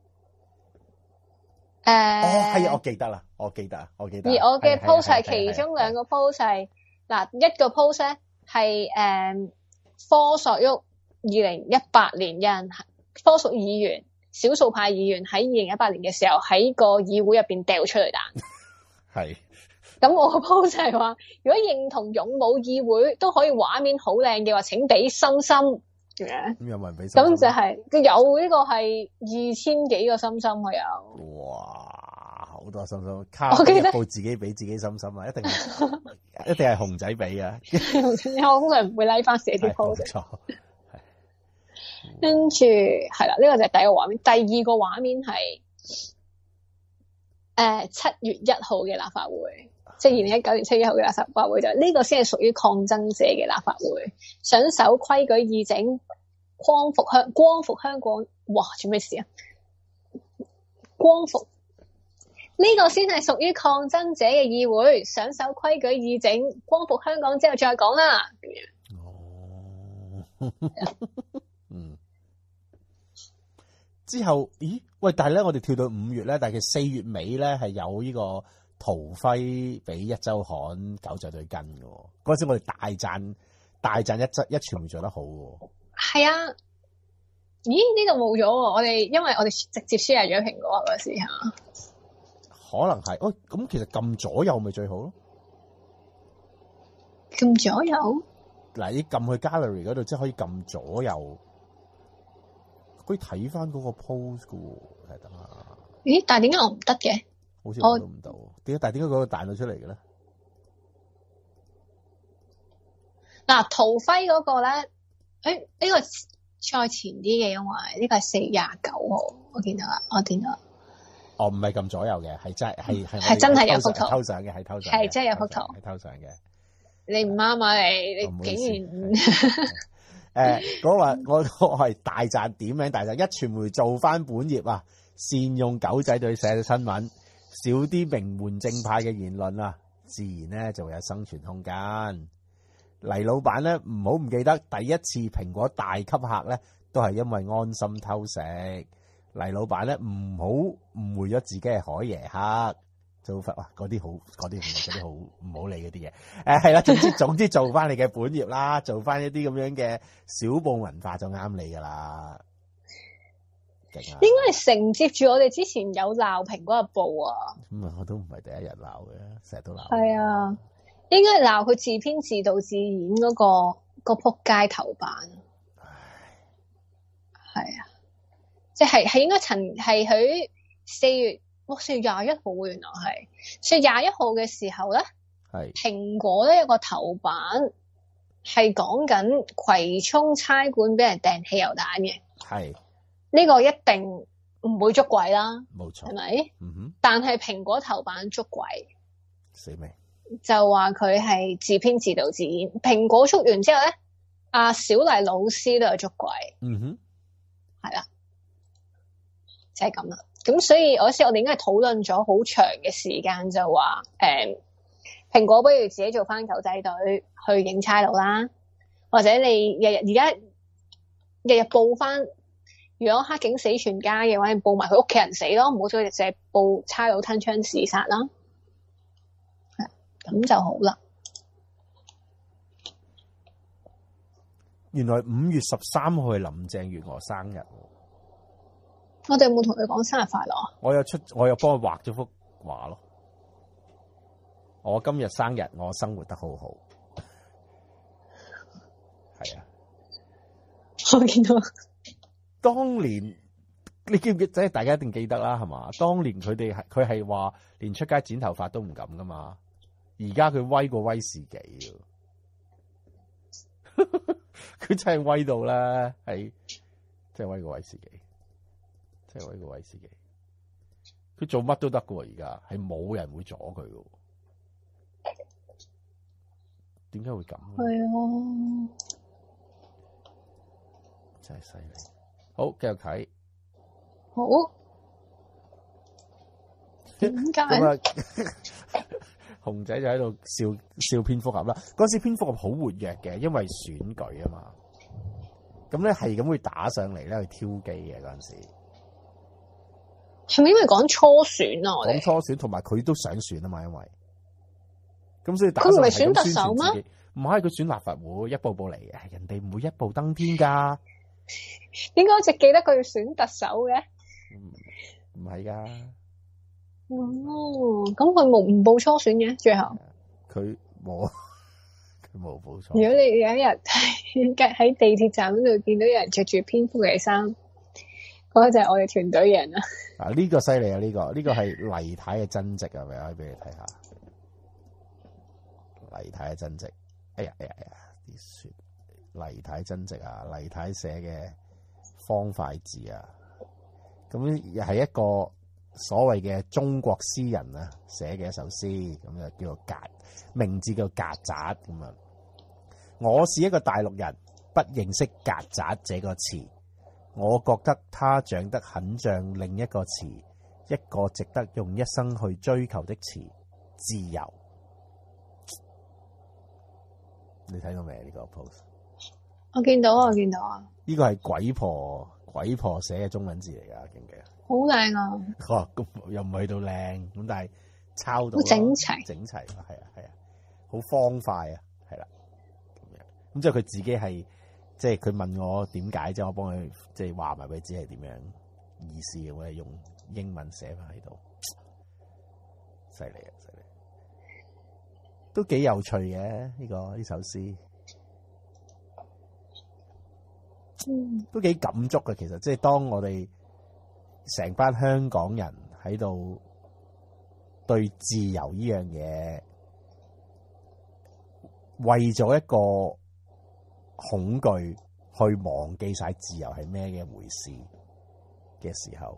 呃， 哦係啊，我記得啦，我記得啊，我記得。 而我嘅 post 係其中兩個 post 係嗱，一個 post 咧係誒科索沃二零一八年有人科屬議員。少數派議員喺二零一八年嘅時候喺個議會入邊掉出嚟彈，係。咁我個 post 係話，如果認同勇武議會都可以畫面好靚嘅話，請俾心心咁樣。咁有冇人俾心心？咁就係、是、有呢個係二千幾個心心佢有。哇，好多心心，卡一部自己俾自己心心啊！一定係一定係熊仔俾啊！我通常唔會拉翻寫啲 post。冇錯。跟住係啦，呢、這個就係第一個畫面。第二個畫面係誒七月一號嘅立法會，即係二零一九年七月一號嘅立法會，就呢、是、個先係屬於抗爭者嘅立法會，想守規矩議政，光復香光復香港。哇！做咩事啊？光復呢、這個先係屬於抗爭者嘅議會，想守規矩議政，光復香港之後再講啦。哦。嗯，之後，咦？喂，但係咧，我哋跳到五月咧，但係四月尾咧係有呢個陶輝俾一週刊狗仔隊跟嘅，嗰陣時我哋大讚大讚一則一傳媒做得好嘅。係啊，咦？呢度冇咗，我哋因為我哋直接 share 咗蘋果嗰時吓，可能係，哦，咁其實撳左右咪最好咯，撳左右。嗱，你撳去 gallery 嗰度，即係可以撳左右，可以睇翻嗰個 pose 嘅喎，係得啊。咦？但係點解我唔得嘅？好似我都唔到。點解？但係點解嗰個彈到出嚟嘅咧？嗱，陶輝嗰個咧，誒、欸，呢、這個再前啲嘅，因為呢個係四月廿九號，我見到啦，我見到啦。哦，唔係撳左右嘅，係真係係係真係有幅圖偷相嘅，係偷相，係真係有幅圖，係偷相嘅。你唔啱啊！你你竟然誒，嗰話我我係大讚點名大讚，一傳媒做翻本業啊，善用狗仔隊寫嘅新聞，少啲名門正派嘅言論啊，自然咧就會有生存空間。 黎老闆咧唔好唔記得，第一次蘋果大吸客咧都係因為安心偷食。黎老闆咧唔好誤會咗自己係海爺黑。做法哇，嗰啲好，嗰啲嗰啲好唔好理嗰啲嘢。誒係啦，總之總之做翻你嘅本業啦，做翻一啲咁樣嘅小報文化就啱你噶啦。 應該係承接住我哋之前有鬧蘋果日報啊。 咁啊，我都唔係第一日鬧嘅，成日都鬧。 係啊，應該係鬧佢自編自導自演嗰、嗰個、嗰個撲街頭版。係啊，即係係應該曾係佢四月。哇！四月廿一號原來係四月廿一號嘅時候咧，係蘋果咧有個頭版係講緊葵涌差館俾人掟汽油彈嘅，係呢、呢個一定唔會捉鬼啦，冇錯，係咪？嗯哼。但係蘋果頭版捉鬼，死未？就話佢係自編自導自演。蘋果捉完之後咧，阿小麗老師都有捉鬼，嗯哼，係啦，就係咁啦。咁所以嗰時我哋應該係討論咗好長嘅時間，就話誒蘋果不如自己做翻狗仔隊去影差佬啦，或者你日日而家日日報翻，如果黑警死全家嘅話，你報埋佢屋企人死咯，唔好再淨係報差佬吞槍自殺啦，係咁就好啦。 原來五月十三號係林鄭月娥生日。 我哋有冇同佢講生日快樂啊？ 我有出，我有幫佢畫咗幅畫咯。我今日生日，我生活得好好。係啊， 我見到。 當年你記唔記得？即係大家一定記得啦，係嘛？當年佢哋係佢係話連出街剪頭髮都唔敢噶嘛。而家佢威過威士忌，佢真係威到啦，係真係威過威士忌。即係我呢個威士忌，佢做乜都得噶喎，而家係冇人會阻佢噶。點解會咁？ 係啊， 真係犀利。好，繼續睇。 好。點解？ 咁啊，熊仔就喺度笑笑蝙蝠俠啦。嗰時蝙蝠俠好活躍嘅，因為選舉啊嘛。咁咧係咁會打上嚟咧去挑機嘅嗰陣時。 係咪因為講初選啊？我哋講初選，同埋佢都想選啊嘛，因為咁所以打佢唔係選特首咩？ 唔係，佢選立法會，一步步嚟嘅，人哋唔會一步登天噶。 點解我一直記得佢要選特首嘅？ 唔唔係噶。 哦，咁佢冇唔報初選嘅，最後佢冇，佢冇報初。 如果你有一日喺地鐵站嗰度見到有人着住蝙蝠嘅衫。嗰個就係我哋團隊嘅人啦。 啊，呢個犀利啊！呢個呢個係黎太嘅真跡啊，咪可以俾你睇下。黎太嘅真跡，哎呀哎呀哎呀，啲雪黎太真跡啊，黎太寫嘅方塊字啊，咁又係一個所謂嘅中國詩人啊寫嘅一首詩，咁就叫做曱，名字叫曱甴咁啊。我是一個大陸人，不認識曱甴這個詞。我覺得它長得很像另一個詞，一個值得用一生去追求的詞——自由。你睇到未？呢個 post 我見到啊，我見到啊。 呢個係鬼婆鬼婆寫嘅中文字嚟㗎，記唔記得？ 好靚啊！ 哦，咁又唔係去到靚，咁但係抄到好整齊， 整齊係啊係啊，好方塊啊，係啦咁樣。咁即係佢自己係。即係佢問我點解，即係我幫佢即係話埋俾佢知係點樣意思嘅，我係用英文寫翻喺度，犀利啊！犀利，都幾有趣嘅呢個呢首詩，嗯，都幾感觸嘅。其實即係當我哋成班香港人喺度對自由呢樣嘢，為咗一個恐懼去忘記晒自由係咩嘅回事嘅時候，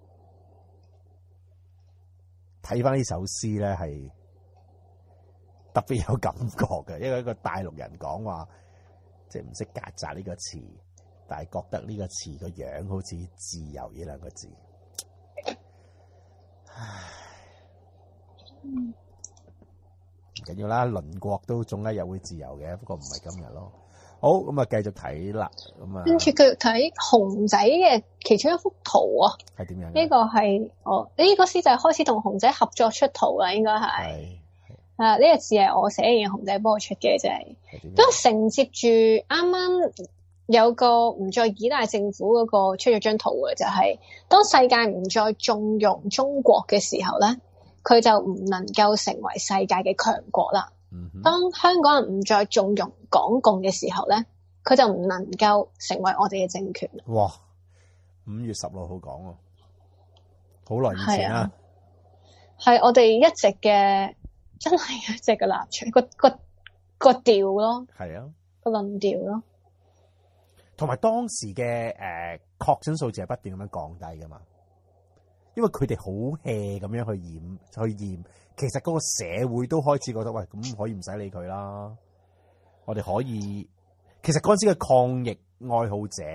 睇翻呢首詩咧係特別有感覺嘅，因為一個大陸人講話，即係唔識曱甴呢個詞，但係覺得呢個詞個樣好似自由呢兩個字。唉， 唔緊要啦，鄰國都總一日會自由嘅，不過唔係今日咯。好，咁啊，繼續睇啦，咁啊， 跟住繼續睇熊仔嘅其中一幅圖啊， 係點樣？ 呢個係我呢個詩就係開始同熊仔合作出圖啦，應該係係啊，呢個字係我寫嘅，熊仔幫我出嘅，就係都承接住啱啱有個唔再依賴政府嗰個出咗張圖嘅，就係當世界唔再縱容中國嘅時候咧，佢就唔能夠成為世界嘅強國啦。當香港人唔再縱容港共嘅時候咧，佢就唔能夠成為我哋嘅政權。 哇！五月十六號講喎，好耐以前啊， 係我哋一直嘅，真係一直嘅立場，個個個調咯，係啊，個論調咯。 同埋當時嘅誒確診數字係不斷咁樣降低噶嘛，因為佢哋好 hea 咁樣去驗去驗，其實嗰個社會都開始覺得喂，咁可以唔使理佢啦，我哋可以，其實嗰陣時嘅抗疫愛好者，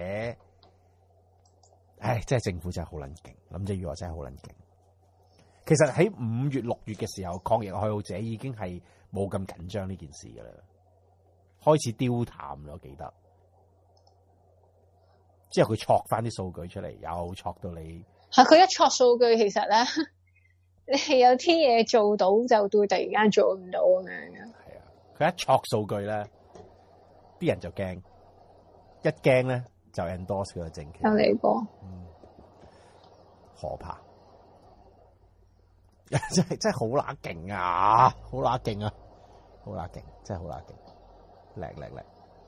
唉，真係政府真係好撚勁，林鄭月娥真係好撚勁。其實喺五月六月嘅時候，抗疫愛好者已經係冇咁緊張呢件事噶啦，開始丟淡咗，記得。之後佢戳翻啲數據出嚟，又戳到你。 係佢一戳數據，其實咧，你係有啲嘢做到，就會突然間做唔到咁樣嘅。 係啊，佢一戳數據咧，啲人就驚，一驚咧就 endorse 佢個政權。 有嚟過， 嗯，可怕，真係真係好乸勁啊，好乸勁啊，好乸勁，真係好乸勁，叻叻叻。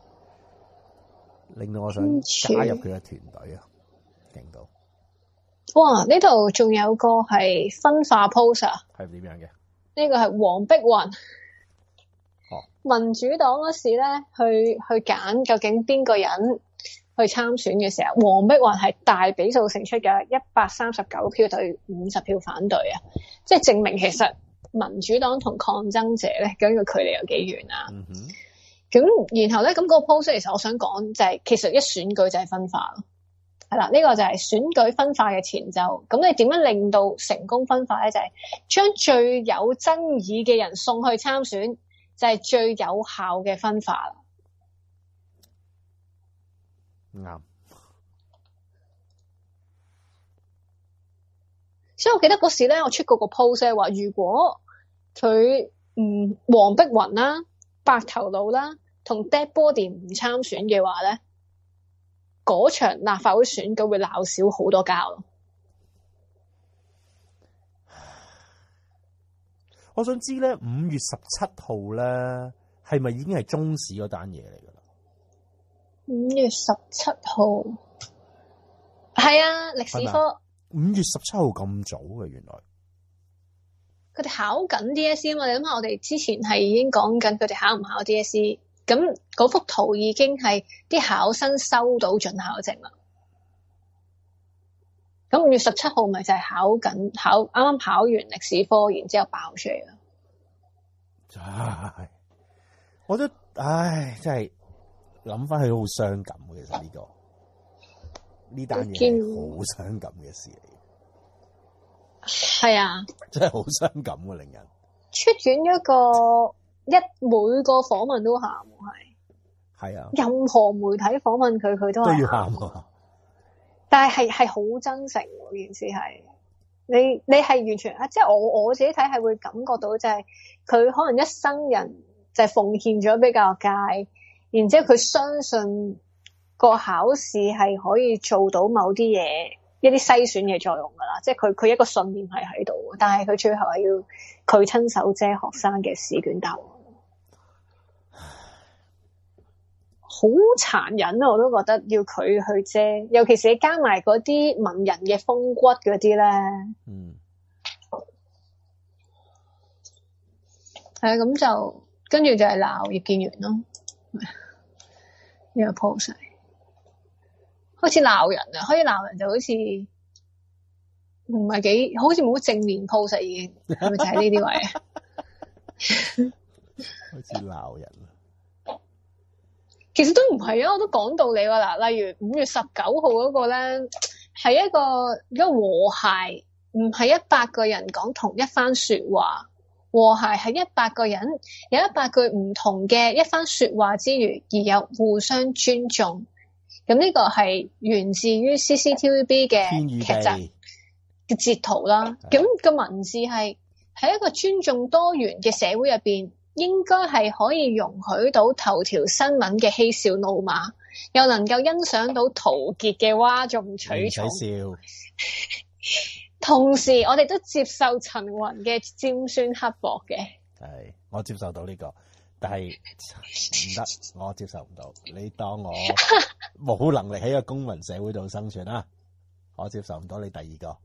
令到我想加入佢嘅團隊啊，勁到！ 哇！呢度仲有個係分化 pose 啊， 係點樣嘅？ 呢個係黃碧雲。 哦， 民主黨嗰時咧，去去揀究竟邊個人去參選嘅時候，黃碧雲係大比數勝出嘅，一百三十九票對五十票反對啊！即係證明其實民主黨同抗爭者咧，究竟個距離有幾遠啊？嗯哼。咁然後咧，咁、那、嗰個 post 其實我想講就係、是，其實一選舉就係分化咯，係啦，呢、這個就係選舉分化嘅前奏。咁你點樣令到成功分化咧？就係、是、將最有爭議嘅人送去參選，就係、是、最有效嘅分化啦。啱。所以我記得嗰時咧，我出過個 post 咧，話如果佢唔黃碧雲啦、白頭佬啦，同 dead body 唔參選嘅話咧，嗰場立法會選舉會鬧少好多交咯。 我想知咧，五月十七號咧，係咪已經係中史嗰單嘢嚟噶啦？ 五月十七號係啊，歷史科。 五月十七號咁早嘅，原來佢哋考緊 D S E 啊嘛？你諗下，我哋之前係已經講緊佢哋考唔考 D S E。咁嗰幅圖已經係啲考生收到准考證啦。咁五月十七號咪就係考緊考啱啱考完歷史科，然之後爆出嚟啦。 唉，我都唉，真係諗翻起好傷感嘅。其實呢、這個呢單嘢係好傷感嘅事嚟。 係啊， 真係好傷感嘅，令人出院一個。一每個訪問都喊，係係啊，任何媒體訪問佢，佢都係都要喊啊！ 但係係係好真誠喎，件事係你你係完全啊，即係我我自己睇係會感覺到就係佢可能一生人就係奉獻咗俾教育界，然之後佢相信個考試係可以做到某啲嘢，一啲篩選嘅作用噶啦，即係佢佢一個信念係喺度，但係佢最後係要佢親手遮學生嘅試卷答案。好殘忍啊！我都覺得要佢去遮，尤其是你加埋嗰啲文人嘅風骨嗰啲咧，嗯，係啊，咁就跟住就係鬧葉建源咯，呢個 post 開始鬧人啊，開始鬧人就好似唔係幾，好似冇正面 post 已經，係咪就係呢啲位啊？ 開始鬧人。 其實都唔係啊，我都講道理喎嗱，例如五月十九號嗰個咧，係一個一個和諧，唔係一百個人講同一番說話， 和諧係一百個人有一百句唔同嘅一番說話之餘，而有互相尊重。咁呢個係源自於 C C T V B 嘅劇集嘅截圖啦。咁個文字係喺一個尊重多元嘅社會入邊，應該係可以容許到頭條新聞嘅嬉笑怒罵，又能夠欣賞到陶傑嘅嘩眾取寵。唔使笑。同時，我哋都接受陳雲嘅尖酸刻薄嘅。 係，我接受到呢、這個，但係唔得，我接受唔到。你當我冇能力喺個公民社會度生存啊？我接受唔到你第二個。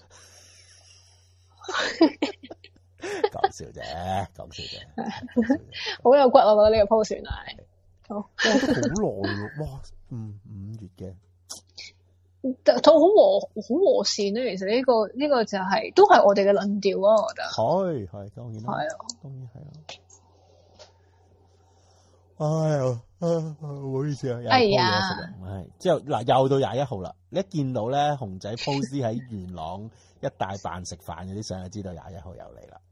講笑啫，講笑啫。 好有骨，我覺得呢個 post 係。好。 好耐喎，哇！嗯，五月嘅。 都好和好和善咧，其實呢、這個呢、這個就係、是、都係我哋嘅論調啊，我覺得係係當然啦，係啊，當然係啊。哎呀，唔好意思啊，又鋪嘢食啊，係之後嗱又到廿一號啦，你一見到咧熊仔 post 喺元朗一帶扮食飯嗰啲相，就知道廿一號又嚟啦。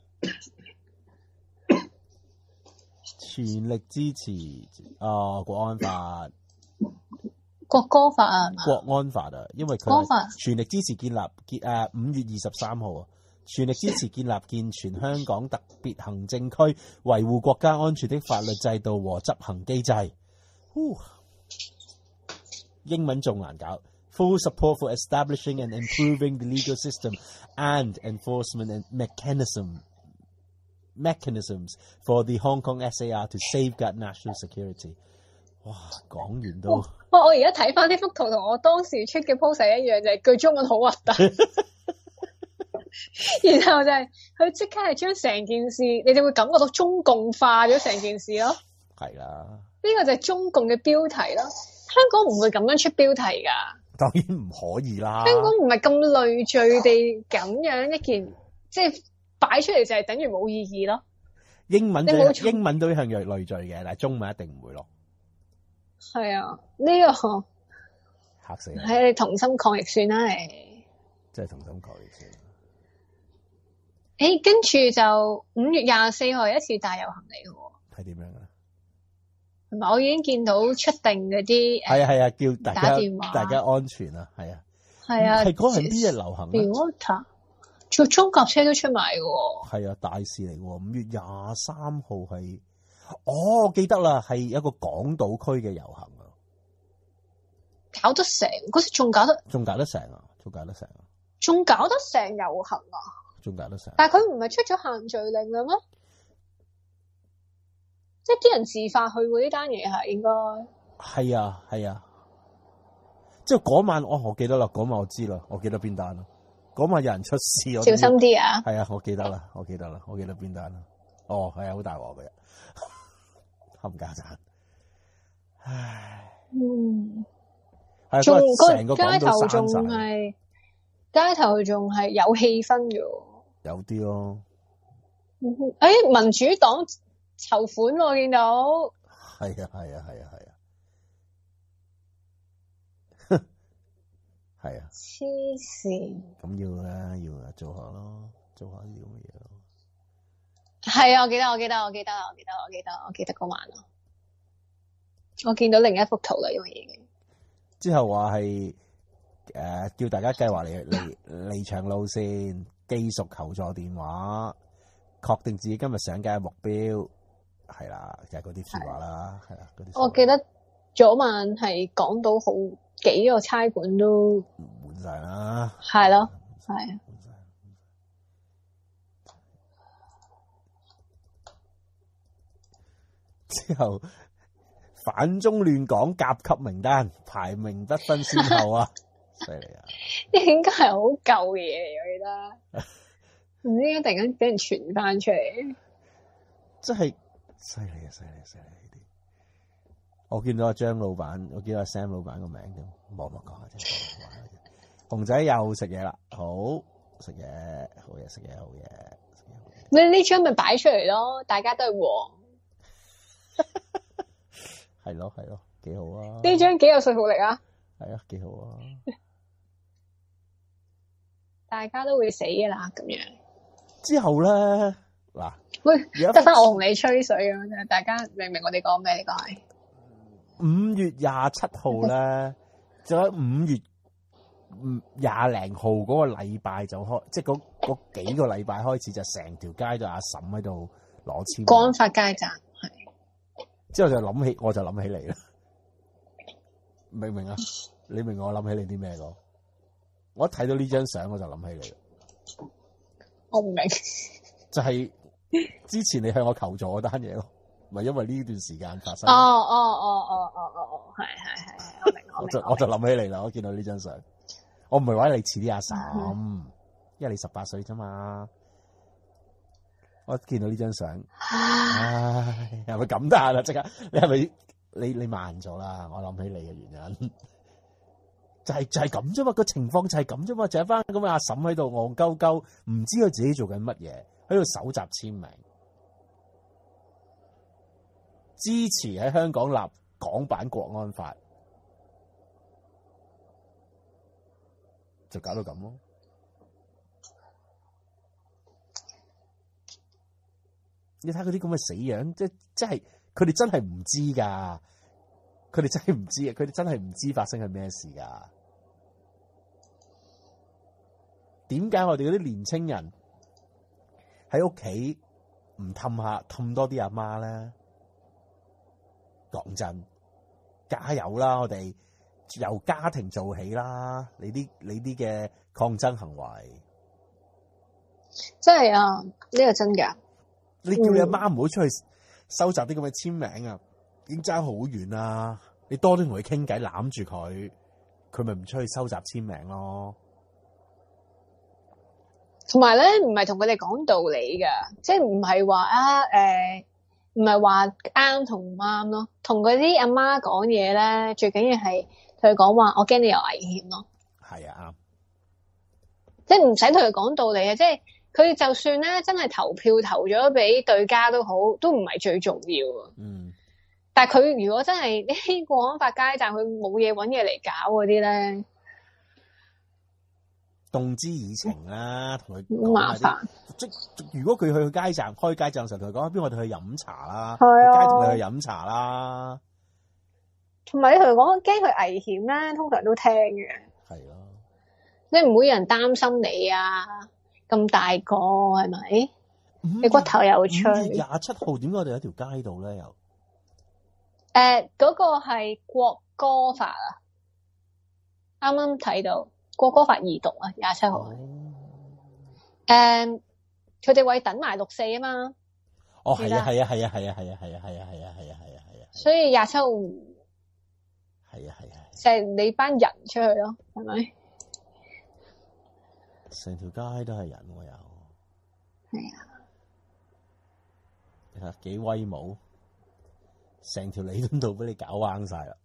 全力支持啊、哦、國安法。 國歌法啊， 國安法啊，因為佢全力支持建立建誒五月二十三號啊，全力支持建立健全香港特別行政區，維護國家安全的法律制度和執行機制。英文仲難搞。Full support for establishing and improving the legal system and enforcement and mechanism mechanisms for the Hong Kong S A R to safeguard national security。哇，講完都哇！ 我而家睇翻呢幅圖同我當時出嘅 post 一樣，就係、是、句中文好核突。然後就係佢即刻係將成件事，你哋會感覺到中共化咗成件事咯。 係啦， 呢個就係中共嘅標題咯。香港唔會咁樣出標題噶， 當然唔可以啦。 香港唔係咁累贅地咁樣一件，即係擺出嚟就係等於冇意義咯。 英文就英文都一向有累贅嘅，但係中文一定唔會咯。係啊，呢、這個嚇死人！ 係你同心抗疫算啦，你真係同心抗疫算。 誒，跟住就五月廿四號係一次大遊行嚟嘅喎。 係點樣啊？ 同埋我已經見到出定嗰啲係啊係啊，叫大家打電話， 大家安全啊，係啊係啊。係嗰係邊日流行啊 Water 做中甲車都出埋嘅喎。 係啊，大事嚟嘅喎。五月廿三號係。哦，我記得啦，係一個港島區嘅遊行啊， 搞得成嗰時仲搞得仲搞得成啊，仲搞得成啊， 仲搞得成遊行啊， 仲搞得成。 但係佢唔係出咗限聚令啦咩？即係啲人自發去喎，呢單嘢係應該係啊係啊，即係嗰晚我我記得啦，嗰晚我知啦，我記得邊單啦，嗰晚有人出事，我小心啲啊！ 係啊，我記得啦，我記得啦，我記得邊單啦。哦，係啊，好大鑊嘅。冚家鏟，唉， 嗯， 係仲成個街頭仲係街頭仲係有氣氛嘅， 有啲咯。 誒、哎，民主黨籌款我見到， 係啊係啊係啊係啊，係啊， 黐線， 咁要啦要啦，做下咯，做下呢啲咁嘅嘢咯。 係啊，我記得，我記得，我記得，我記得，我記得，我記得嗰晚咯。我見到另一幅圖啦，因為已經之後話係誒叫大家計劃嚟嚟離場路線，記熟求助電話，確定自己今日上街嘅目標，係啦，就係嗰啲說話啦，係啦，嗰啲。我記得早晚係講到好幾個差館都滿晒啦， 係咯，係。 之後反中亂港甲級名單排名不分先後啊，犀利啊！ 呢應該係好舊嘅嘢嚟，我記得唔知點解突然間俾人傳翻出嚟，真係犀利啊！犀利犀利呢啲，我見到阿張老闆，我見到阿 Sam 老闆個名咁，冇乜講啊！真係熊仔又食嘢啦，好食嘢，好嘢，食嘢，好嘢，食嘢，好嘢。 你呢張咪擺出嚟咯，大家都係黃。 係咯係咯，幾好啊！ 呢張幾有說服力啊！ 係啊，幾好啊！ 大家都會死噶啦，咁樣。 之後咧， 嗱， 喂，得翻我同你吹水咁樣，大家明唔明我哋講咩？呢個係五月廿七號咧，就喺五月廿零號嗰個禮拜就開，即係嗰嗰幾個禮拜開始就成條街都阿嬸喺度攞簽。 國安法街站係。 之後就諗起，我就諗起你啦，明唔明啊？你明我諗起你啲咩咯？我一睇到呢張相我就諗起你啦。 我唔明。 就係之前你向我求助嗰單嘢咯，咪因為呢段時間發生。 哦哦哦哦哦哦哦，係係係，我明我明。 我就我就諗起你啦，我見到呢張相，我唔係話你似啲阿嬸，嗯、因為你十八歲啫嘛。我見到呢張相，唉，係咪感嘆啊？即刻，你係咪你你慢咗啦？我諗起你嘅原因，就係、是、就係咁啫嘛，個情況就係咁啫嘛，就係翻咁嘅阿嬸喺度戇鳩鳩，唔知佢自己做緊乜嘢，喺度搜集簽名，支持喺香港立港版國安法，就搞到咁咯。你睇佢啲咁嘅死樣，即即係佢哋真係唔知噶，佢哋真係唔知啊！佢哋真係唔知發生緊咩事噶。點解我哋嗰啲年青人喺屋企唔氹下氹多啲阿媽咧？講真，加油啦！我哋由家庭做起啦！你啲你啲嘅抗爭行為， 真係啊！呢個真㗎。 你叫你阿媽唔好出去收集啲咁嘅簽名啊，已經爭好遠啦！你多啲同佢傾偈，攬住佢，佢咪唔出去收集簽名咯。 同埋咧，唔係同佢哋講道理噶，即係唔係話啊誒，唔係話啱同唔啱咯。同嗰啲阿媽講嘢咧，最緊要係同佢講話，我驚你有危險咯。 係啊，啱。 即係唔使同佢講道理啊！即係。佢就算咧真係投票投咗俾對家都好，都唔係最重要啊。嗯。但係佢如果真係呢國安法街站，佢冇嘢揾嘢嚟搞嗰啲咧， 動之以情啦，同佢好麻煩。 即如果佢去街站開街站嘅時候，同佢講，不如我哋去飲茶啦， 係啊， 街同佢去飲茶啦。 同埋你同佢講驚佢危險咧，通常都聽嘅。係咯。你唔會有人擔心你啊？咁大個係咪？你骨頭又脆。 五月廿七號點解我哋喺條街度咧？又誒， 嗰、那個係國歌法啊！啱啱睇到國歌法二讀啊，廿七號。誒，佢哋為等埋六四啊嘛。 哦，係啊，係啊，係啊，係啊，係啊，係啊，係啊，係啊，係啊，係啊，係啊。 所以廿七號係啊，係啊， 就係你班人出去咯，係咪？ 成條街都係人喎，又係啊！ 你睇幾威武，成條彌敦道俾你搞彎晒啦！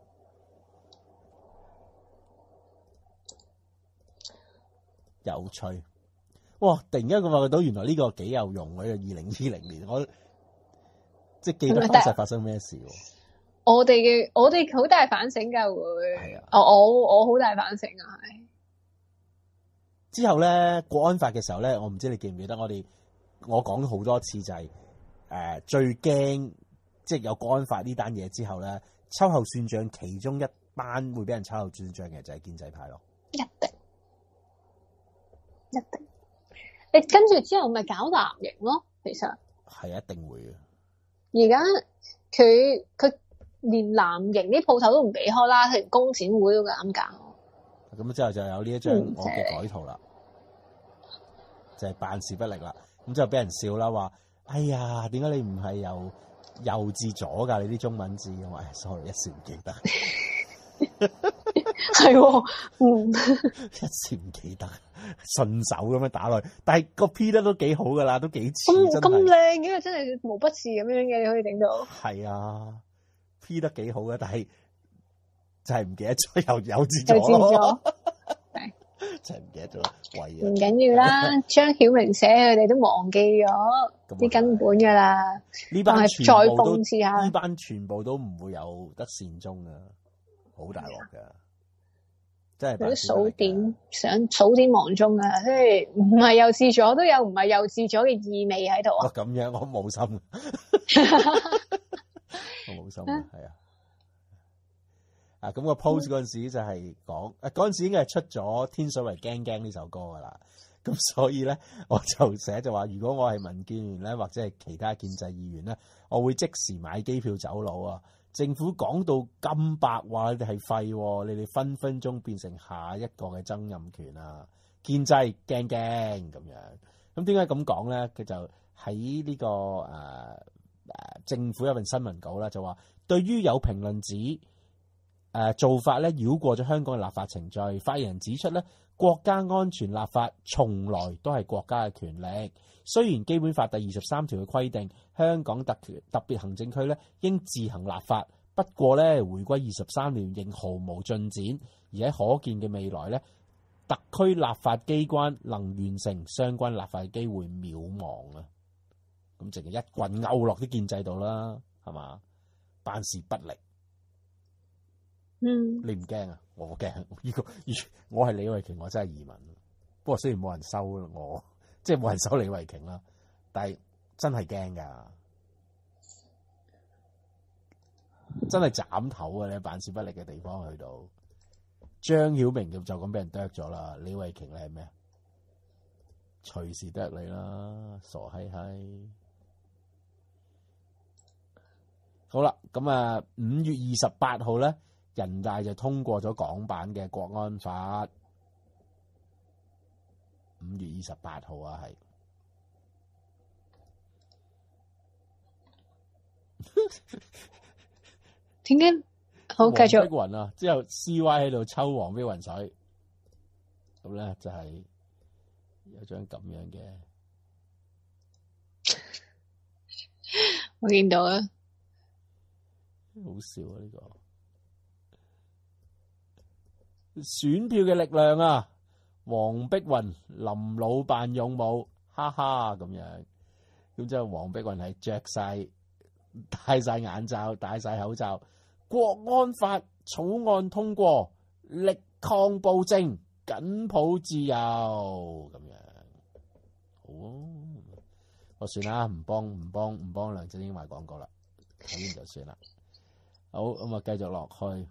有趣，哇！突然間我發覺到原來呢個幾有用嘅，二零二零年我即係記得當時發生咩事。 我哋嘅我哋好大反省㗎會，係啊！我我好大反省啊，係。 之後咧，國安法嘅時候咧，我唔知你記唔記得我哋我講咗好多次就係、是、誒、呃、最驚即係有國安法呢單嘢之後咧，秋後算賬其中一班會俾人秋後算賬嘅就係建制派咯。 一定一定，你跟住之後咪搞藍營咯，其實係一定會嘅。 而家佢佢連藍營啲鋪頭都唔俾開啦，連工展會都咁搞。 咁之後就有呢一張我嘅改圖啦，就係辦事不力啦。咁之後俾人笑啦，話：哎呀，點解你唔係由右至左㗎？你啲中文字，我話 sorry，一時唔記得。係喎，嗯， 一時唔記得，順手咁樣打落去。但係個 P 得都幾好㗎啦，都幾似。 咁咁靚嘅，真係毛筆字咁樣嘅，你可以整到。係啊 ，P 得幾好嘅，但係。就係唔記得咗又有字咗咯，真係唔記得咗，貴啊！ 唔緊要啦，張曉明寫佢哋都忘記咗啲根本噶啦。 呢班全部都再諷刺下， 呢班全部都唔會有得善終啊，好大鑊噶。 真係嗰啲數典想數典忘宗啊，即係唔係幼稚咗都有唔係幼稚咗嘅意味喺度啊。 咁樣我冇心，我冇心啊，係啊。啊，咁個 post 嗰陣時就係講，誒嗰陣時應該係出咗《天水圍驚驚》呢首歌噶啦，咁所以咧我就寫就話，如果我係民建聯咧，或者係其他建制議員咧，我會即時買機票走佬啊！政府講到咁白話，你哋係廢，你哋分分鐘變成下一個嘅曾蔭權啊！建制驚驚咁樣，咁點解咁講咧？佢就喺呢、這個誒誒、呃、政府有份新聞稿啦，就話對於有評論指。誒、呃、做法咧繞過咗香港嘅立法程序，發言人指出咧，國家安全立法從來都係國家嘅權力。雖然基本法第二十三條嘅規定，香港特特別行政區咧應自行立法，不過咧回歸二十三年仍毫無進展，而喺可見嘅未來咧，特區立法機關能完成相關立法嘅機會渺茫啊！咁淨係一棍勾落啲建制度啦，係嘛？辦事不力。 嗯， 你唔驚啊？我驚。如果我係李慧瓊，我真係移民。不過雖然冇人收我，即係冇人收李慧瓊啦，但係真係驚噶，真係斬頭啊！你辦事不力嘅地方去到，張曉明就咁俾人剁咗啦。李慧瓊你係咩啊？隨時剁你啦，傻閪閪。好啦，咁啊，五月二十八號咧。人大就通過咗港版嘅國安法，五月二十八號啊，係點解？好，繼續。 黃碧雲啊，之後 C Y 喺度抽黃碧雲水，咁咧就係有張咁樣嘅， 我見到啊， 好笑啊呢、這個。選票嘅力量啊，黃碧雲臨老扮勇武，哈哈咁樣。咁之後黃碧雲係着晒戴晒眼罩，戴晒口罩。國安法草案通過，力抗暴政，緊抱自由咁樣。好啊，我算啦，唔幫唔幫唔幫梁振英賣廣告啦，咁樣就算啦。好，咁啊，繼續落去。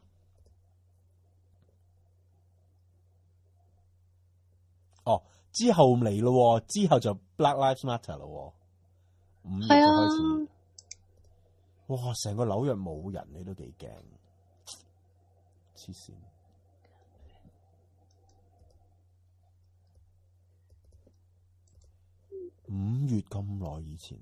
哦，之後嚟咯，之後就 Black Lives Matter 咯，五月就開始。啊、哇！成個紐約冇人，你都幾驚，黐線。五月咁耐以前，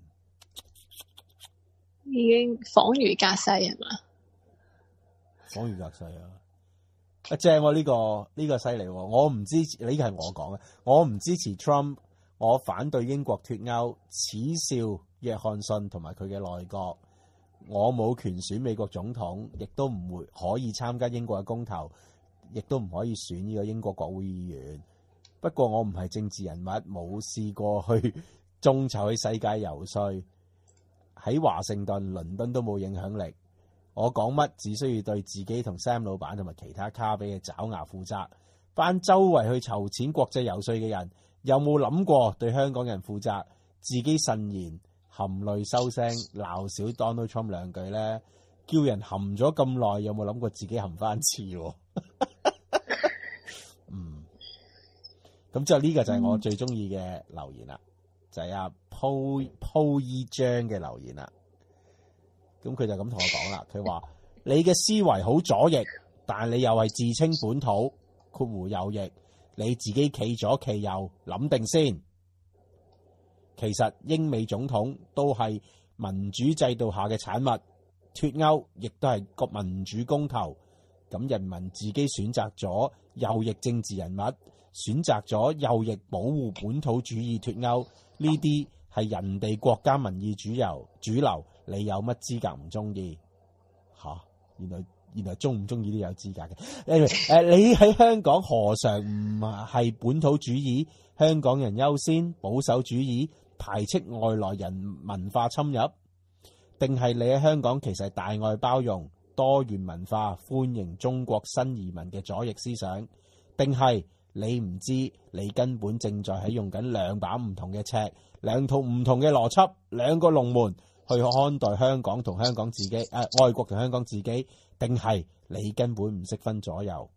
已經恍如隔世係嘛？ 恍如隔世啊！啊正喎，呢個呢個犀利喎！我唔支持，呢個係我講嘅，我唔支持 Trump，我反對英國脫歐，恥笑約翰遜同埋佢嘅內閣。我冇權選美國總統，亦都唔會可以參加英國嘅公投，亦都唔可以選呢個英國國會議員。不過我唔係政治人物，冇試過去眾籌去世界遊說，喺華盛頓、倫敦都冇影響力。我講乜只需要對自己同 Sam 老闆同埋其他卡比嘅爪牙負責。班周圍去籌錢國際遊說嘅人，有冇諗過對香港人負責？自己慎言，含淚收聲，鬧少 Donald Trump 兩句咧，叫人含咗咁耐，有冇諗過自己含翻次？嗯，咁之後呢個就係我最中意嘅留言啦，就係阿 Po Po 依張嘅留言啦。咁佢就咁同我講啦，佢話你嘅思維好左翼，但你又係自稱本土括弧右翼，你自己企左企右，諗定先。其實英美總統都係民主制度下嘅產物，脫歐亦都係個民主公投。咁人民自己選擇咗右翼政治人物，選擇咗右翼保護本土主義脫歐，呢啲係人哋國家民意主流主流。你有乜資格唔中意？吓，原來原來中唔中意都有資格嘅。誒，你喺香港何嘗唔係本土主義、香港人優先、保守主義、排斥外來人文化侵入？定係你喺香港其實係大愛包容、多元文化、歡迎中國新移民嘅左翼思想？ 定係你唔知，你根本正在喺用緊兩把唔同嘅尺，兩套唔同嘅邏輯，兩個龍門去看待香港同香港自己，誒、呃、外國同香港自己，定係你根本唔識分左右？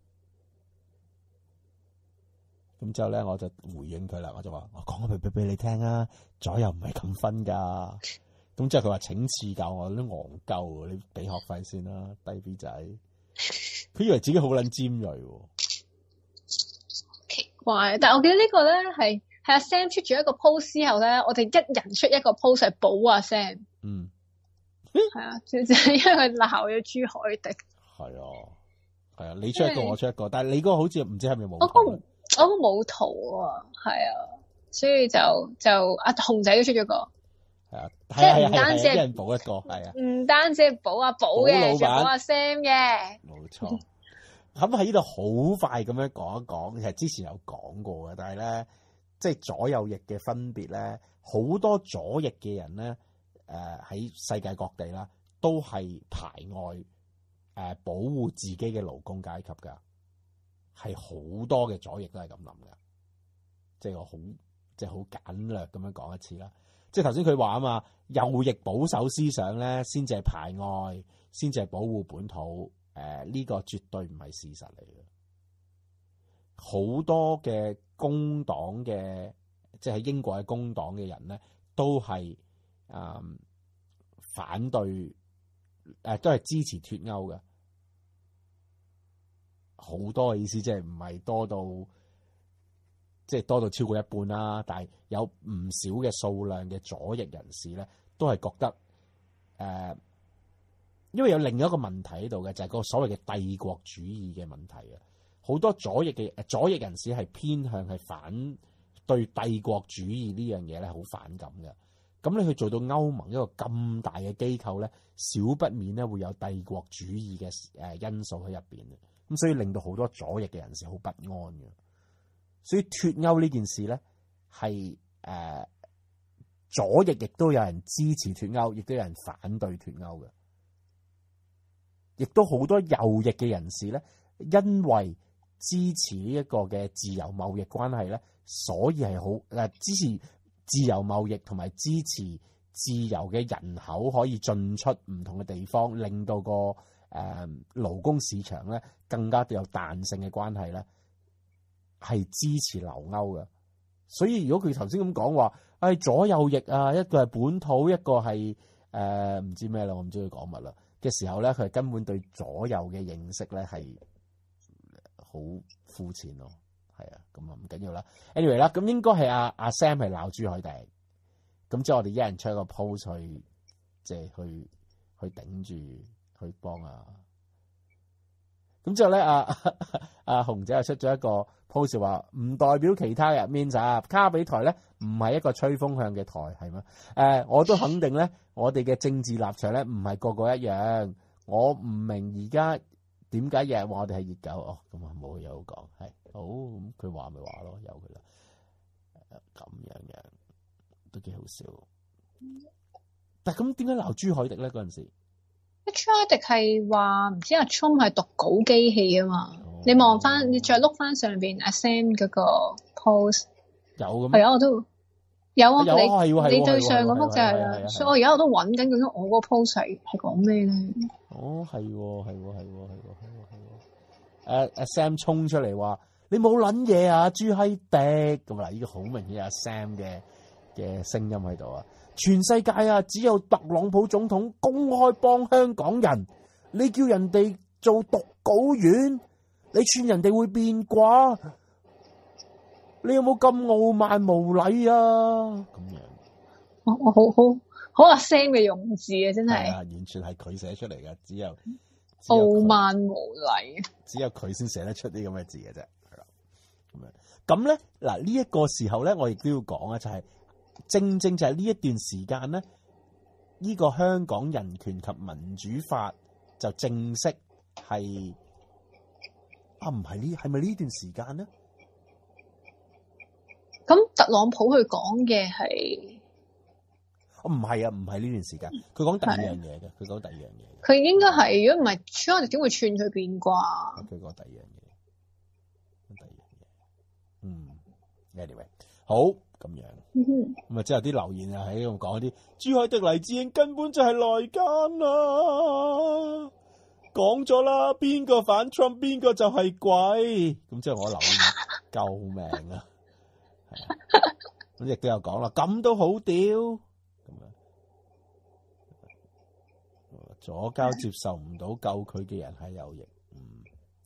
咁之後咧，我就回應佢啦，我就話：我講個秘密俾你聽啊，左右唔係咁分噶。咁之後佢話：請賜教我，都戇鳩，你俾學費先啦，低 B 仔。佢以為自己好撚尖鋭喎。 奇怪，但係我記得呢個咧係係阿 Sam 出咗一個 post 之後咧，我哋一人出一個 post 嚟補阿 Sam。 嗯， 係啊，就係因為佢鬧咗朱凱廸。係啊，係啊，你出一個，我出一個，但係你嗰個好似唔知係咪冇？ 我個我個冇圖啊，係啊，所以就就阿熊仔都出咗個。 係啊， 即係唔單止係一人補一個，係啊， 唔單止係補阿寶嘅，仲補阿 Sam 嘅。 冇錯。咁喺呢度好快咁樣講一講，其實之前有講過嘅，但係咧，即係左右翼嘅分別咧，好多左翼嘅人咧，誒、呃、喺世界各地啦，都係排外誒、呃、保護自己嘅勞工階級㗎，係好多嘅左翼都係咁諗㗎，即係我好即係好簡略咁樣講一次啦。即係頭先佢話啊嘛，右翼保守思想咧，先至係排外，先至係保護本土。誒、呃，呢、這個絕對唔係事實嚟嘅。好多嘅工黨嘅，即係喺英國嘅工黨嘅人咧，都係誒、呃、反對，誒、呃、都係支持脫歐嘅。好多嘅意思，即係唔係多到，即係多到超過一半啦。但係有唔少嘅數量嘅左翼人士咧，都係覺得誒。呃因為有另一個問題喺度嘅，就係、是、個所謂嘅帝國主義嘅問題啊！好多左翼嘅左翼人士係偏向係反對帝國主義呢樣嘢咧，好反感嘅。咁你去做到歐盟一個咁大嘅機構咧，少不免咧會有帝國主義嘅誒因素喺入邊嘅。咁所以令到好多左翼嘅人士好不安嘅。所以脫歐呢件事咧係誒左翼亦都有人支持脫歐，亦都有人反對脫歐嘅。亦都好多右翼嘅人士咧，因為支持呢一個嘅自由貿易關係咧，所以係好誒支持自由貿易同埋支持自由嘅人口可以進出唔同嘅地方，令到個誒、呃、勞工市場咧更加有彈性嘅關係咧，係支持留歐嘅。所以如果佢頭先咁講話，誒、哎、左右翼啊，一個係本土，一個係誒唔知咩啦，我唔知佢講乜啦。嘅時候咧，佢係根本對左右嘅認識咧係好膚淺咯，係啊，咁啊唔緊要啦。anyway 啦，咁應該係阿阿 Sam 係鬧朱凱廸，咁之後我哋一人出一個 post 去，即係去去頂住去幫啊。咁之後咧，阿阿熊仔又出咗一個 post 話，唔代表其他人 means 啊，卡比台咧唔係一個吹風向嘅台，係咩？誒、呃，我都肯定咧，我哋嘅政治立場咧唔係個個一樣。我唔明而家點解日日話我哋係熱狗哦，咁啊冇嘢好講，係好咁佢話咪話咯，由佢啦。咁樣樣都幾好笑。但係咁點解鬧朱凱廸咧嗰陣時？ 朱凱廸係話唔知阿 Trump 係讀稿機器啊嘛，哦、你望翻，你再碌翻上邊阿 Sam 嗰個 post 有咁係啊，我都有啊， 有啊你係你對上嗰幅就係啦，所以我而家我都揾緊究竟我嗰個 post 係係講咩咧？ 哦，係喎，係喎，係喎，係喎，係喎，係喎。誒誒 Sam 衝出嚟話：你冇撚嘢啊，朱凱廸咁嗱，呢個好明顯阿 Sam 嘅嘅聲音喺度啊！全世界啊，只有特朗普總統公開幫香港人，你叫人哋做讀稿員，你串人哋會變卦，你有冇咁傲慢無禮啊？咁樣， 我我好好好阿 Sam 嘅用字啊，真係， 完全係佢寫出嚟嘅，只有， 只有傲慢無禮， 只有佢先寫得出啲咁嘅字嘅啫。係啦，咁樣咁咧嗱，呢一個時候咧，我亦都要講啊，就係。正正就係呢一段時間咧，呢、這個香港人權及民主法就正式係啊，唔係呢，係咪呢段時間咧？ 咁特朗普佢講嘅係， 哦唔係啊，唔係呢段時間，佢講第二樣嘢嘅，佢講第二樣嘢。 佢應該係，如果唔係，朱凱廸點會串佢變卦？ 佢講第二樣嘢，第二樣嘢。 嗯 ，anyway， 好咁樣，咁啊之後啲留言啊喺度講啲珠海的黎智英根本就係內奸啊！講咗啦，邊個反 Trump 邊個就係鬼。咁之後我留言救命啊！咁亦都有講啦，咁都好屌咁樣。左膠接受唔到救佢嘅人係有型。嗯，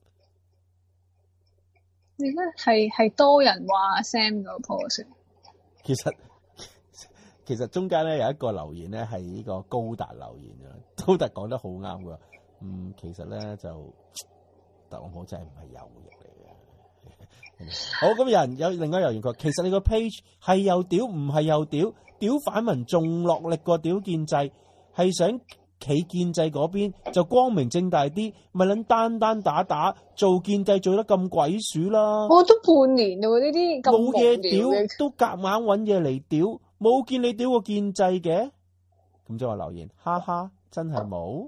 而家係係多人話 Sam 個 post。 其實其實中間咧有一個留言咧係呢個高達留言嘅，高達講得好啱㗎。嗯，其實咧就特朗普真係唔係右翼嚟嘅。好，咁有人有另外有人佢話，其實你個 page 係又屌唔係又屌，屌反民仲落力過屌建制，係想企建制嗰邊就光明正大啲，咪撚單單打打做建制做得咁鬼鼠啦。 我都半年咯，呢啲咁冇嘢屌都夾硬揾嘢嚟屌，冇見你屌過建制嘅。咁即係話留言，哈哈，真係冇。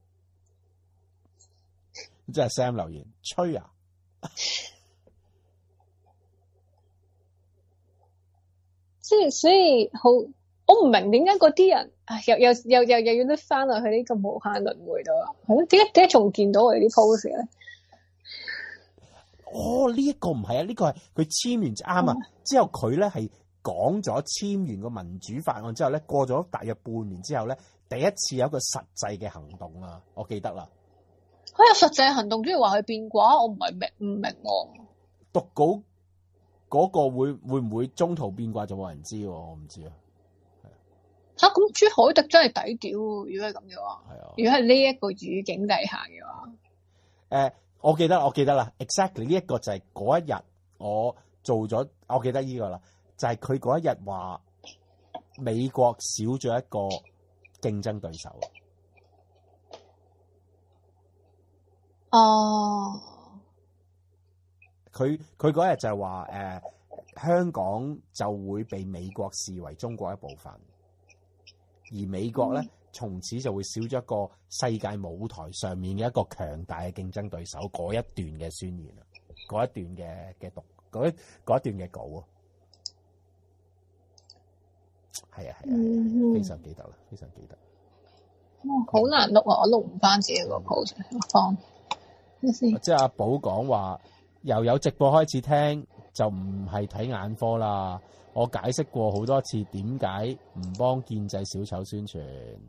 即係 Sam 留言，吹啊！ 即係所以好，我唔明點解嗰啲人又又又又又要甩翻落去呢個無限輪迴度啊？係咯，點解點解仲見到我哋啲 post 咧？ 哦，呢、這、一個唔係啊，呢、這個係佢簽完就啱啊。嗯、之後佢咧係講咗簽完個民主法案之後咧，過咗大約半年之後咧，第一次有一個實際嘅行動啊，我記得啦。 佢有實際行動，即係話佢變卦，我唔係明唔明喎。 讀稿嗰個會會唔會中途變卦就冇人知喎，我唔知啊。 嚇，咁朱凱廸真係抵屌喎！如果係咁嘅話， 係啊。 如果係呢一個語境底下嘅話，誒、 呃，我記得我記得啦 ，exactly 呢一個就係嗰一日我做咗，我記得呢個啦，就係佢嗰一日話美國少咗一個競爭對手。 哦， 佢佢嗰日就係話誒，香港就會被美國視為中國一部分，而美國咧、嗯、從此就會少咗一個世界舞台上面嘅一個強大嘅競爭對手。嗰一段嘅宣言啊，嗰一段嘅嘅讀嗰一嗰一段嘅稿啊，係啊係啊，嗯、非常記得啦，非常記得。 哦，好難錄啊！我錄唔翻自己個 post 放。即係阿寶講話，由有直播開始聽就唔係睇眼科啦。我解釋過好多次，點解唔幫建制小丑宣傳？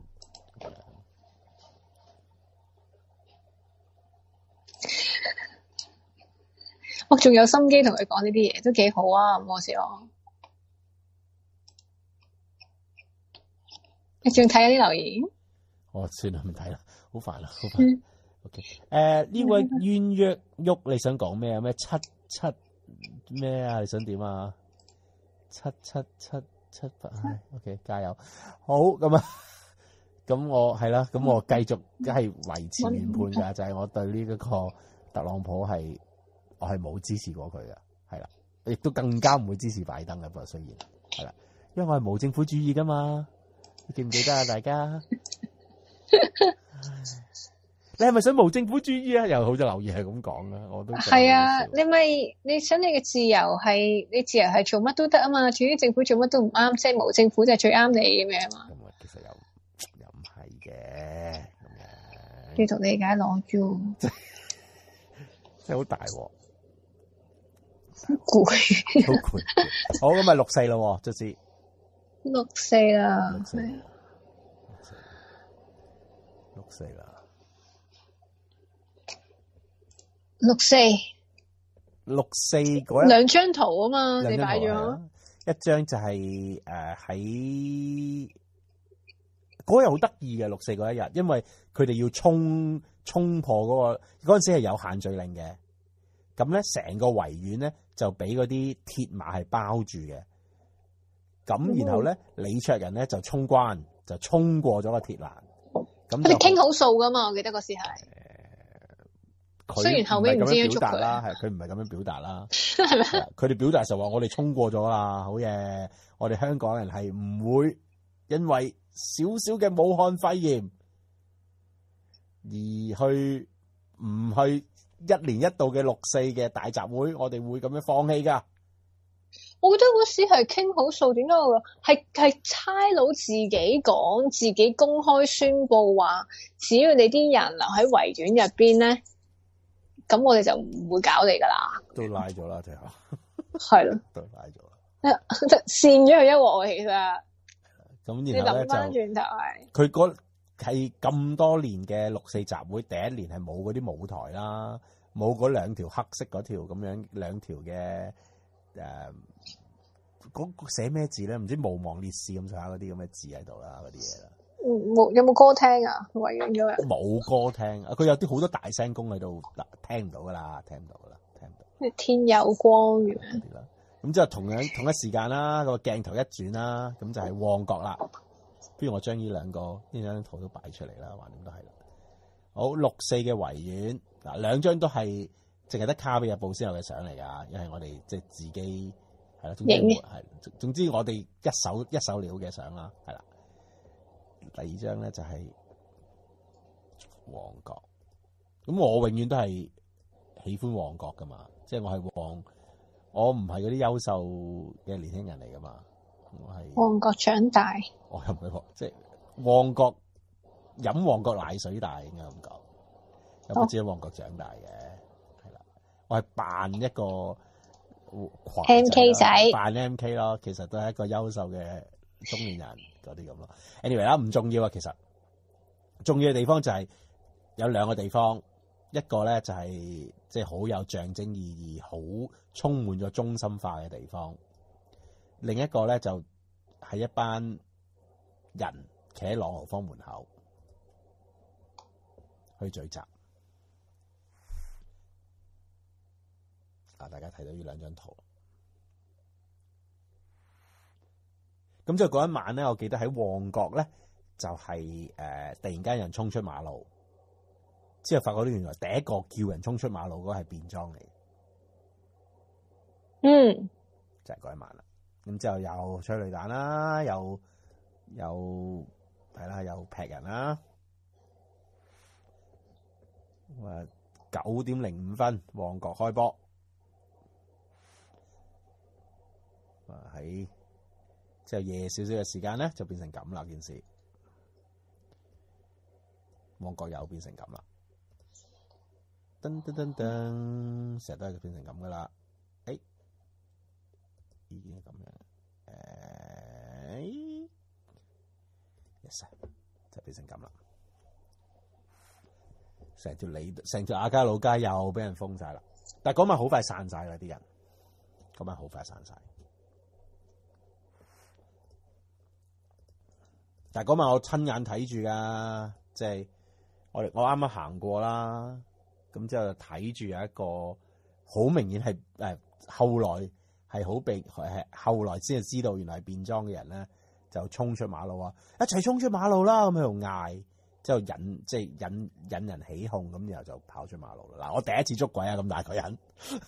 我仲有心機同佢講呢啲嘢，都幾好啊！唔好笑我。你仲睇緊啲留言？ 我、哦、算啦，唔睇啦，好煩啦，好煩。嗯OK，誒、呃、呢位冤約喐，你想講咩啊？咩七七咩啊？你想點啊？七七七七八，OK， 加油！好咁啊，咁我係啦，咁我繼續係維持原判㗎，就係、是、我對呢一個特朗普係我係冇支持過佢嘅，係啦，亦都更加唔會支持拜登嘅，不過雖然係啦，因為我係無政府主義㗎嘛，你記唔記得啊？大家？你係咪想無政府主義啊？又好多留言係咁講啊，我都係啊！你咪你想你嘅自由係你自由係做乜都得啊嘛，至於政府做乜都唔啱，即係無政府就係最啱你咁樣嘛。咁啊，其實又又唔係嘅咁樣。繼續理解攞住， 真係好大鑊， 好攰， 好攰。好咁咪六四咯，即係六四啦， 六四，六四啦。 六四， 六四嗰一兩張圖啊嘛，你擺咗一張就係誒喺嗰日好得意嘅六四嗰一日，因為佢哋要衝衝破嗰個嗰陣時係有限聚令嘅，咁咧成個維園咧就俾嗰啲鐵馬係包住嘅，咁然後咧李卓人咧就衝關就衝過咗個鐵欄，咁佢哋傾好數噶嘛，我記得嗰時係。雖然後尾唔知點表達啦，係佢唔係咁樣表達啦，係咪？佢哋表達就話我哋衝過咗啦，好嘢！我哋香港人係唔會因為少少嘅武漢肺炎而去唔去一年一度嘅六四嘅大集會，我哋會咁樣放棄噶。 我覺得嗰時係傾好數，點解我係係差佬自己講，自己公開宣佈話，只要你啲人留喺維園入邊咧，咁我哋就唔會搞你噶啦。 都拉咗啦，最後係咯， 都拉咗啦， 扇咗佢一鑊，其實。 咁你然後咧就諗翻轉頭係佢嗰係咁多年嘅六四集會，第一年係冇嗰啲舞台啦，冇嗰兩條黑色嗰條咁樣兩條嘅誒，嗰、呃、寫咩字咧？唔知毋忘烈士咁上下嗰啲咁嘅字喺度啦，嗰啲嘢啦。 冇有冇歌聽啊？維園嗰日冇歌聽啊！佢有啲好多大聲公喺度，嗱聽唔到噶啦，聽唔到噶啦，聽唔到。 天有光嘅。 咁之後同樣同一時間啦，個鏡頭一轉啦，咁就係旺角啦。不如我將呢兩個呢兩張圖都擺出嚟啦，橫掂都係啦。好，六四嘅維園嗱，兩張都係淨係得《卡比日報》先有嘅相嚟㗎，因為我哋即係自己係啦，總之係總之我哋一手一手料嘅相啦，係啦。第二張咧就係旺角，咁我永遠都係喜歡旺角㗎嘛，即係我係旺。我唔係嗰啲優秀嘅年輕人嚟噶嘛，我係旺角長大， 我又唔係即係旺角飲旺角奶水大，應該咁講，有不知喺旺角長大嘅，係啦，我係扮一個 M K 仔， 扮 M K 咯，其實都係一個優秀嘅中年人嗰啲咁咯。anyway 啦，唔重要啊，其實重要嘅地方就係有兩個地方。一個咧就係即係好有象徵意義、好充滿咗中心化嘅地方。另一個咧就係一班人企喺朗豪坊門口去聚集。啊，大家睇到呢兩張圖。咁之後嗰一晚咧，我記得喺旺角咧就係、是、誒、呃、突然間有人衝出馬路。之後發覺呢，原來第一個叫人衝出馬路嗰個係便裝嚟， 嗯， 就係嗰一晚啦。咁之後又催淚彈啦，又又係啦，又劈人啦。咁啊，九點零五分，旺角開波。啊，喺之後夜少少嘅時間咧，就變成咁啦件事。旺角又變成咁啦。噔噔噔噔，成日都係變成咁噶啦。誒，已經係咁樣。誒，yes，就變成咁啦。成條里，成條亞皆老街又俾人封晒啦。但係嗰晚好快散晒啦，啲人。嗰晚好快散晒。但係嗰晚我親眼睇住噶，即係我我啱啱行過啦。咁之後就睇住有一個好明顯係誒，後來係好被係後來先係知道原來係變裝嘅人咧，就衝出馬路啊！一齊衝出馬路啦！咁喺度嗌，之後引即係引引人起哄，咁然後就跑出馬路啦。嗱，我第一次捉鬼啊！咁大個人，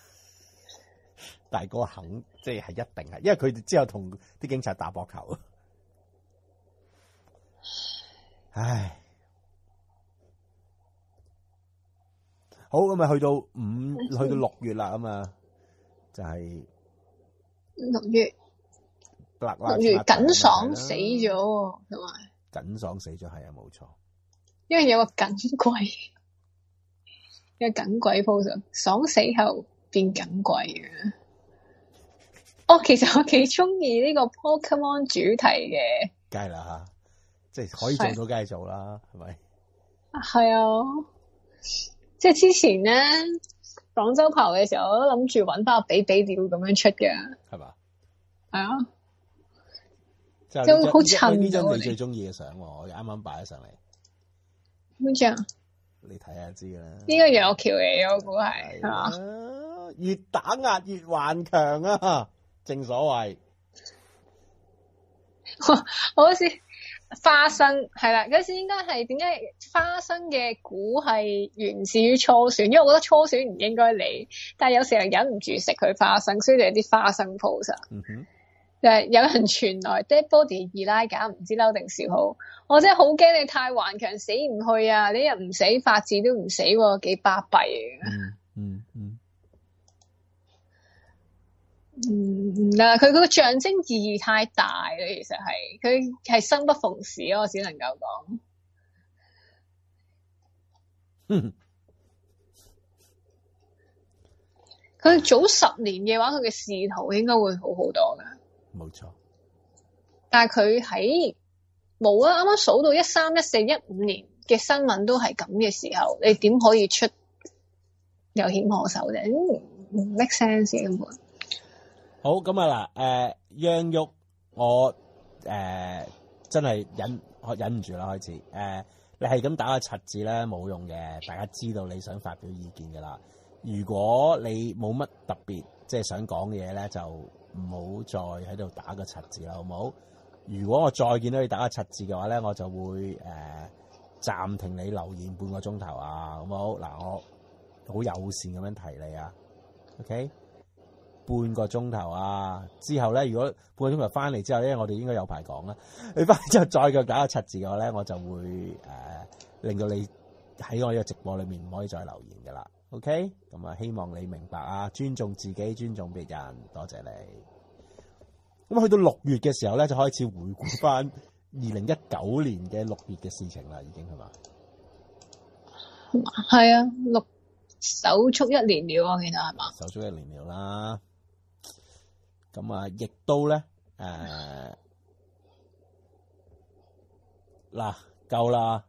但係嗰個肯即係係一定係，因為佢哋之後同啲警察打膊頭。唉。好，咁啊，去到五，去到六月啦，咁啊，就係六月，六月耿爽死咗，同埋耿爽死咗，係啊，冇錯。 因為有個耿鬼，有個耿鬼 pose，爽死後變耿鬼嘅。哦，其實我幾中意呢個 Pokemon 主題嘅， 梗係啦吓，即係可以做到，梗係做啦，係咪？ 係啊。即係之前咧，廣州跑嘅時候，我都諗住搵翻個比比鳥咁樣出嘅， 係嘛？ 係啊， 即係好襯。 呢張你最中意嘅相，我啱啱擺咗上嚟。 邊張？ 你睇下知啦。 呢個楊橋嚟嘅，我估係係嘛？ 越打壓越頑強啊！正所謂， 我好似。花生係啦，嗰時應該係點解花生嘅估係源自於初選，因為我覺得初選唔應該理，但係有時候忍唔住食佢花生，所以就有啲花生 pose。嗯哼，就係有人傳來 dead body 二拉架，唔知嬲定笑好，我真係好驚你太頑強死唔去啊！你又唔死，法治都唔死，幾巴閉啊！ 嗯嗯嗯， 唔得，佢嗰個象徵意義太大啦，其實係佢係生不逢時咯，我只能夠講。 嗯， 佢早十年嘅話，佢嘅仕途應該會好好多噶。 冇錯。 但係佢喺冇啊，啱啱數到一三、一四、一五年嘅新聞都係咁嘅時候，你點可以出有險可守啫？唔 make sense 根本。 好咁啊嗱，誒，央郁我誒、呃、真係忍我忍唔住啦，開始誒、呃，你係咁打個柒字咧冇用嘅，大家知道你想發表意見噶啦。如果你冇乜特別即係想講嘅嘢咧，就唔好再喺度打個柒字啦，好唔好？如果我再見到你打個柒字嘅話咧，我就會誒暫、呃、停你留言半個鐘頭啊，好唔好？嗱，我好友善咁樣提你啊 ，OK？半個鐘頭啊，之後咧，如果半個鐘頭翻嚟之後咧，我哋應該有排講啦。你翻嚟之後再腳打個柒字嘅話咧，我就會誒、呃、令到你喺我呢個直播裏面唔可以再留言噶啦。OK？咁啊，希望你明白啊，尊重自己，尊重別人，多謝你。咁去到六月嘅時候咧，就開始回顧翻二零一九年嘅六月嘅事情啦，已經係嘛？ 係啊，六手足一年了，我記得係嘛？ 手足一年了啦。咁啊，亦都咧，誒，嗱，夠啦，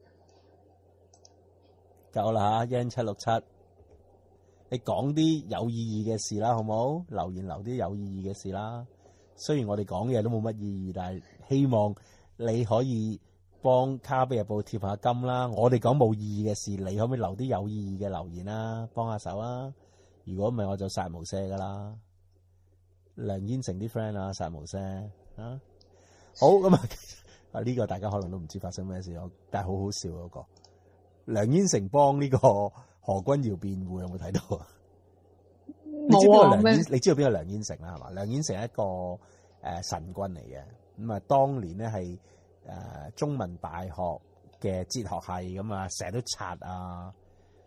夠啦吓，一七六七，你講啲有意義嘅事啦，好冇？留言留啲有意義嘅事啦。雖然我哋講嘢都冇乜意義，但係希望你可以幫卡比日報貼下金啦。我哋講冇意義嘅事，你可唔可以留啲有意義嘅留言啦？幫下手啊！如果唔係，我就殺無赦噶啦。梁燕成啲 friend 啊，殺無赦啊！好咁啊，啊呢個大家可能都唔知發生咩事咯，但係好好笑嗰個梁燕成幫呢個何君堯辯護，有冇睇到啊？你知邊個梁燕？你知道邊個梁燕成啦？係嘛？梁燕成係一個誒、呃、神棍嚟嘅，咁啊當年咧係誒中文大學嘅哲學系咁啊，成日都刷啊，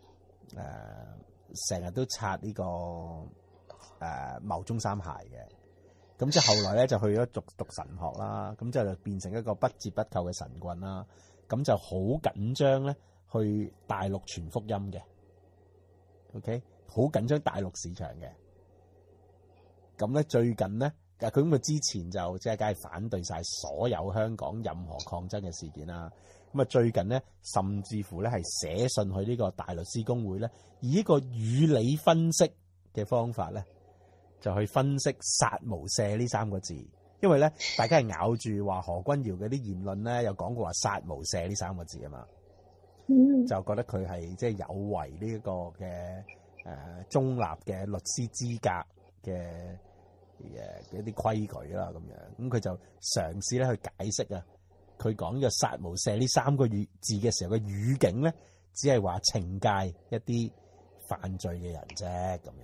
誒成日都刷呢、這個誒牟、呃、中三孩嘅。咁即係後來咧就去咗讀讀神學啦，咁之後就變成一個不折不扣嘅神棍啦。咁就好緊張咧去大陸傳福音嘅 ，OK。好緊張大陸市場嘅，咁咧最近咧，佢咁佢之前就即係梗係反對晒所有香港任何抗爭嘅事件啦。咁啊最近咧，甚至乎咧係寫信去呢個大律師公會咧，以一個語理分析嘅方法咧，就去分析殺無赦呢三個字。因為咧，大家係咬住話何君堯嘅啲言論咧，有講過話殺無赦呢三個字啊嘛，嗯、就覺得佢係即係有違呢一個嘅。誒中立嘅律師資格嘅誒一啲規矩啦，咁樣咁佢就嘗試咧去解釋啊，佢講呢個殺無赦呢三個語字嘅時候嘅語境咧，只係話懲戒一啲犯罪嘅人啫，咁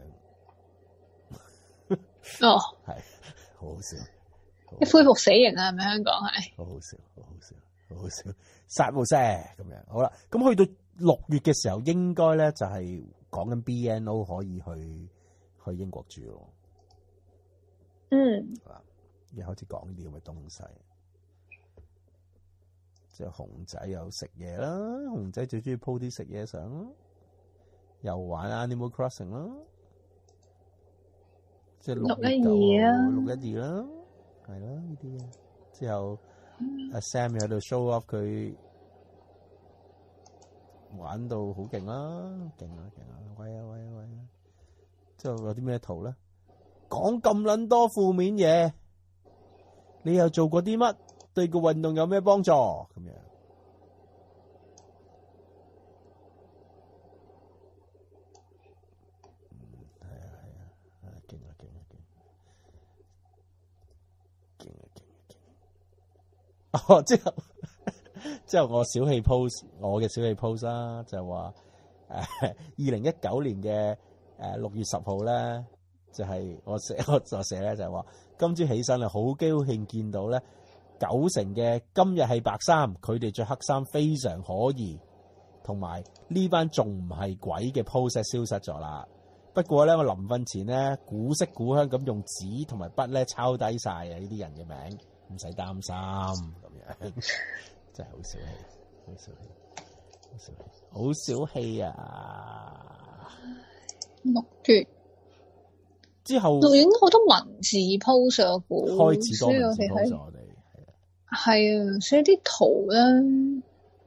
樣哦， 係好好笑， 一恢復死刑啊，係咪香港係？ 好好笑，好好笑，好好笑，殺無赦咁樣。好啦，咁去到六月嘅時候，應該咧就係、是。講緊 B N O 可以去去英國住咯， 嗯， 而開始講呢啲咁嘅東西，即係熊仔又食嘢啦，熊仔最中意 po 啲食嘢相啦，又玩 Animal Crossing 啦，即係六一二啊，六一二啦，係啦呢啲嘢，之後阿 Sam 又喺度 show off 佢。玩到好勁啦，勁啊勁啊，喂啊喂啊喂啊！之後有啲咩圖咧？講咁撚多負面嘢，你又做過啲乜？對個運動有咩幫助？咁樣，嗯，係啊係啊，啊勁啊勁啊勁，勁啊勁啊勁！哦，之後。之後我小氣 post 我嘅小氣 post 啦，就話誒二零一九年嘅誒六月十號咧，就係、是、我寫我就寫咧就係話今朝起身啊，好高興見到咧九成嘅今日係白衫，佢哋着黑衫非常可疑，同埋呢班仲唔係鬼嘅 post 消失咗啦。 不過咧，我臨瞓前咧，古色古香咁用紙同埋筆咧抄低晒啊！呢啲人嘅名，唔使擔心咁樣，真係好小氣，好小氣，好小氣，好小氣啊！ 六月之後錄影好多文字 post 啊，估開始多文字所以 post 我哋我哋係啊， 係啊，所以啲圖咧。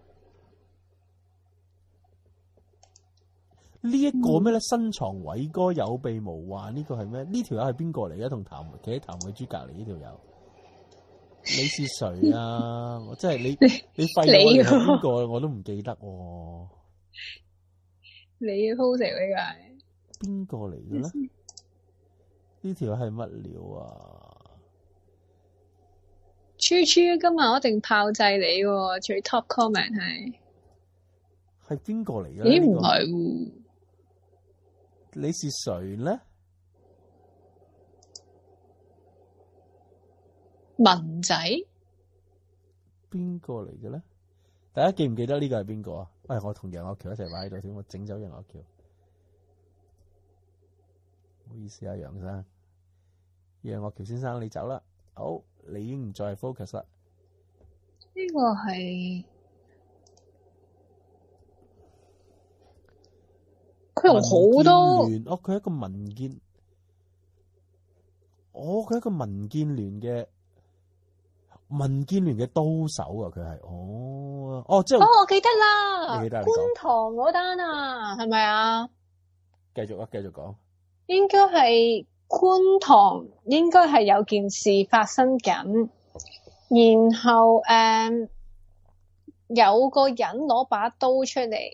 呢一個咩咧？身藏偉哥有備無患，呢個係咩？呢條友係邊個嚟嘅？同譚企喺譚慧珠隔離呢條友，你是誰啊？我真係你你廢咗我哋係邊個？我都唔記得喎。 你 post 呢個係邊個嚟嘅咧？呢條係乜料啊？ 豬豬今日我一定炮製你喎，最 top comment 係係邊個嚟嘅？ 咦唔係喎？ 你是誰咧？ 文仔邊個嚟嘅咧？大家記唔記得呢個係邊個啊？喂，我同楊岳橋一齊擺喺度先，我整走楊岳橋。唔好意思啊，楊生，楊岳橋先生你走啦。好，你已經唔再係 focus 啦。 呢個係佢用好多哦，佢係一個民建，哦，佢係一個民建聯嘅民建聯嘅刀手啊！佢係哦哦，即係哦，我記得啦， 你記得你觀塘嗰單啊，係咪啊？ 繼續啊，繼續講。 應該係觀塘，應該係有件事發生緊，然後誒、嗯、有個人攞把刀出嚟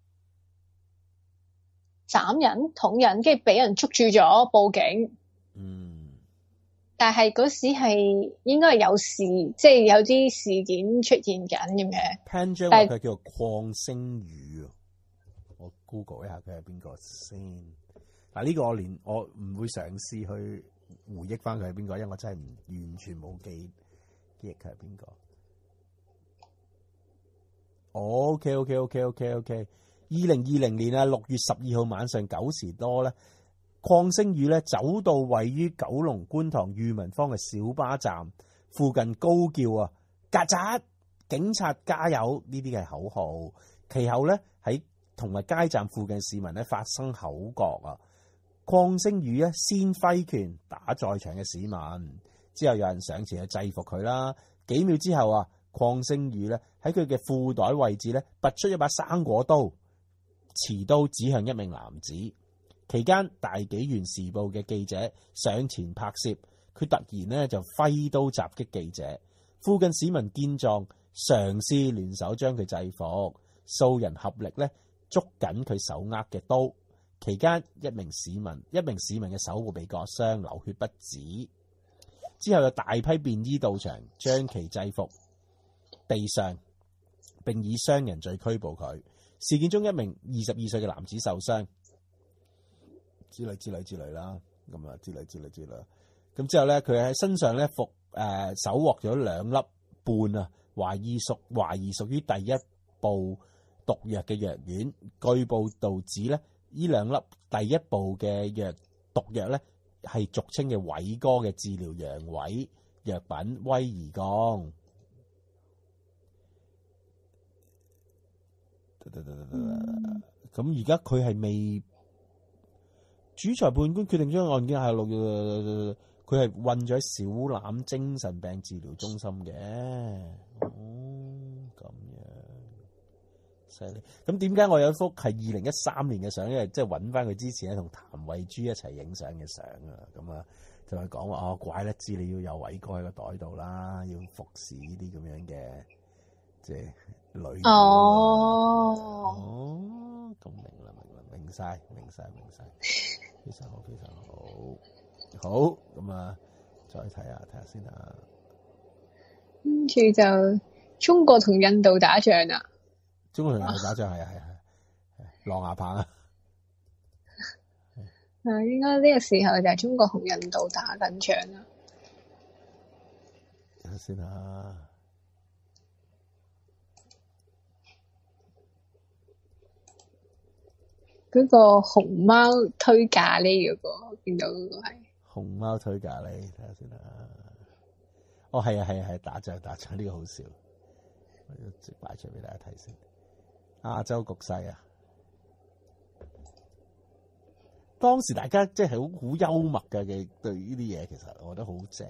斬人、捅人，跟住俾人捉住咗，報警。 嗯， 但係嗰時係應該係有事，即係有啲事件出現緊咁嘅。 潘章話佢叫做鄺星宇啊，我 Google 一下佢係邊個先。嗱，呢個我連我唔會嘗試去回憶翻佢係邊個，因為我真係唔完全冇記記憶佢係邊個。OK OK OK OK OK，二零二零年啊六月十二號晚上九時多咧，鄺星宇咧走到位於九龍觀塘裕民坊嘅小巴站附近高叫啊，曱甴！警察加油！呢啲係口號。其後咧喺同埋街站附近市民咧發生口角啊。鄺星宇咧先揮拳打在場嘅市民，之後有人上前去制服佢啦。幾秒之後啊，鄺星宇咧喺佢嘅褲袋位置咧拔出一把生果刀，持刀指向一名男子。期間，大紀元時報嘅記者上前拍攝，佢突然咧就揮刀襲擊記者。附近市民見狀，嘗試聯手將佢制服，數人合力咧捉緊佢手握嘅刀。期間，一名市民一名市民嘅手部被割傷，流血不止。之後有大批便衣到場，將其制服地上，並以傷人罪拘捕佢。事件中，一名二十二歲嘅男子受傷，之類之類之類啦，咁啊之類之類之類。咁之後咧，佢喺身上咧服誒搜獲咗兩粒半啊，懷疑屬懷疑屬於第一部毒藥嘅藥丸。據報導指咧，呢兩粒第一部嘅藥毒藥咧係俗稱嘅偉哥嘅治療陽痿藥品威而鋼。咁而家佢係未主裁判官決定將案件下落，佢係韞咗喺小欖精神病治療中心嘅。哦，咁樣犀利。咁點解我有一幅係二零一三年嘅相？因為即係揾翻佢之前咧同譚慧珠一齊影相嘅相啊。咁啊，就係講話哦，怪得知你要有偉哥喺個袋度啦，要服侍呢啲咁樣嘅即係女。 哦， 哦，咁明啦，明啦，明晒，明晒，明晒，非常好，非常好。好，咁啊，再睇下睇下先啊。 跟住就中國同印度打仗啦。 中國同印度打仗係啊係啊係，狼牙棒啊。 啊，應該呢個時候就係中國同印度打緊仗啦。 睇下先啊。 嗰個熊貓推咖喱嗰個，見到嗰個係熊貓推咖喱，睇下先啦。哦，係啊，係啊，係打仗打仗，呢個好笑，我要直擺出嚟俾大家睇先。亞洲局勢啊，當時大家即係好好幽默嘅嘅對呢啲嘢，其實我覺得好正。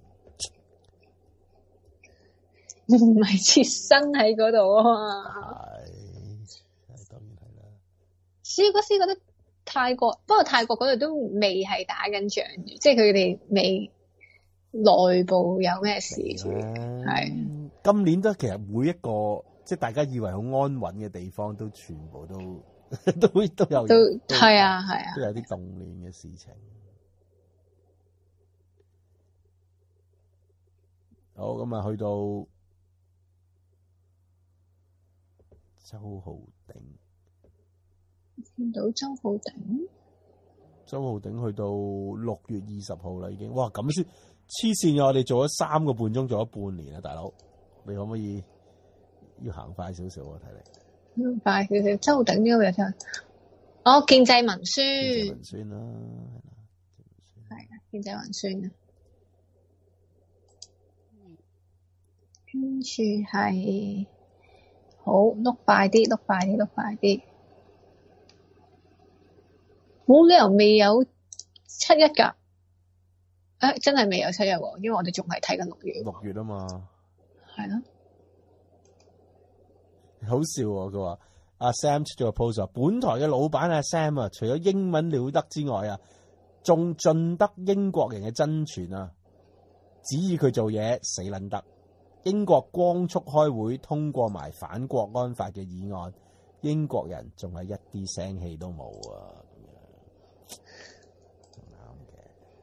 唔係切身喺嗰度啊嘛。 係，係當然係啦。 所以嗰時覺得泰國，不過泰國嗰度都未係打緊仗嘅，即係佢哋未內部有咩事住。係今年都其實每一個即係大家以為好安穩嘅地方，都全部都都都有都係啊係啊， 都有啲動亂嘅事情。好，咁啊，去到周浩鼎， 見到周浩鼎， 周浩鼎去到六月二十號啦，已經哇咁先黐線啊！我哋做咗三個半鐘，做咗半年啊，大佬，你可唔可以要行快少少啊？睇嚟快少少，周浩鼎呢個又真哦，建制文宣， 建制文宣啦， 係啊，建制文宣啊，跟住係。好，碌快啲，碌快啲，碌快啲。冇理由未有七一㗎。誒、欸，真係未有七一喎，因為我哋仲係睇緊六月。 六月啊嘛。 係咯。 好笑喎！佢話阿 Sam 出咗個 post 話，本台嘅老闆阿 Sam 啊，除咗英文了得之外啊，仲盡得英國人嘅真傳啊，指意佢做嘢死撚得。英國光速開會通過埋反國安法嘅議案，英國人仲係一啲聲氣都冇啊！咁樣啱嘅。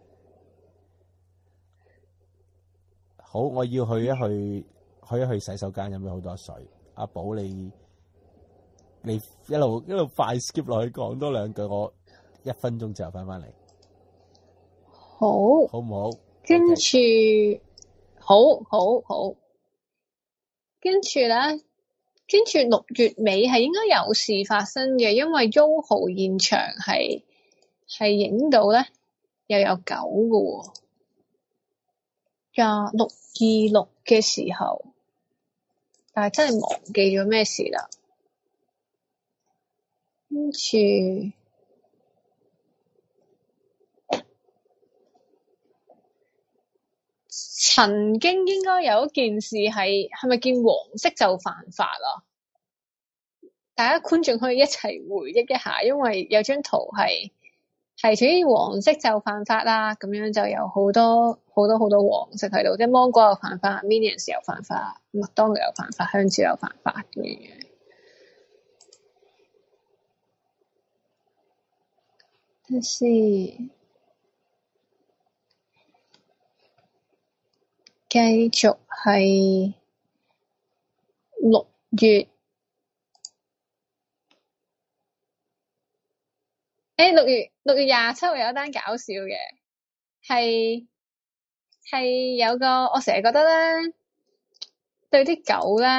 好，我要去一去，去一去洗手間飲咗好多水。阿寶，你你一路一路快 skip 落去講多兩句，我一分鐘之後翻翻嚟。 好， 好唔好？ 跟住、okay. 好好好。跟住咧，跟住六月尾係應該有事發生嘅，因為 Yoho 現場係係影到咧又有狗嘅喎，廿六二六嘅時候，但係真係忘記咗咩事啦。跟住曾經應該有一件事係係咪見黃色就犯法啊？大家觀眾可以一齊回憶一下，因為有張圖係係屬於黃色就犯法啦，咁樣就有好多好多好多黃色喺度，即係芒果又犯法 ，Minions 又犯法，麥當勞又犯法，香蕉又犯法咁樣樣。睇先。繼續係六月，誒六月六月廿七號有一單搞笑嘅，係係有個我成日覺得咧，對啲狗咧，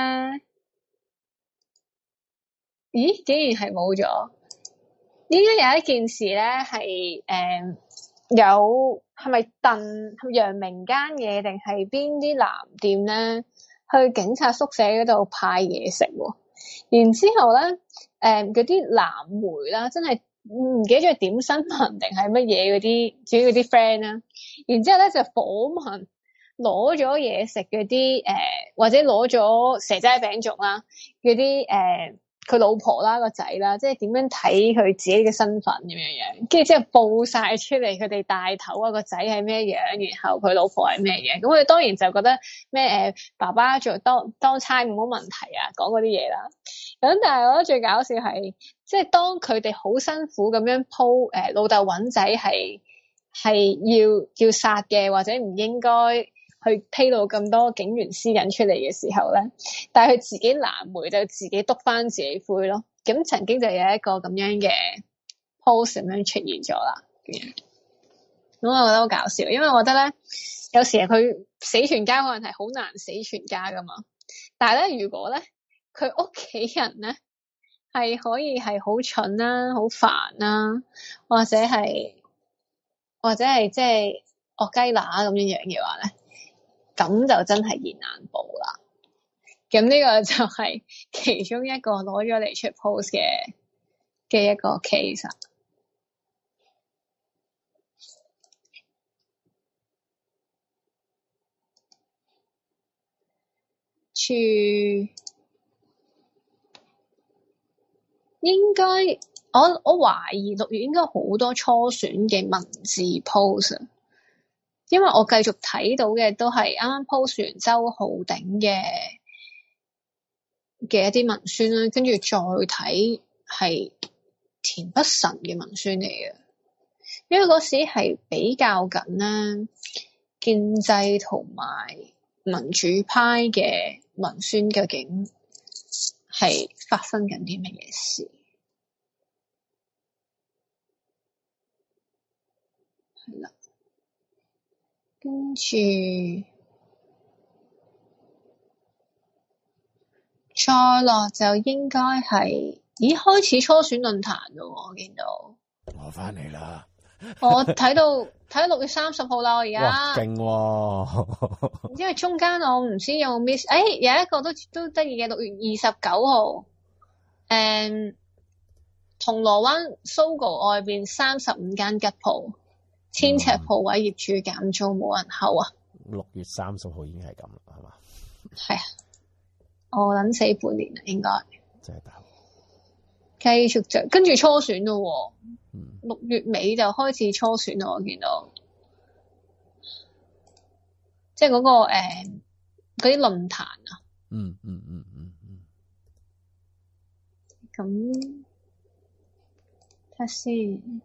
咦竟然係冇咗，應該有一件事咧係誒有。係咪燉陽明間嘢定係邊啲藍店咧？去警察宿舍嗰度派嘢食喎，然之後咧，誒嗰啲藍媒啦，真係唔記得咗係點新聞定係乜嘢嗰啲，主要嗰啲 friend 啦，然之後咧就訪問攞咗嘢食嗰啲誒，或者攞咗蛇齋餅糭啦，嗰啲誒。佢老婆啦，個仔啦，即係點樣睇佢自己嘅身份咁樣樣，跟住之後報晒出嚟，佢哋大頭啊個仔係咩樣，然後佢老婆係咩樣，咁我哋當然就覺得咩誒、呃、爸爸做當當差冇乜問題啊，講嗰啲嘢啦。咁但係我覺得最搞笑係，即係當佢哋好辛苦咁樣鋪誒老豆揾仔係係要要殺嘅，或者唔應該去披露咁多警員私隱出嚟嘅時候咧，但係佢自己藍莓就自己篤翻自己灰咯。咁曾經就有一個咁樣嘅 post 咁樣出現咗啦。咁我覺得好搞笑，因為我覺得咧，有時佢死全家可能係好難死全家噶嘛。但係咧，如果咧佢屋企人咧係可以係好蠢啦、好煩啦，或者係或者係即係惡雞乸咁樣樣嘅話咧，咁就真係現眼報啦。咁呢個就係其中一個攞咗嚟出 post 嘅嘅一個 case。處應該我我懷疑六月應該好多初選嘅文字 post，因為我繼續睇到嘅都係啱啱 post 完周浩鼎嘅嘅一啲文宣啦，跟住再睇係田北辰嘅文宣嚟嘅，因為嗰時係比較緊啦，建制同埋民主派嘅文宣究竟係發生緊啲乜嘢事？係啦，跟住再落就應該係，咦開始初選論壇咯，我見到。 我翻嚟啦。 我睇到睇到六月三十號啦，我而家。 哇，勁喎！ 因為中間我唔知有冇 miss， 誒有一個都都得意嘅，六月二十九號，誒銅鑼灣 Sogo 外邊三十五間吉鋪，千尺鋪位業主減租冇人睺啊！ 六月三十號已經係咁啦，係嘛？ 係啊，我諗死半年啦，應該。 真係大鑊。 繼續就跟住初選咯，六、嗯、月尾就開始初選咯，我見到。即係嗰、那個誒嗰啲論壇啊， 嗯嗯嗯嗯嗯， 咁睇下先，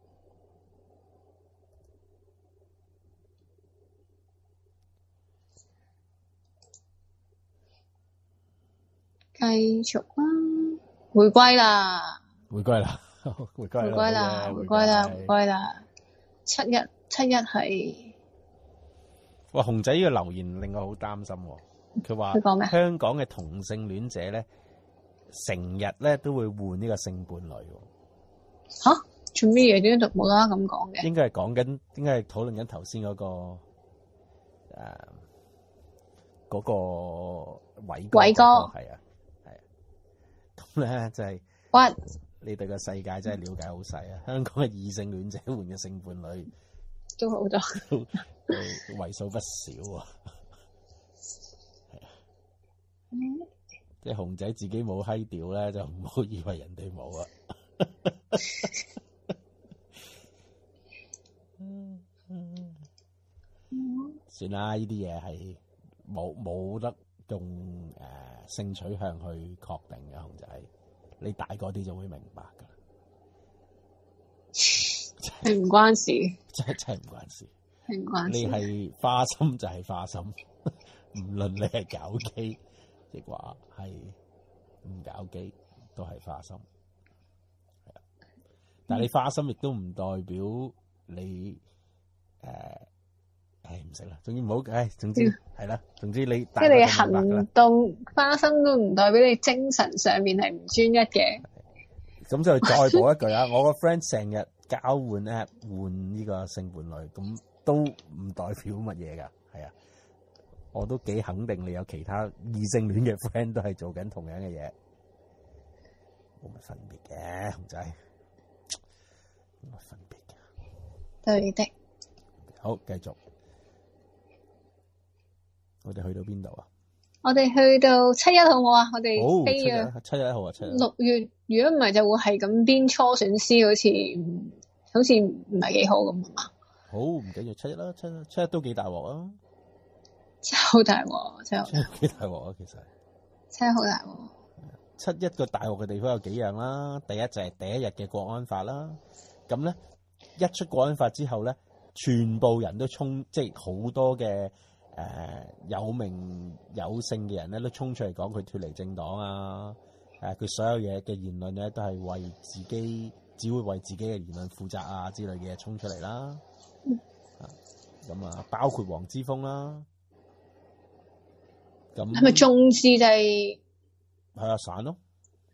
繼續啦，回歸啦， 回歸啦，回歸啦， 回歸啦，回歸啦，回歸啦，七一七一係。 哇！熊仔呢個留言令我好擔心喎。佢話香港嘅同性戀者咧，成日咧都會換呢個性伴侶。 吓？做咩嘢？點解冇啦啦咁講嘅？ 應該係講緊，應該係討論緊頭先嗰個誒嗰個偉哥。偉哥係啊係啊。咁咧就係， 哇！ 你對個世界真係了解好細啊！香港嘅異性戀者換嘅性伴侶。 都好多， 為數不少啊！係啊，即係熊仔自己冇閪屌咧，就唔好以為人哋冇啊！算啦，呢啲嘢係冇冇得用誒、呃、性取向去確定嘅，熊仔，你大個啲就會明白噶啦。 係唔關事， 真係真係唔關事， 係唔關事。 你係花心就係花心，唔論你係搞基，亦話係唔搞基，都係花心。係啊，但係你花心亦都唔代表你誒，誒唔識啦。總之唔好，誒總之係啦，總之你即係你行動花心都唔代表你精神上面係唔專一嘅。 咁就再補一句啊！我個 friend 成日交換 app 換呢個性伴侶，咁都唔代表乜嘢噶，係啊！我都幾肯定你有其他異性戀嘅 friend 都係做緊同樣嘅嘢，冇乜分別嘅，熊仔冇乜分別嘅。 對的。 好，繼續。我哋去到邊度啊？ 我哋去到七一好唔好啊？我哋飛啊！七一號啊，七一。 六月如果唔係就會係咁邊初選師，好似好似唔係幾好咁啊嘛。 好，唔緊要，七一啦，七一七一都幾大鑊啊！ 真係好大鑊，真係幾大鑊啊！其實真係好大鑊。 七一個大鑊嘅地方有幾樣啦，第一就係第一日嘅國安法啦。咁咧一出國安法之後咧，全部人都衝，即係好多嘅。誒、呃、有名有姓嘅人咧，都衝出嚟講佢脫離政黨啊！誒、呃、佢所有嘢嘅言論咧，都係為自己，只會為自己嘅言論負責啊之類嘅嘢衝出嚟啦。咁啊，包括黃之鋒啦。咁係咪眾志就係係啊，散咯。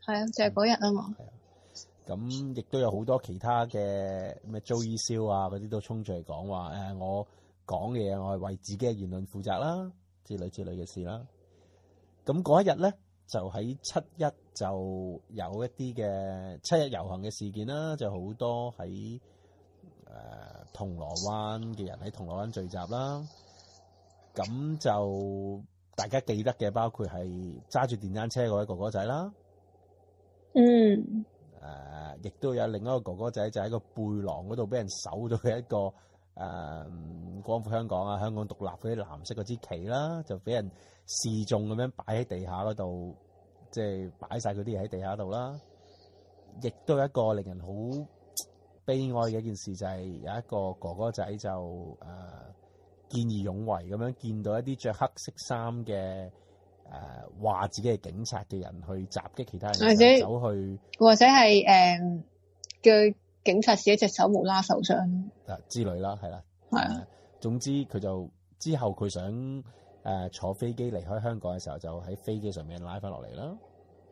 係啊，就係嗰日啊嘛。 係啊，咁亦都有好多其他嘅咩 Joey Show 啊嗰啲都衝出嚟講話誒，我講嘅嘢我係為自己嘅言論負責啦，之類之類嘅事啦。咁嗰一日咧，就喺七一就有一啲嘅七一遊行嘅事件啦，就好多喺誒、呃、銅鑼灣嘅人喺銅鑼灣聚集啦。咁就大家記得嘅，包括係揸住電單車嗰位哥哥仔啦。 嗯。 誒、呃，亦都有另一個哥哥仔就喺個背囊嗰度俾人搜到嘅一個誒、呃、光復香港啊、香港獨立嗰啲藍色嗰支旗啦，就俾人示眾咁樣擺喺地下嗰度，即係擺晒嗰啲嘢喺地下度啦。亦都有一個令人好悲哀嘅一件事，就係、是、有一個哥哥仔就誒。呃見義勇為咁樣見到一啲着黑色衫嘅誒話自己係警察嘅人去襲擊其他人，或者走去或者係誒叫警察自己隻手無啦受傷啊之類啦，係啦， 係啊。 總之佢就之後佢想誒、呃、坐飛機離開香港嘅時候，就喺飛機上面拉翻落嚟啦，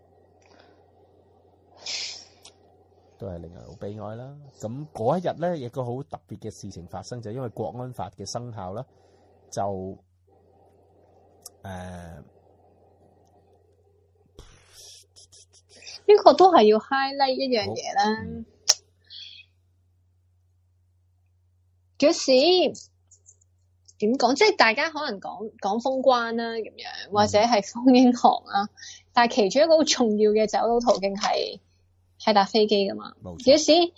都係令人好悲哀啦。咁嗰一日咧，亦個好特別嘅事情發生，就係、因為國安法嘅生效啦，就誒呢、呃這個都係要 highlight 一樣嘢啦。嗰、嗯、時點講，即係大家可能講講封關啦，咁樣或者係封英航啦，但係其中一個好重要嘅走佬途徑係。係搭飛機噶嘛？有時誒、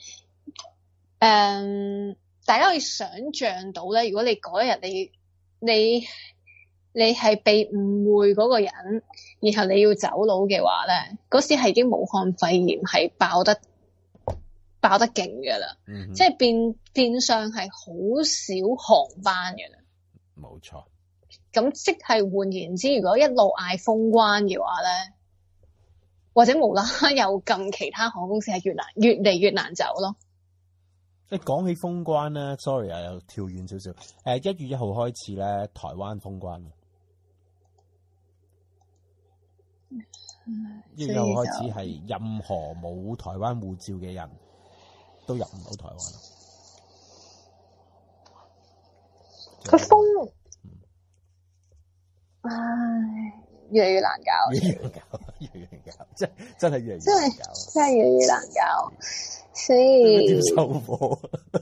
嗯，大家可以想象到咧，如果你嗰一日你你你係被誤會嗰個人，然後你要走佬嘅話咧，嗰時係已經武漢肺炎係爆得爆得勁噶啦，即係變變相係好少航班噶啦。 冇錯。咁即係換言之，如果一路嗌封關嘅話咧。或者無啦啦又撳其他航空公司係越難越嚟越難走咯。 你講起封關咧 ，sorry 啊，又跳遠少少。誒，一月一號開始咧，台灣封關。一月一號開始係任何冇台灣護照嘅人都入唔到台灣。 佢封，嗯、唉。越嚟越難搞， 越嚟越難搞，越嚟越難搞，真真係越嚟越難搞， 真係真係越嚟越難搞，所以點收貨？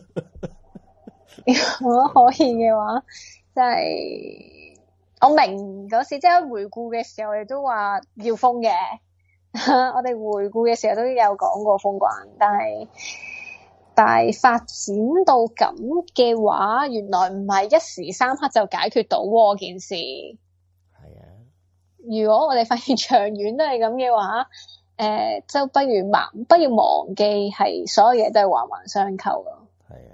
如果可以嘅話，真係我明嗰時即係回顧嘅時候，我哋都話要封嘅。我哋回顧嘅時候都有講過封關，但係但係發展到咁嘅話，原來唔係一時三刻就解決到喎件事。如果我哋發現長遠都係咁嘅話，誒、呃，就不如忘，不要忘記係所有嘢都係環環相扣咯。係啊，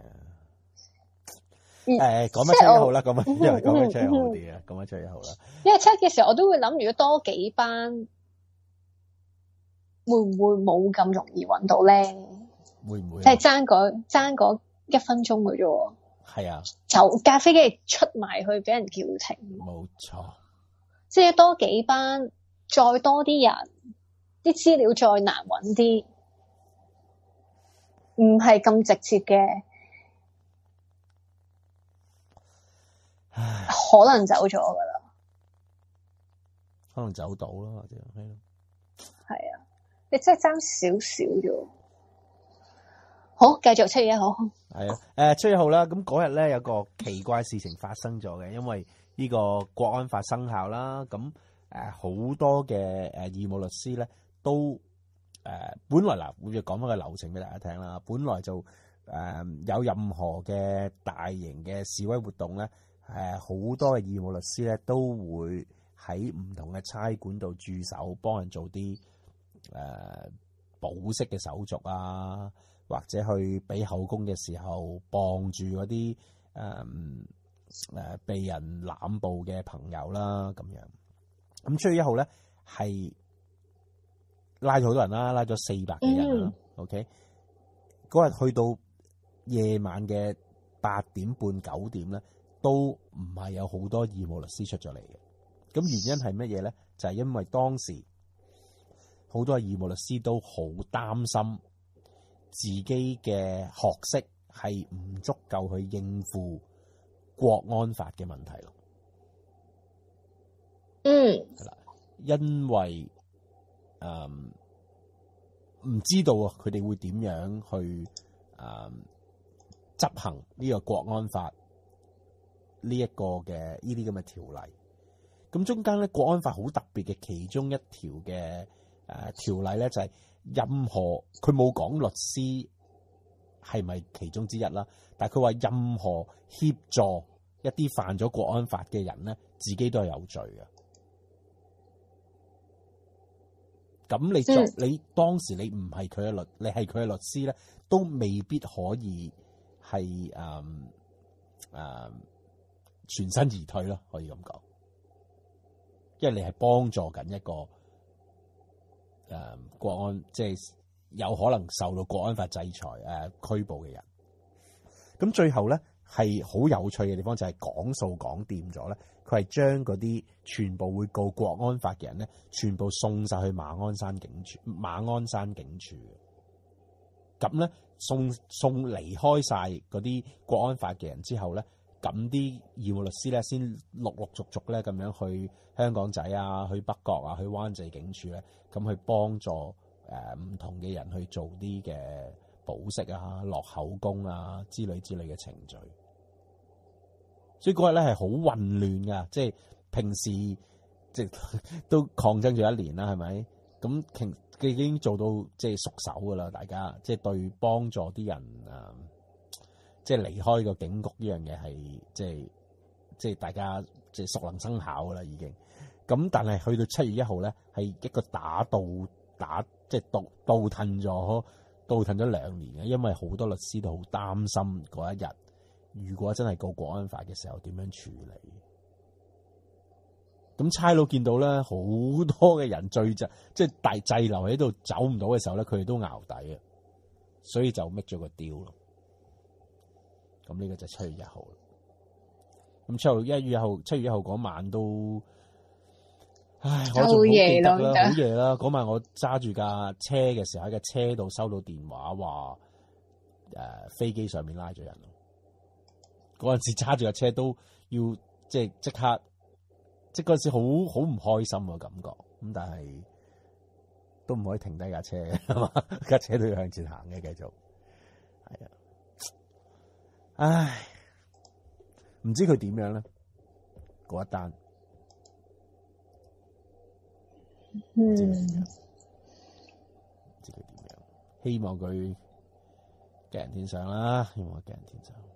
誒，講乜七一號啦，講乜因為講乜七一號啲啊，講乜七一號啦。 因為七一嘅時候，我都會諗，如果多幾班，會唔會冇咁容易揾到咧？ 會唔會？ 即係爭嗰爭嗰一分鐘嘅啫。 係啊， 就架飛機出埋去俾人叫停。 冇錯。 即係多幾班，再多啲人，啲資料再難揾啲，唔係咁直接嘅，可能走咗噶啦， 可能走到啦，或者係咯， 係啊，你真係爭少少啫。好，繼續七月一號。 係啊，誒，七月一號啦，咁嗰日咧有個奇怪事情發生咗嘅，因為呢個國安法生效啦，咁誒好多嘅誒義務律師咧都誒、呃、本來嗱，會講翻個流程俾大家聽啦。本來就誒、呃、有任何嘅大型嘅示威活動咧，誒、呃、好多嘅義務律師咧都會喺唔同嘅差館度駐守，幫人做啲誒、呃、保釋嘅手續啊，或者去俾口供嘅時候，傍住嗰啲誒。呃誒、呃，被人濫捕嘅朋友啦，咁樣。咁七月一號咧，係拉咗好多人啦，拉咗四百幾人啦。嗯、OK，嗰日去到夜晚嘅八點半九點咧，都唔係有好多義務律師出咗嚟嘅。咁原因係乜嘢咧？就係、是、因為當時好多嘅義務律師都好擔心自己嘅學識係唔足夠去應付國安法嘅問題咯。 嗯， 係啦，因為誒唔知道啊，佢哋會點樣去誒執行呢個國安法呢一個嘅呢啲咁嘅條例。咁中間咧，國安法好特別嘅其中一條嘅誒條例咧，就係任何佢冇講律師係咪其中之一啦，但係佢話任何協助一啲犯咗國安法嘅人咧，自己都係有罪嘅。咁你作、嗯、你當時你唔係佢嘅律，你係佢嘅律師咧，都未必可以係誒誒全身而退咯，可以咁講，因為你係幫助緊一個誒、呃、國安，即係有可能受到國安法制裁誒、呃、拘捕嘅人。咁最後咧係好有趣嘅地方就係講數講掂咗咧，佢係將嗰啲全部會告國安法嘅人咧，全部送晒去馬鞍山警署。馬鞍山警署嘅咁咧，送送離開晒嗰啲國安法嘅人之後咧，咁啲義務律師咧先陸陸續續咧咁樣去香港仔啊、去北角啊、去灣仔警署咧，咁去幫助誒唔、呃、同嘅人去做啲嘅保釋啊、落口供啊之類之類嘅程序。所以嗰日咧係好混亂噶，即係平時即係都抗爭咗一年啦，係咪？咁其已經做到即係熟手噶啦，大家即係對幫助啲人啊，即係離開個警局呢樣嘢係即係即係大家即係熟能生巧噶啦，已經。咁但係去到七月一號咧，係一個打倒打即係倒倒褪咗倒褪咗兩年嘅，因為好多律師都好擔心嗰一日。如果真係告國安法嘅時候，點樣處理？咁差佬見到咧，好多嘅人聚集，即係大滯留喺度走唔到嘅時候咧，佢哋都淆底啊，所以就 make 咗個 deal 咯。咁呢個就七月一號啦。咁七月一月一號，七月一號嗰晚都，唉，我仲好記得啦，好夜啦。嗰晚我揸住架車嘅時候，喺架車度收到電話話，誒、呃，飛機上面拉咗人。嗰陣時揸住架車都要即係即刻，即係嗰陣時好好唔開心嘅感覺。咁但係都唔可以停低架車嘅，係嘛？架車都要向前行嘅，繼續。係啊，唉，唔知佢點樣咧？嗰一單， 嗯， 唔知佢點樣？希望佢吉人天相啦，希望佢吉人天相。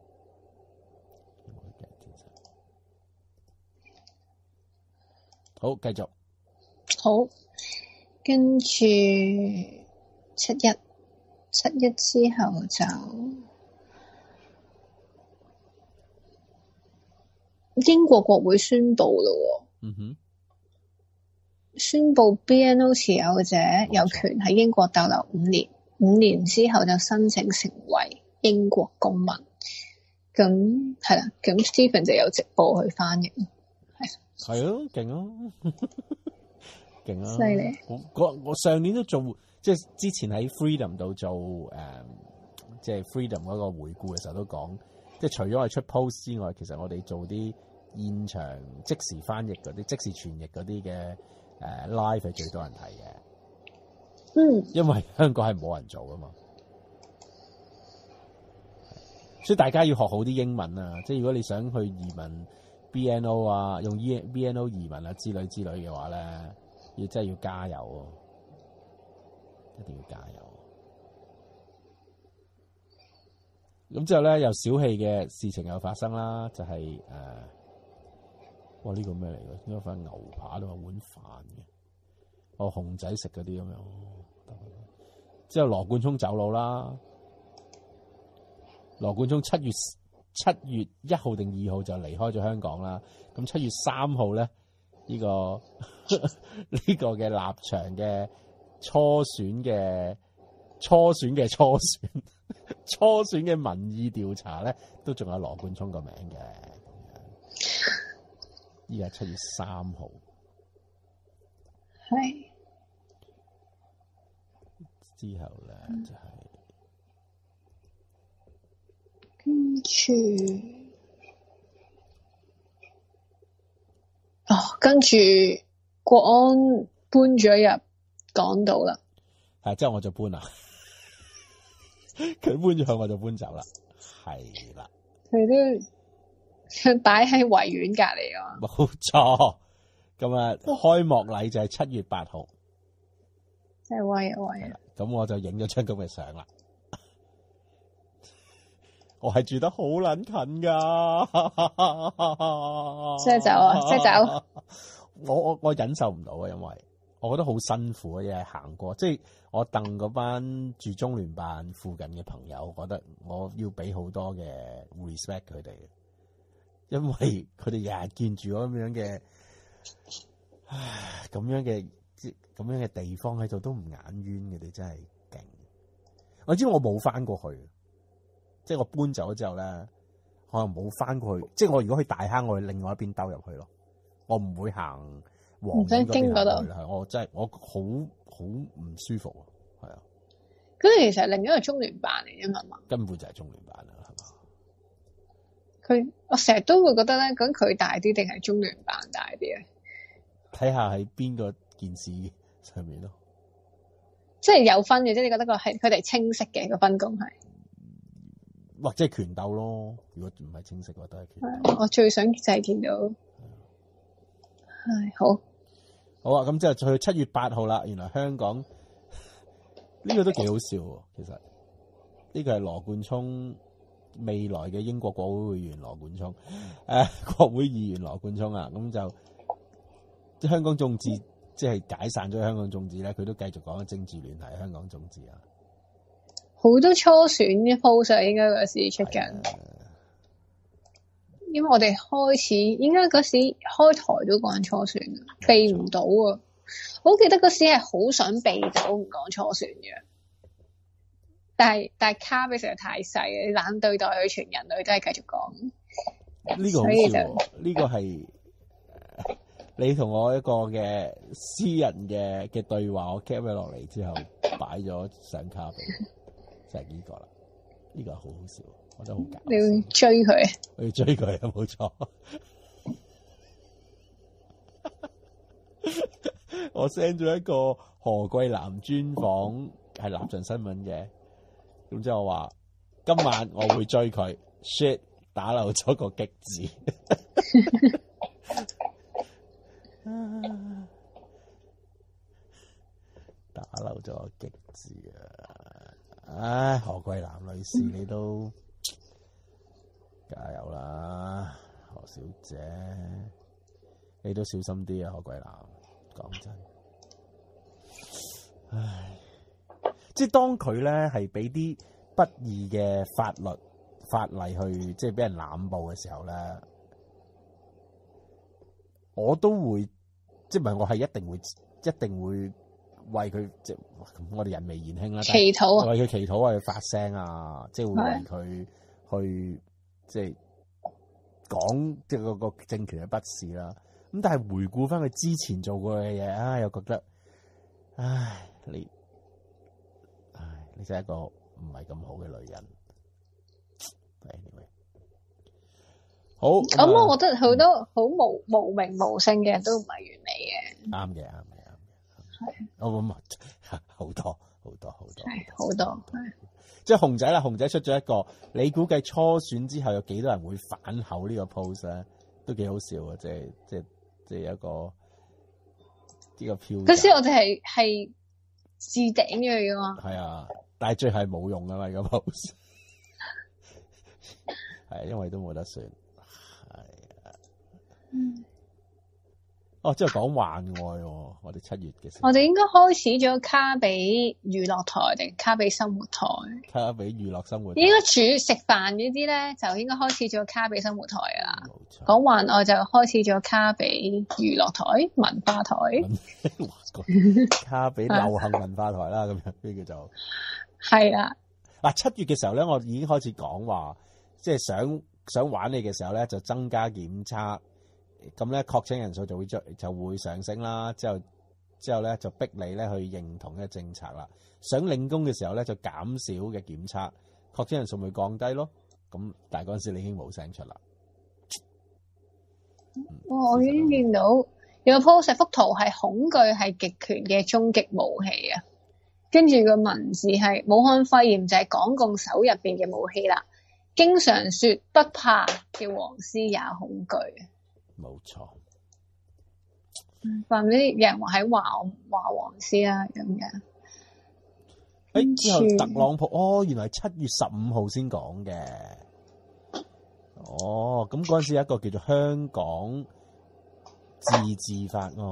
好，繼續。 好，跟住七一，七一之後就英國國會宣布咯。 嗯哼， 宣布 B N O 持有者有權喺英國逗留五年，五年之後就申請成為英國公民。咁係啦，咁 Stephen 就有直播去翻譯。 係咯，勁咯，勁啊！ 犀利！ 我我上年都做，即係之前喺 Freedom 度做誒、嗯，即係 Freedom 嗰個回顧嘅時候都講，即係除咗我哋出 post 之外，其實我哋做啲現場即時翻譯嗰啲、即時傳譯嗰啲嘅誒 live 係最多人睇嘅。 嗯， 因為香港係冇人做噶嘛，所以大家要學好啲英文啊！即係如果你想去移民。B N O 啊，用 B N O 移民啊之類之類嘅話咧，要真係要加油啊，一定要加油。咁之後咧，又小氣嘅事情又發生啦，就係、是、誒、呃，哇呢、這個咩嚟嘅？應該塊牛扒都係碗飯嘅，哦熊仔食嗰啲咁樣。之後羅冠聰走佬啦，羅冠聰七月。七月一號定二號就離開咗香港啦。咁七月三號咧，呢、這個呢個嘅立場嘅初選嘅初選嘅初選初選嘅民意調查咧，都仲有羅冠聰個名嘅。依家七月三號， 係之後咧就係跟住，哦，跟住國安搬咗入港島啦。 係，之後我就搬啦。佢搬咗去，我就搬走啦。係啦， 佢都擺喺維園隔籬啊。 冇錯。咁啊，開幕禮就係七月八號。 真係威啊威啊！ 咁我就影咗張咁嘅相啦。我係住得好撚近噶， 即係走啊！即係走。 我我我忍受唔到啊，因為我覺得好辛苦啊，一係行過，即係我鄧嗰班住中聯辦附近嘅朋友，我覺得我要俾好多嘅 respect 佢哋，因為佢哋日日見住我咁樣嘅，唉，咁樣嘅咁樣嘅地方喺度都唔眼冤嘅，你真係勁。我知我冇翻過去。即係我搬走咗之後咧，我又冇翻過去。即係我如果去大坑，我去另外一邊兜入去咯。我唔會行黃園嗰邊行去啦。我真係我好好唔舒服啊，係啊。 咁其實另一個中聯辦嚟啫嘛， 根本就係中聯辦啦，係嘛？ 佢我成日都會覺得咧，咁佢大啲定係中聯辦大啲咧？ 睇下喺邊個件事上面咯。即係有分嘅，即係你覺得個係佢哋清晰嘅個分工係。 或者係權鬥咯，如果唔係清晰嘅話，都係權鬥。 我最想就係見到，係好， 好啊！咁之後就去七月八號啦。原來香港呢、呢個都幾好笑喎。其實呢個係羅冠聰未來嘅英國國會議員羅冠聰，誒、呃、國會議員羅冠聰啊。咁就即香港眾志，即係解散咗香港眾志咧，佢都繼續講政治聯繫香港眾志啊。 好多初選嘅 post 應該嗰時出緊，因為我哋開始應該嗰時開台都講初選，避唔到啊！我好記得嗰時係好想避走唔講初選嘅，但係但係卡比實在太細，你懶對待佢，全人類都係繼續講。 呢個好笑，呢個係你同我一個嘅私人嘅嘅對話，我 cap 咗落嚟之後擺咗上卡比。就係呢個啦，呢、這個好好笑，我覺得好搞笑。 你要追佢？ 我要追佢啊，冇錯。我 send 咗一個何桂藍專訪，係立場新聞嘅。咁之後我話今晚我會追佢。shit 打漏咗個激字，打漏咗個激字啊！唉，何桂藍女士，你都加油啦，何小姐，你都小心啲啊，何桂藍。講真，唉，即係當佢咧係俾啲不義嘅法律法例去，即係俾人濫捕嘅時候咧，我都會，即係唔係我係一定會，一定會。為佢即係我哋人微言輕啦， 祈禱啊， 為佢祈禱，為佢發聲啊，即係會為佢去即係講即係個個政權嘅不是啦。咁但係回顧翻佢之前做過嘅嘢，啊又覺得，唉你，唉你真係一個唔係咁好嘅女人。Anyway，好咁，我覺得好多好無無名無姓嘅人都唔係完美嘅。 啱嘅，啱嘅。 係， 我諗好多好多好多， 係好多，係即係熊仔啦，熊仔出咗一個，你估計初選之後有幾多人會反口呢個 post 咧？都幾好笑啊！即係即係即係一個呢個票。 嗰時我哋係係置頂咗噶嘛？ 係啊，但係最後係冇用噶嘛，呢個 post 係因為都冇得選，係啊。嗯。哦，即係講幻愛喎！我哋七月嘅時候， 我哋應該開始咗卡比娛樂台定卡比生活台？ 卡比娛樂生活台應該煮食飯嗰啲咧，就應該開始咗卡比生活台噶啦。 冇錯， 講幻愛就開始咗卡比娛樂台、文化台。 卡比流行文化台啦，咁樣呢叫做係啦。 嗱，七月嘅時候咧，我已經開始講話，即係想想玩你嘅時候咧，就增加檢測。咁咧確診人數就會就會上升啦，之後之後咧就逼你咧去認同呢個政策啦。想領工嘅時候咧就減少嘅檢測，確診人數咪降低咯。咁但係嗰陣時你已經冇聲出啦。 哇、哦！我已經見到有個 post 幅圖係恐懼係極權嘅終極武器啊，跟住個文字係武漢肺炎就係港共手入邊嘅武器啦。經常說不怕嘅黃絲也恐懼。 冇錯。 話唔知有人話喺華華黃絲啊咁樣。 誒，之後特朗普哦，原來係七月十五號先講嘅。哦，咁嗰陣時有一個叫做香港自治法案，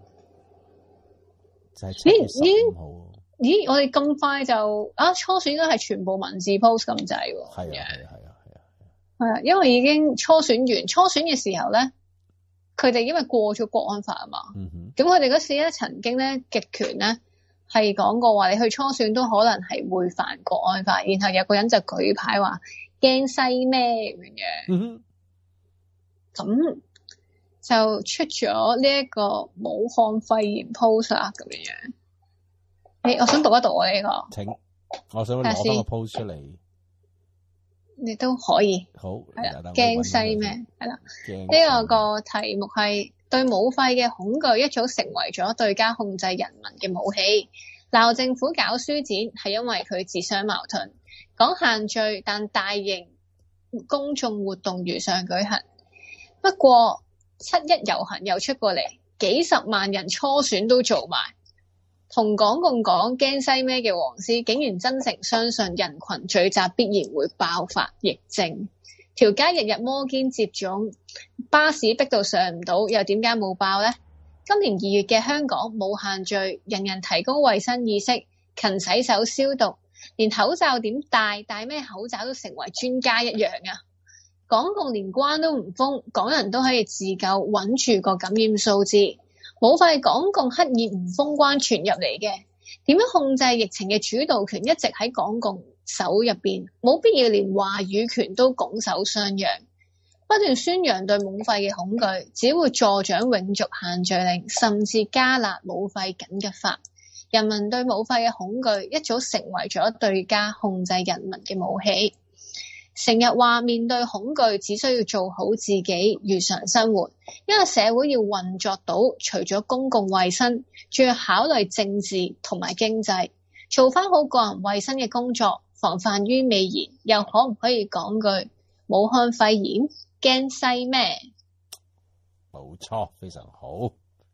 就係七月十五號。 咦，我哋咁快就啊初選應該係全部文字 post 咁滯喎。 係啊係啊係啊係啊係啊，因為已經初選完，初選嘅時候咧，佢哋因為過咗國安法啊嘛。嗯哼。咁佢哋嗰時咧曾經咧極權咧係講過話，你去初選都可能係會犯國安法，然後有個人就舉牌話驚西咩咁樣。嗯哼。咁就出咗呢一個武漢肺炎 post 啊咁樣樣。誒，我想讀一讀我呢個。 請，我想攞翻個 post 出嚟。 你都可以。 好。 係啦。驚西咩？係啦。呢個個題目係對武肺嘅恐懼一早成為咗對家控制人民嘅武器。鬧政府搞書展係因為佢自相矛盾，講限聚但大型公眾活動如常舉行。不過七一遊行又出過嚟，幾十萬人初選都做埋。同港共講驚西咩嘅黃絲竟然真誠相信人群聚集必然會爆發疫症，條街日日摩肩接踵，巴士逼到上唔到，又點解冇爆呢？今年二月嘅香港冇限聚，人人提高衛生意識，勤洗手消毒，連口罩點戴，戴咩口罩都成為專家一樣啊！港共連關都唔封，港人都可以自救，穩住個感染數字。武肺港共刻意唔封關傳入嚟嘅，點樣控制疫情嘅主導權一直喺港共手入邊，冇必要連話語權都拱手相讓，不斷宣揚對武肺嘅恐懼，只會助長永續限聚令，甚至加辣武肺緊急法。人民對武肺嘅恐懼一早成為咗對家控制人民嘅武器。成日話面對恐懼只需要做好自己如常生活，因為社會要運作到，除咗公共衛生，仲要考慮政治同埋經濟，做翻好個人衛生嘅工作，防範於未然。又可唔可以講句武漢肺炎驚西咩？ 冇錯，非常好。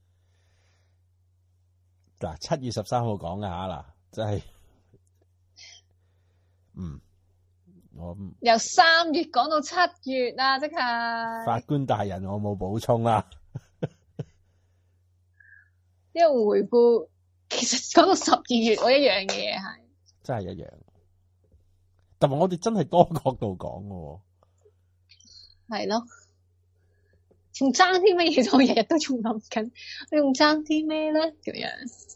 嗱，七月十三號講嘅吓嗱，真係嗯。我由三月講到七月啊，即係法官大人，我冇補充啦。 呢個回顧其實講到十二月，我一樣嘅嘢係真係一樣，但係我哋真係多角度講嘅，係咯，仲爭啲乜嘢？我日日都仲諗緊，你仲爭啲咩咧？咁樣。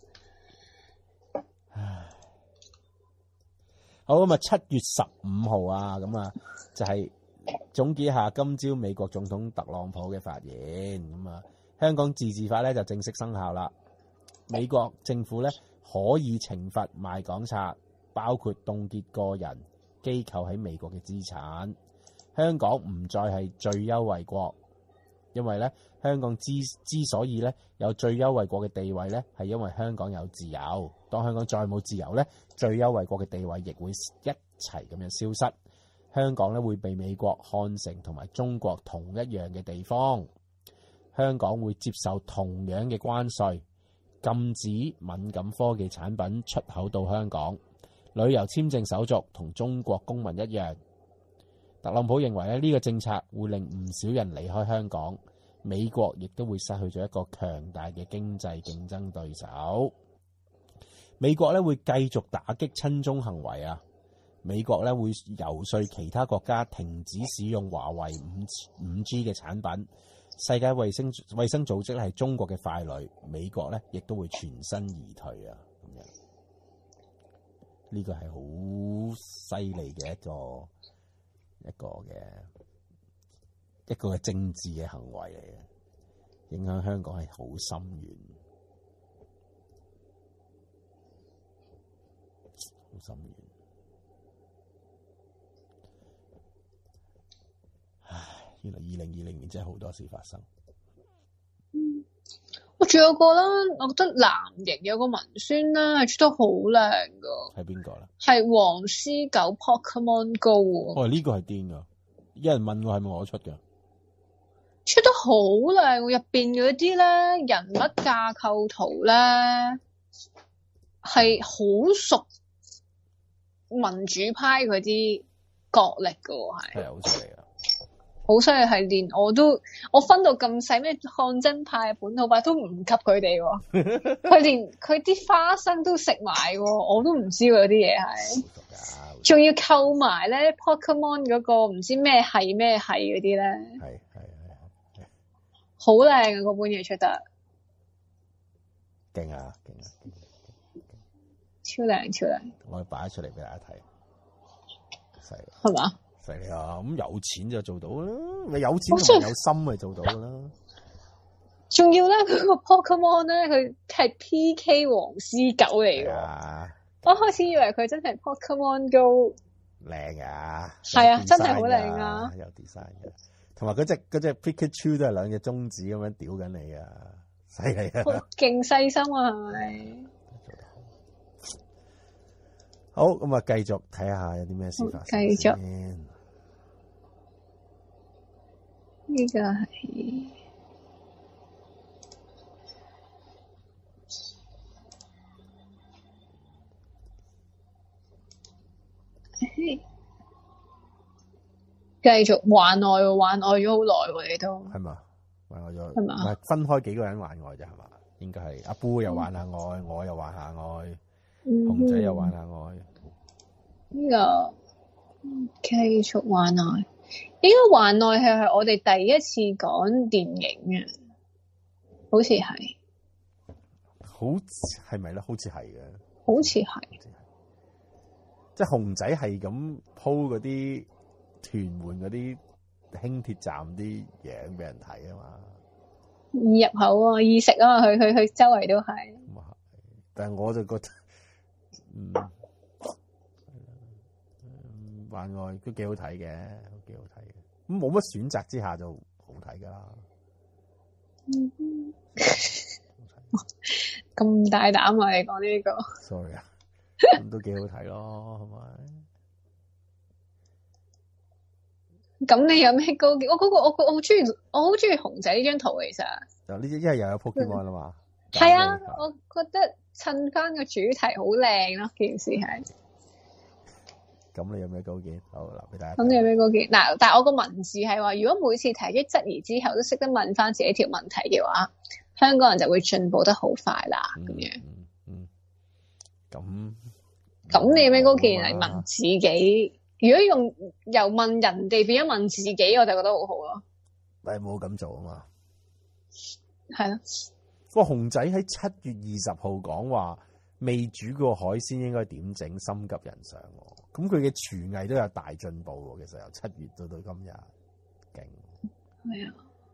好咁啊，七月十五號啊，咁啊就係總結下今朝美國總統特朗普嘅發言。咁啊，香港自治法咧就正式生效啦。美國政府咧可以懲罰賣港賊，包括凍結個人機構喺美國嘅資產。香港唔再係最優惠國，因為咧香港之之所以咧有最優惠國嘅地位咧，係因為香港有自由。當香港再冇自由咧，最優惠國嘅地位亦會一齊咁樣消失。香港咧會被美國看成同埋中國同一樣嘅地方。香港會接受同樣嘅關稅，禁止敏感科技產品出口到香港。旅遊簽證手續同中國公民一樣。特朗普認為咧呢個政策會令唔少人離開香港，美國亦都會失去咗一個強大嘅經濟競爭對手。美國咧會繼續打擊親中行為啊！美國咧會遊說其他國家停止使用華為五五 G 嘅產品。世界衛生衛生組織係中國嘅傀儡，美國咧亦都會全身而退啊！咁樣呢個係好犀利嘅一個一個嘅一個嘅政治嘅行為嚟嘅，影響香港係好深遠。 深遠。唉，原來二零二零年真係好多事發生。 嗯，我仲有個啦，我覺得藍營有個文宣啦，係出得好靚噶。 係邊個咧？ 係黃絲狗 Pokemon Go。 哦，呢、這個係癲噶！有人問我係咪我出嘅？ 出得好靚，入邊嗰啲咧人物架構圖咧係好熟民主派嗰啲角力噶，係係好犀利啊！ 好犀利，係連我都我分到咁細咩抗爭派、本土派都唔及佢哋喎，佢連佢啲花生都食埋喎，我都唔知嗰啲嘢係，仲要扣埋咧 Pokemon 嗰個唔知咩係咩係嗰啲咧， 係係係好靚啊！嗰本嘢出得勁啊勁啊！ 超靚超靚， 我擺咗出嚟俾大家睇，犀利係嘛？ 犀利啊！咁有錢就做到啦，咪有錢同有心咪做到啦。 仲要咧，佢個 Pokemon 咧，佢係 P K 黃絲狗嚟㗎。 啊、 我開始以為佢真係 Pokemon Go。 靚啊！ 係啊，真係好靚啊！ 有 design 嘅，同埋嗰隻嗰隻 Pikachu 都係兩隻中指咁樣屌緊你啊！犀利啊！ 勁細心啊，係咪？ 好，咁啊，繼續睇下有啲咩事發生。 繼續。呢個係繼續幻愛喎，幻愛咗好耐喎，你都係嘛？幻愛咗係嘛？ 唔係分開幾個人幻愛啫，係嘛？應該係阿 Boo 又幻下愛，嗯、我又幻下愛，熊、嗯、仔又幻下愛。 呢、這個繼續幻愛。應該幻愛係係我哋第一次講電影嘅，好似係， 好係咪咧？好似係嘅， 好似係， 即係熊仔係咁鋪嗰啲屯門嗰啲輕鐵站啲嘢俾人睇啊嘛， 易入口啊，易食啊嘛，佢佢佢周圍都係。 但係我就覺得，嗯。幻愛都幾好睇嘅，都幾好睇嘅。咁冇乜選擇之下就好睇噶啦。 咁大膽啊！你講呢個 ？sorry 啊，咁都幾好睇咯，係咪？咁你有咩高見？我嗰個我我好中意，我好中意熊仔呢張圖其實。 就呢，因為又有 Pokemon 啦嘛。 係啊，我覺得襯翻個主題好靚咯，件事係。 咁你有咩高見？好嗱，俾大家。 咁你有咩高見？嗱，但係我個文字係話，如果每次提出質疑之後都識得問翻自己條問題嘅話，香港人就會進步得好快啦。咁、嗯、樣。 嗯嗯。咁。 咁你有咩高見嚟問自己？如果用由問人哋變咗問自己，我就覺得好好咯。 但係冇咁做啊嘛。 係咯。 個熊仔喺七月二十號講話，未煮過海鮮應該點整？心急人上。咁佢嘅廚藝都有大進步喎，其實由七月到到今日，勁。係啊。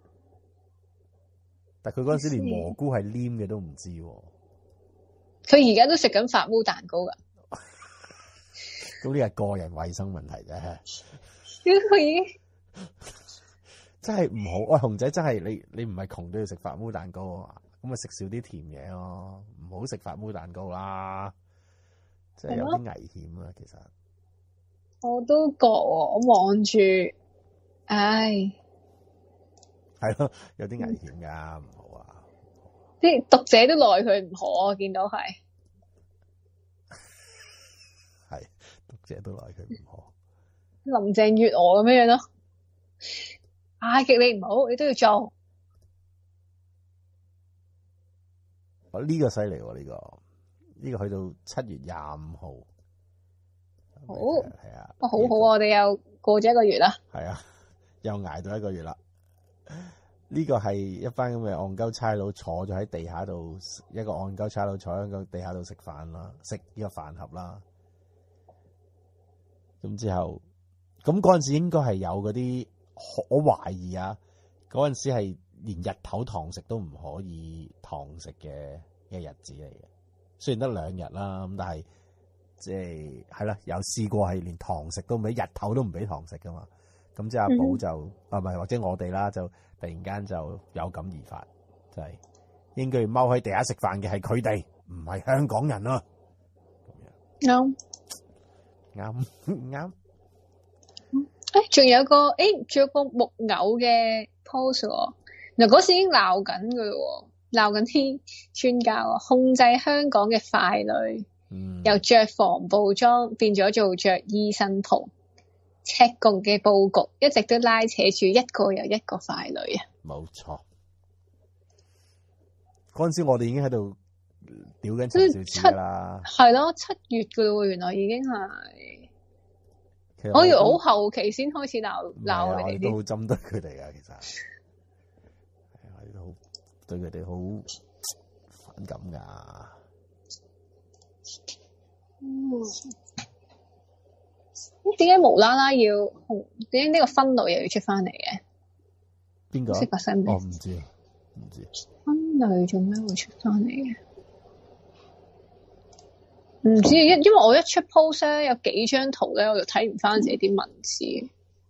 但係佢嗰陣時連蘑菇係黏嘅都唔知喎。 佢而家都食緊發烏蛋糕㗎。 咁呢係個人衛生問題啫。 點解佢已經真係唔好？喂，熊仔真係你你唔係窮都要食發烏蛋糕啊？咁咪食少啲甜嘢咯，唔好食發烏蛋糕啦。即係有啲危險啊，其實。 我都覺喎，我望住，唉， 係咯，有啲危險噶，唔好啊！ 啲讀者都奈佢唔可，我見到係， 係讀者都奈佢唔可。 林鄭月娥咁樣樣咯，嗌極你唔好，你都要做。 哦，呢個犀利喎，呢個呢個去到七月廿五號。 好， 係啊， 哇，好好啊！我哋又過咗一個月啦， 係啊，又挨到一個月啦。呢個係一班咁嘅戇鳩差佬坐咗喺地下度，一個戇鳩差佬坐喺個地下度食飯啦，食呢個飯盒啦。咁之後，咁嗰陣時應該係有嗰啲，我懷疑啊，嗰陣時係連日頭堂食都唔可以堂食嘅嘅日子嚟嘅。雖然得兩日啦，咁但係。 即係係啦，有試過係連堂食都唔俾，日頭都唔俾堂食噶嘛。咁即係阿寶就、嗯、啊，唔係或者我哋啦，就突然間就有感而發，就係、是、應該要踎喺地下食飯嘅係佢哋，唔係香港人咯。 啱啱啱。 誒，仲有個誒，仲有個木偶嘅 pose 喎。嗱，嗰時已經鬧緊佢咯，鬧緊啲專家啊，控制香港嘅傀儡，嗯、由着防暴裝變咗做着醫生袍，赤共嘅佈局一直都拉扯住一個又一個傀儡啊！ 冇錯，嗰陣時我哋已經喺度屌緊陳肇始啦， 係咯，七月噶咯，原來已經係。我，我以為好後期先開始鬧鬧佢哋， 都好針對佢哋噶，其實係我哋都好對佢哋好反感噶。 嗯，咁點解無啦啦要紅？點解呢個分類又要出翻嚟嘅？ 邊個？ 識發生咩？ 我唔知，唔知分類做咩會出翻嚟嘅？唔知，因因為我一出 post 咧，有幾張圖咧，我就睇唔翻自己啲文字，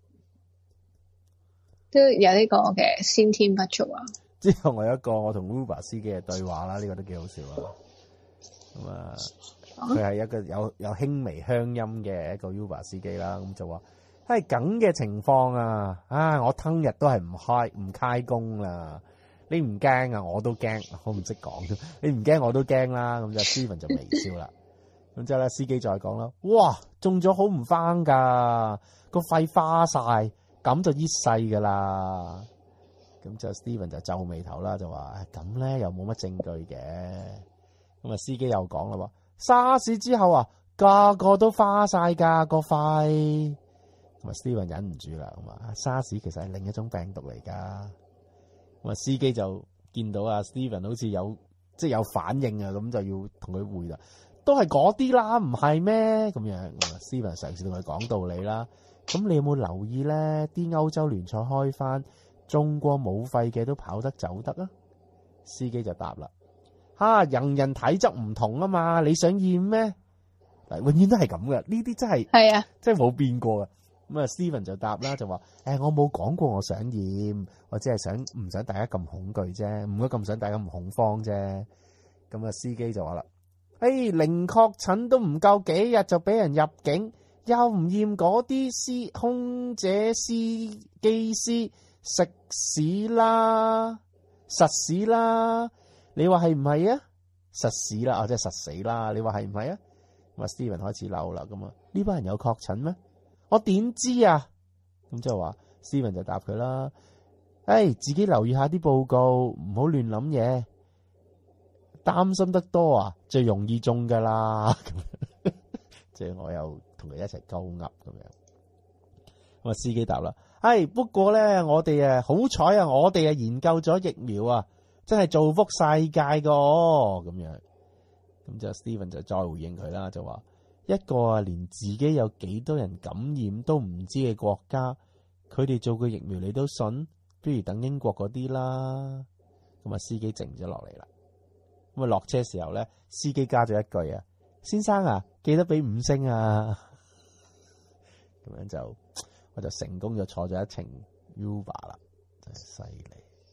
都有呢個嘅先天不足啊。 之後我有一個我同 Uber 司機嘅對話啦，呢、這個都幾好笑啊。咁啊，佢係一個有有輕微鄉音嘅一個 Uber 司機啦，咁就話係咁嘅情況啊，啊，我聽日都係唔開唔開工啦。你唔驚啊？我都驚，我唔識講。你唔驚我都驚啦。咁就 Steven 就微笑啦。咁之後咧，司機再講啦，哇，中咗好唔翻噶，個肺花晒，咁就一世噶啦。咁就 Steven 就皺眉頭啦，就話咁咧又冇乜證據嘅。咁啊，司機又講啦，話沙士之後啊，個個都花晒噶個肺。咁啊，Steven 忍唔住啦，咁啊，沙士其實係另一種病毒嚟噶。咁啊，司機就見到啊 Steven 好似有即係有反應啊，咁就要同佢回啦。都係嗰啲啦，唔係咩？咁樣，Steven 嘗試同佢講道理啦。咁你有冇留意咧？啲歐洲聯賽開翻，中過冇肺嘅都跑得走得啊？司機就答啦：吓、啊，人人體質唔同啊嘛，你想驗咩？嗱，永遠都係咁嘅，呢啲真係係啊， 真係冇變過嘅。咁啊，Steven 就答啦，就話：誒、欸，我冇講過我想驗，我只係想唔想大家咁恐懼啫，唔該咁想大家咁恐慌啫。咁啊，司機就話啦。誒，零確診都唔夠幾日就俾人入境，又唔驗嗰啲司空姐、司機師食屎啦，實屎啦！你話係唔係啊？實屎啦，或者實死啦！你話係唔係啊？咁啊 ，Steven 開始嬲啦，咁啊，呢班人有確診咩？我點知啊？咁即係話 Steven 就答佢啦，誒，自己留意下啲報告，唔好亂諗嘢。擔心得多啊，最容易中噶啦。即係我又同佢一齊鳩噏咁樣。咁啊，司機答啦，係不過咧，我哋啊好彩啊，我哋啊研究咗疫苗啊，真係造福世界噶咁樣。咁就 Steven 就再回應佢啦，就話一個啊連自己有幾多人感染都唔知嘅國家，佢哋做個疫苗你都信，不如等英國嗰啲啦。咁啊，司機靜咗落嚟啦。咁啊，落車時候咧，司機加咗一句啊，先生啊，記得俾五星啊。咁樣就我就成功咗坐咗一程 Uber 啦，真係犀利。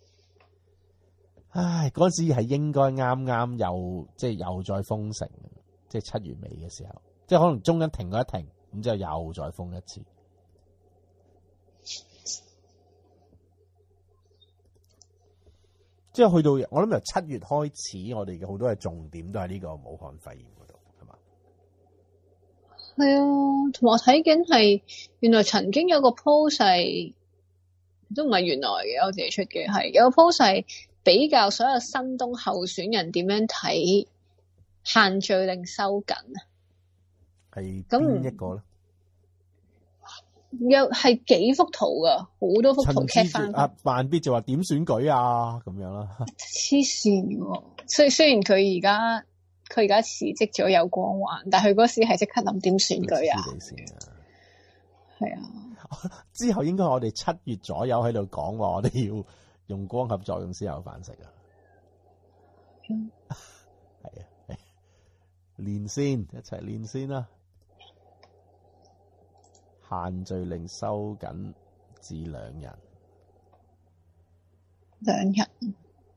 唉，嗰時係應該啱啱又即係又再封城，即係七月尾嘅時候，即係可能中間停咗一停，咁之後又再封一次。即係去到我諗由七月開始，我哋嘅好多嘅重點都喺呢個武漢肺炎嗰度，係嘛？ 係啊，同埋我睇緊係原來曾經有個 post 係都唔係原來嘅，我自己出嘅係有個 post 係比較所有新東候選人點樣睇限聚令收緊啊？ 係邊一個咧？ 有係幾幅圖噶，好多幅圖 cap 翻。 啊，萬必就話點選舉啊，咁樣啦。 黐線嘅，雖雖然佢而家佢而家辭職咗有光環，但係佢嗰時係即刻諗點選舉啊。係啊， 之後應該我哋七月左右喺度講話，我哋要用光合作用先有飯食啊。係啊， 練先，一齊練先啦。限聚令收緊至兩人， 兩人。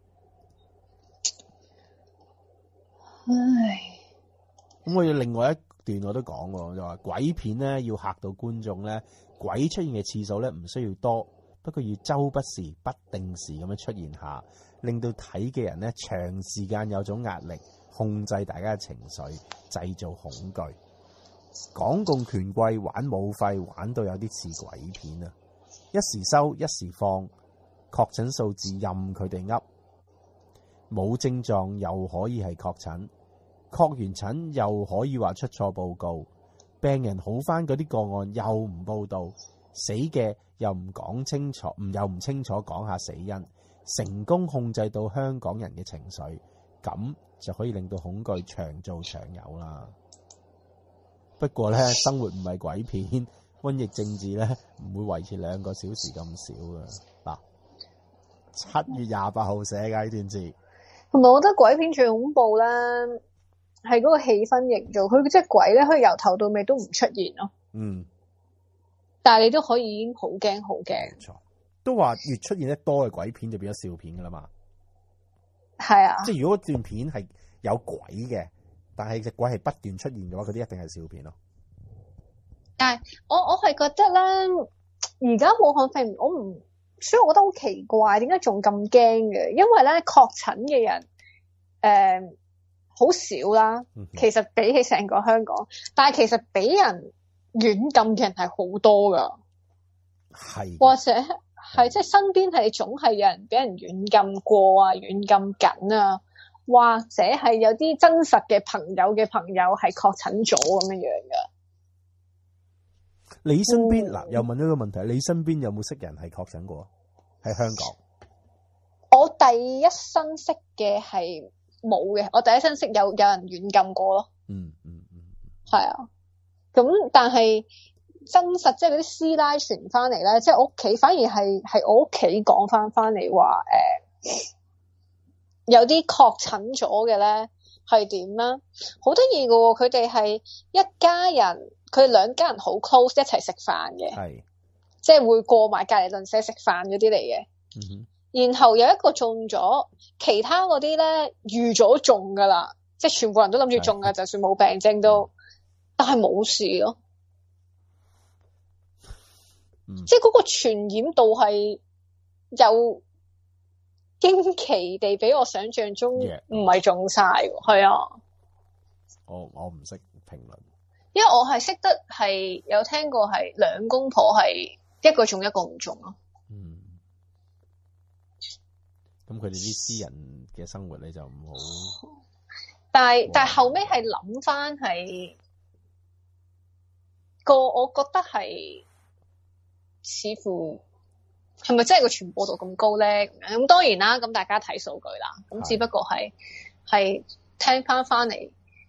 唉， 咁我要另外一段我都講喎，就話鬼片咧要嚇到觀眾咧，鬼出現嘅次數咧唔需要多，不過要周不時、不定時咁樣出現下，令到睇嘅人咧長時間有種壓力，控制大家嘅情緒，製造恐懼。港共權貴玩武肺，玩到有啲似鬼片啊！一時收，一時放，確診數字任佢哋噏，冇症狀又可以係確診，確完診又可以話出錯報告，病人好返嗰啲個案又唔報道，死嘅又唔講清楚，唔又唔清楚講下死因，成功控制到香港人嘅情緒，咁就可以令到恐懼長做長有啦。不過咧，生活唔係鬼片，瘟疫政治咧唔會維持兩個小時咁少嘅。嗱，七月廿八號寫嘅呢段字， 同埋我覺得鬼片最恐怖咧，係嗰個氣氛營造。佢即係鬼咧，佢由頭到尾都唔出現咯。 嗯， 但係你都可以已經好驚好驚。 冇錯，都話越出現得多嘅鬼片就變咗笑片噶啦嘛。 係啊， 即係如果段片係有鬼嘅，但係隻鬼係不斷出現嘅話，嗰啲一定係笑片咯。 但係我我係覺得咧，而家武漢肺炎，我唔，所以我覺得好奇怪，點解仲咁驚嘅？因為咧確診嘅人誒好、呃、少啦，其實比起成個香港，但係其實俾人軟禁嘅人係好多噶， 係或者係即係身邊係總係有人俾人軟禁過啊，軟禁緊啊，或者係有啲真實嘅朋友嘅朋友係確診咗咁樣樣噶。 你身邊嗱、嗯、又問咗個問題，你身邊有冇識人係確診過喺香港？ 我第一身識嘅係冇嘅，我第一身識有有人軟禁過咯。 嗯嗯嗯， 係啊。咁但係真實即係嗰啲師奶傳翻嚟咧，即係我屋企反而係係我屋企講翻翻嚟話誒，有啲確診咗嘅咧係點咧？好得意噶喎，佢哋係一家人。佢哋兩家人好 close 一齊食飯嘅，係即係會過埋隔離鄰舍食飯嗰啲嚟嘅。嗯、然後有一個中咗，其他嗰啲咧預咗中噶啦，即係全部人都諗住中噶，就算冇病徵都，但係冇事咯。嗯、即係嗰個傳染度係又驚奇地比我想象中唔係中晒喎，係、yeah. 啊。 我我唔識評論。 因為我係識得係有聽過係兩公婆係一個中一個唔中咯。 嗯，咁佢哋啲私人嘅生活你就唔好。 但係但係後尾係諗翻係個，我覺得係似乎係咪真係個傳播度咁高咧？咁樣咁當然啦，咁大家睇數據啦。咁只不過係係聽翻翻嚟。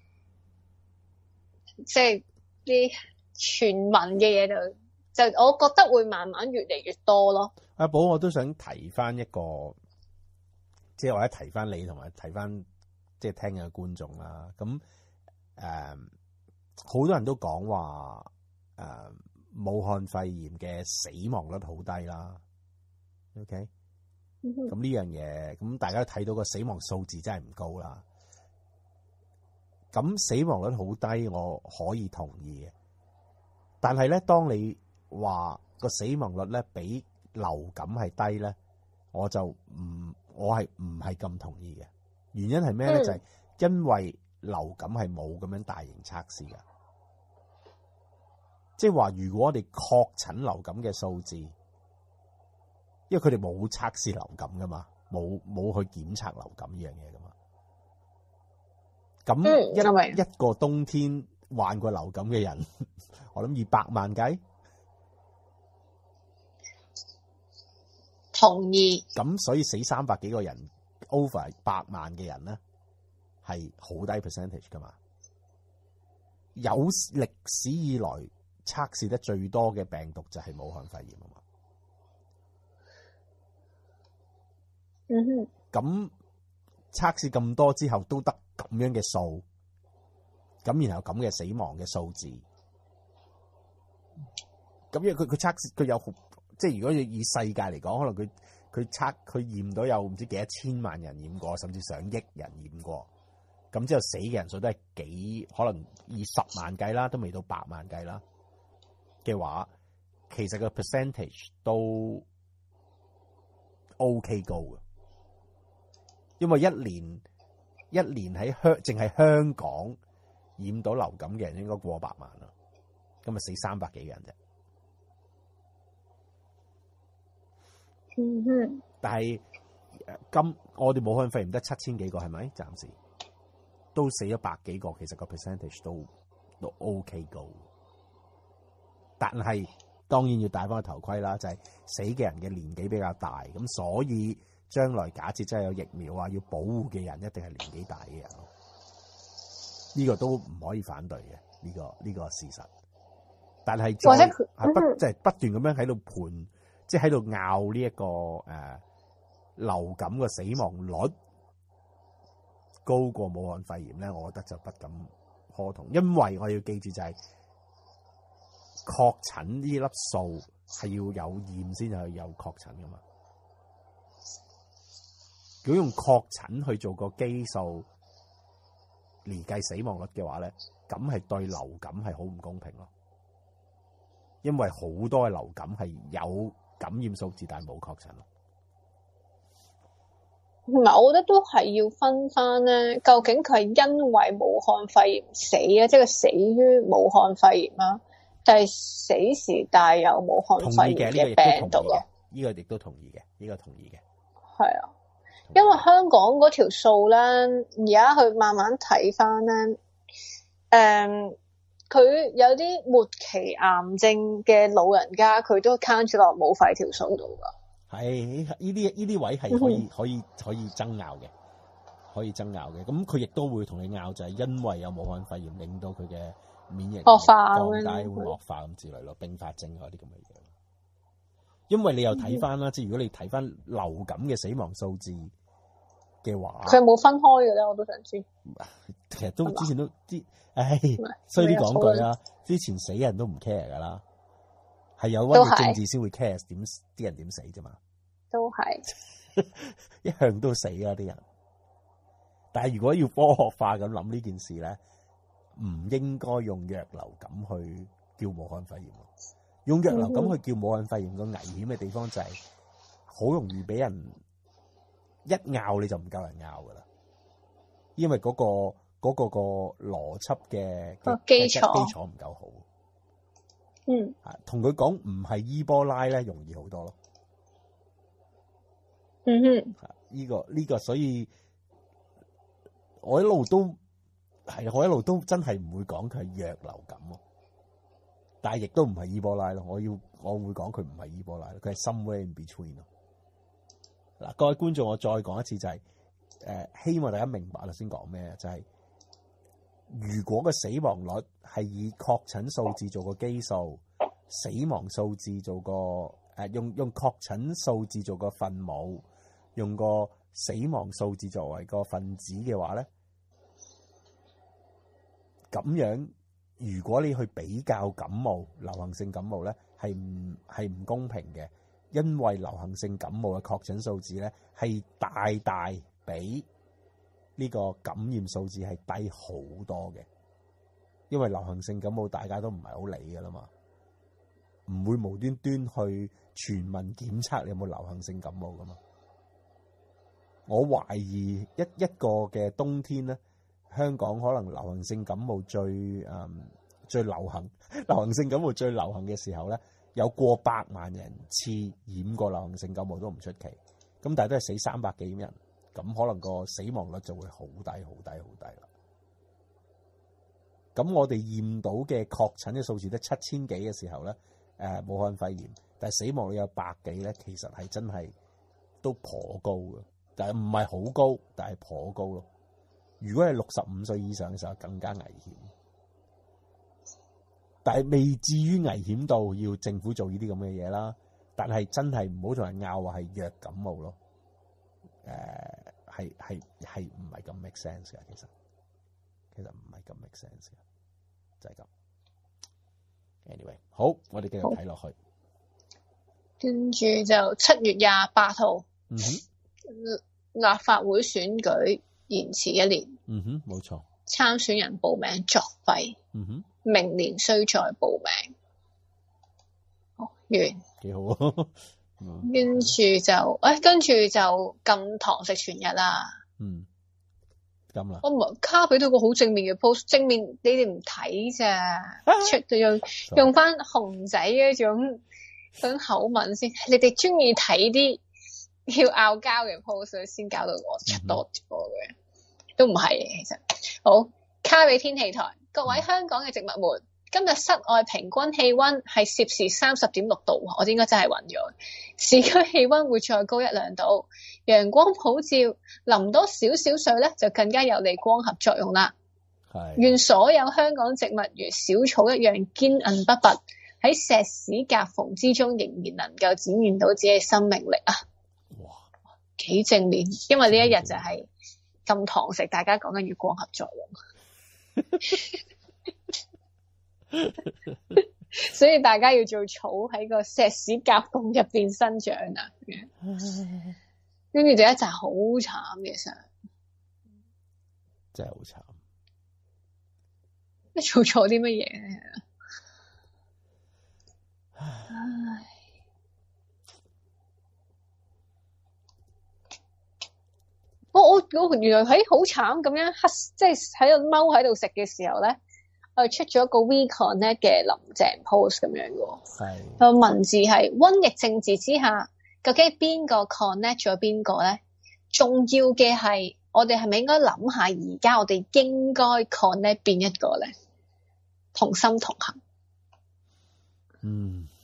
即係啲傳聞嘅嘢就就我覺得會慢慢越嚟越多咯。 阿寶，我都想提翻一個，即係或者提翻你同埋提翻即係聽嘅觀眾啦。咁誒，好多人都講話誒，武漢肺炎嘅死亡率好低啦。OK，咁呢、嗯、樣嘢，咁大家都睇到個死亡數字真係唔高啦。咁死亡率好低，我可以同意嘅。但係咧，當你話個死亡率咧比流感係低咧，我就唔，我係唔係咁同意嘅。原因係咩咧？嗯、就係因為流感係冇咁樣大型測試嘅，即係話如果我哋確診流感嘅數字，因為佢哋冇測試流感噶嘛，冇冇去檢測流感呢樣嘢噶嘛。咁一、嗯、一個冬天患過流感嘅人，我諗二百萬計， 同意。 咁所以死三百幾個人 over 百萬嘅人咧，係好低 percentage 噶嘛。有歷史以來測試得最多嘅病毒就係武漢肺炎啊嘛。 嗯哼。 咁測試咁多之後都得咁樣嘅數， 咁然後咁嘅死亡嘅數字，咁因為佢佢測佢有即係如果以世界嚟講，可能佢佢測佢驗到有唔知幾多千萬人驗過，甚至上億人驗過，咁之後死嘅人數都係幾可能以十萬計啦，都未到百萬計啦嘅話，其實個 percentage 都 OK 高嘅，因為一年一年喺香淨係香港染到流感嘅人應該過百萬啦，咁咪死三百幾人啫。 嗯哼， 但係今我哋武漢肺炎得七千幾個係咪？暫時都死咗百幾個，其實個 percentage 都都 OK 高。但係當然要戴翻個頭盔啦，就係、是、死嘅人嘅年紀比較大，咁所以將來假設真係有疫苗啊，要保護嘅人一定係年紀大嘅人咯。呢、這個都唔可以反對嘅，呢、這個呢、這個事實。但係或者係不即係、就是、不斷咁樣喺度盤。即係喺度拗呢一個誒、呃、流感嘅死亡率高過武漢肺炎咧，我覺得就不敢苟同，因為我要記住就係確診呢粒數係要有驗先係有確診噶嘛。如果用確診去做個基數嚟計死亡率嘅話咧，咁係對流感係好唔公平咯，因為好多嘅流感係有感染數字但係冇確診咯。 唔係，我覺得都係要分翻咧，究竟佢係因為武漢肺炎死啊，即係佢死於武漢肺炎啦，定係死時帶有武漢肺炎嘅病毒咯？ 呢個亦都同意嘅，呢個同意嘅。 係啊，因為香港嗰條數咧，而家去慢慢睇翻咧，誒。佢有啲末期癌症嘅老人家，佢都 count 住落武肺條數度噶。係呢啲呢啲位係可以、嗯、可以可以爭拗嘅，可以爭拗嘅。咁佢亦都會同你拗，就係因為有武漢肺炎令到佢嘅免疫力惡化降低，會惡化咁之類咯，併發症嗰啲咁嘅嘢。因為你又睇翻啦，即係如果你睇翻流感嘅死亡數字嘅話， 佢冇分開嘅咧，我都想知。 其實都之前都啲，唉，衰啲講句啦，之前死人都唔 care 噶啦，係有瘟疫政治先會 care 點啲人點死啫嘛。 都係一向都死啊啲人，但係如果要科學化咁諗呢件事咧，唔應該用弱流感去叫武漢肺炎。用弱流感去叫武漢肺炎個危險嘅地方就係好容易俾人一拗你就唔夠人拗噶啦，因為嗰、嗰個嗰、嗰個、嗰個邏輯嘅基礎基礎唔夠好。 嗯， 同佢講唔係伊波拉咧，容易好多咯。 嗯哼， 呢、這個呢、這個，所以我一路都係我一路都真係唔會講佢係弱流感咯。但係亦都唔係伊波拉咯，我要我會講佢唔係伊波拉，佢係 somewhere in between 咯。嗱，各位觀眾，我再講一次就係、是，誒、呃，希望大家明白啦，先講咩？就係、是、如果個死亡率係以確診數字做個基數，死亡數字做個誒、呃、用用確診數字做個分母，用個死亡數字作為個分子嘅話咧，咁樣。如果你去比較感冒、流行性感冒咧，係唔係唔公平嘅，因為流行性感冒嘅確診數字咧係大大比呢個感染數字係低好多嘅，因為流行性感冒大家都唔係好理噶啦嘛，唔會無端端去全民檢測你有冇流行性感冒噶嘛。我懷疑一一個嘅冬天咧。香港可能流行性感冒最誒、嗯、最流行，流行性感冒最流行嘅時候咧，有過百萬人次染過流行性感冒都唔出奇。咁但係都係死三百幾人，咁可能個死亡率就會好低、好低、好低啦。咁我哋驗到嘅確診嘅數字得七千幾嘅時候咧，誒、呃、武漢肺炎，但係死亡率有百幾咧，其實係真係都頗高嘅，但係唔係好高，但係頗高咯。如果係六十五歲以上嘅時候，更加危險，但係未至於危險到要政府做呢啲咁嘅嘢啦。但係真係唔好同人拗話係弱感冒咯。誒、呃，係係係唔係咁 make sense 嘅其實。 其實唔係咁 make sense 嘅，就係咁。Anyway， 好，我哋繼續睇落去。 跟住就七月廿八號， 嗯哼， 立法會選舉延遲一年。 嗯哼，冇錯。 參選人報名作廢。 嗯哼， 明年需再報名。好，完。 幾好啊！ 跟住就，誒、哎，跟住就禁堂食全日啦。 嗯，咁啦。 我唔係卡俾到個好正面嘅 post， 正面你哋唔睇咋，出就用用翻熊仔嗰種嗰種口吻先。你哋中意睇啲要拗交嘅 post 先搞到我出多個嘅，嗯、都唔係嘅其實。好，卡俾天氣台，各位香港嘅植物們。今日室外平均氣溫係攝氏三十點六度，我應該真係暈咗。市區氣溫會再高一兩度，陽光普照，淋多少少水咧就更加有利光合作用啦。係，願所有香港植物如小草一樣堅韌不拔，喺石屎夾縫之中仍然能夠展現到自己嘅生命力啊！哇，幾正面，因為呢一日就係禁堂食，大家講緊要光合作用。所以大家要做草喺個石屎夾縫入邊生長啊，跟住就一陣好慘嘅相， 真係好慘。 你做錯啲乜嘢咧？唉，我我我原來喺好慘咁樣黑，即係喺度踎喺度食嘅時候咧。我出咗個 WeConnect 嘅林鄭 post 咁樣嘅，係個文字係瘟疫政治之下，究竟邊個 connect 咗邊個咧？重要嘅係我哋係咪應該諗下，而家我哋應該 connect 邊一個咧？同心同行。 嗯。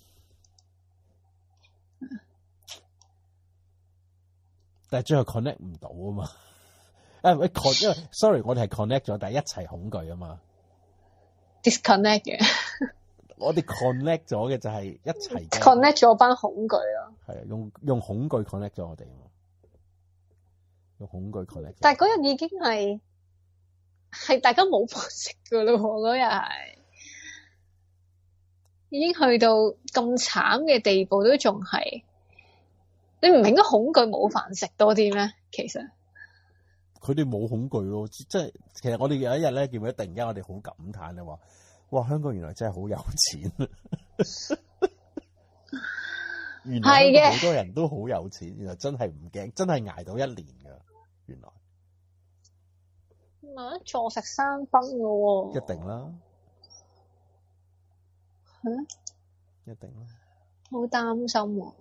但係最後 connect 唔到啊嘛。誒，喂 con，因為 sorry， 我哋係 connect 咗，但係一齊恐懼啊嘛。 disconnect 嘅， 我哋 connect 咗嘅就係一齊 connect 咗班恐懼咯。 係啊，用用恐懼 connect 咗我哋，用恐懼 connect。 但係嗰日已經係係大家冇飯食噶咯，嗰日係已經去到咁慘嘅地步，都仲係你唔係應該恐懼冇飯食多啲咩？其實。 佢哋冇恐懼咯，即係其實我哋有一日咧，見到突然間我哋好感嘆咧，話哇香港原來真係好有錢，原來好多人都好有錢，原來真係唔驚，真係捱到一年噶，原來唔係坐食山崩噶喎， 一定啦， 係咩？ 一定啦， 好擔心喎。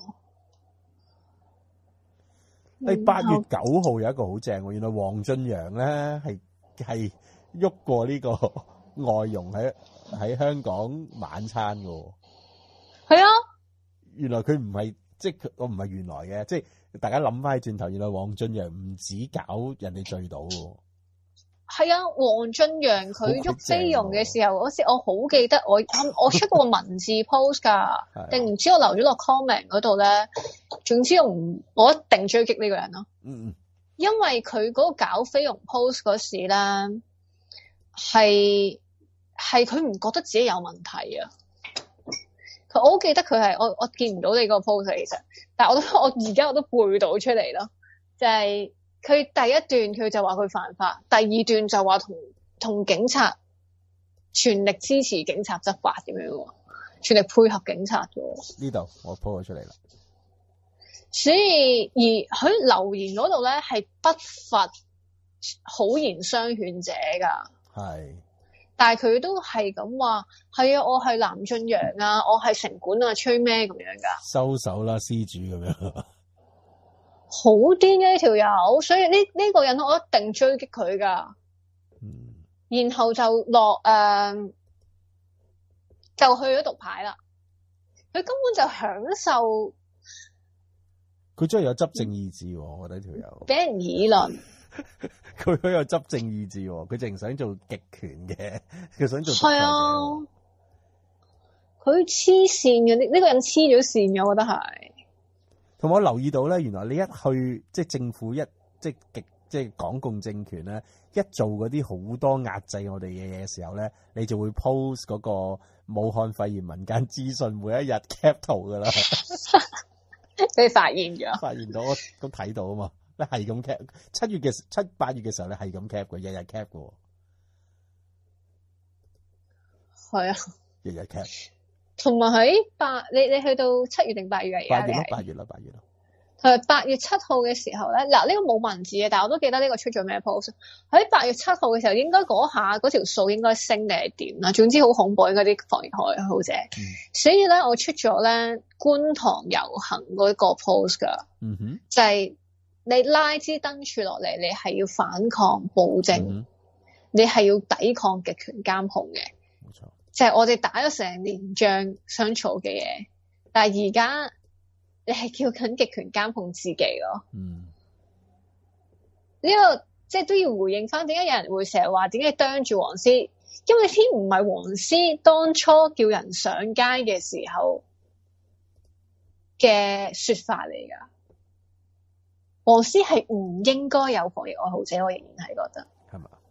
誒，八月九號有一個好正喎，原來黃俊陽咧係係喐過呢個外傭喺喺香港晚餐噶。 係啊， 原來佢唔係即係佢我唔係原來嘅，即係大家諗翻起轉頭，原來黃俊陽唔止搞人哋醉倒喎。係啊，黃俊陽佢喐菲傭嘅時候，嗰時我好記得我我出過個文字 post 噶，定唔知我留咗落 comment 嗰度咧。總之我唔，我一定追擊呢個人咯。嗯嗯，因為佢嗰個搞菲傭 post 嗰時咧，係係佢唔覺得自己有問題啊。佢我好記得佢係我我見唔到你個 post 其實，但係我都我而家我都背到出嚟咯，就係、是。佢第一段佢就話佢犯法，第二段就話同同警察全力支持警察執法咁樣，全力配合警察嘅。呢度我 po 咗出嚟啦。 所以而佢留言嗰度咧係不乏好言相勸者噶，係。但係佢都係咁話，係啊，我係藍俊陽啊，我係城管啊，吹咩咁樣噶？ 收手啦，施主咁樣。 好癲嘅呢條友，所以呢呢、這個人我一定追擊佢噶。嗯，然後就落誒、呃，就去咗讀牌啦。佢根本就享受， 佢真係有執政意志，我覺得呢條友俾人議論。 佢好有執政意志，佢淨想做極權嘅，佢想做。係啊，佢黐線嘅呢呢個人黐咗線嘅，我覺得係。 同埋我留意到咧，原來你一去即係政府一即係極即係港共政權咧，一做嗰啲好多壓制我哋嘅嘢嘅時候咧，你就會 post 嗰個武漢肺炎民間資訊，每一日 cap 圖噶啦。 你發現咗？ 發現到我都睇到啊嘛，你係咁 cap。七月嘅七八月嘅時候，你係咁 cap 嘅，日日 cap 嘅。 係啊， 日日 cap。 同埋喺八，你你去到七月定八月啊？ 八月咯，八月啦，八月啦。 係八月七號嘅時候咧，嗱呢個冇文字嘅，但係我都記得呢個出咗咩 post。喺八月七號嘅時候，應該嗰下嗰條數應該升定係點啦？總之好恐怖嗰啲防疫愛好者。嗯、所以咧，我出咗咧觀塘遊行嗰個 post 噶， 嗯哼， 就係你拉支燈柱落嚟，你係要反抗暴政，嗯、你係要抵抗極權監控嘅。 冇錯， 就係我哋打咗成年仗相嘈嘅嘢，但係而家。你係叫緊極權監控自己咯。嗯，呢、這個即係都要回應翻，點解有人會成日話點解啄住黃絲？因為天唔係黃絲當初叫人上街嘅時候嘅說法嚟㗎。黃絲係唔應該有防疫愛好者，我仍然係覺得係嘛？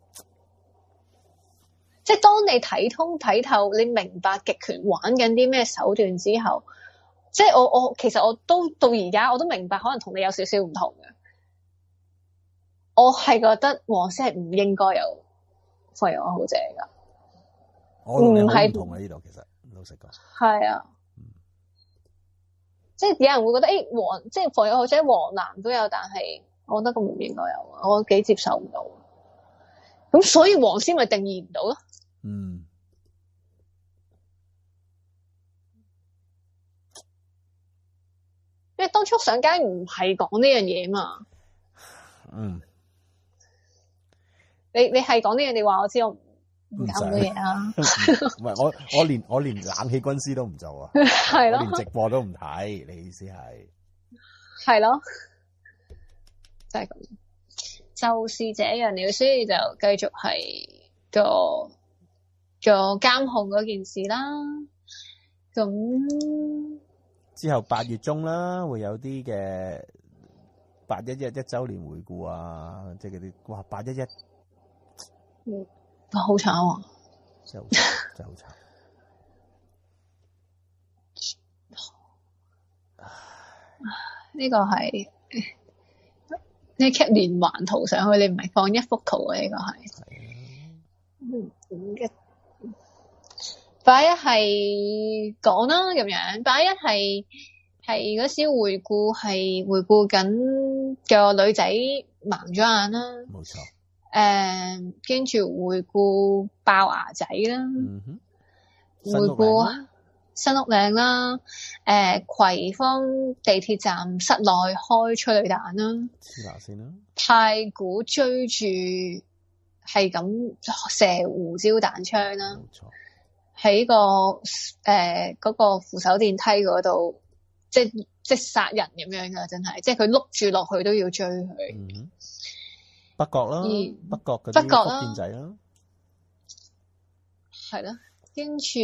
即係當你睇通睇透，你明白極權玩緊啲咩手段之後。即係我我其實我都到而家我都明白，可能同你有少少唔同嘅。我係覺得黃絲係唔應該有防疫愛好者㗎。 我同你好唔同喺呢度，其實老實講。 係啊，嗯、即係有人會覺得誒黃、欸、即係防疫愛好者黃藍都有，但係我覺得咁唔應該有，我幾接受唔到。咁所以黃絲咪定義唔到咯。嗯。因為當初上街唔係講呢樣嘢嘛，嗯，你你係講呢樣，你話我知我唔搞咁多嘢啊， 唔係我我連我連冷氣軍師都唔做啊，係咯，我連直播都唔睇，你意思係？係咯，就係咁，就是這樣了，所以就繼續係做做監控嗰件事啦，咁。 之後八月中啦，會有啲嘅八一一一周年回顧啊，即係嗰啲哇八一一， 嗯，好慘啊， 真係好慘，真係好慘。 呢個係呢 keep 連環圖上去，你唔係放一幅圖啊？呢個係，嗯，嘅。八一係講啦咁樣，八一係係嗰時回顧係回顧緊個女仔盲咗眼啦， 冇錯。 誒，跟住回顧爆牙仔啦，嗯哼，回顧新屋嶺啦，誒、呃，葵芳地鐵站室內開催淚彈啦， 試下先啦， 太古追住係咁射胡椒彈槍啦，冇錯。喺個誒嗰、呃那個扶手電梯嗰度，即係即係殺人咁樣噶，真係，即係佢碌住落去都要追佢。 嗯、北角啦，北角嗰啲福建仔啦， 係啦，跟住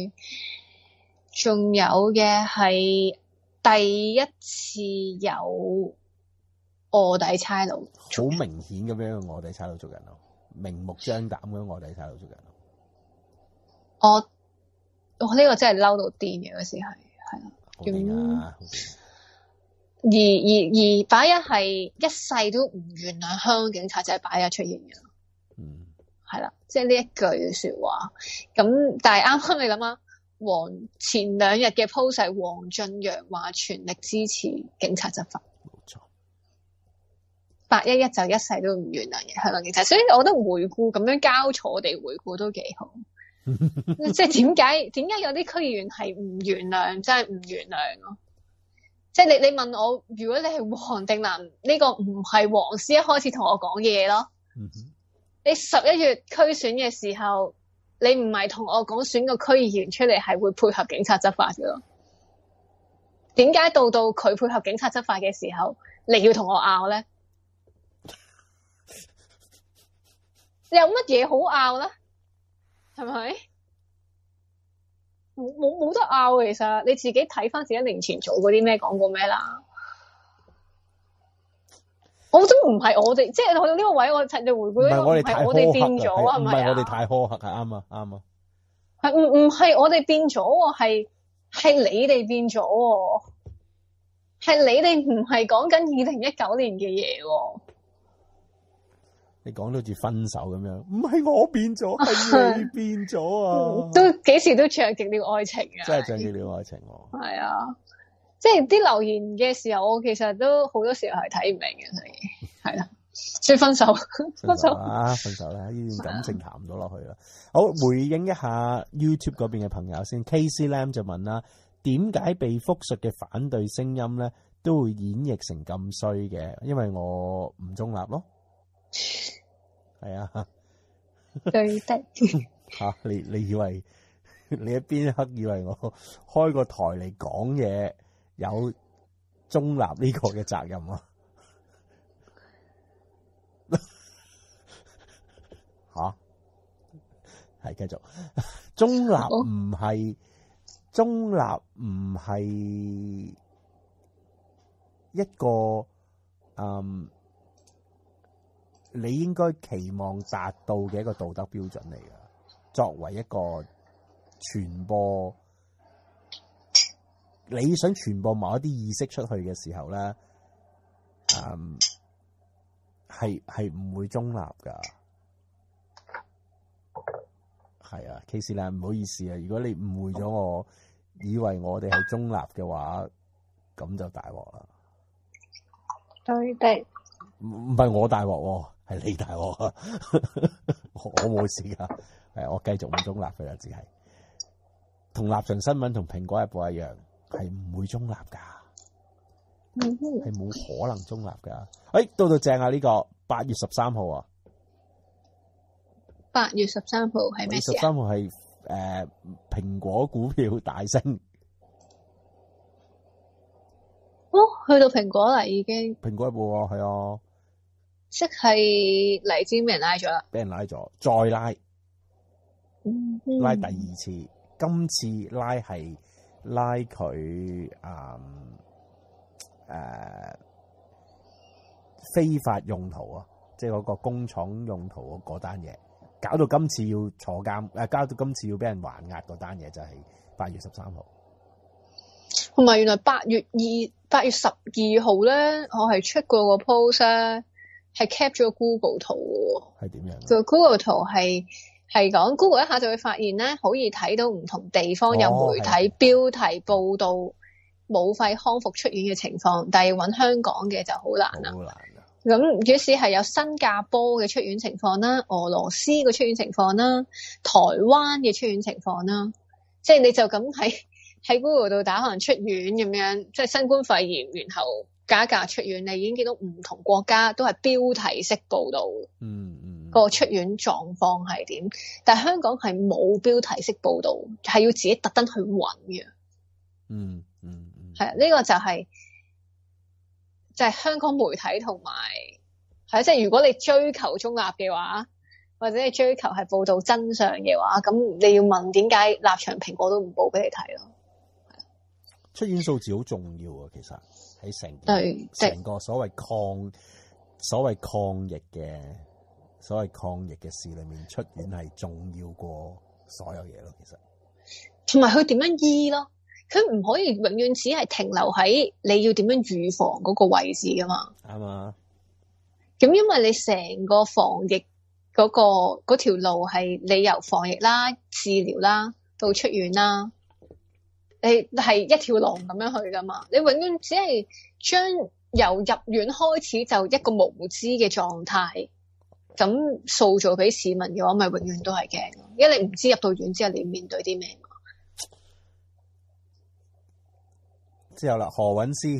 仲有嘅係第一次有臥底差佬， 好明顯咁樣臥底差佬捉人咯，明目張膽咁樣臥底差佬捉人。 我我呢個真係嬲到癲嘅，嗰時係係啦，咁、啊、而而而八一係一世都唔原諒香港警察，就係八一出現嘅，嗯，係啦，即係呢一句說話。咁但係啱啱你諗下，黃前兩日嘅 post 係黃俊陽話全力支持警察執法，冇錯。八一一就一世都唔原諒嘅香港警察，所以我覺得回顧咁樣交錯地回顧都幾好。即係點解點解有啲區議員係唔原諒，真係唔原諒咯？即係你你問我，如果你係黃定藍，呢、這個唔係黃絲一開始同我講嘅嘢咯。嗯、哼你十一月區選嘅時候，你唔係同我講選個區議員出嚟係會配合警察執法嘅咯？點解到到佢配合警察執法嘅時候，你要同我拗咧？有乜嘢好拗咧？係咪？冇冇冇得拗，其實你自己睇翻自己一年前做嗰啲咩，講過咩啦。 我都唔係我哋，即係去到呢個位，我趁住回顧呢個，唔係我哋變咗啊， 唔係我哋太苛刻，係啱啊，啱啊。 係唔唔係我哋變咗喎，係係你哋變咗喎，係你哋唔係講緊二零一九年嘅嘢喎。 你講到好似分手咁樣，唔係我變咗，係你變咗啊！ 都幾時都着極了愛情啊！ 真係着極了愛情喎。 係啊，即係啲留言嘅時候，我其實都好多時候係睇唔明嘅，所以係啦，所以分手， 分手啦，分手啦，呢段感情談唔到落去啦。好，回應一下 YouTube 嗰邊嘅朋友先。K C Lam 就問啦，點解被複述嘅反對聲音咧都會演繹成咁衰嘅？因為我唔中立咯。係啊， 對的吓你你以為你一邊刻以為我開個台嚟講嘢有中立呢個嘅責任啊？吓係繼續中立唔係中立唔係一個嗯。你應該期望達到嘅一個道德標準嚟㗎。作為一個傳播，你想傳播某一啲意識出去嘅時候咧，嗯，係係唔會中立㗎。係啊 ，K C 啦，唔好意思啊，如果你誤會咗我，以為我哋係中立嘅話，咁就大鑊啦。 對的， 唔唔係我大鑊喎。係你大鑊啊！我冇事噶，係我繼續唔中立嘅啦，只係同立場新聞同蘋果日報一樣，係唔會中立噶，係冇可能中立噶。誒，到到正啊！呢個八月十三號啊， 八月十三號係咩事啊？ 十三號係誒蘋果股票大升。 哦，去到蘋果啦，已經。 蘋果日報啊，係啊。 即係黎智英俾人拉咗啦， 俾人拉咗，再拉， 嗯、 拉第二次，今次拉係拉佢誒誒非法用途啊，即係嗰個工廠用途嗰單嘢，搞到今次要坐監，誒，搞到今次要俾人還押嗰單嘢就係八月十三號。 同埋原來八月二八月十二號咧，我係出過個 post 咧。係 cap 咗個 Google 圖喎， 係點樣？ 個 Google 圖係係講 Google 一下就會發現咧，可以睇到唔同地方有媒體標題報導武肺康復出院嘅情況，哦、但係要揾香港嘅就好難啦。好難啊！咁於是係有新加坡嘅出院情況啦，俄羅斯嘅出院情況啦，台灣嘅出院情況啦，即係你就咁喺喺 Google 度打可能出院咁樣，即係新冠肺炎，然後。假假出院，你已經見到唔同國家都係標題式報導， 嗯嗯， 個出院狀況係點？但係香港係冇標題式報導，係要自己特登去揾嘅。 嗯嗯嗯， 係啊，呢個就係就係香港媒體同埋係啊，即係如果你追求中立嘅話，或者你追求係報導真相嘅話，咁你要問點解立場蘋果都唔報俾你睇咯？ 出院數字好重要啊，其實。喺成成個所謂抗所謂抗疫嘅所謂抗疫嘅事裏面，出院係重要過所有嘢咯。其實同埋佢點樣醫咯，佢唔可以永遠只係停留喺你要點樣預防嗰個位置噶嘛。 啱啊。 咁因為你成個防疫嗰、嗰個嗰條路係你由防疫啦、治療啦到出院啦。你係一條龍咁樣去噶嘛？你永遠只係將由入院開始就一個無知嘅狀態，咁塑造俾市民嘅話，咪永遠都係驚。因為你唔知入到院之後你要面對啲咩。 之後啦，何韻詩，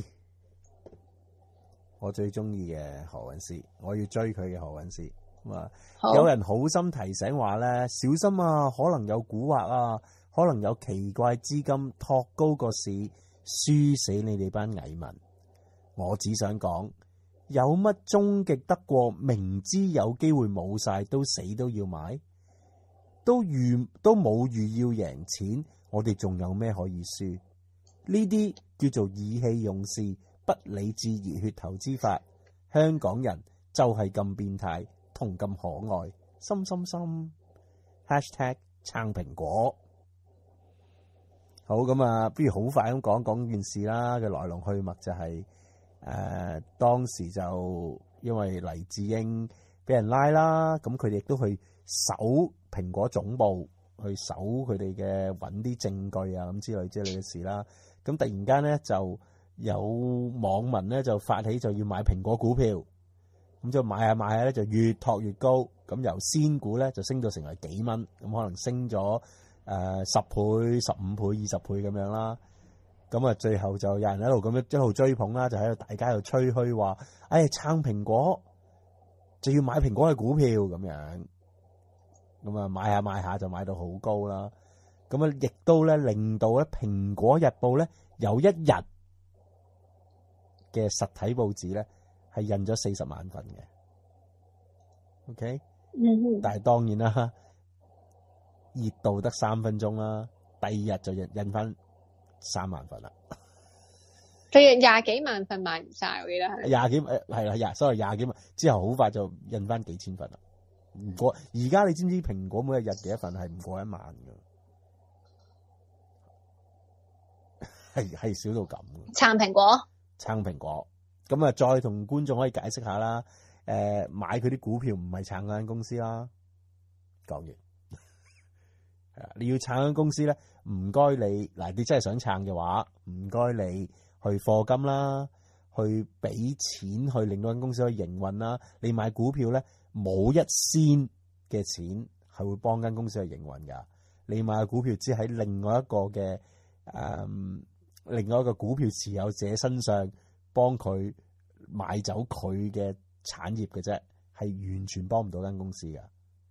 我最中意嘅何韻詩，我要追佢嘅何韻詩。咁啊，有人好心提醒話咧，小心啊，可能有蠱惑啊。可能有奇怪資金托高個市，輸死你哋班蟻民。我只想講，有乜終極得過明知有機會冇晒都死都要買？都預都冇預要贏錢，我哋仲有咩可以輸？呢啲叫做意氣用事、不理智熱血投資法， 香港人就係咁變態同咁可愛，心心心 hashtag 撐蘋果。好，咁啊，不如好快咁講講件事啦。嘅來龍去脈就係、是、誒、呃、當時就因為黎智英俾人拉啦，咁佢哋亦都去搜蘋果總部，去搜佢哋嘅揾啲證據啊咁之類之類嘅事啦。咁突然間咧就有網民咧就發起就要買蘋果股票，咁就買下買下咧就越托越高，咁由仙股咧就升到成為幾蚊，咁可能升咗誒十倍、十五倍、二十倍咁樣啦。咁啊最後就有人喺度咁樣一路追捧啦，就喺度大家喺度吹噓話，哎撐蘋果就要買蘋果嘅股票咁樣，咁啊買下買下就買到好高啦。咁啊亦都咧令到咧蘋果日報咧有一日嘅實體報紙咧係印咗四十萬份嘅 ，OK， 嗯， 但係當然啦，熱度得三分鐘啦，第二日就印印翻三萬份啦。 佢廿幾萬份賣唔晒，我記得係廿幾誒係啦，廿所謂廿幾萬之後好快就印翻幾千份啦。唔過而家你知唔知蘋果每一日幾多份係唔過一萬㗎？係係少到咁嘅。 撐蘋果， 撐蘋果，咁啊再同觀眾可以解釋下啦。誒、呃，買佢啲股票唔係撐嗰間公司啦。講完，係啊，你要撐嗰間公司咧，唔該你嗱，你真係想撐嘅話，唔該你去課金啦，去俾錢去令到間公司可以營運啦。你買股票咧，冇一仙嘅錢係會幫間公司去營運噶。你買嘅股票只喺另外一個嘅誒。嗯另外一個股票持有者身上幫佢買走佢嘅產業嘅啫，係完全幫唔到間公司㗎。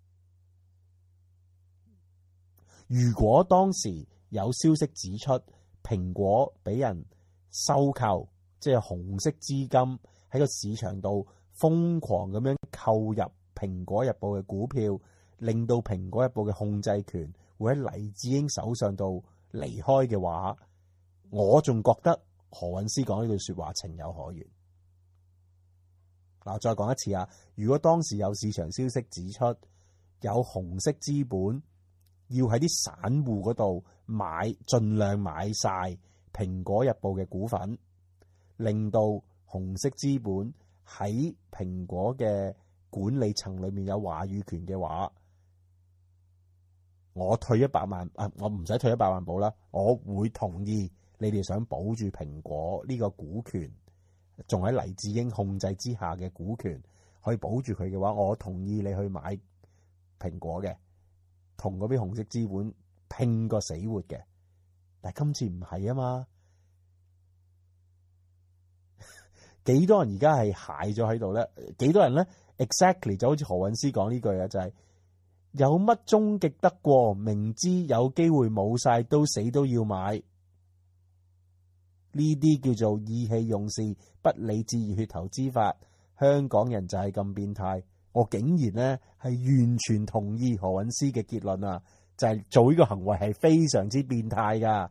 如果當時有消息指出蘋果俾人收購，即係紅色資金喺個市場度瘋狂咁樣購入蘋果日報嘅股票，令到蘋果日報嘅控制權會喺黎智英手上度離開嘅話，我仲覺得何韻詩講呢句說話情有可原。嗱，再講一次啊！如果當時有市場消息指出有紅色資本要喺啲散戶嗰度買，盡量買晒蘋果日報嘅股份，令到紅色資本喺蘋果嘅管理層裏面有話語權嘅話，我退一百萬啊！我唔使退一百萬保啦，我會同意。你哋想保住蘋果呢個股權，仲喺黎智英控制之下嘅股權，可以保住佢嘅話，我同意你去買蘋果嘅，同嗰啲紅色資本拼個死活嘅。但係今次唔係啊嘛，幾多人而家係蟹咗喺度咧？幾多人咧 ？Exactly 就好似何韻詩講呢句啊，就係、是、有乜終極得過？明知有機會冇晒，都死都要買。呢啲叫做意氣用事、不理智熱血投資法。香港人就係咁變態，我竟然咧係完全同意何韻詩嘅結論啊！就係、是、做呢個行為係非常之變態噶，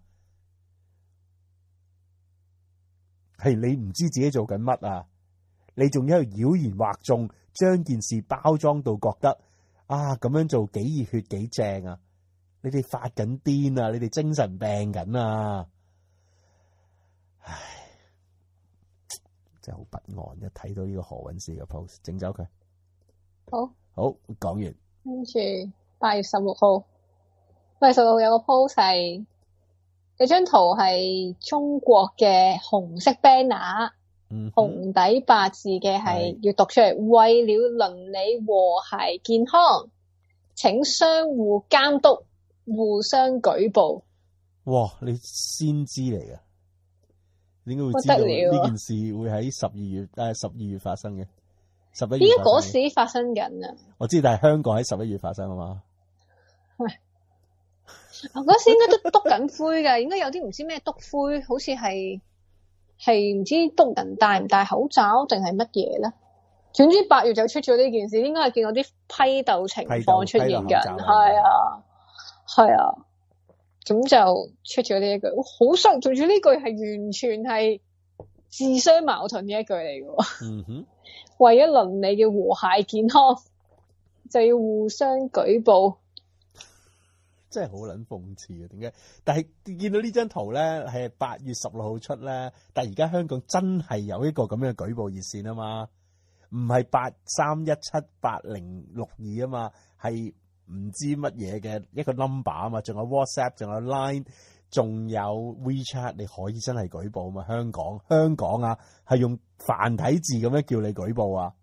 係你唔知自己做緊乜啊！你仲喺度妖言惑眾，將件事包裝到覺得啊咁樣做幾熱血幾正啊！你哋發緊癲啊！你哋精神病緊啊！唉，真係好不安！一睇到呢個何韻詩嘅 post， 整走佢。 好， 好講完。 跟住八月十六號，八月十六號有個 post 係，有張圖係中國嘅紅色 banner，嗯，紅底白字嘅係要讀出嚟，為了鄰里和諧健康，請相互監督，互相舉報。哇！ 你先知嚟嘅。點解會知道呢件事會喺十二月誒十二月發生嘅？十一月。點解嗰時發生緊啊？ 我知，但係香港喺十一月發生啊嘛。 喂，嗰時應該都篤緊灰㗎，應該有啲唔知咩篤灰，好似係係唔知篤人戴唔戴口罩定係乜嘢咧？總之八月就出咗呢件事，應該係見到啲批鬥情況出現緊，係啊，係啊。咁就出咗呢一句，好衰，做住呢句係完全係自相矛盾嘅一句嚟嘅。 嗯哼， 為咗鄰里嘅和諧健康，就要互相舉報。 真係好撚諷刺嘅，點解？但係見到呢張圖咧，係八月十六號出咧，但係而家香港真係有一個咁樣嘅舉報熱線啊嘛，唔係八三一七八零六二啊嘛，係唔知乜嘢嘅一個 number 啊嘛，仲有 WhatsApp，仲有 Line，仲有 WeChat，你可以真係舉報啊嘛。香港香港啊，係用繁體字咁樣叫你舉報啊，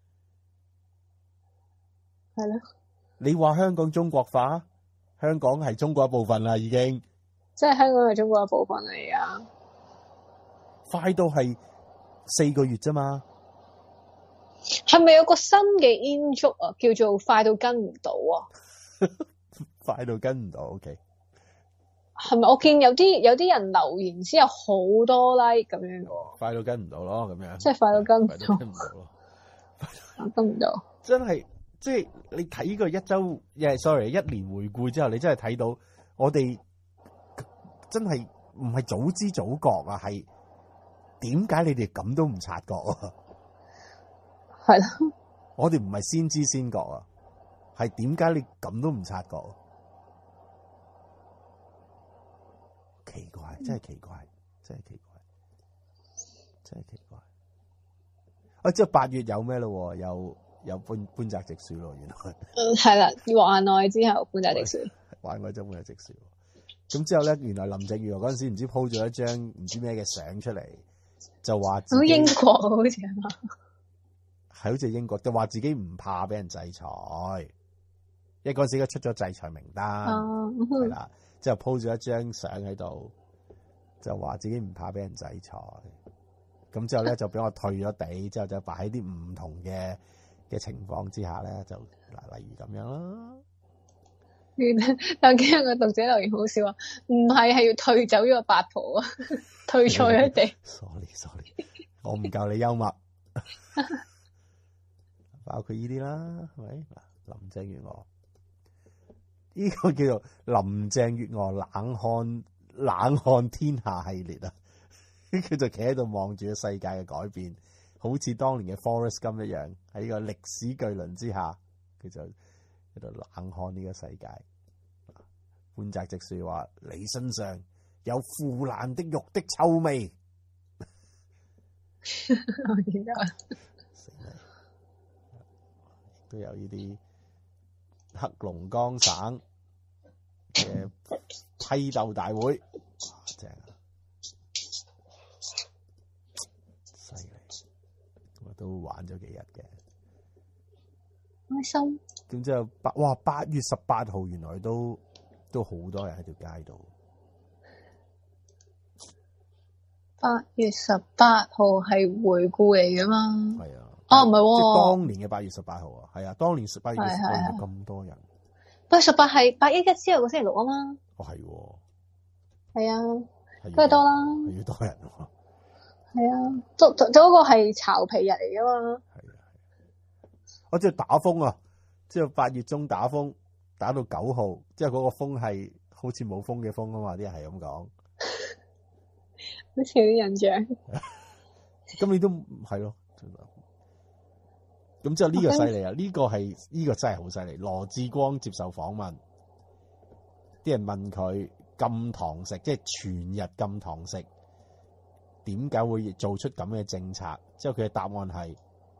係咯， 你話香港中國化？香港係中國一部分啦，已經。 即係香港係中國一部分嚟啊！ 快到係四個月啫嘛。 係咪有個新嘅 in 足啊？叫做快到跟唔到啊？ 快到跟唔到 ，OK。 係咪？我見有啲有啲人留言之後好多 like 咁樣嘅。 快到跟唔到咯，咁樣。 即係快到跟唔到。 快到跟唔到咯。 跟唔到。 真係。即係你睇個一周，誒，sorry，一年回顧之後，你真係睇到我哋真係唔係早知早覺啊，係點解你哋咁都唔察覺啊？ 係啦， 我哋唔係先知先覺啊，係點解你咁都唔察覺啊？奇怪，真係奇怪，真係奇怪，真係奇怪。啊，即係八月有咩咯？有。有搬搬宅直樹咯，原來。 嗯，係啦，話內之後搬宅直樹。 話內真搬宅直樹。咁之後咧，原來林鄭月娥嗰陣時唔知 po 咗一張唔知咩嘅相出嚟，就話自己英國好似係嘛？ 係好似英國，就話自己唔怕俾人制裁，因為嗰陣時佢出咗制裁名單，係啦、嗯，之後 po 咗一張相喺度，就話自己唔怕俾人制裁。咁之後咧就俾我退咗地，之後就擺喺啲唔同嘅。嘅情況之下咧，就嗱，例如咁樣啦。 但係今日個讀者留言好笑啊，唔係係要退走咗個八婆啊，退錯咗地。 sorry sorry，我唔夠你幽默。包括呢啲啦，係咪？嗱，林鄭月娥呢、這個叫做林鄭月娥冷看冷看天下系列啊，佢就企喺度望住個世界嘅改變。好似當年嘅 Forrest Gump 一樣，喺呢個歷史巨輪之下，佢就喺度冷看呢個世界。半澤直樹話：你身上有腐爛的肉的臭味。 我見到都有呢啲黑龍江省嘅批鬥大會，哇正啊！都玩咗幾日嘅， 開心。 咁之後八哇八月十八號，原來都都好多人喺條街度。 八月十八號係回顧嚟噶嘛？ 係啊。 哦，唔係喎。 即係當年嘅八月十八號啊，係啊，當年八月十八號咁多人。 八月十八係八一一之後個星期六啊嘛。 哦，係喎。 係啊，都係多啦。 係要多人喎。 係啊，做做嗰個係巢皮日嚟噶嘛？ 係啊，我即係打風啊，即係八月中打風，打到九號，即係嗰個風係好似冇風嘅風啊嘛，啲人係咁講， 好似有啲印象。 咁你都係咯，咁之後呢個犀利啊，呢個係呢個真係好犀利。羅致光接受訪問，啲人問佢禁堂食，即係全日禁堂食。點解會做出咁嘅政策？之後佢嘅答案係：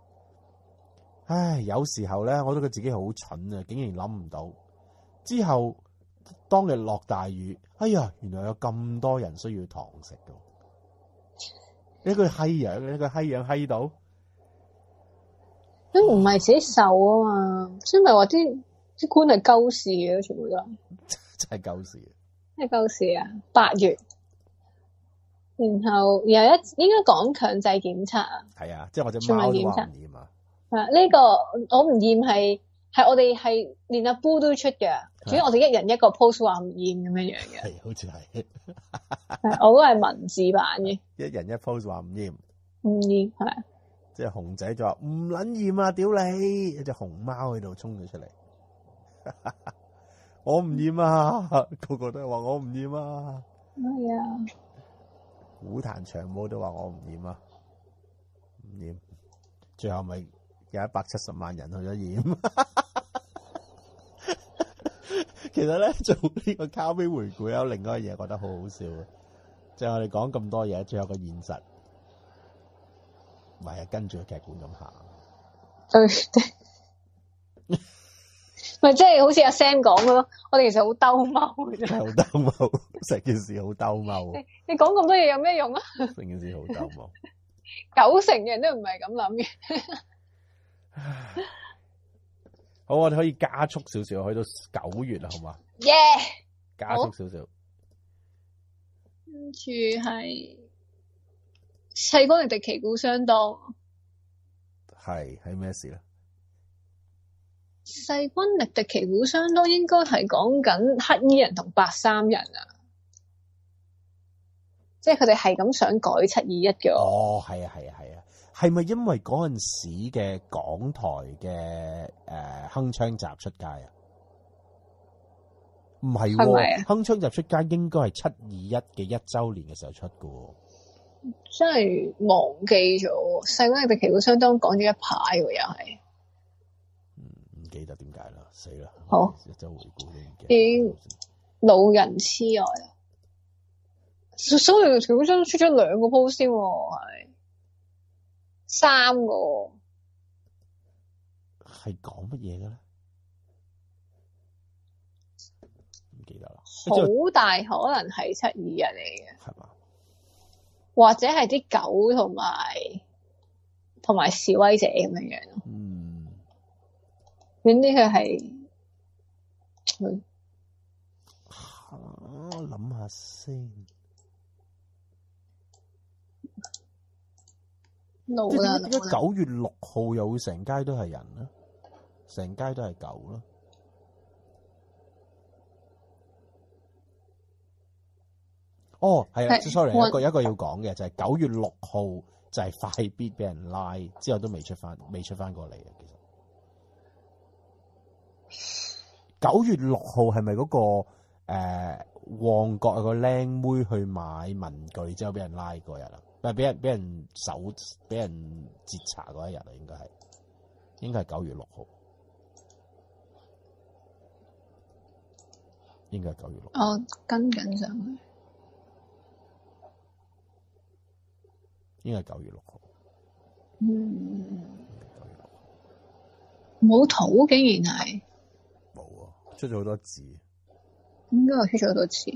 唉，有時候咧，我都覺得自己好蠢啊，竟然諗唔到。之後當日落大雨，哎呀，原來有咁多人需要堂食嘅。一個閪樣，一個閪樣閪到， 都唔係自己受啊嘛，所以咪話啲啲官係鳩事嘅，全部都真係鳩事， 真係鳩事啊！八月。然後有一應該講強制檢測啊， 係啊，即係我隻貓都話唔驗啊。 啊，呢個我唔驗係係我哋係連阿 Boo 都出嘅，主要我哋一人一個 post 話唔驗咁樣樣嘅， 係好似係， 我都係文字版嘅， 一人一 post 話唔驗， 唔驗係， 即係熊仔就話唔撚驗啊，屌你！一隻熊貓喺度衝咗出嚟，我唔驗啊，個個都係話我唔驗啊， 係啊。 股壇長毛都話我唔驗啊，唔驗，最後咪有一百七十萬人去咗驗。其實咧做呢個卡比回顧有另外一樣嘢覺得好好笑嘅，就係我哋講咁多嘢，最後個現實咪係跟住個劇本咁行。 對，咪即係好似阿 Sam 講嘅咯，我哋其實好兜踎嘅啫， 係好兜踎，成件事好兜踎。 你講咁多嘢有咩用啊？ 成件事好兜踎， 九成嘅人都唔係咁諗嘅。 好，我哋可以加速少少，去到九月啦，好嘛？ 耶！ 加速少少。 跟住係細光力敵旗鼓相當。 係係咩事咧？ 勢均力敵旗鼓相當應該係講緊黑衣人同白衫人啊，即係佢哋係咁想改七二一嘅。 哦，係啊，係啊，係啊，係咪因為嗰陣時嘅港台嘅誒鏗鏘集出街啊？唔係喎，鏗鏘集出街應該係七二一嘅一週年嘅時候出嘅喎。 真係忘記咗，勢均力敵旗鼓相當講咗一排喎，又係。 唔記得點解啦，死啦！ 好， 一週回顧都唔記得。 已經老人痴呆啦。所以旗鼓相當出咗兩個 post 先喎，係三個。 係講乜嘢嘅咧？唔記得啦。 好大可能係七二一嚟嘅。 係嘛？ 或者係啲狗同埋同埋示威者咁樣樣咯。 嗯。 遠啲佢係，嗯， 我諗下先。 老啦， 點解九月六號又會成街都係人咧？成街都係狗咯。哦，係啊 ，sorry，有一個有一個要講嘅就係九月六號就係快必俾人拉，之後都未出翻，未出翻過嚟啊！其實九月六號係咪嗰個誒、呃、旺角有個靚妹去買文具之後俾人拉嗰日啊？唔係俾人俾人搜俾人截查嗰一日啊？應該係應該係九月六號，應該係九月六號。 我跟緊上去。 應該係九月六號。 嗯，冇圖竟然係冇啊，出咗好多字。 應該係出咗好多字。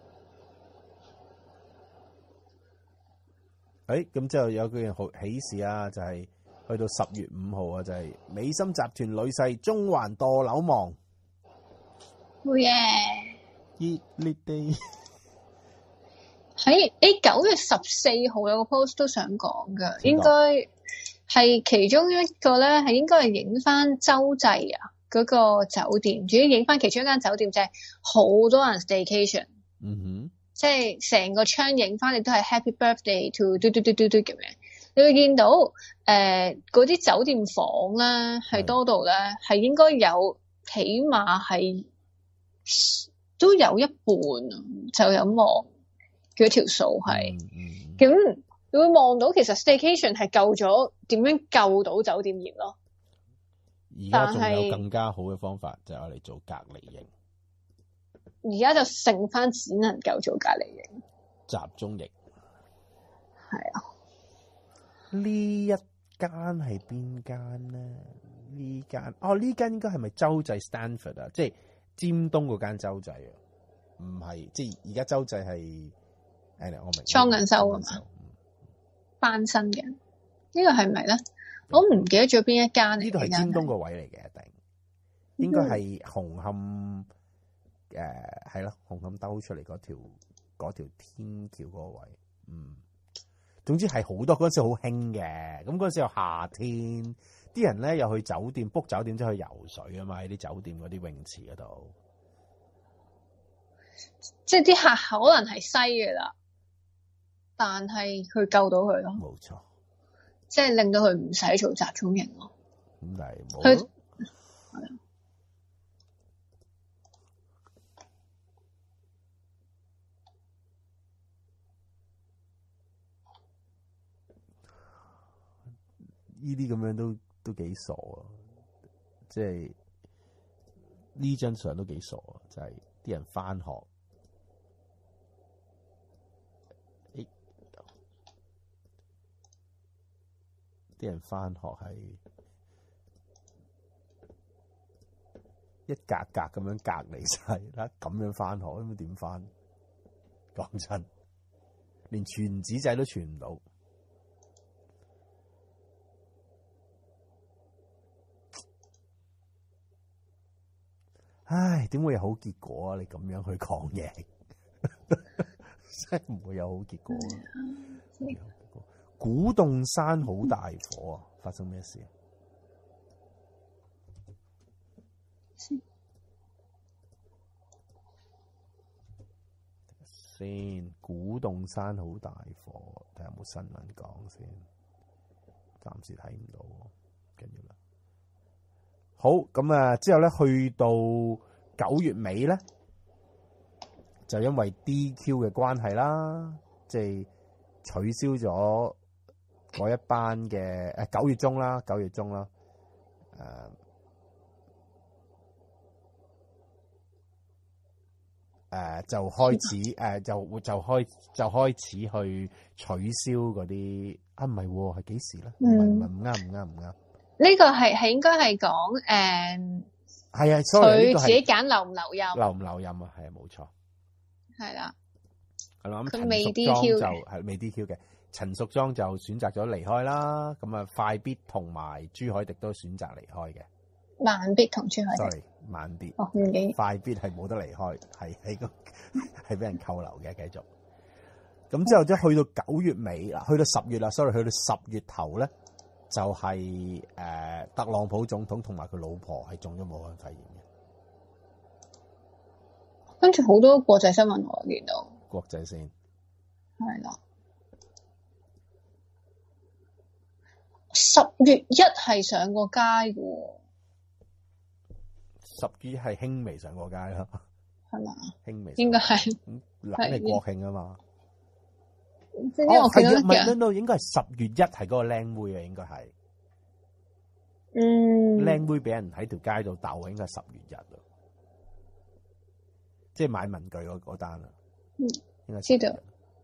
誒，咁之後有句好喜事啊，就係、是、去到十月五號啊，就係、是、美心集團女婿中環墮樓亡。 好嘢！ 熱烈地喺誒九月十四號有個 post 都想講㗎，應該係其中一個咧，係應該係影翻洲際啊嗰個酒店，主要影翻其中一間酒店就係好多人 staycation。 嗯哼。 即係成個窗影翻，你都係 Happy Birthday to 嘟嘟嘟嘟嘟咁樣。你會見到誒嗰啲酒店房咧係多到咧係應該有起碼係都有一半就有望嗰條數係。咁、嗯嗯、你會望到其實 Staycation 係救咗點樣救到酒店業咯。 而家仲有更加好嘅方法就係我哋做隔離營。 而家就剩翻只能夠做隔離營， 集中營。 係啊， 呢一間係邊間咧？呢間哦，呢間應該係咪洲際 Stanford 啊？即係尖東嗰間洲際啊？唔係，即係而家洲際係誒，我明裝緊修啊嘛，翻新嘅呢個係咪咧？我唔記得咗邊一間。 呢度係尖東個位嚟嘅，一定應該係紅磡。誒係咯，紅磡兜出嚟嗰條嗰條天橋嗰個位，嗯，總之係好多嗰陣時好興嘅，咁嗰陣時又夏天，啲人咧又去酒店 book 酒店，即係去游水啊嘛，喺啲酒店嗰啲泳池嗰度， 即係啲客可能係西嘅啦，但係佢救到佢咯， 冇錯， 即係令到佢唔使做集中營咯， 咁但係冇咯。 呢啲咁樣都都幾傻啊！即係呢張相都幾傻啊！就係、是、啲人返學，啲、欸、人返學係一格格咁樣隔離晒啦，咁樣返學咁點返？講真，連傳紙仔都傳唔到。唉，點會有好結果啊？你咁樣去抗疫，真係唔會有好結果啊！古洞山好大火啊！發生咩事啊？先，古洞山好大火，睇下有冇新聞講先。暫時睇唔到，緊要啦。好，咁啊，之後咧去到九月尾咧，就因為 D Q 嘅關係啦，即係取消咗嗰一班嘅誒九月中啦，九月中啦，誒、呃、誒、呃、就開始誒、呃、就就開就開始去取消嗰啲啊，唔係喎，係幾時咧？唔係唔係唔啱唔啱唔啱。 呢個係係應該係講誒， 係啊，所以佢自己揀留唔留任， 留唔留任啊？係啊，冇錯， 係啦， 係啦。咁佢未陳淑 D 莊 Q 就係未 D Q 嘅，陳淑莊就選擇咗離開啦。咁啊，快必同埋朱凱廸都選擇離開嘅。 慢必同朱凱廸 sorry， 慢必哦，唔記快必係冇得離開，係喺個係俾人扣留嘅，繼續。咁之後即係去到九月尾啦，去到十月啦，sorry，去到十月頭咧。就係、是、誒、呃、特朗普總統同埋佢老婆係中咗武漢肺炎嘅， 跟住好多國際新聞我見到國際先係啦。十月一係上過街嘅喎， 十月係輕微上過街啦， 係嘛？ 輕微應該係冷係國慶啊嘛。 即係因為我見到唔係，唔係，應該係十月一係嗰個靚妹啊，應該係。 嗯。 靚妹俾人喺條街度鬥，應該係十月一咯。即係買文具嗰嗰單啊。 嗯。 應該知道。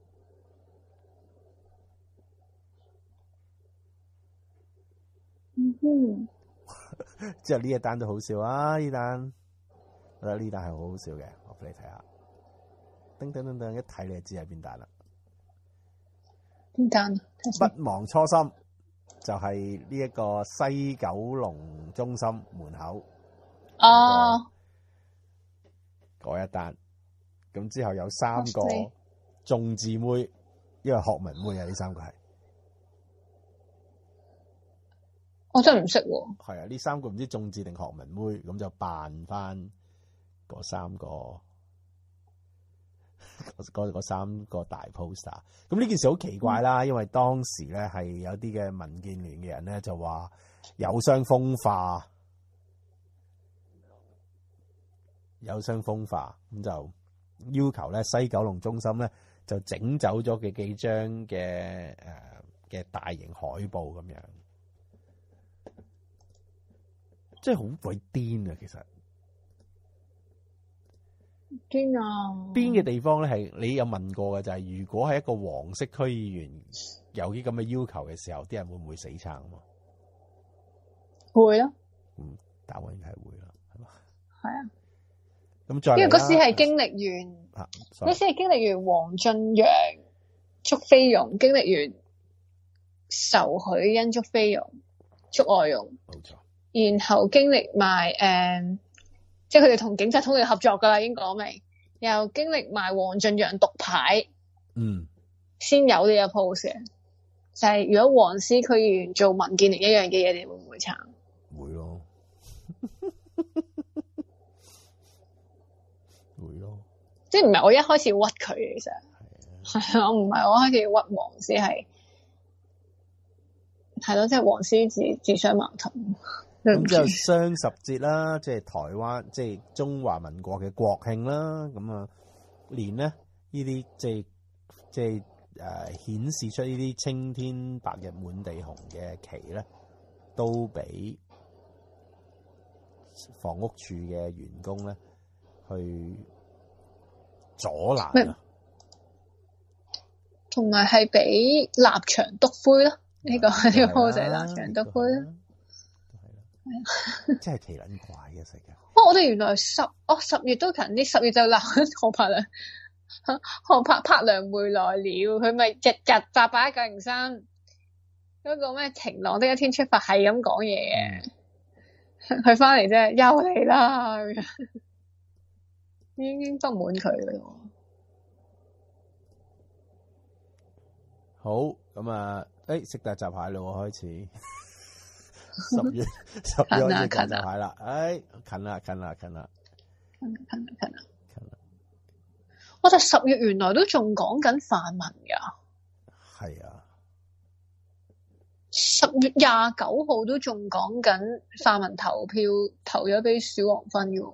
嗯哼。 之後呢一單都好笑啊！呢單，我覺得呢單係好好笑嘅，我俾你睇下。叮叮叮叮，一睇你就知係邊單啦。 邊單啊？ 不忘初心就係呢一個西九龍中心門口哦， 嗰一單，咁之後有三個眾志妹，因為學文妹啊，呢三個係我真係唔識喎。 係啊，呢三個唔知眾志定學文妹，咁就扮翻嗰三個。嗰嗰三個大 poster，咁呢件事好奇怪啦，因為當時咧係有啲嘅民建聯嘅人咧就話有傷風化，有傷風化，咁就要求咧西九龍中心咧就整走咗嘅幾張嘅誒嘅大型海報咁樣，即係好鬼癲啊！其實。 邊啊？ 邊嘅地方咧係你有問過嘅就係、是，如果係一個黃色區議員有啲咁嘅要求嘅時候，啲人會唔會死撐啊？ 會咯。 嗯，答案應該係會啦，係嘛？ 係啊。 咁再因為嗰時係經歷完，嗰時係經歷完黃俊陽捉菲傭，經歷完仇許欣捉菲傭捉外傭， 冇錯。 然後經歷埋誒。嗯即係佢哋同警察通力合作噶啦，已經講明，又經歷埋黃俊陽獨牌， 嗯，先有呢個 post 嘅。就係、是、如果黃絲區議員做民建聯一樣嘅嘢，你會唔會撐？ 會咯，會咯。 即係唔係我一開始屈佢嘅，其實係啊，唔係我一開始屈黃絲，係係咯，即係黃絲自自相矛盾。 咁就雙十節啦，即係台灣，即係中華民國嘅國慶啦。咁啊，連咧呢啲即係即係誒顯示出呢啲青天白日滿地紅嘅旗咧， 都俾房屋處嘅員工咧去阻攔啊， 同埋係俾立場篤灰咯。呢、這個呢、這個 post 係立場篤灰啦， 係啦，真係奇撚怪嘅世界。 哦，我哋原來十哦十月都近啲，十月就鬧何柏良，何柏柏良回來了，佢咪日日八八一九零三嗰個咩晴朗的一天出發係咁講嘢嘅，佢翻嚟啫，又嚟啦咁樣，已經不滿佢啦。 好，咁啊，誒食大閘蟹咯，開始十月十月開始大閘蟹啦，誒近啦近啦近啦近啦近啦近啦近啦！我哋十月原來都仲講緊泛民噶， 係啊， 十月廿九號都仲講緊泛民投票投咗俾小黃芬嘅。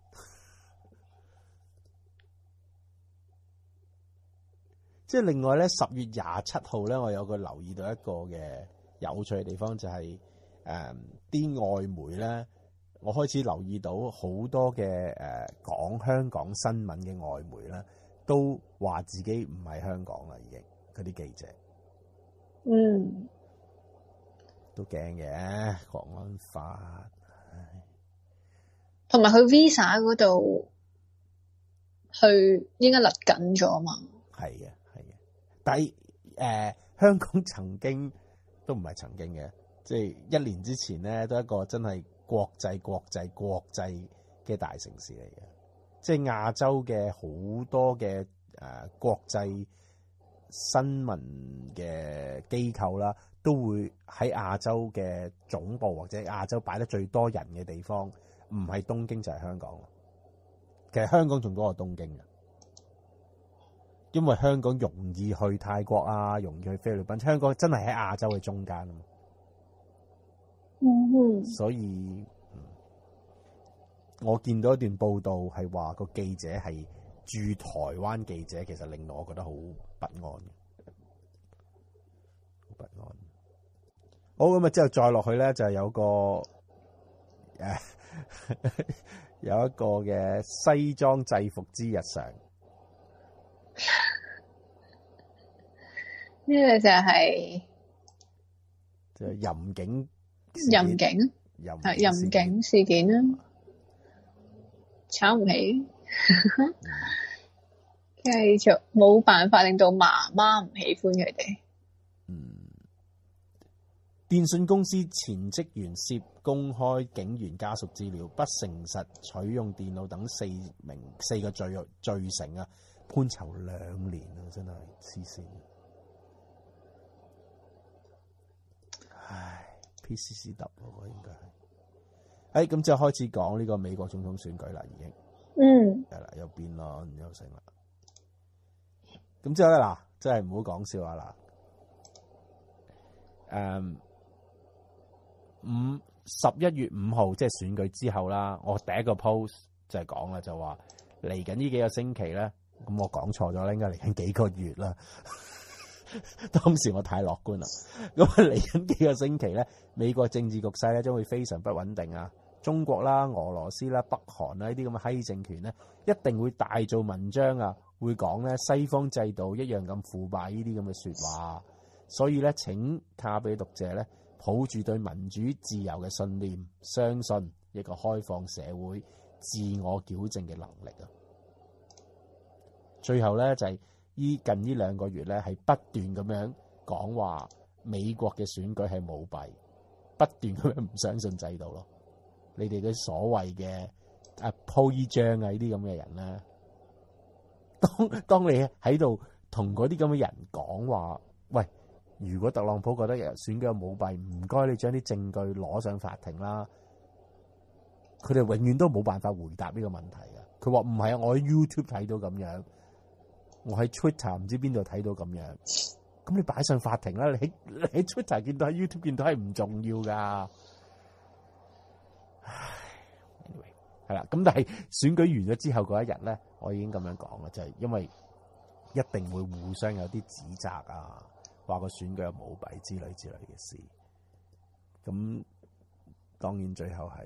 即係另外咧，十月廿七號咧，我有個留意到一個嘅有趣嘅地方，就係誒啲外媒咧，我開始留意到好多嘅誒講香港新聞嘅外媒咧，都話自己唔係香港啦，已經嗰啲記者， 嗯， 都驚嘅國安法， 同埋佢 Visa 嗰度去應該勒緊咗嘛， 係嘅。但係誒、呃，香港曾經都唔係曾經嘅，即係一年之前咧，都係一個真係國際、國際、國際嘅大城市嚟嘅。即係亞洲嘅好多嘅誒、呃、國際新聞嘅機構啦，都會喺亞洲嘅總部或者亞洲擺得最多人嘅地方，唔係東京就係香港。其實香港仲多過東京嘅。因為香港容易去泰國啊，容易去菲律賓，香港真係喺亞洲嘅中間啊嘛。 嗯哼， 所以，嗯、我見到一段報道係話個記者係駐台灣記者，其實令到我覺得好不安嘅，好不安。好，咁啊，之後再落去咧，就有個誒、啊、有一個嘅西裝制服之日常。 呢個就係就係淫警， 淫警係淫警事件啦，炒唔起，繼續冇辦法令到媽媽唔喜歡佢哋。 嗯，電信公司前職員涉公開警員家屬資料、不誠實取用電腦等四名四個罪罪成啊！判囚兩年啊，真係黐線！唉 ，P C C W 喎，應該係。哎，咁之後開始講呢個美國總統選舉啦，已經。 嗯。 係啦，又辯論又成啦。咁之後咧，嗱，真係唔好講笑啊嗱。誒，五十一月五號即係選舉之後啦，我第一個 post 就係講啦，就話嚟緊呢幾個星期咧。咁我講錯咗啦，應該嚟緊幾個月啦。當時我太樂觀啦。咁嚟緊幾個星期咧，美國政治局勢咧將會非常不穩定啊。中國啦、俄羅斯啦、北韓啦呢啲咁嘅閪政權咧，一定會大做文章啊，會講咧西方制度一樣咁腐敗呢啲咁嘅説話。所以咧，請卡比讀者咧抱住對民主自由嘅信念，相信一個開放社會自我矯正嘅能力啊！最後咧就係依近呢兩個月咧，係不斷咁樣講話美國嘅選舉係舞弊，不斷咁樣唔相信制度咯。你哋嘅所謂嘅啊鋪依張啊呢啲咁嘅人咧，當當你喺度同嗰啲咁嘅人講話，喂，如果特朗普覺得選舉有舞弊，唔該你將啲證據攞上法庭啦。佢哋永遠都冇辦法回答呢個問題嘅。佢話唔係啊，我喺 YouTube 睇到咁樣。我喺 Twitter 唔知邊度睇到咁樣，咁你擺上法庭啦！你喺你喺 Twitter 見到，喺 YouTube 見到係唔重要噶。唉 anyway 係啦，咁但係選舉完咗之後嗰一日咧，我已經咁樣講啦，就係、是、因為一定會互相有啲指責啊，話個選舉有舞弊之類之類嘅事。 咁當然最後係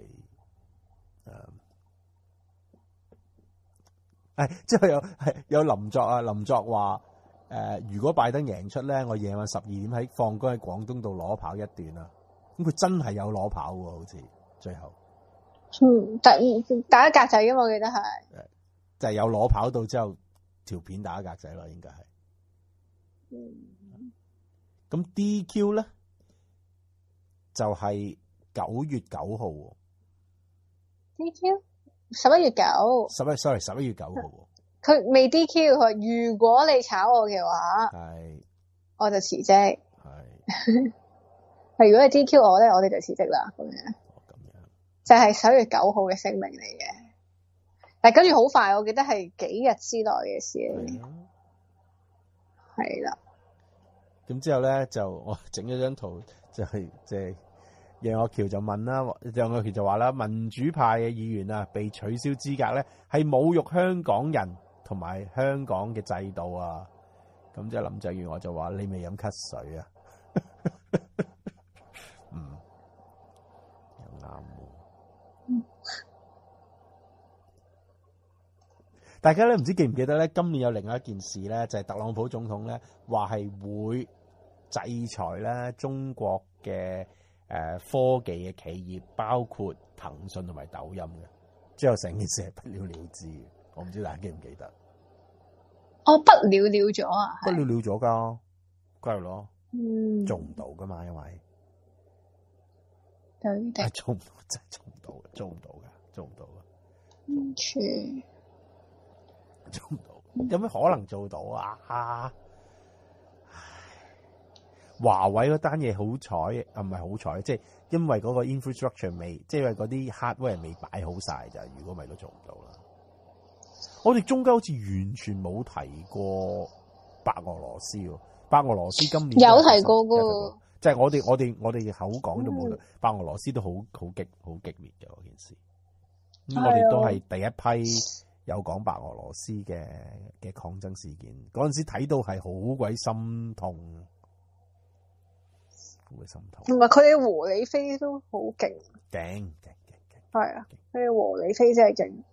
誒，誒之後有係有林作啊，林作話誒、呃，如果拜登贏出咧，我夜晚十二點喺放工喺廣東道攞跑一段啊。咁佢真係有攞跑喎，好似最後。 嗯，打打格仔噶嘛，我記得係。 就係有攞跑到之後，條片打格仔咯，應該係。 嗯。 咁 D Q 咧，就係九月九號。 D Q 十一月九。 十一 sorry 十一月九號。 佢未 D Q， 佢話如果你炒我嘅話， 係， 我就辭職。 係。 係如果你 D Q 我咧，我哋就辭職啦。咁樣。 咁樣。就係十一月九號嘅聲明嚟嘅。但係跟住好快，我記得係幾日之內嘅事嚟嘅。係啦。 咁之後咧就我整咗張圖，就係即係楊岳橋就問啦，楊岳橋就話啦，民主派嘅議員啊被取消資格咧係侮辱香港人同埋香港嘅制度啊。咁即係林鄭月娥就話你未飲咳水啊。嗯，又啱喎。嗯。大家咧唔知記唔記得咧？今年有另外一件事咧，就係特朗普總統咧話係會制裁咧中國嘅誒科技嘅企業，包括騰訊同埋抖音嘅。之後成件事係不了了之嘅，我唔知大家記唔記得？ 哦，不了了咗啊！ 不了了咗噶，梗係咯， 嗯， 做唔到噶嘛，因為對的， 做唔到，真係做唔到，做唔到嘅，做唔到嘅。 嗯，全做唔到，有咩可能做到啊？唉，華為嗰單嘢好彩啊，唔係好彩，即係因為嗰個 infrastructure 未，即係因為嗰啲 hardware 未擺好晒咋，如果唔係都做唔到啦。我哋中間好似完全冇提過白俄羅斯喎，白俄羅斯今年有提過噶， 即係我哋我哋我哋口講都冇，嗯、白俄羅斯都好好激好激烈嘅嗰件事。咁、嗯、我哋都係第一批有講白俄羅斯嘅嘅抗爭事件，嗰陣時睇到係好鬼心痛，好鬼心痛。 同埋佢哋和理非都好勁， 勁勁勁勁， 係啊，佢哋和理非真係勁。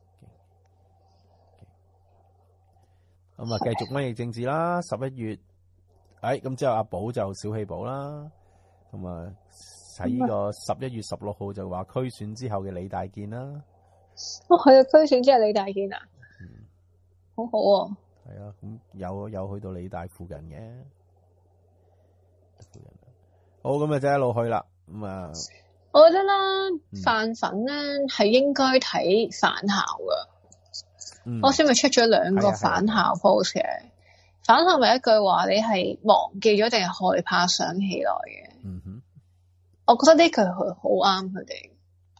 咁啊，繼續瘟疫政治啦，十一月，誒，咁之後阿寶就小氣寶啦，咁啊喺呢個十一月十六號就話區選之後嘅李大健啦。 哦，係啊，區選之後李大健啊，嗯，好好啊。 係啊，咁有有去到李大附近嘅，附近。好，咁啊，就一路去啦。咁啊， 我覺得啦，飯粉咧係應該睇返校噶。嗯、我先咪出咗兩個返校 post 嘅，返校咪一句話，你係忘記咗定係害怕想起來嘅。 嗯哼， 我覺得呢句佢好啱佢哋。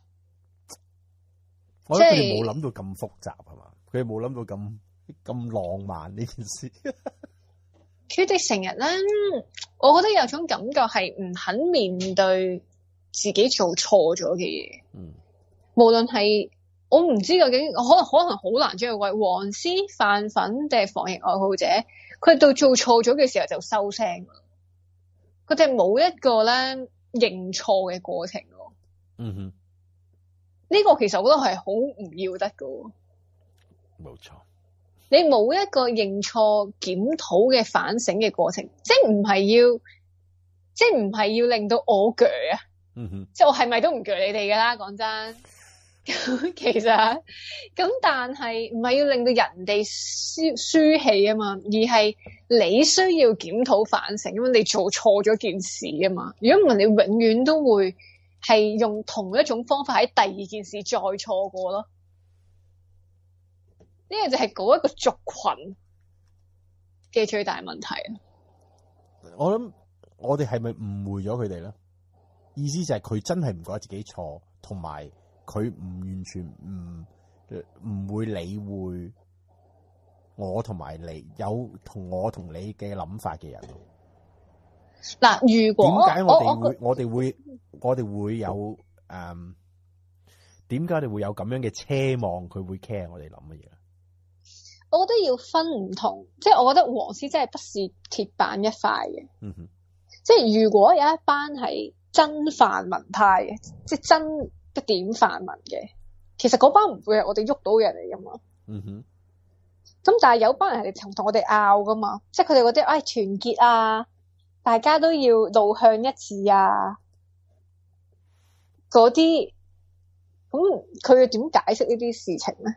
我覺得佢哋冇諗到咁複雜係嘛？佢哋冇諗到咁咁浪漫呢件事。 佢哋成日咧，我覺得有種感覺係唔肯面對自己做錯咗嘅嘢。嗯，無論係。我唔知究竟可能可能好難將佢為黃絲飯粉定係防疫愛好者，佢到做錯咗嘅時候就收聲，佢哋冇一個咧認錯嘅過程。 嗯哼， 呢個其實我覺得係好唔要得噶。 冇錯， 你冇一個認錯檢討嘅反省嘅過程，即係唔係要，即係唔係要令到我鋸啊。 嗯哼， 即係我係咪都唔鋸你哋噶啦？講真。咁其實咁，但係唔係要令到人哋輸輸氣啊嘛，而係你需要檢討反省，咁你做錯咗件事啊嘛。如果唔係，你永遠都會係用同一種方法喺第二件事再錯過咯。呢個就係嗰一個族群嘅最大問題啊！ 我諗我哋係咪誤會咗佢哋咧？意思就係佢真係唔覺得自己錯，同埋。佢唔完全唔唔會理會我同埋你有同我同你嘅諗法嘅人。 嗱，如果點解我哋會我哋會我哋會有誒？點解你會有咁樣嘅奢望？佢會 care 我哋諗乜嘢？ 我覺得要分唔同，即係我覺得黃絲真係不是鐵板一塊嘅。 嗯哼， 即係如果有一班係真泛民派嘅，即係真一點泛民嘅。其實嗰班唔會係我哋喐到嘅人嚟噶嘛。 嗯哼。 咁但係有班人係同同我哋拗噶嘛，即係佢哋嗰啲唉團結啊，大家都要路向一致啊，嗰啲，咁佢要點解釋呢啲事情咧？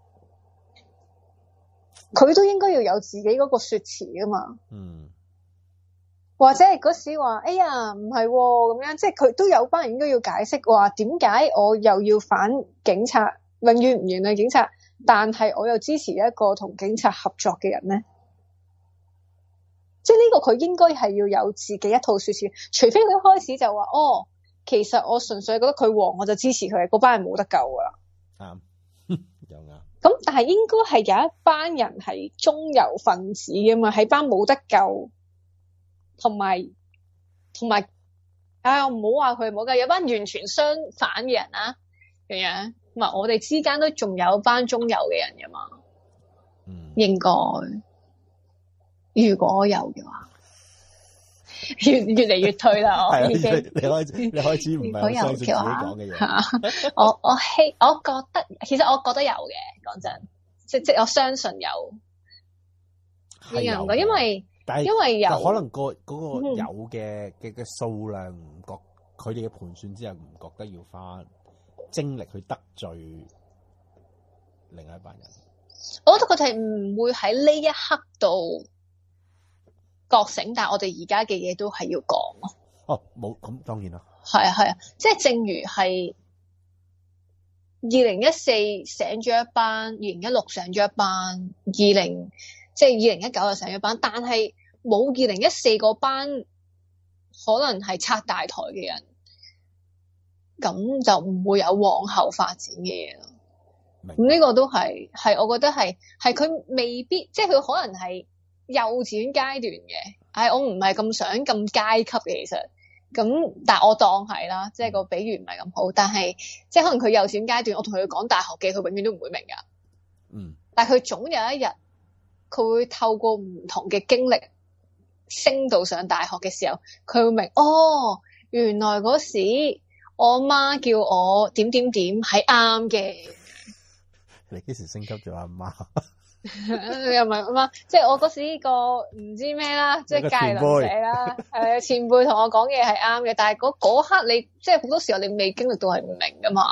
佢都應該要有自己嗰個說辭噶嘛。 嗯。 或者係嗰時話，哎呀唔係咁樣，即係佢都有班人應該要解釋話，點解我又要反警察，永遠唔原諒警察，但係我又支持一個同警察合作嘅人咧？即係呢個佢應該係要有自己一套說辭，除非佢一開始就話，哦，其實我純粹覺得佢黃，我就支持佢，嗰班人冇得救噶啦。 啱、嗯，又啱。 咁但係應該係有一班人係中游分子噶嘛，喺班冇得救。同埋同埋，唉，我唔好話佢冇㗎，有班完全相反嘅人啊，咁樣，唔係我哋之間都仲有班中游嘅人㗎嘛， 嗯，應該，如果有嘅話，越越嚟越退啦，我已經， 你開始你開始唔係相信自己講嘅嘢， 我我希我覺得，其實我覺得有嘅，講真，即即我相信有， 係有嘅，因為。 但係因為有可能個嗰個有嘅嘅嘅數量唔覺，佢哋嘅盤算之後唔覺得要花精力去得罪另外一班人。 我覺得佢哋唔會喺呢一刻度覺醒，但係我哋而家嘅嘢都係要講咯。 哦，冇咁當然啦。係啊係啊，即係正如係二零一四醒咗一班，二零一六醒咗一班，二零即係二零一九就醒咗一班，但係冇二零一四嗰班可能係拆大台嘅人，咁就唔會有往後發展嘅嘢咯。咁呢個都係係我覺得係係佢未必，即係佢可能係幼稚園階段嘅。唉，我唔係咁想咁階級嘅，其實咁，但係我當係啦，即係個比喻唔係咁好，但係即係可能佢幼稚園階段，我同佢講大學嘅，佢永遠都唔會明噶。 嗯，但係佢總有一日，佢會透過唔同嘅經歷升到上大學嘅時候，佢會明哦，原來嗰時我媽叫我點點點係啱嘅。 你幾時升級咗阿媽？ 又唔係阿媽，即係我嗰時呢個唔知咩啦，即係界鄰者啦，誒前輩同我講嘢係啱嘅，但係嗰嗰刻你即係好多時候你未經歷到係唔明噶嘛，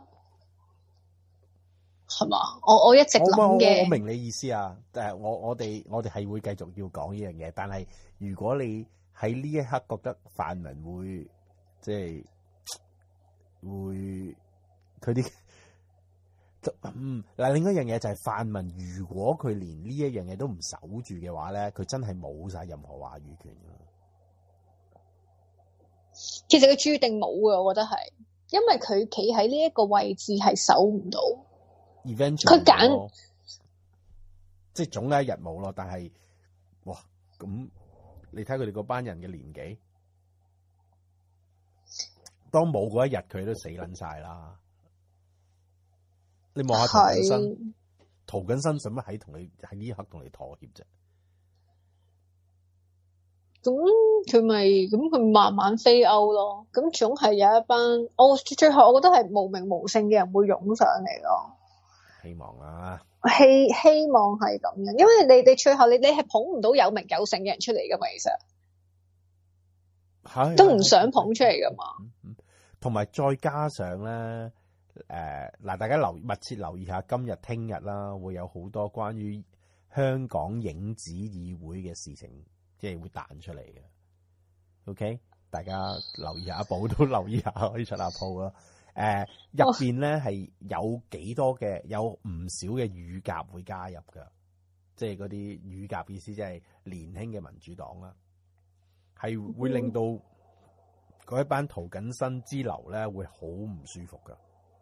係嘛？我我一直諗嘅， 我明你意思啊，誒我我哋我哋係會繼續要講呢樣嘢，但係如果你喺呢一刻覺得泛民會即係會佢啲。嗯，嗱，另一樣嘢就係泛民，如果佢連呢一樣嘢都唔守住嘅話咧，佢真係冇晒任何話語權㗎。 其實佢注定冇嘅，我覺得係，因為佢企喺呢一個位置係守唔到。 Eventually， 佢揀， 即係總有一日冇咯。但係，哇，咁你睇佢哋嗰班人嘅年紀，當冇嗰一日，佢都死撚晒啦。你望下涂謹申，涂謹申使乜喺同你喺呢一刻同你妥協啫？ 咁佢咪咁佢慢慢飛歐咯。咁總係有一班，我最後我覺得係無名無姓嘅人會湧上嚟咯。 希望啊， 希希望係咁樣，因為你你最後你你係捧唔到有名有姓嘅人出嚟噶嘛，其實都唔想捧出嚟噶嘛。 同埋再加上咧。誒，嗱、呃，大家留密切留意下今日、聽日啦，會有好多關於香港影子議會嘅事情，即係會彈出嚟嘅。OK，大家留意下，報都留意下，可以出下鋪啦。誒、呃，入邊咧係有幾多嘅，有唔少嘅乳鴿會加入噶，即係嗰啲乳鴿意思，即係年輕嘅民主黨啦，係會令到嗰一班涂謹申之流咧會好唔舒服噶。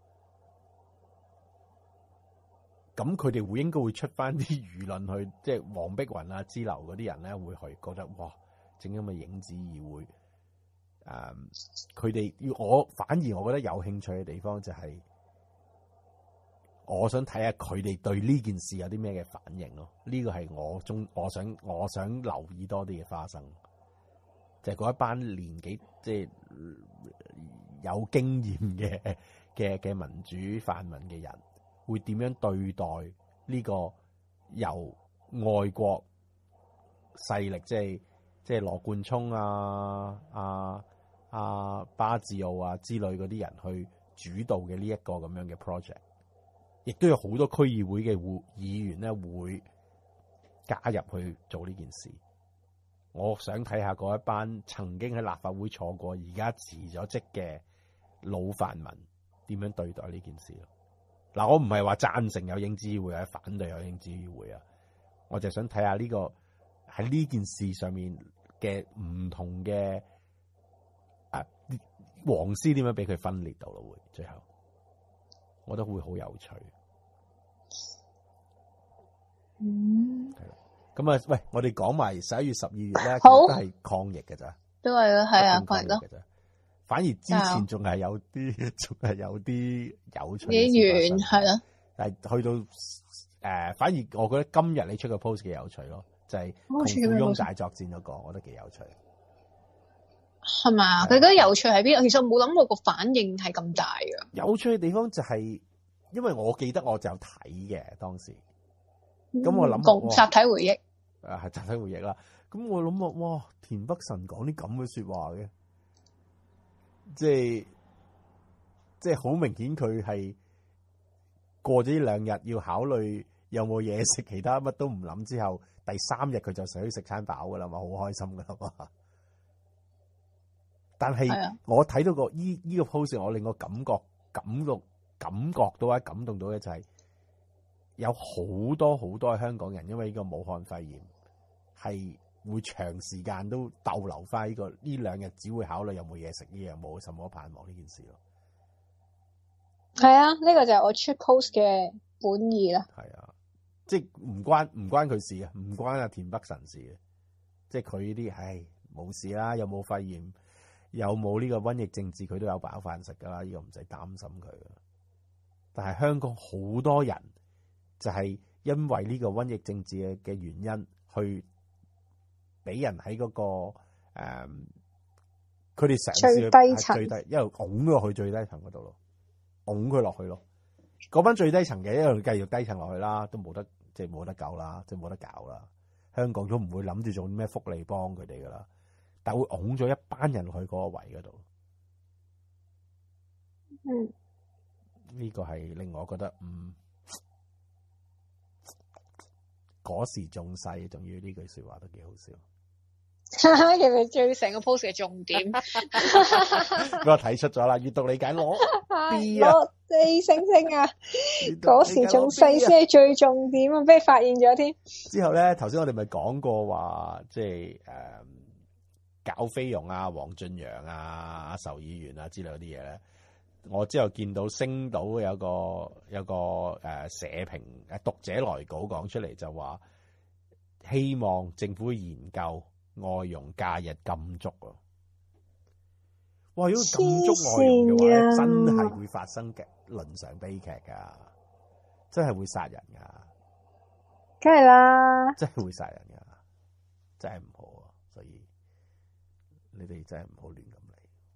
咁佢哋會應該會出翻啲輿論去，即係黃碧雲啊之流嗰啲人咧會去覺得哇，整咁嘅影子議會，誒、嗯，佢哋要我反而我覺得有興趣嘅地方就係、是，我想睇下佢哋對呢件事有啲咩嘅反應咯。呢個係我中我想我想留意多啲嘅花生。 就係、是、嗰一班年紀即係有經驗嘅嘅嘅民主泛民嘅人，會點樣對待呢個由外國勢力，即係即係羅冠聰啊、啊啊巴治奧啊之類嗰啲人去主導嘅呢一個咁樣嘅 project， 亦都有好多區議會嘅會議員咧會加入去做呢件事。我想睇下嗰一班曾經喺立法會坐過，而家辭咗職嘅老泛民點樣對待呢件事咯。嗱，我唔係話贊成有英資議會，或者反對有英資議會啊，我就想睇下呢個喺呢件事上面嘅唔同嘅啊黃絲點樣俾佢分裂到咯，會最後我覺得會好有趣。 嗯， 係啦。咁啊，喂，我哋講埋十一月、十二月咧，其好實都係抗疫嘅咋， 都係啊，係啊， 抗疫嘅咋。反而之前仲係有啲，仲係有啲有趣嘅嘢事發生。 完係啦， 但係去到誒、呃，反而我覺得今日你出個 post 幾有趣咯，就係同富翁大作戰嗰、那個，我覺得幾有趣。 係嘛？佢覺得有趣喺邊？其實我冇諗過個反應係咁大嘅。 有趣嘅地方就係、是，因為我記得我就有睇嘅當時。咁、嗯、我諗共集體回憶， 誒係集體回憶啦。咁我諗啊，哇！田北辰講啲咁嘅說話嘅，即係即係好明顯佢係過咗呢兩日要考慮有冇嘢食，其他乜都唔諗之後，第三日佢就想去食餐飽噶啦嘛，好開心噶啦嘛。但係我睇到個依依個 post，我令我感覺感到感覺到啊，感動到嘅就係、是。有好多好多嘅香港人，因為呢個武漢肺炎係會長時間都逗留翻呢個呢兩日，只會考慮有冇嘢食，呢樣冇什麼盼望呢件事咯。 係啊，呢、這個就係我出 post 嘅本意啦。 係啊，即係唔關唔關佢事嘅，唔關阿田北辰事嘅，即係佢呢啲，唉，冇事啦，有冇肺炎，有冇呢個瘟疫政治，佢都有飽飯食噶啦，呢、這個唔使擔心佢。但係香港好多人。就係因為呢個瘟疫政治嘅嘅原因，去俾人喺嗰、那個誒，佢哋嘗試去最低層， 最低一路拱咗去最低層嗰度咯，拱佢落去咯。嗰班最低層嘅一路繼續低層落去啦，都冇得即係冇得救啦，即係冇得搞啦。香港都唔會諗住做啲咩福利幫佢哋噶啦，但會拱咗一班人去嗰個位嗰度。 嗯， 呢、這個係令我覺得嗯。嗰時仲細，仲要呢句說話都幾好笑。 其實最成個 post 嘅重點， 俾我睇出咗啦。閱讀理解攞 B 啊， 攞四星星啊！嗰時仲細先係最重點啊，俾你發現咗添。 之後咧，頭先我哋咪講過話，即係誒、嗯，搞菲傭啊、黃俊陽啊、阿仇議員啊之類嗰啲嘢咧。我之後見到星島有個有個誒社評誒讀者來稿講出嚟，就話希望政府研究外傭假日禁足啊！哇，如果禁足外傭嘅話咧，真係會發生嘅倫常悲劇噶，真係會殺人噶， 梗係啦， 真係會殺人噶，真係唔好啊！所以你哋真係唔好亂咁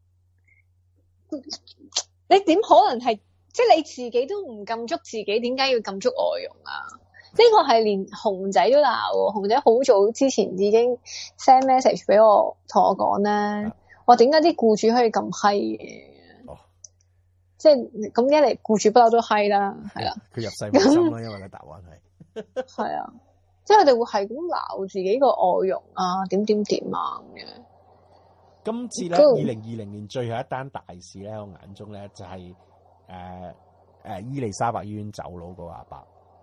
嚟。 你點可能係即係你自己都唔禁足自己，點解要禁足外傭啊？呢、這個係連熊仔都鬧，熊仔好早之前已經 send message 俾我，同我講咧，話點解啲僱主可以咁閪嘅？ 哦， 即係咁一嚟，僱主不嬲都閪啦，係啦。 佢入世冇心啦，因為個答案係係啊，即係佢哋會係咁鬧自己個外傭啊，點點點啊咁樣。 今次咧，二零二零年最後一單大事咧，我眼中咧就係誒誒伊利沙伯醫院走佬嗰個阿伯，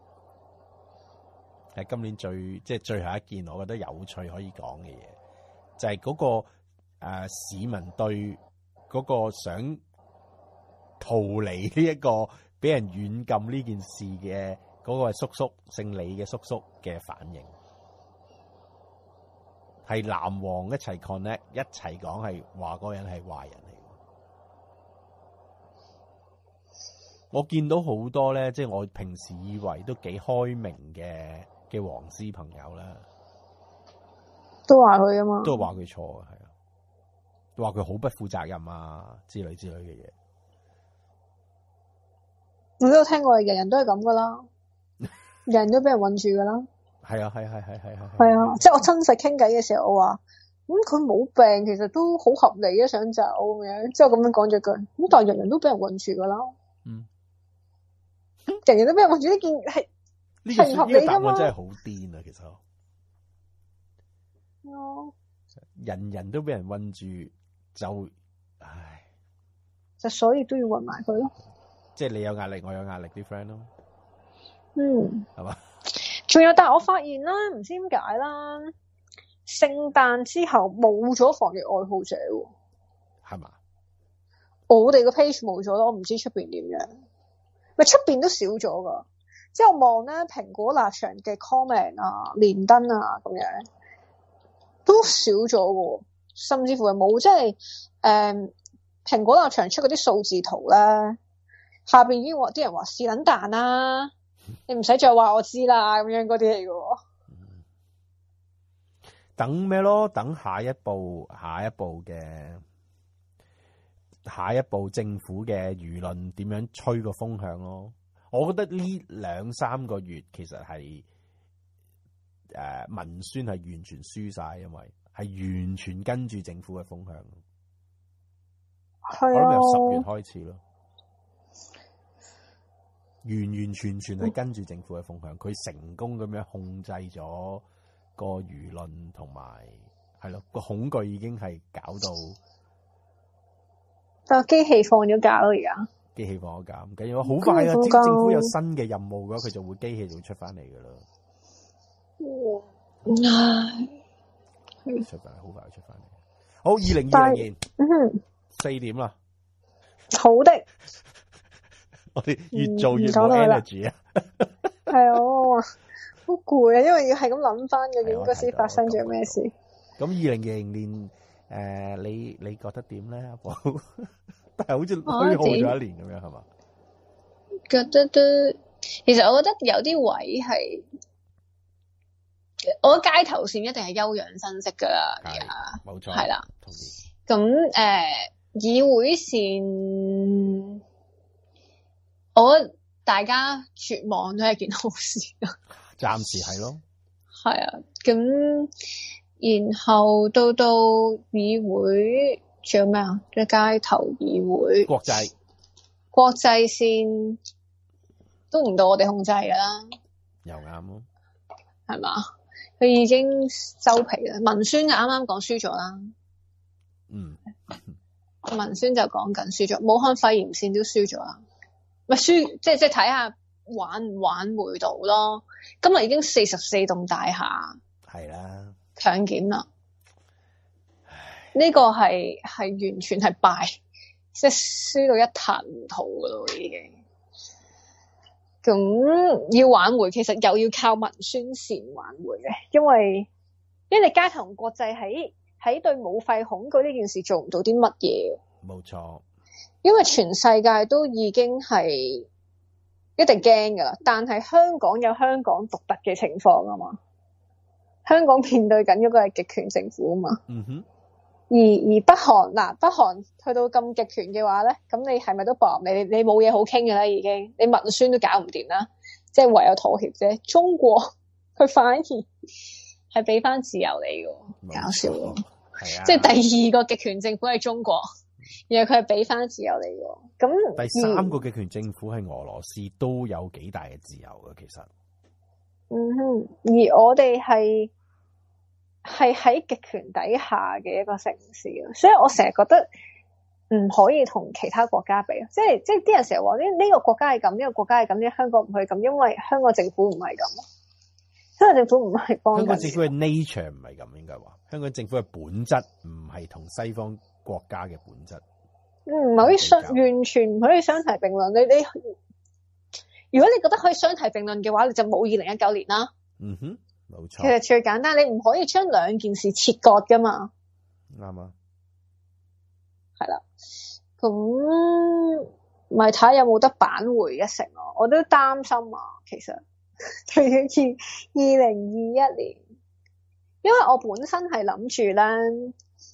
係今年最即係最後一件我覺得有趣可以講嘅嘢，就係、是、嗰、那個誒、呃、市民對嗰個想逃離呢一個俾人軟禁呢件事嘅嗰個叔叔姓李嘅叔叔嘅反應。係藍黃一齊 connect， 一齊講係話嗰個人係壞人嚟。我見到好多咧，即係我平時以為都幾開明嘅嘅黃絲朋友啦， 都話佢啊嘛， 都話佢錯嘅，係啊， 話佢好不負責任啊之類之類嘅嘢。 我都有聽過，人人都係咁噶啦，人人都俾人困住噶啦。 係啊，係係係係係。 係啊，即係我真實傾偈嘅時候，我話咁佢冇病，其實都好合理啊，想走咁樣，之後咁樣講咗句，咁但係人人都俾人困住噶啦。嗯，人人都俾人困住呢件係係唔合理噶嘛？ 呢個答案真係好癲啊！其實， 哦， 人人都俾人困住，就唉， 就所以都要困埋佢咯。即係你有壓力，我有壓力，啲 friend 咯。 嗯， 係嘛？ 仲有，但係我發現啦，唔知點解啦，聖誕之後冇咗防疫愛好者， 係嘛？ 我哋個 page 冇咗咯，我唔知出邊點樣，咪出邊都少咗噶。之後望咧蘋果立場嘅 comment 啊、連登啊咁樣，都少咗喎，甚至乎係冇，即係誒蘋果立場出嗰啲數字圖咧，下邊已經話啲人話是撚蛋啦。你唔使再話我知啦，咁樣嗰啲嚟嘅。 等咩咯？等下一步，下一步嘅下一步政府嘅輿論點樣吹個風向咯？我覺得呢兩三個月其實係誒、呃、文宣係完全輸晒，因為係完全跟住政府嘅風向。 係啊， 我諗由十月開始咯。完完全全係跟住政府嘅風向，佢成功咁樣控制咗個輿論，同埋係咯個恐懼已經係搞到， 但係機器放咗假咯，而家機器放咗假唔緊要，好快啊！只要政府有新嘅任務嘅話，佢就會機器就會出翻嚟噶啦。唉，出翻嚟好快出翻嚟。好，二零二零年四點啦。 好的。 我哋越做越冇 energy 啊！ 係啊，好攰啊，因為要係咁諗翻究竟嗰時發生咗咩事。 咁二零二零年誒、呃，你你覺得點咧？阿寶，但係好似虛耗咗一年咁樣，係嘛？ 覺得都，其實我覺得有啲位係，我覺得街頭線一定係休養生息噶啦，而家冇錯， 係啦。 同意。 咁誒、呃，議會線。我覺得大家絕望都係件好事啊！ 暫時係咯， 係啊，咁然後到到議會仲有咩啊？即係街頭議會、 國際、 國際線都唔到我哋控制噶啦， 又啱咯， 係嘛？佢已經收皮啦，文宣啱啱講輸咗啦， 嗯， 文宣就講緊輸咗，武漢肺炎線都輸咗啦。咪輸，即係即係睇下挽唔挽回到咯。今日已經四十四棟大廈係啦， 強檢啦。呢個係係完全係敗，即係輸到一塌糊塗噶咯，已經。咁要挽回，其實又要靠文宣線挽回嘅，因為因為你街頭同國際喺喺對武肺恐懼呢件事做唔到啲乜嘢。 冇錯。 因為全世界都已經係一定驚噶啦，但係香港有香港獨特嘅情況啊嘛。香港面對緊嗰個係極權政府啊嘛。嗯哼。而而北韓嗱，北韓去到咁極權嘅話咧，咁你係咪都搏你你冇嘢好傾噶啦？已經你文宣都搞唔掂啦，即係唯有妥協啫。中國佢反而係俾翻自由你嘅，搞笑咯。係啊。即係第二個極權政府係中國。然後佢係俾翻自由你喎，咁第三個極權政府係俄羅斯都有幾大嘅自由嘅，其實。 嗯哼，而我哋係係喺極權底下嘅一個城市，所以我成日覺得唔可以同其他國家比，即係即係啲人成日話呢呢個國家係咁，呢個國家係咁，呢香港唔係咁，因為香港政府唔係咁，香港政府唔係幫緊。 香港政府嘅 nature 唔係咁，應該話香港政府嘅本質唔係同西方國家嘅本質， 唔可以相完全唔可以相提並論。你你如果你覺得可以相提並論嘅話，你就冇二零一九年啦。 嗯哼，冇錯。 其實最簡單，你唔可以將兩件事切割噶嘛。 啱啊。 係啦，咁咪睇下有冇得扳回一城咯。我都擔心啊，其實對於二零二一年，因為我本身係諗住咧。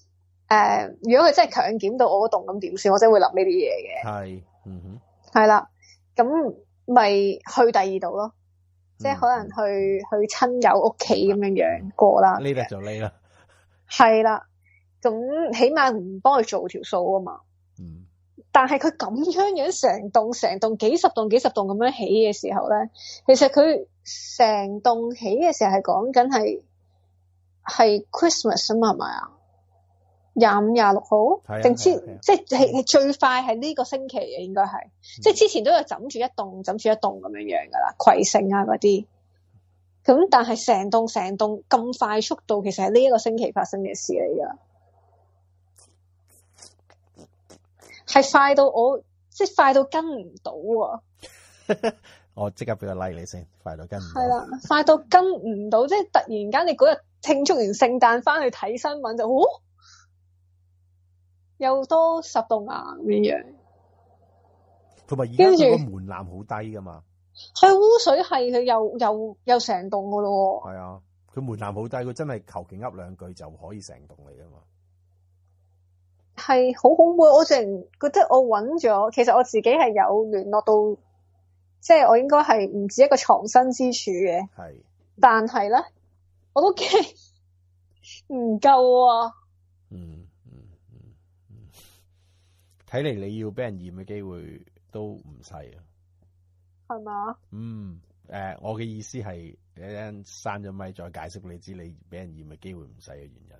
呃，如果佢真係強檢到我嗰棟咁點算？我真係會諗呢啲嘢嘅。 係，嗯哼， 係啦，咁咪去第二度咯，即係可能去、 嗯、 去親友屋企咁樣樣過啦。 呢得就呢啦。 係啦，咁起碼唔幫佢做條數啊嘛。 嗯。但係佢咁樣樣成棟成棟幾十棟幾十棟咁樣起嘅時候咧，其實佢成棟起嘅時候係講緊係係 Christmas 啊嘛，係咪啊？廿五廿六號定知即係最快係呢個星期嘅，應該係、嗯、即係之前都有枕住一棟枕住一棟咁樣樣噶啦，葵盛啊嗰啲。咁但係成棟成棟咁快速度，其實係呢一個星期發生嘅事嚟噶。係快到我即係快到跟唔到啊！ 我即刻俾個 like 你先，快到跟唔到。 係啦，快到跟唔到，即係突然間你嗰日慶祝完聖誕翻去睇新聞就，哦，又多十棟啊咁樣。 同埋而家佢個門檻好低噶嘛？ 係污水係佢又又又成棟噶咯。 係啊，佢門檻好低，佢真係求其噏兩句就可以成棟嚟噶嘛。 係好恐怖，我淨覺得我揾咗，其實我自己係有聯絡到，即係我應該係唔止一個藏身之處嘅。 係， 但係咧，我都驚唔夠啊。 嗯嗯嗯嗯，睇嚟你要俾人驗嘅機會都唔細啊。 係嘛？ 嗯，誒、呃，我嘅意思係，一陣閂咗咪再解釋俾你知，你俾人驗嘅機會唔細嘅原因。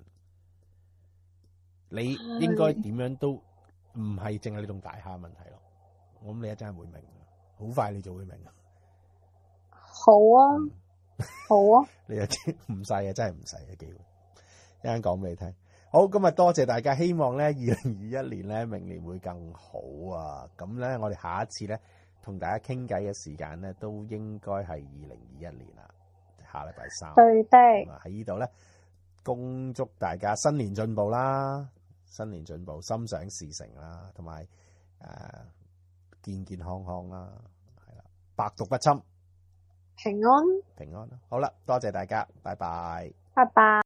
你應該點樣都唔係淨係呢棟大廈問題咯，我諗你一陣會明，好快你就會明。 好啊，嗯、好啊， 你又知唔細嘅，真係唔細嘅機會。一陣講俾你聽。好，今日多謝大家，希望咧二零二一年咧明年會更好啊！咁咧我哋下一次咧同大家傾偈嘅時間咧都應該係二零二一年啦，下禮拜三。 對的。 喺呢度咧，恭祝大家新年進步啦！新年進步，心想事成啦，同埋誒健健康康啦，係啦，百毒不侵， 平安平安。好啦，多謝大家，拜拜， 拜拜。